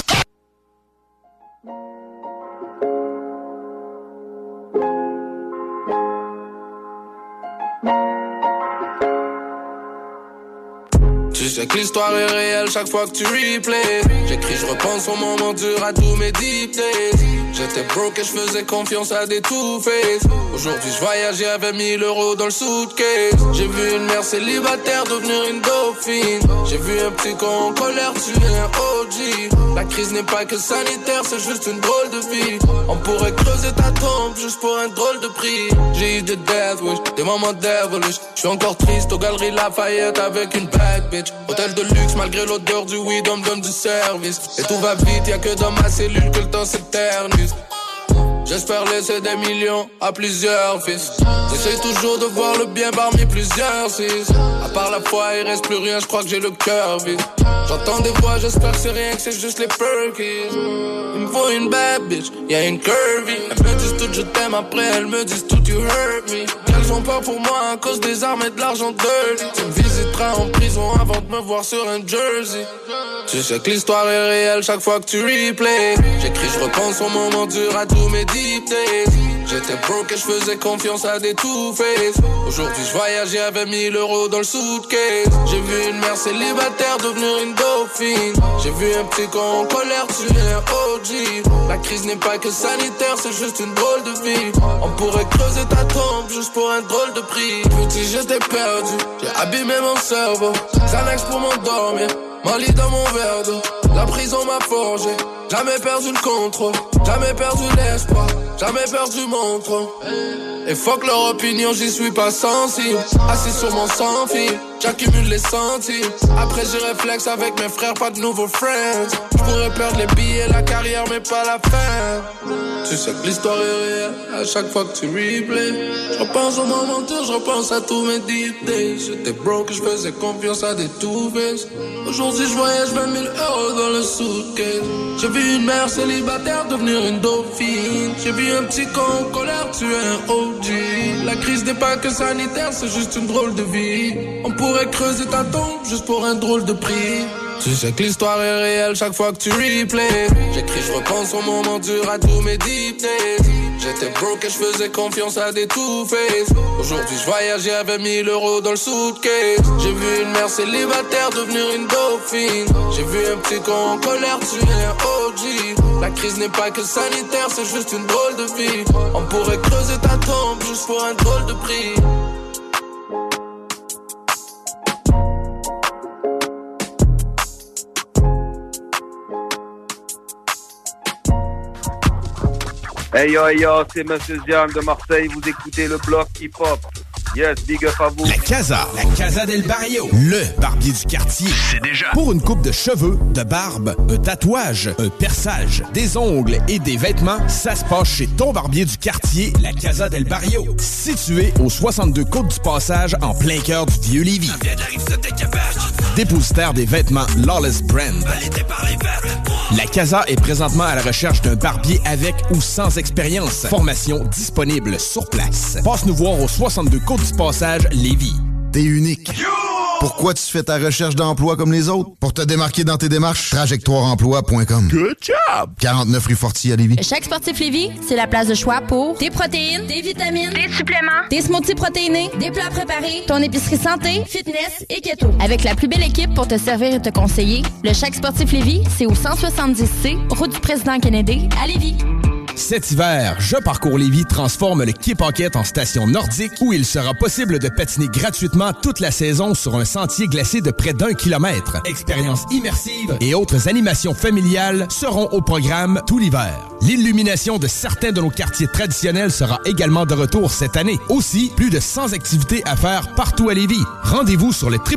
S16: Tu sais que l'histoire est réelle chaque fois que tu replays. J'écris, je repense au moment dur à tous mes deep days. J'étais broke et je faisais confiance à des two-face. Aujourd'hui je voyage, j'avais 1000 € dans le suitcase. J'ai vu une mère célibataire devenir une dauphine. J'ai vu un petit con en colère tuer un OG. La crise n'est pas que sanitaire, c'est juste une drôle de vie. On pourrait creuser ta tombe juste pour un drôle de prix. J'ai eu des death wish, des moments devilish. J'suis encore triste aux galeries Lafayette avec une bad bitch. Hôtel de luxe malgré l'odeur du weed, on me donne du service. Et tout va vite, y'a que dans ma cellule que le temps s'éternise. J'espère laisser des millions à plusieurs fils. J'essaie toujours de voir le bien parmi plusieurs six. À part la foi, il reste plus rien, je crois que j'ai le cœur vide. J'entends des voix, j'espère que c'est rien, que c'est juste les perkies. Il me faut une bad bitch, y'a une curvy. Elles me disent tout je t'aime, après elles me disent tout you hurt me. Elles ont peur pour moi à cause des armes et de l'argent dirty. Tu me visiteras en prison avant de me voir sur un jersey. Tu sais que l'histoire est réelle chaque fois que tu replays. J'écris, je repense au moment dur à tous mes deep days. J'étais broke et je faisais confiance à des two-face. Aujourd'hui je voyage, j'avais 1000 € dans le suitcase. J'ai vu une mère célibataire devenir une dauphine. J'ai vu un petit con en colère tuer un OG. La crise n'est pas que sanitaire, c'est juste une drôle de vie. On pourrait creuser ta tombe juste pour un drôle de prix. Petit j'étais perdu, j'ai abîmé mon cerveau. Xanax pour m'endormir, Molly dans mon verre d'eau. La prison m'a forgé, jamais perdu le contrôle, jamais perdu l'espoir, jamais perdu mon trône. Et fuck leur opinion, j'y suis pas sensible. Assis sur mon sans-fil, j'accumule les centimes. Après j'y réflexe avec mes frères, pas de nouveaux friends. J'pourrais perdre les billets, la carrière mais pas la fin. Tu sais que l'histoire est réelle à chaque fois que tu replays. J'repense au moment dur, j'repense à tous mes deep days. J'étais broke, j'faisais confiance à des two-face. Aujourd'hui j'voyage 20 000 € dans le suitcase. J'ai vu une mère célibataire devenir une dauphine. J'ai vu un petit con en colère tuer un OG. La crise n'est pas que sanitaire, c'est juste une drôle de vie. On pourrait creuser ta tombe juste pour un drôle de prix. Tu sais que l'histoire est réelle chaque fois que tu replays. J'écris, je repense au moment dur à tous mes deep days. J'étais broke et je faisais confiance à des two-face. Aujourd'hui je voyage, j'avais 1000 € dans le suitcase. J'ai vu une mère célibataire devenir une dauphine. J'ai vu un petit con en colère tuer un OG. La crise n'est pas que sanitaire, c'est juste une drôle de vie. On pourrait creuser ta tombe juste pour un drôle de prix.
S21: Hey yo, c'est Monsieur Zian de Marseille, vous écoutez le bloc hip-hop. Yes, big up à vous.
S3: La Casa del Barrio, le barbier du quartier. C'est déjà. Pour une coupe de cheveux, de barbe, un tatouage, un perçage, des ongles et des vêtements, ça se passe chez ton barbier du quartier, la Casa del Barrio. Situé au 62 Côte du Passage, en plein cœur du Vieux-Lévis. Dépositaire des vêtements Lawless Brand. La Casa est présentement à la recherche d'un barbier avec ou sans expérience. Formation disponible sur place. Passe nous voir au 62 Côte du Passage, Lévis.
S6: T'es unique. Pourquoi tu fais ta recherche d'emploi comme les autres? Pour te démarquer dans tes démarches, trajectoireemploi.com.
S10: Good job!
S6: 49 rue Fortier à Lévis.
S15: Chaque Sportif Lévis, c'est la place de choix pour des protéines, des vitamines, des suppléments, des smoothies protéinés, des plats préparés, ton épicerie santé, fitness et keto. Avec la plus belle équipe pour te servir et te conseiller, le Chaque Sportif Lévis, c'est au 170C, route du Président Kennedy, à Lévis.
S3: Cet hiver, Je Parcours Lévis transforme le Quai Paquette en station nordique où il sera possible de patiner gratuitement toute la saison sur un sentier glacé de près d'1 kilomètre. Expériences immersives et autres animations familiales seront au programme tout l'hiver. L'illumination de certains de nos quartiers traditionnels sera également de retour cette année. Aussi, plus de 100 activités à faire partout à Lévis. Rendez-vous sur le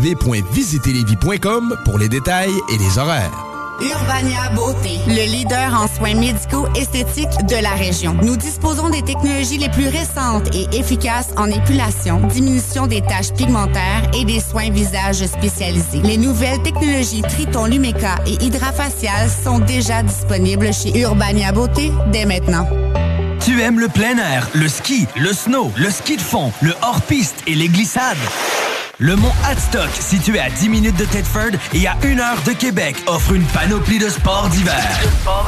S3: www.visiterlévis.com pour les détails et les horaires.
S19: Urbania Beauté, le leader en soins médicaux esthétiques de la région. Nous disposons des technologies les plus récentes et efficaces en épilation, diminution des taches pigmentaires et des soins visage spécialisés. Les nouvelles technologies Triton Lumeka et Hydrafacial sont déjà disponibles chez Urbania Beauté dès maintenant.
S23: Tu aimes le plein air, le ski, le snow, le ski de fond, le hors-piste et les glissades? Le mont Hadstock, situé à 10 minutes de Thetford et à 1 heure de Québec, offre une panoplie de sports d'hiver.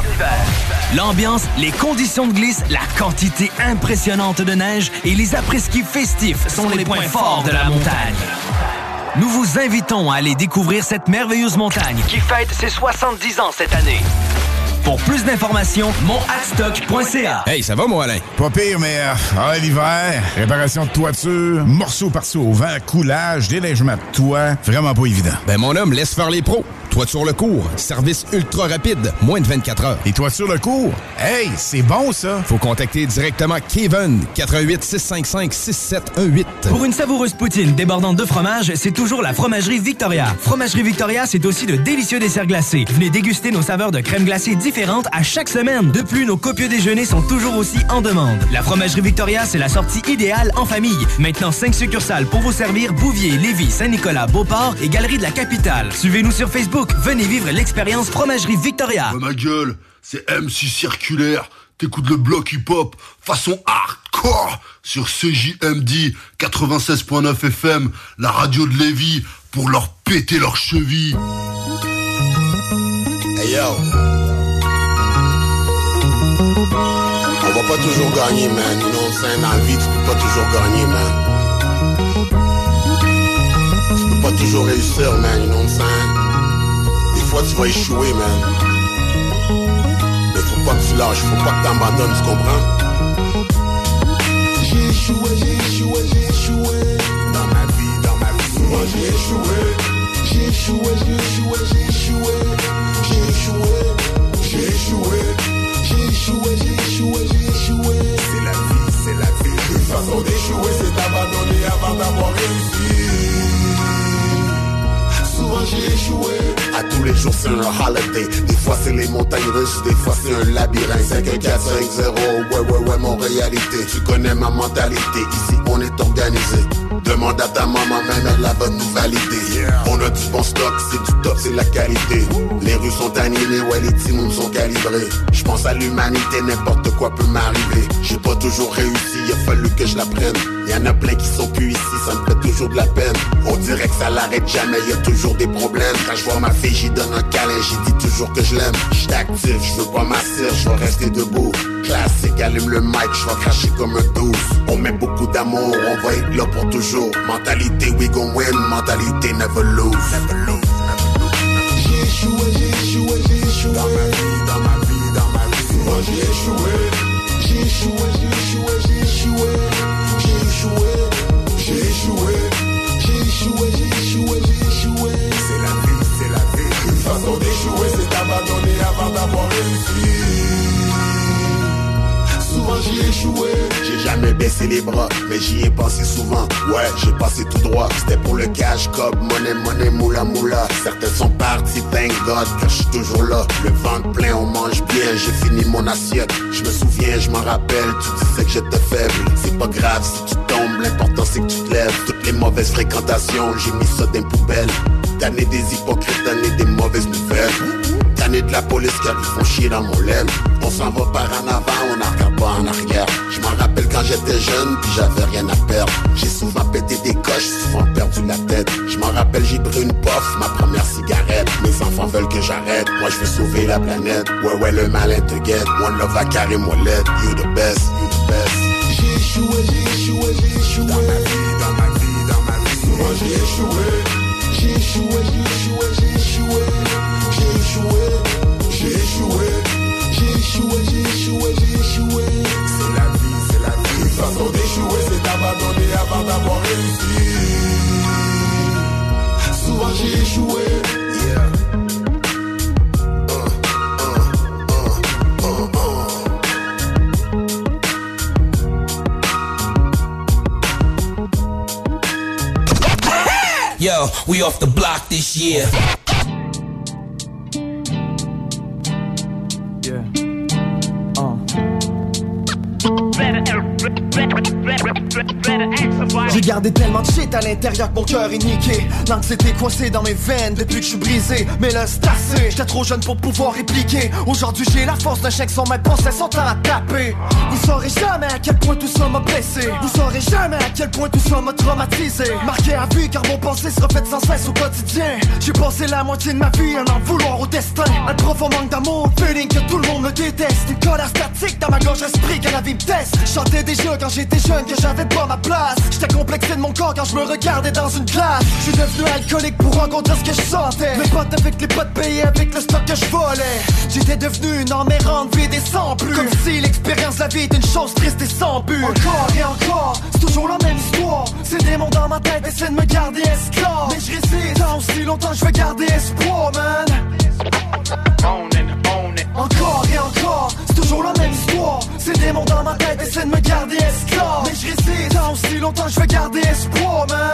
S23: L'ambiance, les conditions de glisse, la quantité impressionnante de neige et les après-ski festifs sont les points forts de la montagne. Nous vous invitons à aller découvrir cette merveilleuse montagne qui fête ses 70 ans cette année. Pour plus d'informations, monthadstock.ca.
S20: Hey, ça va, mon Alain? Pas pire, mais l'hiver, réparation de toiture, morceaux par-ci au vent, coulage, déneigement de toit, vraiment pas évident.
S3: Ben, mon homme, laisse faire les pros. Toiture Le Cours, service ultra rapide, moins de 24 heures.
S20: Et Toiture Le Cours? Hey, c'est bon, ça!
S3: Faut contacter directement Kevin, 88 655 6718.
S23: Pour une savoureuse poutine débordante de fromage, c'est toujours la Fromagerie Victoria. Fromagerie Victoria, c'est aussi de délicieux desserts glacés. Venez déguster nos saveurs de crème glacée différentes à chaque semaine. De plus, nos copieux déjeuners sont toujours aussi en demande. La Fromagerie Victoria, c'est la sortie idéale en famille. Maintenant, 5 succursales pour vous servir: Bouvier, Lévis, Saint-Nicolas, Beauport et Galerie de la Capitale. Suivez-nous sur Facebook. Venez vivre l'expérience Fromagerie Victoria.
S22: Ouais, ma gueule, c'est MC Circulaire. T'écoutes le bloc hip-hop façon hardcore sur CJMD 96.9 FM, la radio de Lévis, pour leur péter leurs chevilles.
S7: Hey yo. On va pas toujours gagner, man. You know what I'm saying? Dans la vie, tu peux pas toujours gagner, man. Tu peux pas toujours réussir, man. You know what I'm saying? Des fois, tu vas échouer, man. Mais faut pas que tu lâches, faut pas que t'abandonnes, tu comprends? J'ai échoué. Dans ma vie. Souvent, j'ai échoué. J'ai échoué. C'est la vie. Une façon d'échouer, c'est d'abandonner avant d'avoir réussi. Souvent j'ai échoué. À tous les jours c'est un holiday. Des fois c'est les montagnes russes, des fois c'est un labyrinthe. 5-1-4-5-0, ouais, mon réalité. Tu connais ma mentalité, ici on est organisé. Demande à ta maman, même elle va nous valider. On a du bon stock, c'est du top, c'est la qualité. Les rues sont animées, ouais les timons sont calibrés. Je pense à l'humanité, n'importe quoi peut m'arriver. J'ai pas toujours réussi, il a fallu que je l'apprenne. Y'en a plein qui sont plus ici, ça me fait toujours de la peine. On dirait que ça l'arrête jamais, y a toujours des problèmes. Quand je vois ma fille, j'y donne un câlin, j'y dis toujours que je l'aime. J'suis actif, je veux pas m'asseoir, je vais rester debout. Classique, allume le mic, je vais cracher comme un 12. On met beaucoup d'amour, on va être là pour toujours. Mentalité, we gon' win, mentalité, never lose. J'ai échoué. Dans ma vie. Souvent j'ai échoué. J'ai échoué. C'est la vie. Une façon d'échouer, c'est d'abandonner avant d'avoir réussi. Souvent j'y ai échoué. J'ai jamais baissé les bras, mais j'y ai pensé souvent. Ouais, j'ai passé tout droit. C'était pour le cash, cob, money, moula. Certains sont partis, thank God, car je suis toujours là. Le ventre plein, on mange bien, j'ai fini mon assiette. Je me souviens, je m'en rappelle, tu disais que j'étais faible. C'est pas grave si tu tombes, l'important c'est que tu te lèves. Toutes les mauvaises fréquentations, j'ai mis ça dans une poubelle. Tanné des hypocrites, tanné des mauvaises nouvelles. Tanné de
S1: de la police car ils font chier dans mon laine. On s'en va par en avant, on n'en regarde pas en arrière. Je m'en rappelle quand j'étais jeune, puis j'avais rien à perdre. J'ai souvent pété des coches, souvent perdu la tête. Je m'en rappelle, j'ai pris une puff, ma première cigarette. Mes enfants veulent que j'arrête, moi je veux sauver la planète. Ouais, le malin te guette, one love à carré moi l'aide. You the best, you the best. J'ai échoué. Dans ma vie, souvent j'ai échoué. J'ai échoué. C'est la vie. Une façon d'échouer, c'est d'abandonner avant d'avoir réussi. Souvent j'ai échoué.
S27: Yo, we off the block this year.
S5: J'ai gardé tellement de shit à l'intérieur que mon cœur est niqué. L'anxiété coincée dans mes veines depuis que je suis brisé. Mais là c'est assez, j'étais trop jeune pour pouvoir répliquer. Aujourd'hui j'ai la force d'un chien que son maître pensait son temps à taper. Vous saurez jamais à quel point tout ça m'a blessé. Vous saurez jamais à quel point tout ça m'a traumatisé. Marqué à vie car mon pensée se refait sans cesse au quotidien. J'ai passé la moitié de ma vie à en vouloir au destin. Un profond manque d'amour, feeling que tout le monde me déteste. Une colère statique dans ma gorge esprit quand la vie me teste. Chantais déjà quand j'étais jeune que j'avais pas ma place. J'étais complexé de mon corps quand je me regardais dans une glace. Je suis devenu alcoolique pour rencontrer ce que je sentais. Mes potes avec les potes payés avec le stock que je volais. J'étais devenu une âme errante vide et sans plus. Comme si l'expérience de la vie était une chose triste et sans but. Encore et encore, c'est toujours la même histoire. Ces démons dans ma tête essaient de me garder esclave. Mais je résiste, tant aussi longtemps je veux garder espoir, man. Encore et encore, c'est toujours la même histoire. Ces démons dans ma tête essaient de me garder esclave. Mais je résiste, tant aussi longtemps je veux garder espoir, man.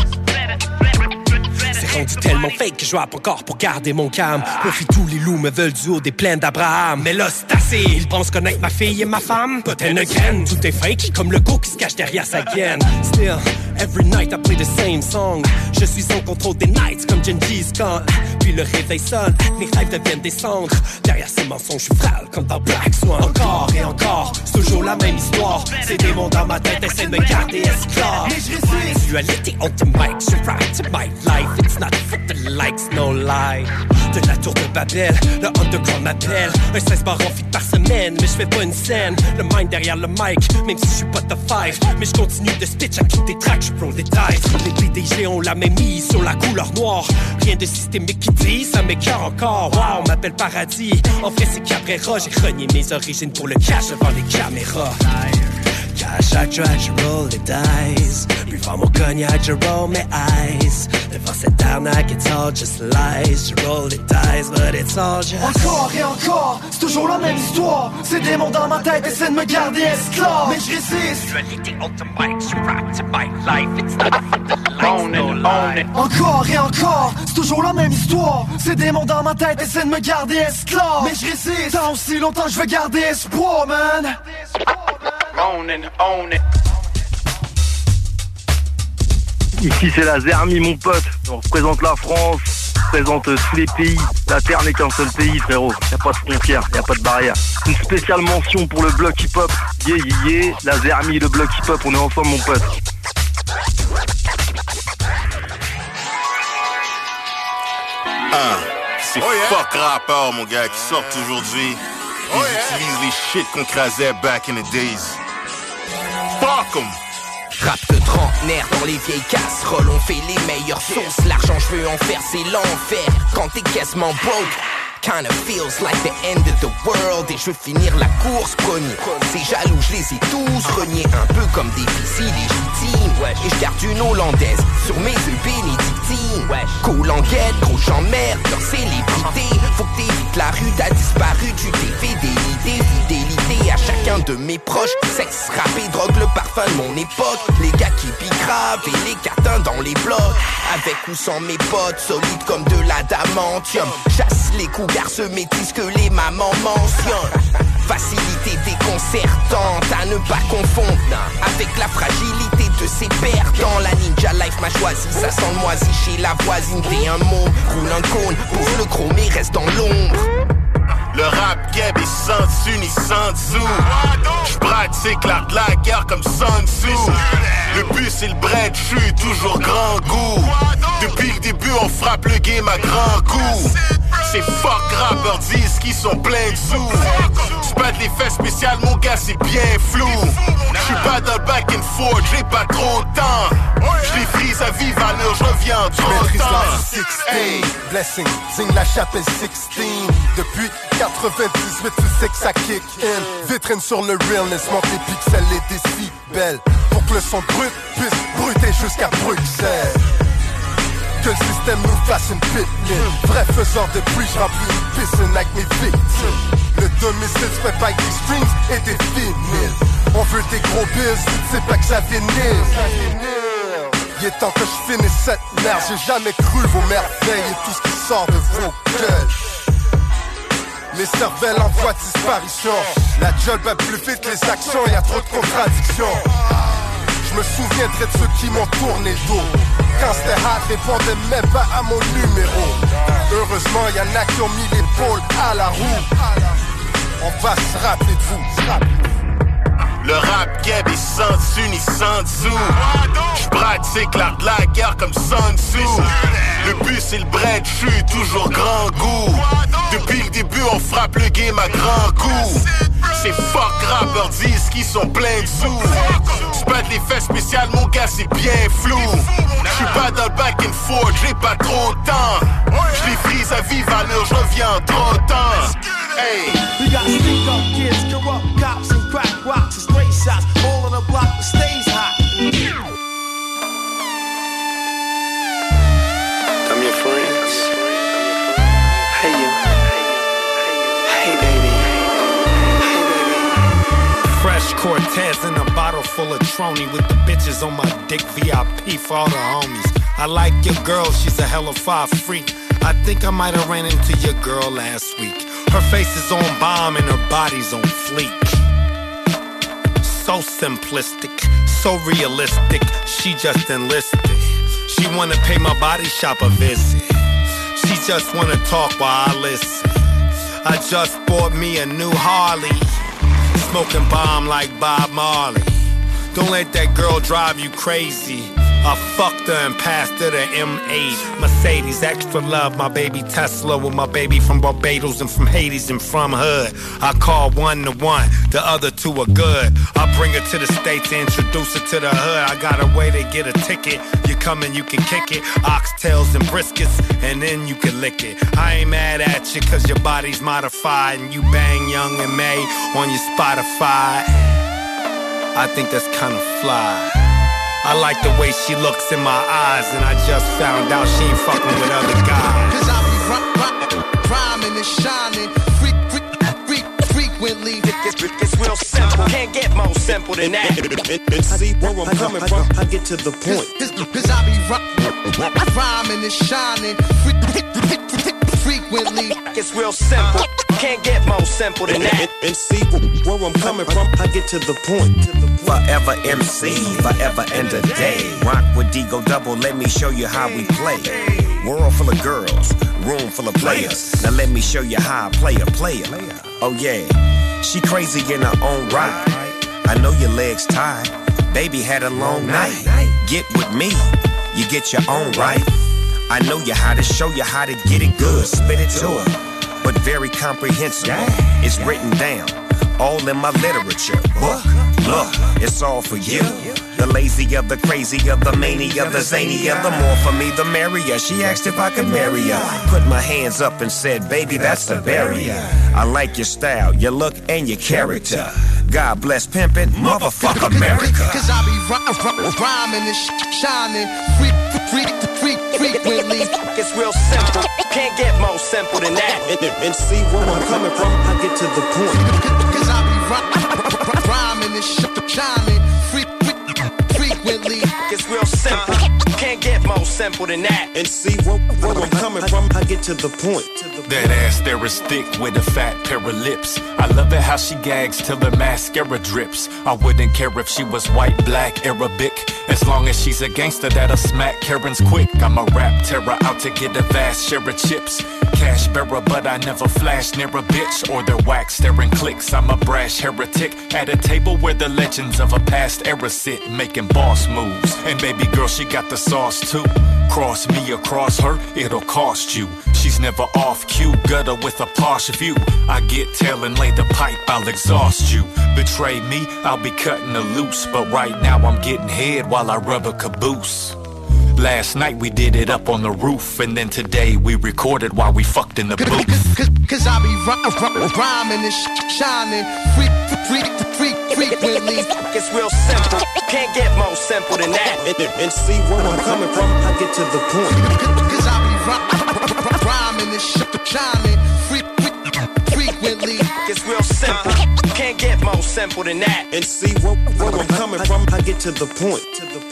S10: C'est rendu tellement fake que je rappe encore pour garder mon calme. Profite, tous les loups me veulent du haut des plaines d'Abraham. Mais là c'est assez, ils pensent connaître ma fille et ma femme. Pas tel ne graine, tout est fake, comme le go qui se cache derrière sa gaine. Still, every night I play the same song. Je suis en contrôle des nights comme Genghis Khan. Puis le réveil sonne, mes rêves deviennent des cendres. Derrière ces mensonges, je suis frêle comme dans Black Swan. Encore et encore, c'est toujours la même histoire. Ces démons dans ma tête essaient de me garder esclave. Mais je résiste. Dualité on the mic, je rap to my life. It's not for the likes, no lie. De la tour de Babel, le underground m'appelle. Un 16 bars en feed par semaine, mais je fais pas une scène. Le mind derrière le mic, même si je suis pas top 5. Mais je continue de spitch à toutes des tracks, je prends des dice. Les PDG ont la même mise sur la couleur noire. Rien de systémique qui dit, ça m'écœure encore. Wow, on m'appelle Paradis. En vrai c'est Cabrera, j'ai renié mes origines pour le cash devant les caméras. À chaque track, je roll les dice. Buvant mon cognac, je roll mes eyes. Devant cette arnaque, it's all just lies. Je roll les dice, but it's all just...
S5: Encore et encore, c'est toujours la même histoire. Ces démons dans ma tête essaient de me garder esclave. Mais je résiste.
S10: Dualité on the mic, je rap to my life. It's not for the likes, no lie.
S5: Encore et encore, c'est toujours la même histoire. Ces démons dans ma tête essaient de me garder esclave. Mais je résiste, tant aussi longtemps je veux garder espoir, man.
S21: Own it. Ici c'est la Zermi mon pote, on représente la France, on représente tous les pays, la terre n'est qu'un seul pays frérot, y'a pas de frontières, y'a pas de barrière. Une spéciale mention pour le bloc hip hop, yeah, la Zermi, le bloc hip hop, on est ensemble mon pote.
S12: C'est fuck rappeurs mon gars qui sortent aujourd'hui. Ils utilisent les shit qu'on crasait back in the days. Fuck 'em!
S17: Rap de trentenaire dans les vieilles casseroles, on fait les meilleures sauces. L'argent je veux en faire c'est l'enfer quand t'es quasiment broke. Kinda feels like the end of the world. Et je veux finir la course premier. Ces jaloux je les ai tous reniés, un peu comme des fils illégitimes. Et je garde une hollandaise sur mes œufs bénédictines. Cool en guette, gros j'emmerde leur célébrité. Faut que t'évites la rue, t'as disparu, tu t'es fait des idées. Fidélité à chacun de mes proches. Sexe, rap et drogue, le parfum de mon époque. Les gars qui bigravent et les catins dans les blocs. Avec ou sans mes potes, solides comme de l'adamantium. Chasse les coups car se métissent que les mamans mentionnent. Facilité déconcertante à ne pas confondre avec la fragilité de ses perdants. La ninja life m'a choisi, ça sent le moisi chez la voisine. T'es un mot, roule un cône, pose le chrome et reste dans l'ombre.
S12: keb et sans dessus ni sans dessous. J'pratique l'art de la guerre comme Sun Tzu. Le but c'est le bread, j'suis toujours grand goût. Depuis le début on frappe le game à grand coup. Ces fuck rappers disent qu'ils sont pleins de sous. J'pète les faits spéciales mon gars c'est bien flou. J'suis pas dans le back and forth, j'ai pas trop de temps. J'les frise à vive allure, j'reviens en trop de temps.
S11: Hey. Blessing, zing la chapelle 16. Depuis 98 tu sais que ça kick in. Vitrine sur le realness, monte les pixels et décibels. Pour que le son brut puisse bruter jusqu'à Bruxelles. Que le système nous fasse une pitline. Vrai faiseur de bruit, j'remplis une piscine avec mes victimes. Le domicile se fait pas avec des streams et des vinyles. On veut des gros bills, tu sais pas que ça vinyle. Il est temps que je finisse cette merde. J'ai jamais cru vos merveilles et tout ce qui sort de vos gueules. Les cervelles en voie de disparition. La job va plus vite, les actions, y'a trop de contradictions. Je me souviendrai de ceux qui m'ont tourné le dos. Quand c'était hard, répondais même pas à mon numéro. Heureusement, y'en a qui ont mis l'épaule à la roue. On va se rappeler de vous.
S12: Le rap keb est sans dessus ni sans dessous. J'pratique l'art de la guerre comme Sun Tzu. Le but c'est le bread, j'suis toujours grand goût. Depuis le début on frappe le game à grand coup. Ces fuck rappers disent qu'ils sont pleins de sous. J'pète les faits spéciales mon gars c'est bien flou. J'suis pas dans le back and forth, j'ai pas trop de temps. J'les frise à vive allure, j'reviens en trop de temps. Hey.
S5: We got stick up kids, corrupt cops and crack rocks and stray shots. All on the block that stays hot.
S13: I'm your friends. Hey you. Hey baby. Hey baby.
S14: Fresh Cortez in a bottle full of Trony with the bitches on my dick. VIP for all the homies. I like your girl, she's a hella fire freak. I think I might have ran into your girl last week. Her face is on bomb and her body's on fleek. So simplistic, so realistic, she just enlisted. She wanna pay my body shop a visit. She just wanna talk while I listen. I just bought me a new Harley, smoking bomb like Bob Marley. Don't let that girl drive you crazy. I fucked her and passed her the M8 Mercedes, extra love, my baby Tesla with my baby from Barbados and from Hades and from Hood. I call one to one, the other two are good. I bring her to the States and introduce her to the hood. I got a way to get a ticket. You come and you can kick it. Oxtails and briskets, and then you can lick it. I ain't mad at you cause your body's modified and you bang Young and May on your Spotify. I think that's kinda fly. I like the way she looks in my eyes, and I just found out she ain't fucking with other guys.
S5: Cause I be rhyming and shining frequently.
S17: It's real simple, can't get more simple than that.
S13: And see where I'm coming from, I get to the point.
S5: Cause I be rhyming and shining frequently.
S17: It's real simple, can't get more simple than that.
S13: And see where I'm coming from, I get to the point.
S18: Forever MC, forever and a day. Rock with Digo Double, let me show you how we play. World full of girls, room full of players. Now let me show you how I play a player. Oh yeah, she crazy in her own right. I know your legs tired, baby had a long night. Get with me, you get your own right. I know you how to show you how to get it good. Spit it to her, but very comprehensible. It's written down, all in my literature book. Look, it's all for you. The lazier, the crazier, the mania, the zanier. The more for me, the merrier. She asked if I could marry her. Put my hands up and said, baby, that's the barrier. I like your style, your look, and your character. God bless pimpin', motherfuck America.
S5: Cause I be rhyming and shining frequently.
S17: It's real simple, can't get more simple than that.
S13: And see where I'm coming from, I get to the point.
S5: Cause I be rhyming and shining frequently.
S17: It's real simple, can't get more simple than that.
S13: And see where I'm coming from, I get to the point.
S24: That ass there is thick with a fat pair of lips. I love it how she gags till her mascara drips. I wouldn't care if she was white, black, Arabic. As long as she's a gangster that'll smack Karen's quick. I'm a rap terror out to get a vast share of chips. cash bearer, but I never flash near a bitch or their wax staring clicks. I'm a brash heretic at a table where the legends of a past era sit, making boss moves. And baby girl, she got the sauce too. Cross me or cross her, it'll cost you. She's never off cue, gutter with a posh view. I get tail and lay the pipe, I'll exhaust you. Betray me, I'll be cutting her loose. But right now I'm getting head while I rub a caboose. Last night we did it up on the roof, and then today we recorded while we fucked in the booth.
S2: Cause I be rhyming and shining frequently.
S13: It's real simple, can't get more simple than that. And see where I'm coming from, I get to the point.
S2: Cause I be rhyming and shining frequently.
S13: It's real simple, can't get more simple than that. And see where I'm coming from, I get to the point.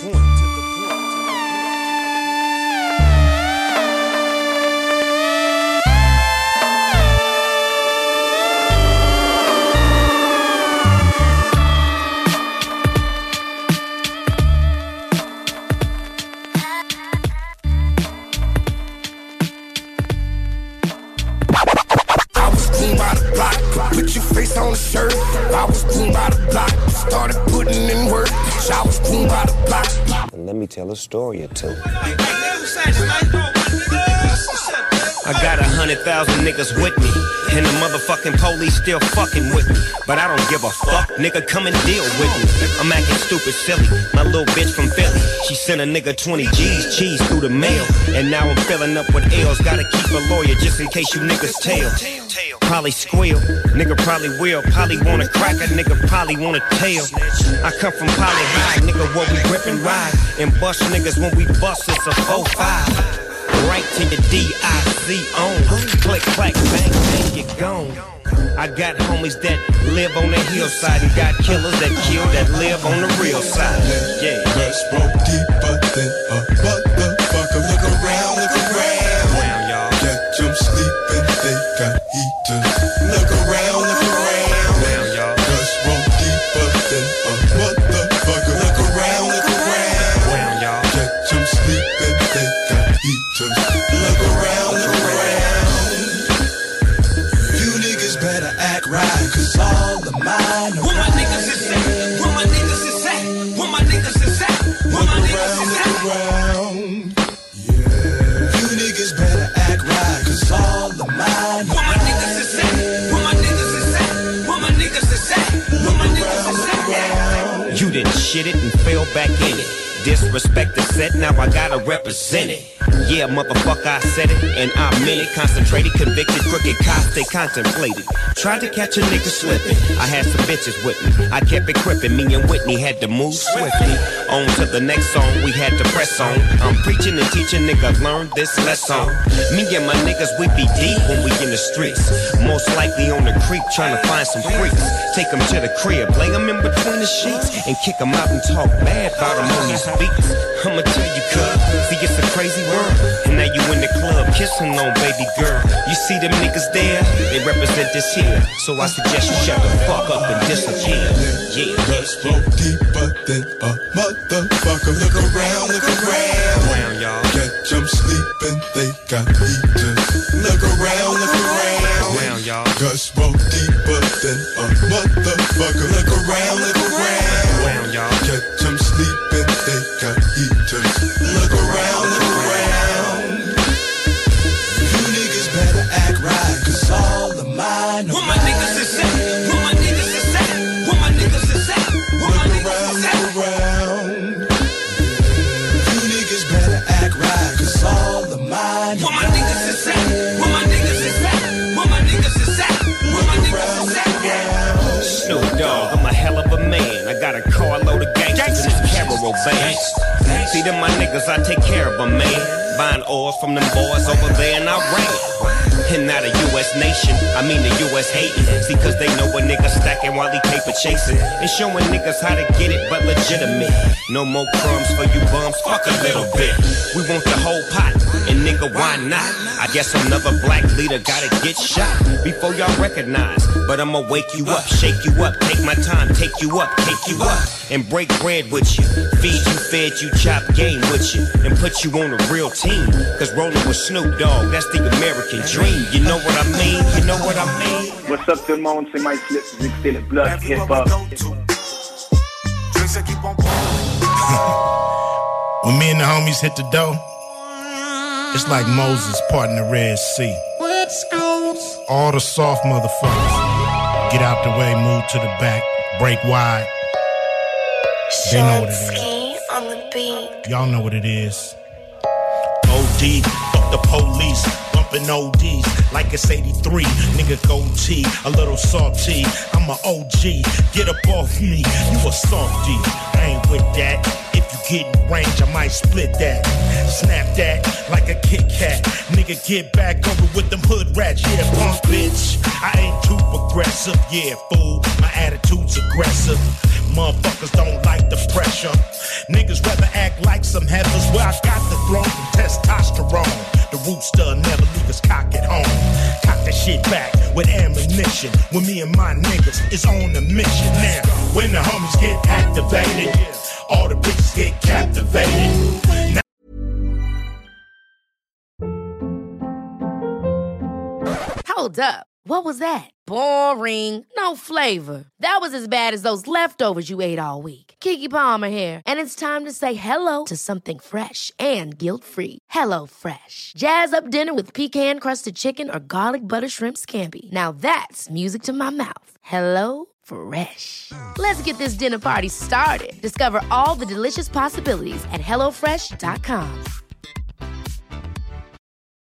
S27: Put your face on the shirt. I was groomed by the block. Started putting in work. I was groomed by the block.
S13: And let me tell a story or two.
S4: I got 100,000 niggas with me, and the motherfucking police still fucking with me. But I don't give a fuck, nigga, come and deal with me. I'm acting stupid silly, my little bitch from Philly. She sent a nigga 20 G's, cheese through the mail. And now I'm filling up with L's, gotta keep a lawyer just in case you niggas tell. Probably squeal, nigga probably will. Probably wanna crack a nigga, probably wanna tail. I come from Poly High, nigga, where we grip and ride. And bust niggas when we bust, it's a 4-5. Right to your D-I-C on. Click, clack, bang, bang, you're gone. I got homies that live on the hillside and got killers that kill that live on the real side. Yeah,
S27: let's roll deeper than a motherfucker. Look around, y'all. Catch them sleeping, they got heaters. Look around, y'all. Let's roll deeper than a motherfucker. Look around, y'all. Catch them sleeping, they got heaters. Look around. You niggas better act right, cause all of mine are where my niggas is at, where my niggas is at, where my niggas is at, where my niggas is at. Yeah. You niggas better act right, cause all of mine where my niggas is at, where my niggas is at, where my niggas is at, where my niggas is at.
S4: You didn't shit it and fell back in it. Disrespect the set, now I gotta represent it. Yeah, motherfucker, I said it, and I meant it. Concentrated, convicted, crooked cops, they contemplated. Tried to catch a nigga slipping. I had some bitches with me. I kept it crippin'. Me and Whitney had to move swiftly. On to the next song, we had to press on. I'm preaching and teaching, nigga, learn this lesson. Me and my niggas, we be deep when we in the streets. Most likely on the creek, trying to find some freaks. Take them to the crib, lay them in between the sheets, and kick them out and talk bad about them on these beats. I'ma tell you, cuz, see, it's a crazy world. And now you in the club, kissing on baby girl. You see them niggas there, they represent this here. So I suggest you shut the fuck up and disappear. Yeah,
S27: let's go deeper than a motherfucker. Look around, y'all. Catch them sleeping, they got heaters. Look around,
S4: y'all.
S27: Cause roll deeper than a motherfucker. Look around,
S4: y'all.
S27: Catch them sleeping, they got heaters. Look around. You niggas better act right, cause all of mine are where my niggas is at, where my niggas is at, where my niggas is at, where my niggas is at. You niggas better act right, cause all of mine where my niggas is at, where my niggas is at, where my niggas is at, where my niggas is at.
S4: Snoop Dogg, I'm a hell of a man. I got a carload of gangsters in this caravan band. See them my niggas, I take care of them, man. Buying oil from them boys over there in Iran. And not a U.S. nation, I mean the U.S. hating. See, cause they know a nigga stacking while he paper chasing. And showing niggas how to get it, but legitimate. No more crumbs for you bums, fuck a little bit. We want the whole pot, and nigga, why not? I guess another black leader gotta get shot before y'all recognize But I'ma wake you up, shake you up, take my time, take you up, and break bread with you. Feed you, fed you, chop game with you, and put you on a real team. Cause rolling with Snoop Dogg, that's the American dream. You know what I mean? You know what I mean?
S6: What's up tout le monde, c'est Mike Flip, vous écoutez le bloc hip-hop.
S8: When me and the homies hit the dough, it's like Moses parting the Red Sea. All the soft motherfuckers get out the way, move to the back, break wide. They know what it is.
S9: On the beat.
S8: Y'all know what it is. OD, fuck the police, bumping ODs like it's 83. Nigga goatee, a little salty. I'm a OG, get up off me, you a softy. I ain't with that. If you get in range, I might split that. Snap that like a Kit Kat. Nigga, get back over with them hood rats. Yeah, punk bitch. I ain't too progressive. Yeah, fool. My attitude's aggressive. Motherfuckers don't like the pressure. Niggas rather act like some heifers. Where I got the throne from testosterone. The rooster never leave us cock at home. Cock that shit back with ammunition. When me and my niggas is on a mission. Now, when the homies get activated, all the bitches get captivated. Now
S15: Hold up. What was that? Boring. No flavor. That was as bad as those leftovers you ate all week. Keke Palmer here. And it's time to say hello to something fresh and guilt-free. Hello Fresh. Jazz up dinner with pecan-crusted chicken or garlic butter shrimp scampi. Now that's music to my mouth. Hello Fresh. Let's get this dinner party started. Discover all the delicious possibilities at HelloFresh.com.